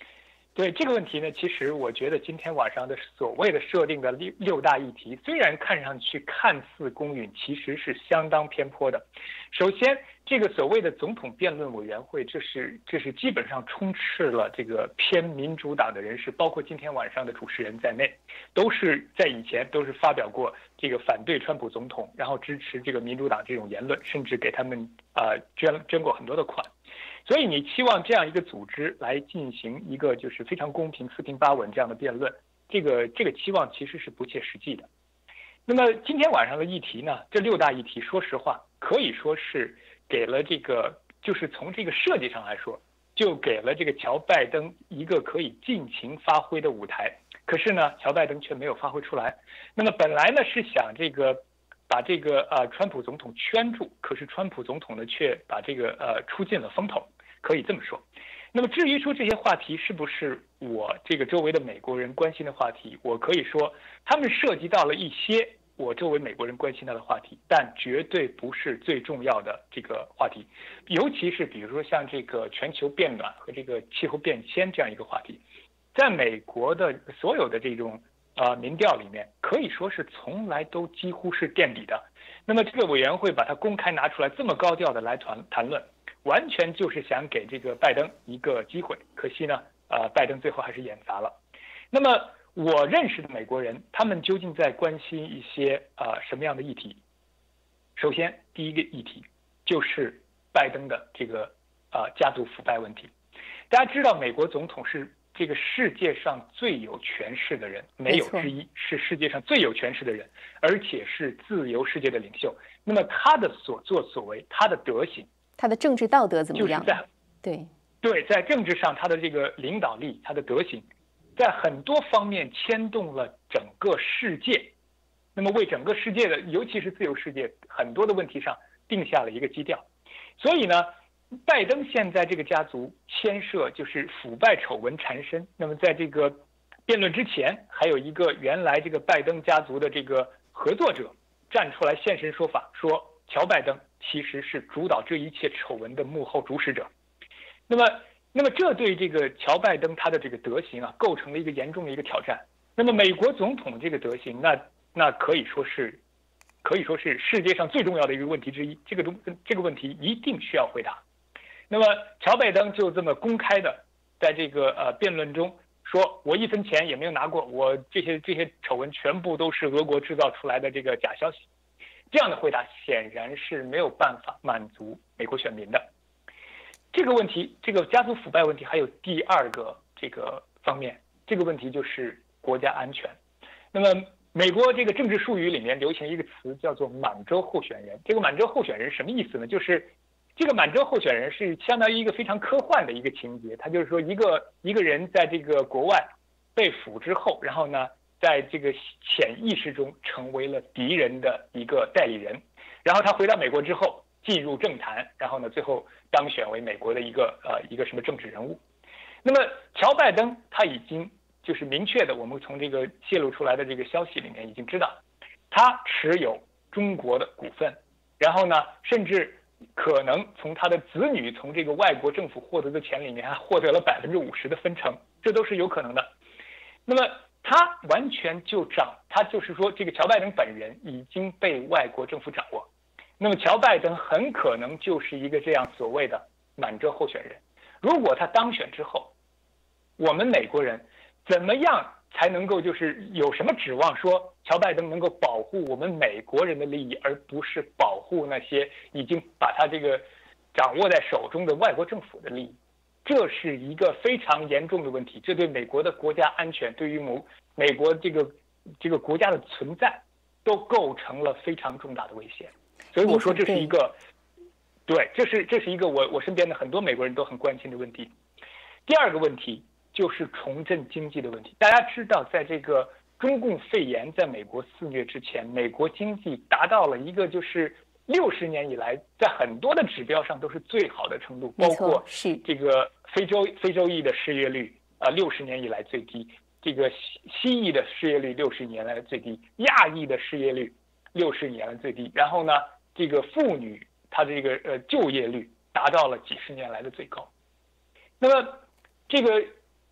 对这个问题呢，其实我觉得今天晚上的所谓的设定的六六大议题，虽然看上去看似公允，其实是相当偏颇的。首先，这个所谓的总统辩论委员会，这是这是基本上充斥了这个偏民主党的人士，包括今天晚上的主持人在内，都是在以前都是发表过这个反对川普总统，然后支持这个民主党这种言论，甚至给他们啊、呃、捐捐过很多的款。所以你期望这样一个组织来进行一个就是非常公平、四平八稳这样的辩论，这个这个期望其实是不切实际的。那么今天晚上的议题呢，这六大议题，说实话可以说是给了这个，就是从这个设计上来说，就给了这个乔拜登一个可以尽情发挥的舞台。可是呢，乔拜登却没有发挥出来。那么本来呢是想这个。把这个呃川普总统圈住，可是川普总统呢却把这个呃出尽了风头，可以这么说。那么至于说这些话题是不是我这个周围的美国人关心的话题，我可以说他们涉及到了一些我周围美国人关心到的话题，但绝对不是最重要的这个话题。尤其是比如说像这个全球变暖和这个气候变迁这样一个话题，在美国的所有的这种呃，民调里面可以说是从来都几乎是垫底的。那么这个委员会把它公开拿出来，这么高调的来谈谈论，完全就是想给这个拜登一个机会。可惜呢，呃，拜登最后还是演砸了。那么我认识的美国人，他们究竟在关心一些呃什么样的议题？首先，第一个议题就是拜登的这个呃家族腐败问题。大家知道，美国总统是这个世界上最有权势的人，没有之一，是世界上最有权势的人，而且是自由世界的领袖。那么他的所作所为，他的德行， 他的政治道德怎么样？ 就是在对对，在政治上他的这个领导力，他的德行，在很多方面牵动了整个世界。那么为整个世界的，尤其是自由世界很多的问题上定下了一个基调。所以呢，拜登现在这个家族牵涉就是腐败丑闻缠身。那么在这个辩论之前，还有一个原来这个拜登家族的这个合作者站出来现身说法，说乔拜登其实是主导这一切丑闻的幕后主使者。那么，那么这对这个乔拜登他的这个德行啊，构成了一个严重的一个挑战。那么美国总统这个德行，那那可以说是，可以说是世界上最重要的一个问题之一。这个东这个问题一定需要回答。那么乔拜登就这么公开的在这个呃辩论中说，我一分钱也没有拿过，我这些这些丑闻全部都是俄国制造出来的这个假消息。这样的回答显然是没有办法满足美国选民的。这个问题，这个家族腐败问题还有第二个这个方面，这个问题就是国家安全。那么美国这个政治术语里面流行一个词叫做满洲候选人。这个满洲候选人什么意思呢？就是这个满洲候选人是相当于一个非常科幻的一个情节，他就是说一个一个人在这个国外被俘之后，然后呢，在这个潜意识中成为了敌人的一个代理人，然后他回到美国之后进入政坛，然后呢，最后当选为美国的一个呃一个什么政治人物。那么乔拜登他已经就是明确的，我们从这个泄露出来的这个消息里面已经知道，他持有中国的股份，然后呢，甚至可能从他的子女从这个外国政府获得的钱里面还获得了百分之五十的分成，这都是有可能的。那么他完全就掌，他就是说这个乔拜登本人已经被外国政府掌握。那么乔拜登很可能就是一个这样所谓的满洲候选人。如果他当选之后，我们美国人怎么样才能够就是有什么指望说乔拜登能够保护我们美国人的利益，而不是保护那些已经把他这个掌握在手中的外国政府的利益？这是一个非常严重的问题，这对美国的国家安全，对于某美国这个这个国家的存在，都构成了非常重大的威胁。所以我说这是一个，对，这是这是一个我我身边的很多美国人都很关心的问题。第二个问题就是重振经济的问题。大家知道，在这个中共肺炎在美国肆虐之前，美国经济达到了一个就是六十年以来在很多的指标上都是最好的程度，包括是这个非洲非洲裔的失业率啊，六十年以来最低；这个西西裔的失业率六十年来最低；亚裔的失业率六十年来最低。然后呢，这个妇女她的这个呃就业率达到了几十年来的最高。那么这个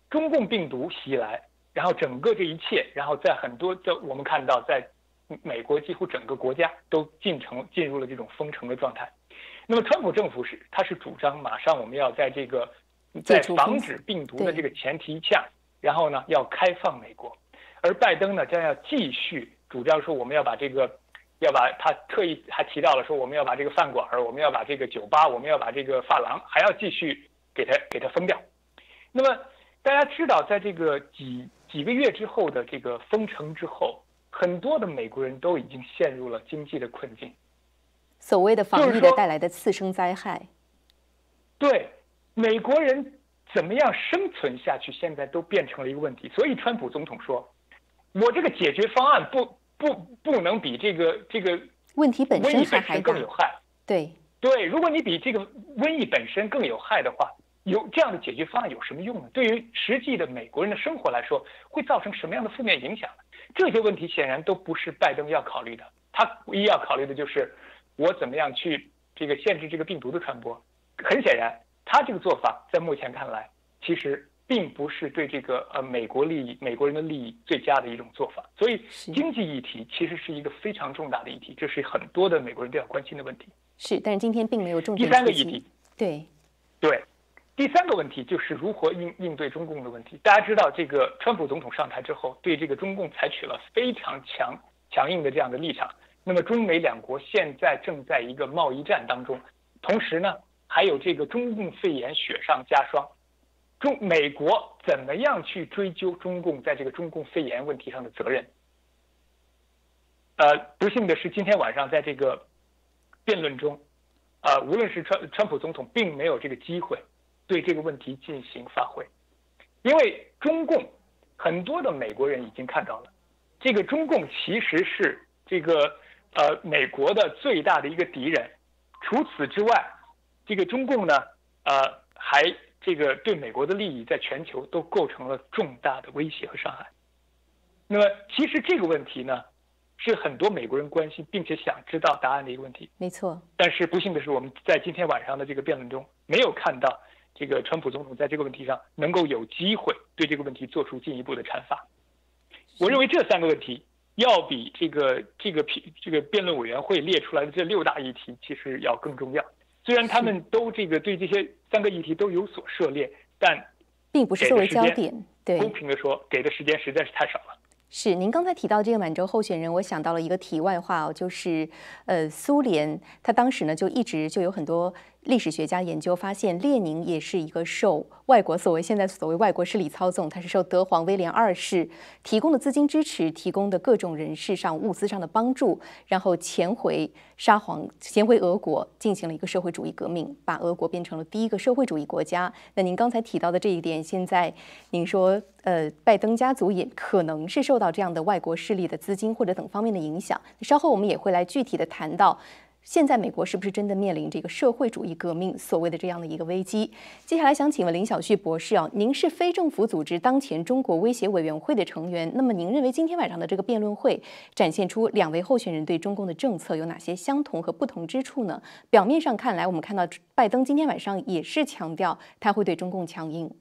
中共病毒袭来，然后整个这一切，然后在很多在我们看到，在美国几乎整个国家都进城进入了这种封城的状态。那么川普政府是他是主张马上我们要在这个在防止病毒的这个前提下，然后呢要开放美国，而拜登呢将要继续主张说我们要把这个要把他特意还提到了说我们要把这个饭馆，我们要把这个酒吧，我们要把这个发廊还要继续给他给他封掉。那么大家知道，在这个几几个月之后的这个封城之后，很多的美国人都已经陷入了经济的困境。 所谓的防疫的带来的次生灾害， 对美国人怎么样生存下去，现在都变成了一个问题。所以川普总统说，我这个解决方案不不不能比这个这个问题本身还还更有害。 对对，如果你比这个瘟疫本身更有害的话，有这样的解决方案有什么用呢？对于实际的美国人的生活来说，会造成什么样的负面影响呢？这些问题显然都不是拜登要考虑的，他唯一要考虑的就是我怎么样去这个限制这个病毒的传播。很显然，他这个做法在目前看来，其实并不是对这个呃美国利益、美国人的利益最佳的一种做法。所以，经济议题其实是一个非常重大的议题，这是很多的美国人都要关心的问题。 是，但是今天并没有重点。 第三个议题， 对对，第三个问题就是如何应应对中共的问题。大家知道，这个川普总统上台之后，对这个中共采取了非常强强硬的这样的立场。那么中美两国现在正在一个贸易战当中，同时呢，还有这个中共肺炎雪上加霜。中美国怎么样去追究中共在这个中共肺炎问题上的责任？呃，不幸的是，今天晚上在这个辩论中，呃，无论是川川普总统，并没有这个机会对这个问题进行发挥，因为中共很多的美国人已经看到了，这个中共其实是这个呃美国的最大的一个敌人。除此之外，这个中共呢，呃，还这个对美国的利益在全球都构成了重大的威胁和伤害。那么，其实这个问题呢，是很多美国人关心并且想知道答案的一个问题。 没错。但是不幸的是，我们在今天晚上的这个辩论中，没有看到这个川普总统在这个问题上能够有机会对这个问题做出进一步的阐发。我认为这三个问题要比这个这个这个辩论委员会列出来的这六大议题其实要更重要。虽然他们都这个对这些三个议题都有所涉猎，但并不是作为焦点。对， 公平的说，给的时间实在是太少了。 是，您刚才提到这个满洲候选人，我想到了一个题外话哦，就是呃，苏联他当时呢就一直就有很多历史学家研究发现，列宁也是一个受外国所谓现在所谓外国势力操纵，他是受德皇威廉二世提供的资金支持，提供的各种人事上物资上的帮助，然后潜回沙皇，潜回俄国，进行了一个社会主义革命，把俄国变成了第一个社会主义国家。那您刚才提到的这一点，现在您说呃，拜登家族也可能是受到这样的外国势力的资金或者等方面的影响。稍后我们也会来具体的谈到，现在美国是不是真的面临这个社会主义革命所谓的这样的一个危机？接下来想请问林小旭博士啊，您是非政府组织当前中国威胁委员会的成员，那么您认为今天晚上的这个辩论会展现出两位候选人对中共的政策有哪些相同和不同之处呢？表面上看来，我们看到拜登今天晚上也是强调他会对中共强硬。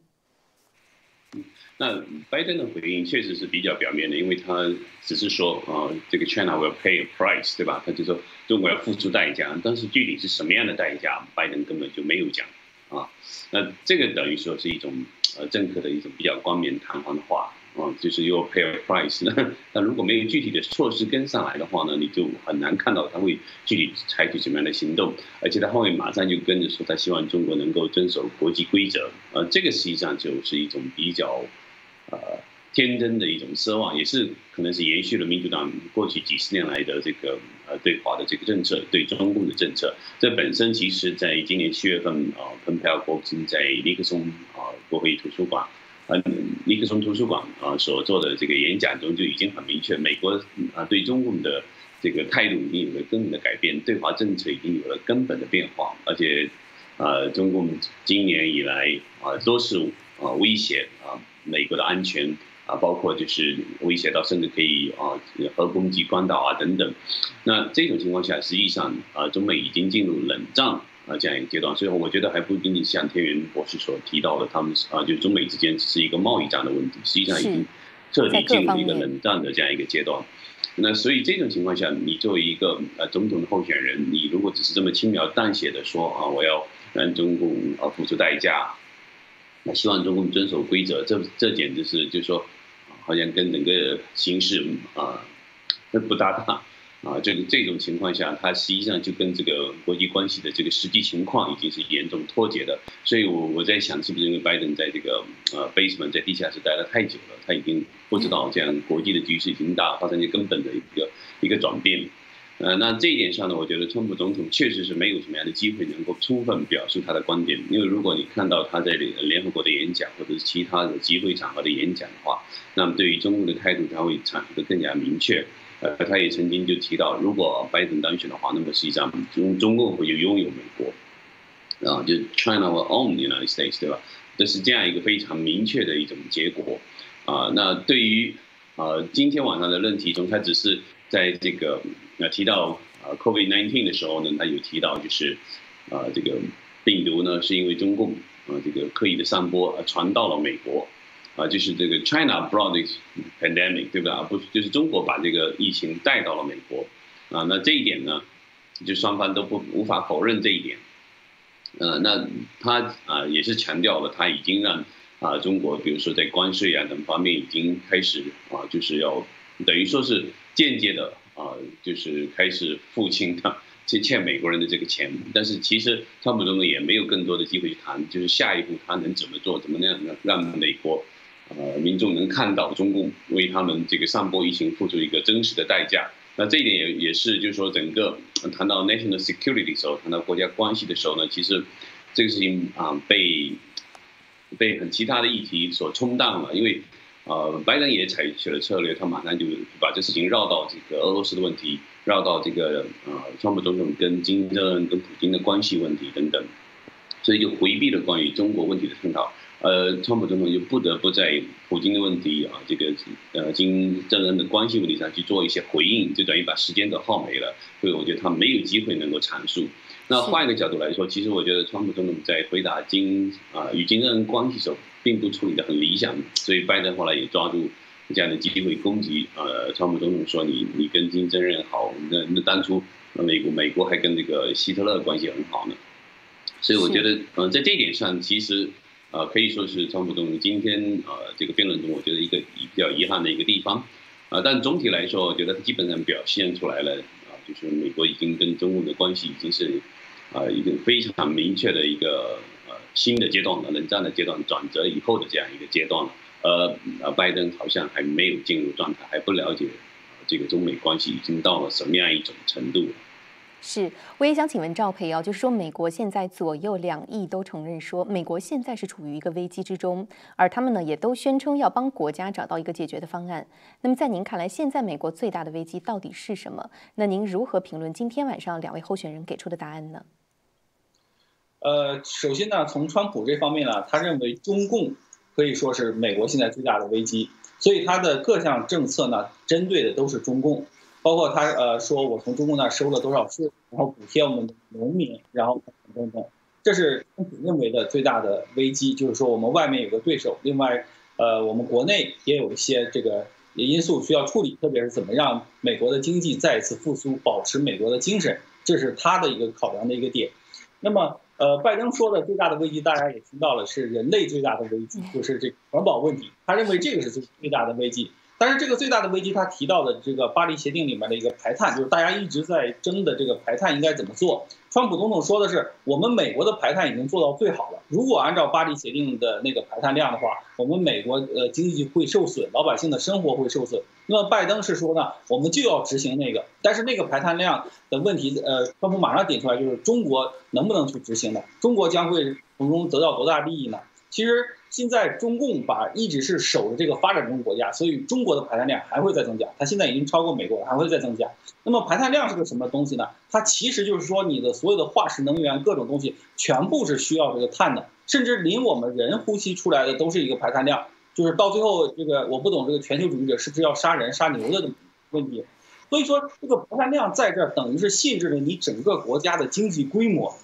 那拜登的回应确实是比较表面的，因为他只是说啊、呃，这个 China will pay a price， 对吧？他就说中国要付出代价，但是具体是什么样的代价，拜登根本就没有讲啊。那这个等于说是一种呃政客的一种比较冠冕堂皇的话啊，就是 you will pay a price。那那如果没有具体的措施跟上来的话呢，你就很难看到他会具体采取什么样的行动，而且他后面马上就跟着说他希望中国能够遵守国际规则，呃，这个实际上就是一种比较。呃，天真的一种奢望，也是可能是延续了民主党过去几十年来的这个呃对华的这个政策，对中共的政策。这本身其实在今年七月份啊，蓬佩奥国务卿在尼克松啊国会图书馆，呃尼克松图书馆啊所做的这个演讲中就已经很明确，美国啊对中共的这个态度已经有了根本的改变，对华政策已经有了根本的变化，而且呃中共今年以来啊都是啊威胁啊。美国的安全啊，包括就是威胁到甚至可以啊核攻击关岛啊等等。那这种情况下，实际上啊，中美已经进入冷战啊这样一个阶段。所以我觉得还不仅仅像天元博士所提到的，他们啊就中美之间只是一个贸易战的问题，实际上已经彻底进入了一个冷战的这样一个阶段。那所以这种情况下，你作为一个呃总统的候选人，你如果只是这么轻描淡写的说啊，我要让中共啊付出代价，那希望中共遵守规则，这这简直是就是说，好像跟整个形势啊不搭档啊。这个这种情况下，它实际上就跟这个国际关系的这个实际情况已经是严重脱节的。所以我我在想，是不是因为拜登在这个呃 basement 在地下室待了太久了，他已经不知道这样国际的局势已经大发生一个根本的一个一个转变。呃，那这一点上呢，我觉得川普总统确实是没有什么样的机会能够充分表述他的观点，因为如果你看到他在联合国的演讲或者是其他的集会场合的演讲的话，那么对于中共的态度他会阐述的更加明确。呃，他也曾经就提到，如果拜登当选的话，那么实际上中中共会拥有美国，啊，就 China will own the United States， 对吧？这是这样一个非常明确的一种结果。啊，那对于啊今天晚上的论题中，他只是在这个呃提到啊 COVID 十九 的时候呢，他有提到就是啊这个病毒呢是因为中共啊这个刻意的散播而传到了美国。啊，就是这个 China brought this pandemic， 对吧？不，就是中国把这个疫情带到了美国，啊，那这一点呢，就双方都不无法否认这一点。呃，那他啊也是强调了，他已经让啊中国，比如说在关税啊等方面已经开始啊，就是要等于说是间接的啊，就是开始付清他欠欠美国人的这个钱。但是其实川普总统也没有更多的机会去谈，就是下一步他能怎么做，怎么样让美国。呃，民众能看到中共为他们这个散播疫情付出一个真实的代价。那这一点也也是，就是说整个谈到 national security 的时候，谈到国家关系的时候呢，其实这个事情啊被被很其他的议题所冲淡了。因为呃，拜登也采取了策略，他马上就把这事情绕到这个俄罗斯的问题，绕到这个呃，川普总统跟金正恩跟普京的关系问题等等，所以就回避了关于中国问题的探讨。呃，川普总统就不得不在普京的问题啊，这个呃金正恩的关系问题上去做一些回应，就等于把时间都耗没了。所以我觉得他没有机会能够阐述。那换一个角度来说，其实我觉得川普总统在回答金啊与金正恩关系时候，并不处理得很理想，所以拜登后来也抓住这样的机会攻击呃川普总统说你你跟金正恩好，那那当初美国美国还跟这个希特勒关系很好呢。所以我觉得嗯、呃、在这一点上其实。呃，可以说是川普总统今天呃这个辩论中，我觉得一个比较遗憾的一个地方，啊，但总体来说，我觉得他基本上表现出来了，啊，就是美国已经跟中共的关系已经是，啊，一个非常明确的一个呃新的阶段了，冷战的阶段转折以后的这样一个阶段了。呃，呃，拜登好像还没有进入状态，还不了解这个中美关系已经到了什么样一种程度了。 是，我也想请问赵培啊，就是说，美国现在左右两翼都承认说，美国现在是处于一个危机之中，而他们呢也都宣称要帮国家找到一个解决的方案。那么在您看来，现在美国最大的危机到底是什么？那您如何评论今天晚上两位候选人给出的答案呢？ 呃，首先呢，从川普这方面呢，他认为中共可以说是美国现在最大的危机，所以他的各项政策呢，针对的都是中共。包括他呃说，我从中共那收了多少税，然后补贴我们的农民，然后等等，这是川普认为的最大的危机，就是说我们外面有个对手，另外呃我们国内也有一些这个因素需要处理，特别是怎么让美国的经济再一次复苏，保持美国的精神，这是他的一个考量的一个点。那么呃拜登说的最大的危机，大家也听到了，是人类最大的危机，就是这个环保问题，他认为这个是最最大的危机。但是这个最大的危机，他提到的这个巴黎协定里面的一个排碳，就是大家一直在争的这个排碳应该怎么做。川普总统说的是，我们美国的排碳已经做到最好了，如果按照巴黎协定的那个排碳量的话，我们美国呃经济会受损，老百姓的生活会受损。那么拜登是说呢，我们就要执行那个，但是那个排碳量的问题，呃，川普马上点出来，就是中国能不能去执行的，中国将会从中得到多大利益呢？其实现在中共把一直是守着这个发展中国家，所以中国的排碳量还会再增加，它现在已经超过美国，还会再增加。那么排碳量是个什么东西呢？它其实就是说你的所有的化石能源各种东西全部是需要这个碳的，甚至连我们人呼吸出来的都是一个排碳量，就是到最后这个我不懂这个全球主义者是不是要杀人杀牛的问题。所以说这个排碳量在这儿等于是限制了你整个国家的经济规模。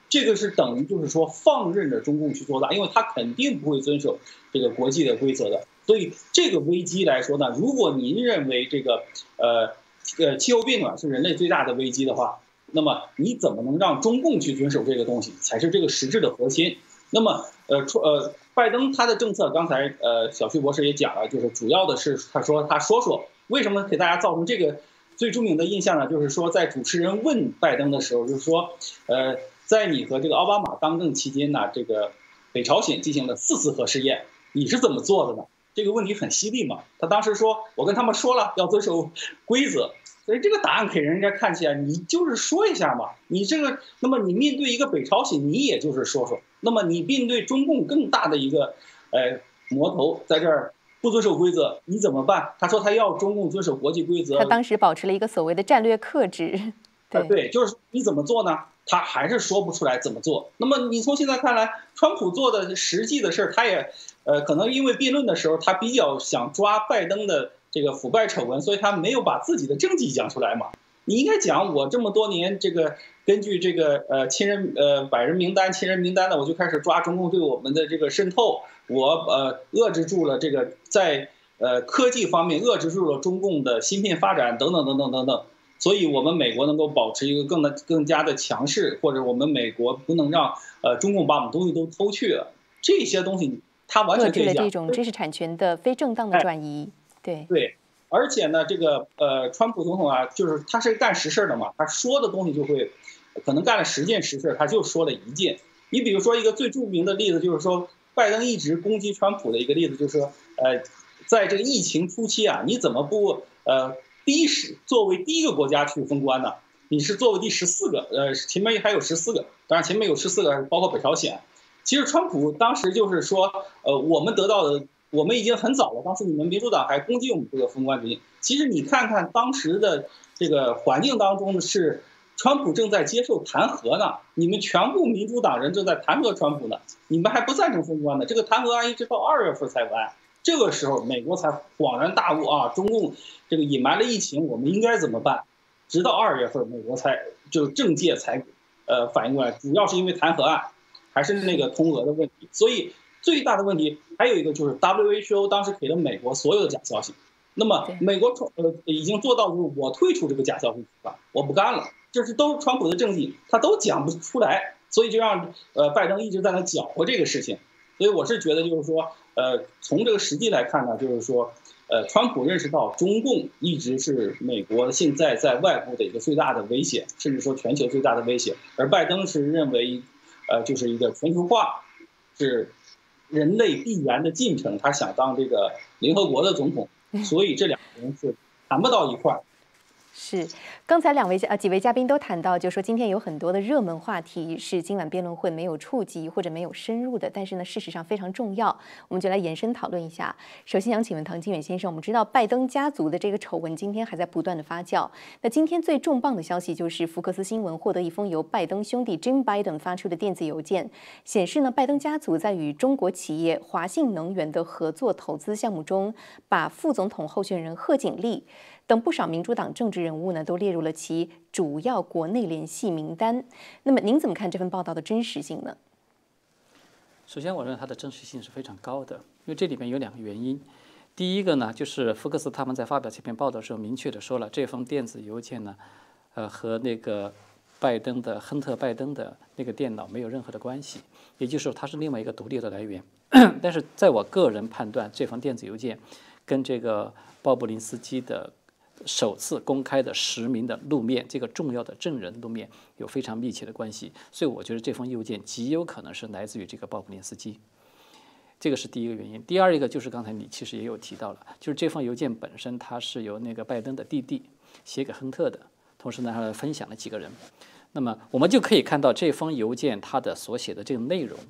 这个是等于就是说放任着中共去做大，因为他肯定不会遵守这个国际的规则的。所以这个危机来说呢，如果您认为这个呃呃气候变暖是人类最大的危机的话，那么你怎么能让中共去遵守这个东西，才是这个实质的核心。那么呃呃，拜登他的政策，刚才呃小旭博士也讲了，就是主要的是他说他说说为什么给大家造成这个最著名的印象呢？就是说在主持人问拜登的时候，就是说呃在你和这个奥巴马当政期间呢，这个北朝鲜进行了四次核试验，你是怎么做的呢？这个问题很犀利嘛。他当时说，我跟他们说了要遵守规则，所以这个答案给人家看起来，你就是说一下嘛。你这个，那么你面对一个北朝鲜，你也就是说说。那么你面对中共更大的一个，呃，魔头在这儿不遵守规则，你怎么办？他说他要中共遵守国际规则。 他当时保持了一个所谓的战略克制。对、 呃、对，就是你怎么做呢？他还是说不出来怎么做。那么你从现在看来，川普做的实际的事儿，他也，呃，可能因为辩论的时候他比较想抓拜登的这个腐败丑闻，所以他没有把自己的政绩讲出来嘛。你应该讲我这么多年这个根据这个呃亲人呃百人名单、亲人名单呢，我就开始抓中共对我们的这个渗透，我呃遏制住了这个在呃科技方面遏制住了中共的芯片发展等等等等等等。所以我们美国能够保持一个更的更加的强势，或者我们美国不能让呃中共把我们东西都偷去了，这些东西他完全可以讲。 遏制了这种知识产权的非正当的转移，哎、对对。而且呢，这个呃，川普总统啊，就是他是干实事的嘛，他说的东西就会，可能干了十件实事，他就说了一件。你比如说一个最著名的例子，就是说拜登一直攻击川普的一个例子，就是说，呃，在这个疫情初期啊，你怎么不呃第一是作为第一个国家去封关呢？你是作为第十四个，呃，前面还有十四个，当然前面有十四个，包括北朝鲜。其实川普当时就是说，呃，我们得到的。我们已经很早了，当时你们民主党还攻击我们这个封关决定。其实你看看当时的这个环境当中是，川普正在接受弹劾呢，你们全部民主党人正在弹劾川普呢，你们还不赞成封关呢。这个弹劾案一直到二月份才完，这个时候美国才恍然大悟啊，中共这个隐瞒了疫情，我们应该怎么办？直到二月份美国才就政界才呃反应过来，主要是因为弹劾案，还是那个通俄的问题，所以。最大的问题还有一个就是 W H O 当时给了美国所有的假消息，那么美国呃已经做到就是我退出这个假消息了，我不干了，这是都是川普的政绩，他都讲不出来，所以就让呃拜登一直在那搅和这个事情。所以我是觉得就是说，呃，从这个实际来看呢，就是说，呃，川普认识到中共一直是美国现在在外部的一个最大的威胁，甚至说全球最大的威胁，而拜登是认为，呃，就是一个全球化是。人类必然的进程，他想当这个联合国的总统，所以这两个人是谈不到一块儿。 是，刚才两位呃几位嘉宾都谈到，就说今天有很多的热门话题是今晚辩论会没有触及或者没有深入的，但是呢，事实上非常重要，我们就来延伸讨论一下。首先想请问唐金远先生，我们知道拜登家族的这个丑闻今天还在不断的发酵，那今天最重磅的消息就是福克斯新闻获得一封由拜登兄弟 Jim Biden 发出的电子邮件，显示呢，拜登家族在与中国企业华信能源的合作投资项目中，把副总统候选人贺锦丽等不少民主党政治人物呢，都列入了其主要国内联系名单。那么，您怎么看这份报道的真实性呢？ 首先，我认为它的真实性是非常高的，因为这里面有两个原因。第一个呢，就是福克斯他们在发表这篇报道的时候，明确的说了，这封电子邮件呢，呃，和那个拜登的亨特·拜登的那个电脑没有任何的关系，也就是说，它是另外一个独立的来源。但是，在我个人判断，这封电子邮件跟这个鲍布林斯基的首次公开的实名的露面，这个重要的证人露面有非常密切的关系，所以我觉得这封邮件极有可能是来自于这个鲍布林斯基，这个是第一个原因。第二一个就是刚才你其实也有提到了，就是这封邮件本身它是由那个拜登的弟弟写给亨特的，同时呢还分享了几个人。那么我们就可以看到这封邮件它的所写的这个内容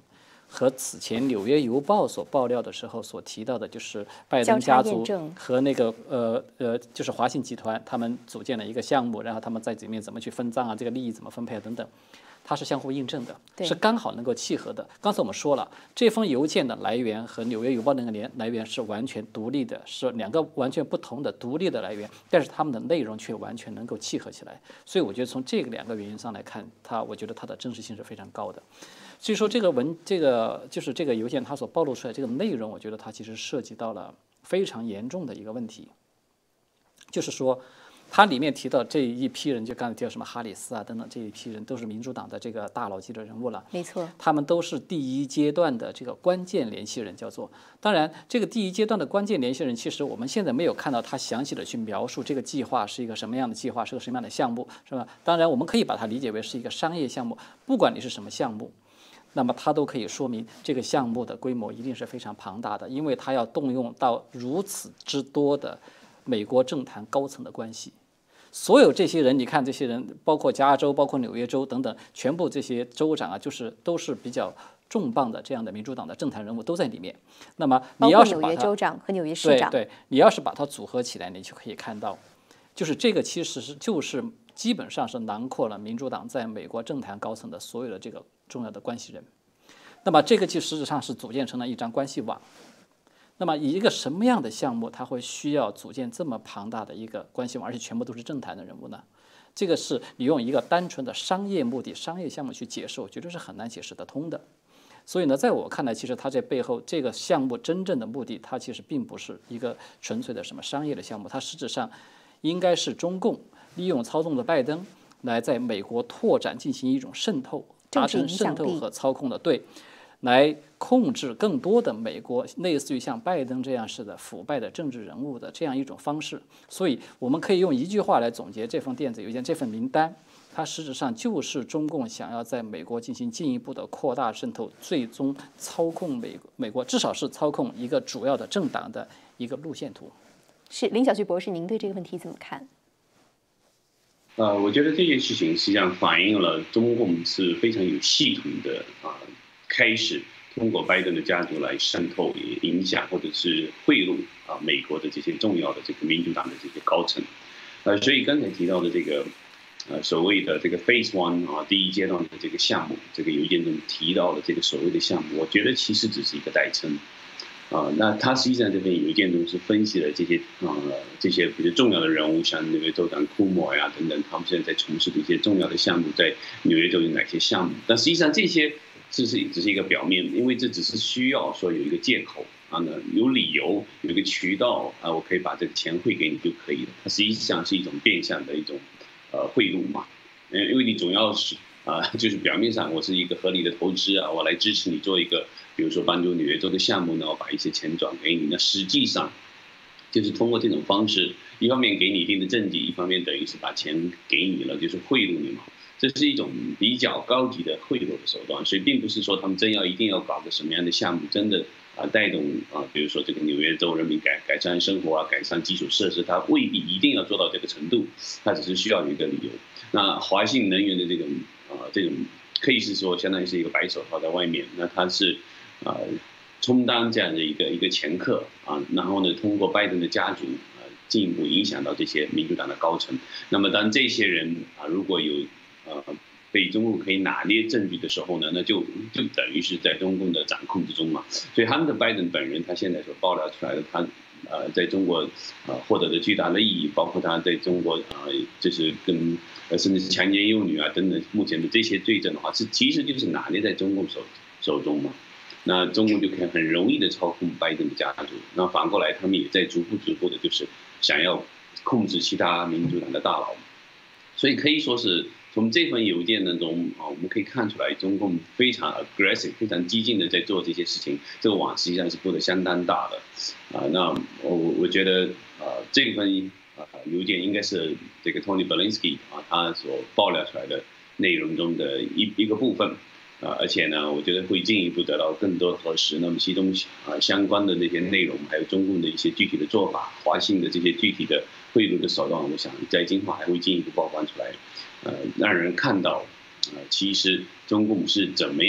和此前《纽约邮报》所爆料的时候所提到的，就是拜登家族和那个呃呃，就是华信集团他们组建了一个项目，然后他们在里面怎么去分赃啊，这个利益怎么分配啊等等。它是相互印证的，是刚好能够契合的。刚才我们说了，这封邮件的来源和《纽约邮报》那个来来源是完全独立的，是两个完全不同的独立的来源，但是它们的内容却完全能够契合起来。所以我觉得从这个两个原因上来看，它我觉得它的真实性是非常高的。所以说这个文这个就是这个邮件它所暴露出来这个内容，我觉得它其实涉及到了非常严重的一个问题，就是说。它里面提到这一批人，就刚才提到什么哈里斯啊等等这一批人，都是民主党的这个大佬级的人物了。 没错， 他们都是第一阶段的这个关键联系人，叫做。当然，这个第一阶段的关键联系人，其实我们现在没有看到他详细的去描述这个计划是一个什么样的计划，是个什么样的项目，是吧？当然，我们可以把它理解为是一个商业项目，不管你是什么项目。那么它都可以说明这个项目的规模一定是非常庞大的，因为它要动用到如此之多的美国政坛高层的关系。所有这些人，你看这些人，包括加州、包括纽约州等等，全部这些州长啊，就是都是比较重磅的这样的民主党的政坛人物都在里面。那么你要是把它， 纽约州长和纽约市长， 对对，你要是把它组合起来，你就可以看到，就是这个其实是就是基本上是囊括了民主党在美国政坛高层的所有的这个重要的关系人。那么这个就实质上是组建成了一张关系网。那么以一个什么样的项目，它会需要组建这么庞大的一个关系网，而且全部都是政坛的人物呢？这个是你用一个单纯的商业目的、商业项目去解释，我觉得是很难解释得通的。所以呢，在我看来，其实它这背后这个项目真正的目的，它其实并不是一个纯粹的什么商业的项目，它实质上应该是中共利用操纵的拜登来在美国拓展进行一种渗透，达成渗透和操控的对。来控制更多的美国类似于像拜登这样式的腐败的政治人物的这样一种方式，所以我们可以用一句话来总结这封电子邮件，这份名单，它实质上就是中共想要在美国进行进一步的扩大渗透，最终操控美美国，至少是操控一个主要的政党的一个路线图。 是林小旭博士，您对这个问题怎么看？ 呃，我觉得这件事情实际上反映了中共是非常有系统的啊。开始通过拜登的家族来渗透、影响或者是贿赂啊美国的这些重要的这个民主党的这些高层，呃，所以刚才提到的这个呃所谓的这个 Phase One 啊第一阶段的这个项目，这个邮件中提到的这个所谓的项目，我觉得其实只是一个代称啊。那他实际上这篇邮件中是分析了这些呃这些比较重要的人物，像那个州长库莫呀等等，他们现在在从事的一些重要的项目，在纽约州有哪些项目？但实际上这些。这是只是一个表面，因为这只是需要说有一个借口啊，呢有理由，有一个渠道啊，我可以把这个钱汇给你就可以了。它实际上是一种变相的一种呃贿赂嘛，嗯，因为你总要是啊，就是表面上我是一个合理的投资啊，我来支持你做一个，比如说帮助纽约州的项目呢，我把一些钱转给你，那实际上就是通过这种方式，一方面给你一定的政绩，一方面等于是把钱给你了，就是贿赂你嘛。这是一种比较高级的贿赂的手段，所以并不是说他们真要一定要搞个什么样的项目，真的啊带动啊，比如说这个纽约州人民改改善生活啊，改善基础设施，它未必一定要做到这个程度，它只是需要有一个理由。那华信能源的这种啊这种可以是说相当于是一个白手套在外面，那它是啊充当这样的一个一个掮客啊，然后呢通过拜登的家族啊进一步影响到这些民主党的高层。那么当这些人啊如果有呃，被中共可以拿捏证据的时候呢，那就就等于是在中共的掌控之中嘛。所以他们的拜登本人，他现在所爆料出来的，他呃在中国呃获得的巨大的利益，包括他在中国呃就是跟呃甚至是强奸幼女啊等等，目前的这些罪证的话，是其实就是拿捏在中共手手中嘛。那中共就可以很容易的操控拜登的家族。那反过来，他们也在逐步逐步的，就是想要控制其他民主党的大佬。所以可以说是从这份邮件当中啊，我们可以看出来，中共非常 aggressive、非常激进的在做这些事情。这个网实际上是布的相当大的啊。那我我觉得啊，这份啊邮件应该是这个 Tony Belinsky 啊他所爆料出来的内容中的一一个部分啊，而且呢，我觉得会进一步得到更多核实。那么其中啊相关的那些内容，还有中共的一些具体的做法，华信的这些具体的贿赂的手段，我想在今后还会进一步曝光出来。呃，让人看到，呃，其实中共是怎么样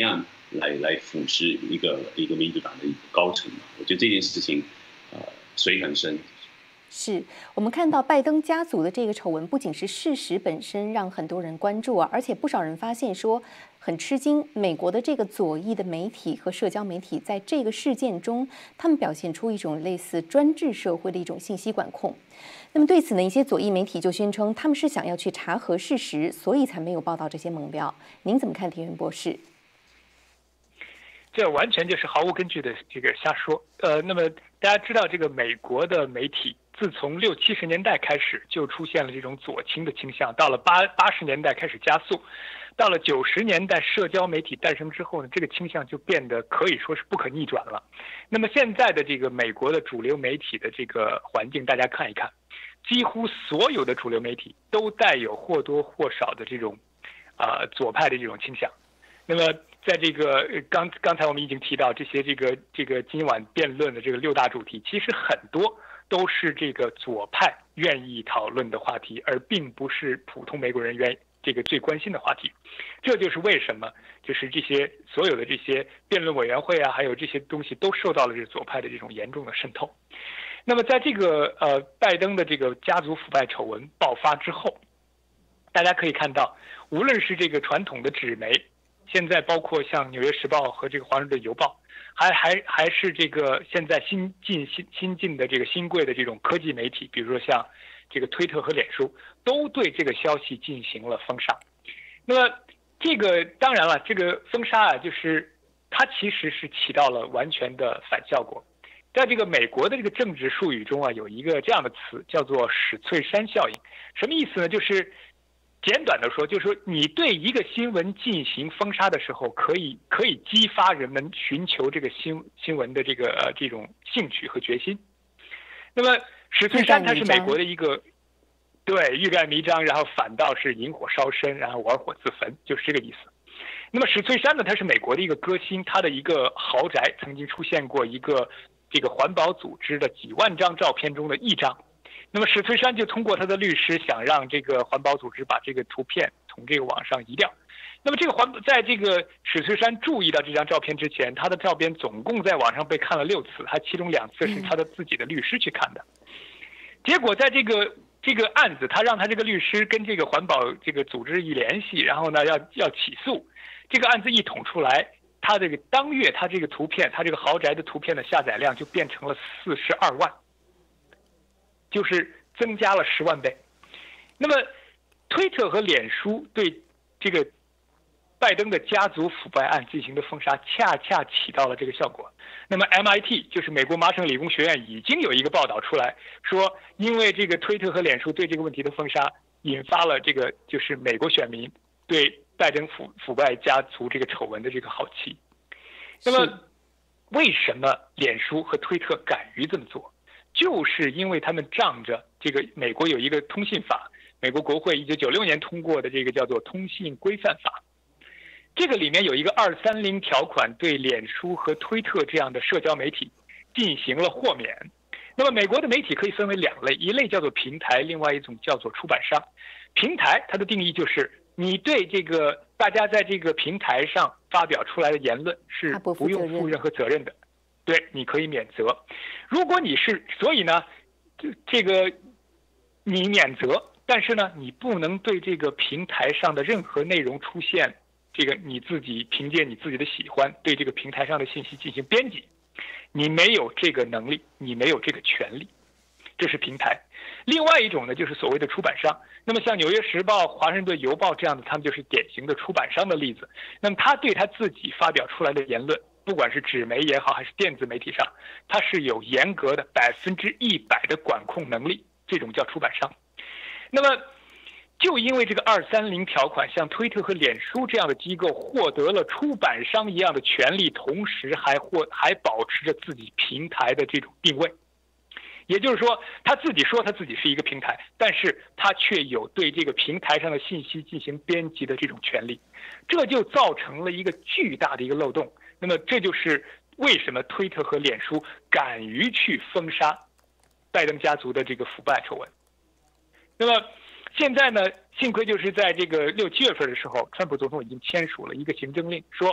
来来腐蚀一个一个民主党的一个高层。我觉得这件事情，呃，水很深。 是我们看到拜登家族的这个丑闻，不仅是事实本身让很多人关注啊，而且不少人发现说很吃惊，美国的这个左翼的媒体和社交媒体在这个事件中，他们表现出一种类似专制社会的一种信息管控。那么对此呢，一些左翼媒体就宣称他们是想要去查核事实，所以才没有报道这些猛料。您怎么看，田园博士？ 这完全就是毫无根据的这个瞎说。呃，那么大家知道，这个美国的媒体自从六七十年代开始就出现了这种左倾的倾向，到了八八十年代开始加速，到了九十年代社交媒体诞生之后呢，这个倾向就变得可以说是不可逆转了。那么现在的这个美国的主流媒体的这个环境，大家看一看，几乎所有的主流媒体都带有或多或少的这种啊、呃、左派的这种倾向。那么在这个刚刚才我们已经提到这些这个这个今晚辩论的这个六大主题，其实很多都是这个左派愿意讨论的话题，而并不是普通美国人愿意这个最关心的话题。这就是为什么就是这些所有的这些辩论委员会啊，还有这些东西都受到了这左派的这种严重的渗透。那么在这个呃拜登的这个家族腐败丑闻爆发之后，大家可以看到，无论是这个传统的纸媒，现在包括像《纽约时报》和这个《华盛顿邮报》，还还还是这个现在新进新新进的这个新贵的这种科技媒体，比如说像这个推特和脸书，都对这个消息进行了封杀。那么这个当然了，这个封杀啊，就是它其实是起到了完全的反效果。在这个美国的这个政治术语中啊，有一个这样的词叫做史翠珊效应。什么意思呢？就是简短的说，就是说你对一个新闻进行封杀的时候，可以可以激发人们寻求这个新新闻的这个呃这种兴趣和决心。那么史翠珊他是美国的一个对欲盖弥彰，然后反倒是引火烧身，然后玩火自焚，就是这个意思。那么史翠珊呢，他是美国的一个歌星，他的一个豪宅曾经出现过一个这个环保组织的几万张照片中的一张。那么史翠珊就通过他的律师想让这个环保组织把这个图片从这个网上移掉。那么这个环在这个史翠珊注意到这张照片之前，他的照片总共在网上被看了六次，他其中两次是他的自己的律师去看的。结果在这个这个案子，他让他这个律师跟这个环保这个组织一联系，然后呢要要起诉，这个案子一捅出来，他这个当月他这个图片，他这个豪宅的图片的下载量就变成了四十二万。就是增加了十万倍。那么，推特和脸书对这个拜登的家族腐败案进行的封杀，恰恰起到了这个效果。那么 M I T 就是美国麻省理工学院已经有一个报道出来说，因为这个推特和脸书对这个问题的封杀，引发了这个就是美国选民对拜登腐腐败家族这个丑闻的这个好奇。那么，为什么脸书和推特敢于这么做？就是因为他们仗着这个美国有一个通信法，美国国会一九九六年通过的这个叫做通信规范法，这个里面有一个二三零条款，对脸书和推特这样的社交媒体进行了豁免。那么美国的媒体可以分为两类，一类叫做平台，另外一种叫做出版商。平台它的定义就是你对这个大家在这个平台上发表出来的言论是不用负任何责任的。对，你可以免责。如果你是，所以呢，这个你免责，但是呢，你不能对这个平台上的任何内容出现这个你自己凭借你自己的喜欢对这个平台上的信息进行编辑，你没有这个能力，你没有这个权利，这是平台。另外一种呢，就是所谓的出版商。那么像《纽约时报》、《华盛顿邮报》这样的，他们就是典型的出版商的例子。那么他对他自己发表出来的言论，不管是纸媒也好，还是电子媒体上，它是有严格的百分之一百的管控能力，这种叫出版商。那么，就因为这个二三零条款，像推特和脸书这样的机构获得了出版商一样的权利，同时还获还保持着自己平台的这种定位。也就是说，他自己说他自己是一个平台，但是他却有对这个平台上的信息进行编辑的这种权利，这就造成了一个巨大的一个漏洞。那么这就是为什么推特和脸书敢于去封杀拜登家族的这个腐败丑闻。那么现在呢，幸亏就是在这个六七月份的时候，川普总统已经签署了一个行政令，说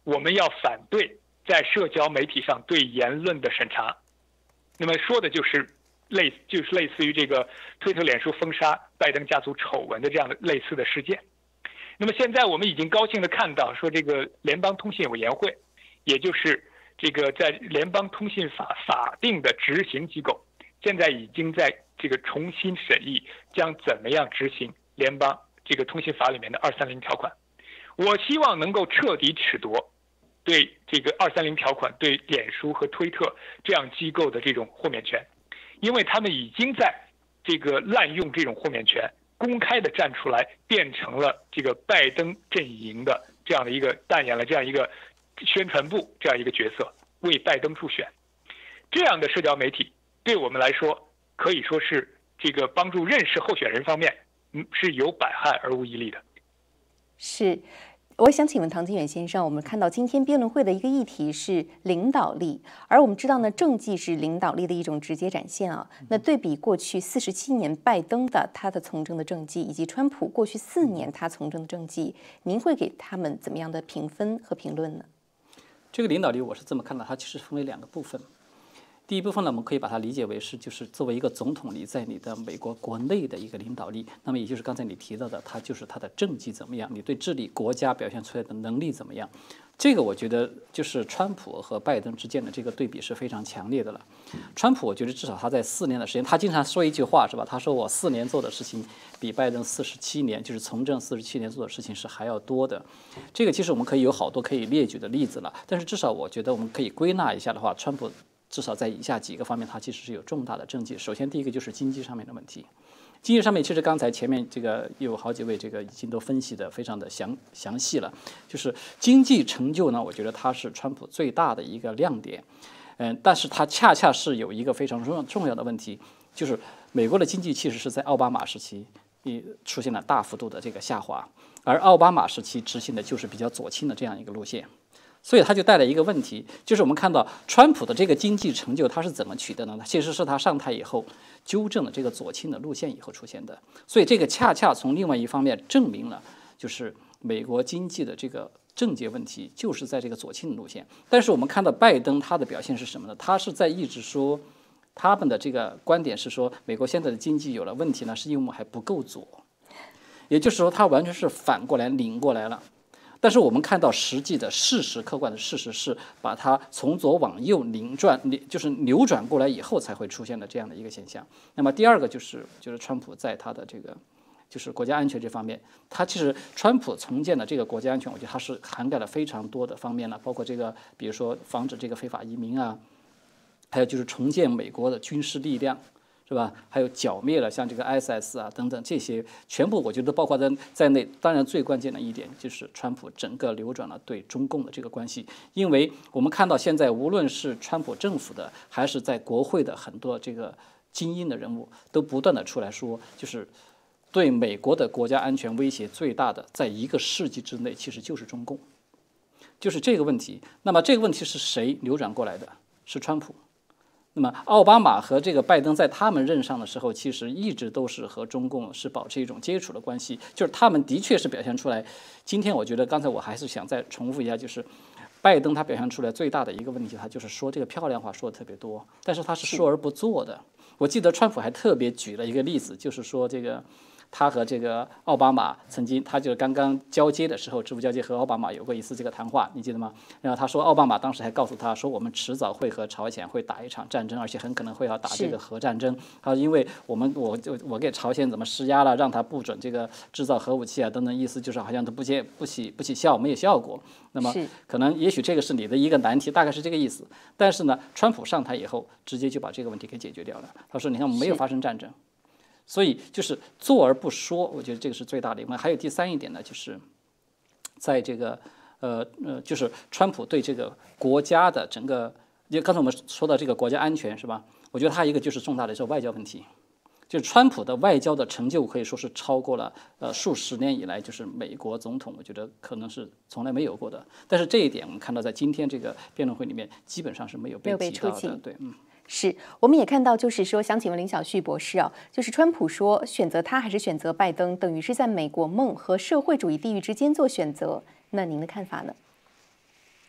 我们要反对在社交媒体上对言论的审查。那么说的就是类就是类似于这个推特、脸书封杀拜登家族丑闻的这样的类似的事件。那么现在我们已经高兴地看到，说这个联邦通信委员会，也就是这个在联邦通信法法定的执行机构，现在已经在这个重新审议将怎么样执行联邦这个通信法里面的二三零条款。我希望能够彻底褫夺对这个二三零条款对脸书和推特这样机构的这种豁免权，因为他们已经在这个滥用这种豁免权，公开的站出来，变成了这个拜登阵营的这样的一个扮演了这样一个宣传部这样一个角色，为拜登助选。这样的社交媒体对我们来说可以说是这个帮助认识候选人方面，嗯，是有百害而无一利的。 是。我想请问唐金远先生，我们看到今天辩论会的一个议题是领导力，而我们知道呢，政绩是领导力的一种直接展现啊。那对比过去四十七年拜登的他的从政的政绩，以及川普过去四年他从政的政绩，您会给他们怎么样的评分和评论呢？ 这个领导力我是这么看的，它其实分为两个部分。第一部分呢，我们可以把它理解为是，就是作为一个总统，你在你的美国国内的一个领导力，那么也就是刚才你提到的，它就是它的政绩怎么样，你对治理国家表现出来的能力怎么样。这个我觉得就是川普和拜登之间的这个对比是非常强烈的了。川普我觉得至少他在四年的时间，他经常说一句话是吧？他说我四年做的事情比拜登四十七年，就是从政四十七年做的事情是还要多的。这个其实我们可以有好多可以列举的例子了，但是至少我觉得我们可以归纳一下的话，川普至少在以下几个方面，它其实是有重大的政绩。首先，第一个就是经济上面的问题。经济上面，其实刚才前面这个有好几位这个已经都分析的非常的详详细了。就是经济成就呢，我觉得它是川普最大的一个亮点。嗯，但是它恰恰是有一个非常重要重要的问题，就是美国的经济其实是在奥巴马时期出现了大幅度的这个下滑，而奥巴马时期执行的就是比较左倾的这样一个路线。所以它就带来一个问题，就是我们看到川普的这个经济成就，他是怎么取得的呢？其实是他上台以后纠正了这个左倾的路线以后出现的。所以这个恰恰从另外一方面证明了，就是美国经济的这个症结问题就是在这个左倾的路线。但是我们看到拜登他的表现是什么呢？他是在一直说，他们的这个观点是说，美国现在的经济有了问题呢，是因为我们还不够左，也就是说，他完全是反过来拧过来了。但是我们看到实际的事实，客观的事实是把它从左往右拧转，就是扭转过来以后才会出现的这样的一个现象。那么第二个就是就是川普在他的这个就是国家安全这方面，他其实川普重建的这个国家安全，我觉得它是涵盖了非常多的方面了，包括这个比如说防止这个非法移民啊，还有就是重建美国的军事力量。是吧？还有剿灭了像这个 I S I S 啊等等这些，全部我觉得包括在在内。当然，最关键的一点就是川普整个扭转了对中共的这个关系，因为我们看到现在无论是川普政府的，还是在国会的很多这个精英的人物，都不断的出来说，就是对美国的国家安全威胁最大的，在一个世纪之内，其实就是中共，就是这个问题。那么这个问题是谁扭转过来的？是川普。那么奥巴马和这个拜登在他们任上的时候，其实一直都是和中共是保持一种接触的关系，就是他们的确是表现出来。今天我觉得刚才我还是想再重复一下，就是拜登他表现出来最大的一个问题，他就是说这个漂亮话说的特别多，但是他是说而不做的。我记得川普还特别举了一个例子，就是说这个他和这个奥巴马曾经，他就刚刚交接的时候，直接交接和奥巴马有过一次这个谈话，你记得吗？然后他说，奥巴马当时还告诉他说，我们迟早会和朝鲜会打一场战争，而且很可能会要打这个核战争。他说，因为我们我就我给朝鲜怎么施压了，让他不准这个制造核武器啊等等，意思就是好像都不起不起不起效，没有效果。那么可能也许这个是你的一个难题，大概是这个意思。但是呢，川普上台以后，直接就把这个问题给解决掉了。他说，你看我们没有发生战争。所以就是做而不说，我觉得这个是最大的一个。还有第三一点呢，就是在这个呃呃，就是川普对这个国家的整个，就刚才我们说到这个国家安全是吧？我觉得他一个就是重大的是外交问题，就是川普的外交的成就可以说是超过了呃数十年以来就是美国总统，我觉得可能是从来没有过的。但是这一点我们看到在今天这个辩论会里面基本上是没有被提到的，对，嗯。 是，我们也看到，就是说，想请问林小旭博士啊，就是川普说选择他还是选择拜登，等于是在美国梦和社会主义地域之间做选择，那您的看法呢？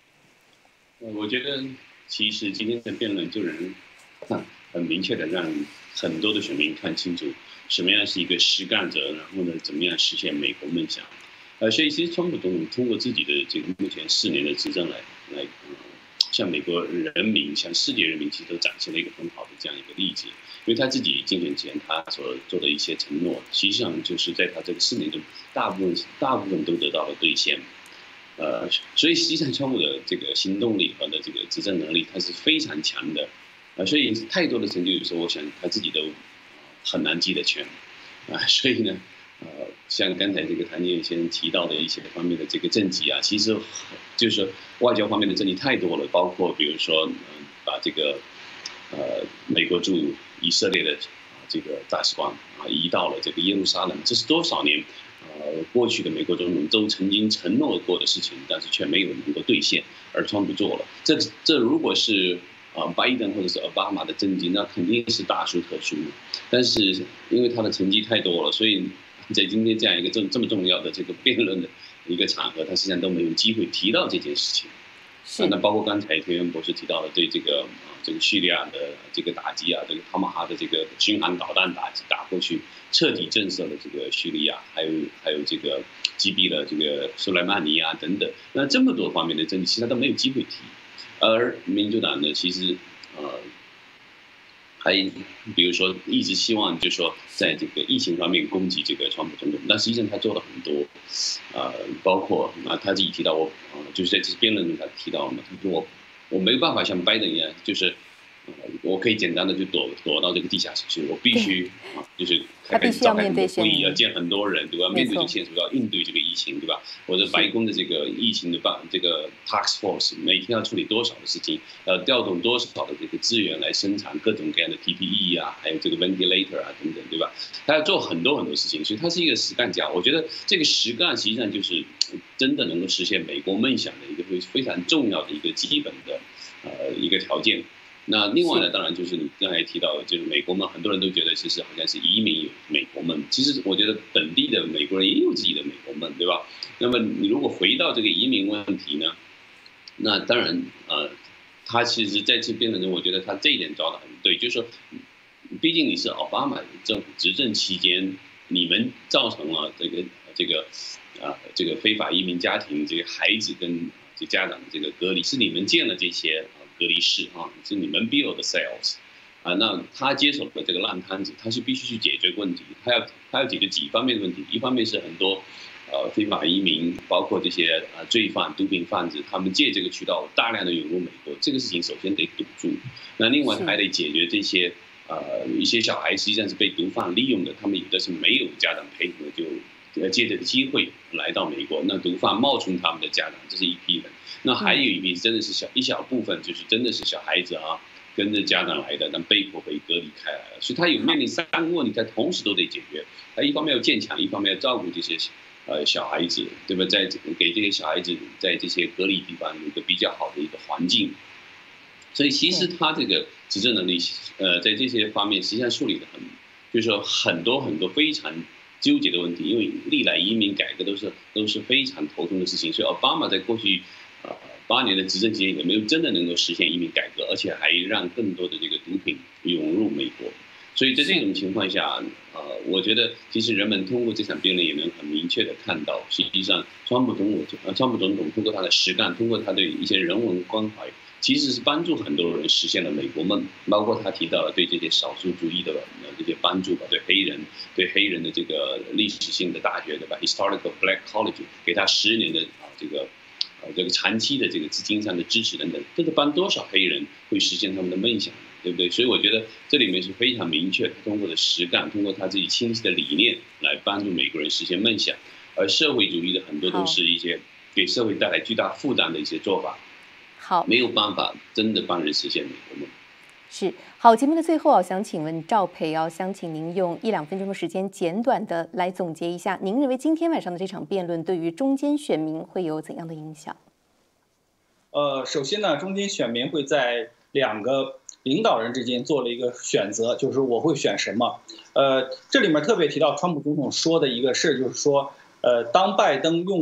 呃，我觉得其实今天的辩论就能很很明确的让很多的选民看清楚什么样是一个实干者，然后呢，怎么样实现美国梦想。呃，所以其实川普总统通过自己的这个目前四年的执政来来，呃，向美国人民、向世界人民其实都展现了一个很好的这样一个例子。因为他自己竞选前他所做的一些承诺，实际上就是在他这个四年中，大部分大部分都得到了兑现。呃，所以实际上川普的这个行动力和的这个执政能力，他是非常强的，啊，所以太多的成就，有时候我想他自己都很难记得全，啊，所以呢，呃，像刚才这个谭健先生提到的一些方面的这个政绩啊，其实就是外交方面的政绩太多了，包括比如说，嗯、呃，把这个呃美国驻以色列的啊这个大使馆啊移到了这个耶路撒冷，这是多少年？呃，过去的美国总统都曾经承诺过的事情，但是却没有能够兑现，而川普做了。这这如果是啊、呃、拜登或者是奥巴马的政绩，那肯定是大书特书。但是因为他的成绩太多了，所以在今天这样一个这这么重要的这个辩论的一个场合，他实际上都没有机会提到这件事情。啊，那包括刚才田园博士提到的对这个啊这个叙利亚的这个打击啊，这个塔马哈的这个巡航导弹打击打过去，彻底震慑了这个叙利亚，还有还有这个击毙了这个苏莱曼尼啊等等，那这么多方面的政绩，其实他都没有机会提。而民主党呢，其实呃还比如说一直希望就是说在这个疫情方面攻击这个川普总统，但实际上他做了很多，呃，包括啊他自己提到我，呃，就是在这次辩论中他提到嘛，他说我我没有办法像拜登一样，就是呃我可以简单的就躲躲到这个地下室去，我必须啊就是开开召开很多会议，要见很多人，对吧？面对这个现实，要应对这个疫情，对吧？我的白宫的这个疫情的办这个 task force 每天要处理多少的事情，要调动多少的这个资源来生产各种各样的 P P E 啊，还有这个 ventilator 啊等等，对吧？他要做很多很多事情，所以他是一个实干家。我觉得这个实干实际上就是真的能够实现美国梦想的一个非非常重要的一个基本的呃一个条件。那另外呢，当然就是你刚才提到，就是美国梦，很多人都觉得其实好像是移民有美国梦，其实我觉得本地的美国人也有自己的美国梦，对吧？那么你如果回到这个移民问题呢，那当然呃，他其实在这辩论中，我觉得他这一点抓得很对，就是说，毕竟你是奥巴马政府执政期间，你们造成了这个这个啊这个非法移民家庭这个孩子跟这家长的这个隔离，是你们建了这些。隔离室啊，是你们 build 的 cells 啊，那他接手的这个烂摊子，他是必须去解决问题，他要他要解决几方面的问题，一方面是很多呃非法移民，包括这些呃罪犯、毒品贩子，他们借这个渠道大量的涌入美国，这个事情首先得堵住。那另外还得解决这些呃一些小孩实际上是被毒贩利用的，他们有的是没有家长配合就。呃，借这个机会来到美国，那毒贩冒充他们的家长，这是一批人。那还有一批真的是小一小部分，就是真的是小孩子啊，跟着家长来的，但被迫被隔离开来了。所以他有面临三个问题，他同时都得解决。他一方面要建墙，一方面要照顾这些呃小孩子，对吧？在给这些小孩子在这些隔离地方有一个比较好的一个环境。所以其实他这个执政能力，呃，在这些方面实际上处理的很，就是说很多很多非常。纠结的问题，因为历来移民改革都是都是非常头痛的事情，所以奥巴马在过去呃八年的执政期间也没有真的能够实现移民改革，而且还让更多的这个毒品涌入美国。所以在这种情况下，呃，我觉得其实人们通过这场辩论也能很明确的看到，实际上川普总统呃川普总统通过他的实干，通过他对一些人文关怀。其实是帮助很多人实现了美国梦，包括他提到了对这些少数族裔的这些帮助吧，对黑人，对黑人的这个历史性的大学，对吧 ？Historical Black College 给他十年的啊这个，呃这个长期的这个资金上的支持等等，这是帮多少黑人会实现他们的梦想，对不对？所以我觉得这里面是非常明确，他通过的实干，通过他自己清晰的理念来帮助美国人实现梦想，而社会主义的很多都是一些给社会带来巨大负担的一些做法。 好， 没有办法真的帮人实现美国梦。 是好，节目的最后啊，想请问赵培啊，想请您用一两分钟的时间，简短的来总结一下，您认为今天晚上的这场辩论对于中间选民会有怎样的影响？ 呃，首先呢，中间选民会在两个领导人之间做了一个选择，就是我会选什么。呃，这里面特别提到川普总统说的一个事，就是说，呃，当拜登用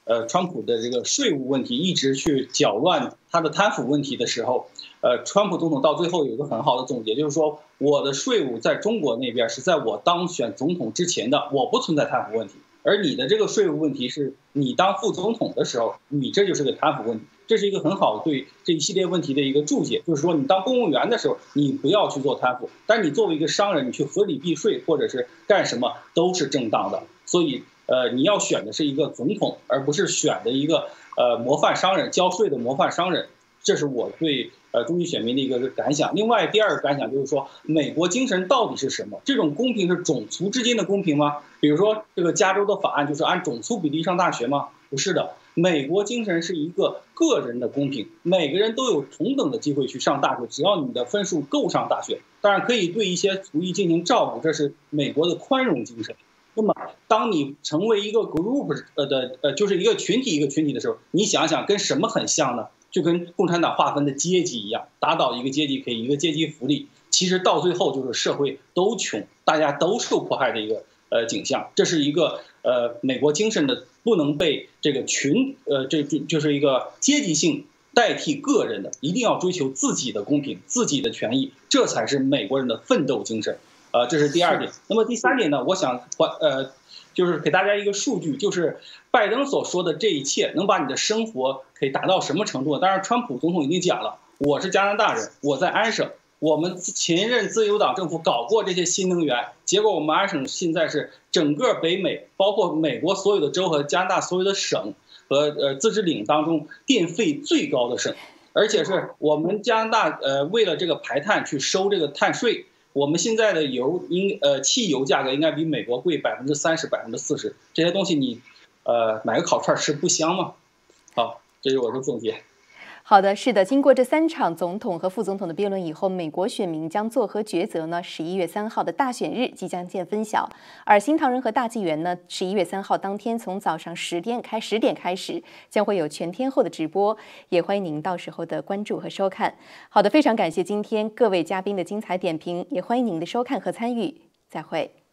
呃川普的这个税务问题一直去搅乱他的贪腐问题的时候，呃，川普总统到最后有一个很好的总结，就是说我的税务在中国那边是在我当选总统之前的，我不存在贪腐问题。而你的这个税务问题是你当副总统的时候，你这就是个贪腐问题，这是一个很好对这一系列问题的一个注解。就是说，你当公务员的时候，你不要去做贪腐，但你作为一个商人，你去合理避税或者是干什么都是正当的。所以，呃，你要选的是一个总统，而不是选的一个呃模范商人，交税的模范商人。这是我对呃中期选民的一个感想。另外，第二个感想就是说，美国精神到底是什么？这种公平是种族之间的公平吗？比如说，这个加州的法案就是按种族比例上大学吗？不是的，美国精神是一个个人的公平，每个人都有同等的机会去上大学，只要你的分数够上大学。当然，可以对一些族裔进行照顾，这是美国的宽容精神。那么，当你成为一个 group 呃的呃，就是一个群体一个群体的时候，你想想跟什么很像呢？就跟共产党划分的阶级一样，打倒一个阶级给一个阶级福利，其实到最后就是社会都穷，大家都受迫害的一个呃景象。这是一个呃美国精神的不能被这个群呃这这就是一个阶级性代替个人的，一定要追求自己的公平、自己的权益，这才是美国人的奋斗精神。呃，这是第二点。那么第三点呢？我想呃。就是给大家一个数据，就是拜登所说的这一切能把你的生活可以达到什么程度？当然，川普总统已经讲了，我是加拿大人，我在安省，我们前任自由党政府搞过这些新能源，结果我们安省现在是整个北美，包括美国所有的州和加拿大所有的省和呃自治领当中电费最高的省，而且是我们加拿大呃为了这个排碳去收这个碳税。我们现在的油应呃汽油价格应该比美国贵百分之三十、百分之四十，这些东西你呃买个烤串吃不香吗？好，这是我的总结。 好的，是的，经过这三场总统和副总统的辩论以后，美国选民将作何抉择呢？十一月三号的大选日即将见分晓，而新唐人和大纪元呢，十一月三号当天从早上十点开十点开始，将会有全天候的直播，也欢迎您到时候的关注和收看。好的，非常感谢今天各位嘉宾的精彩点评，也欢迎您的收看和参与，再会。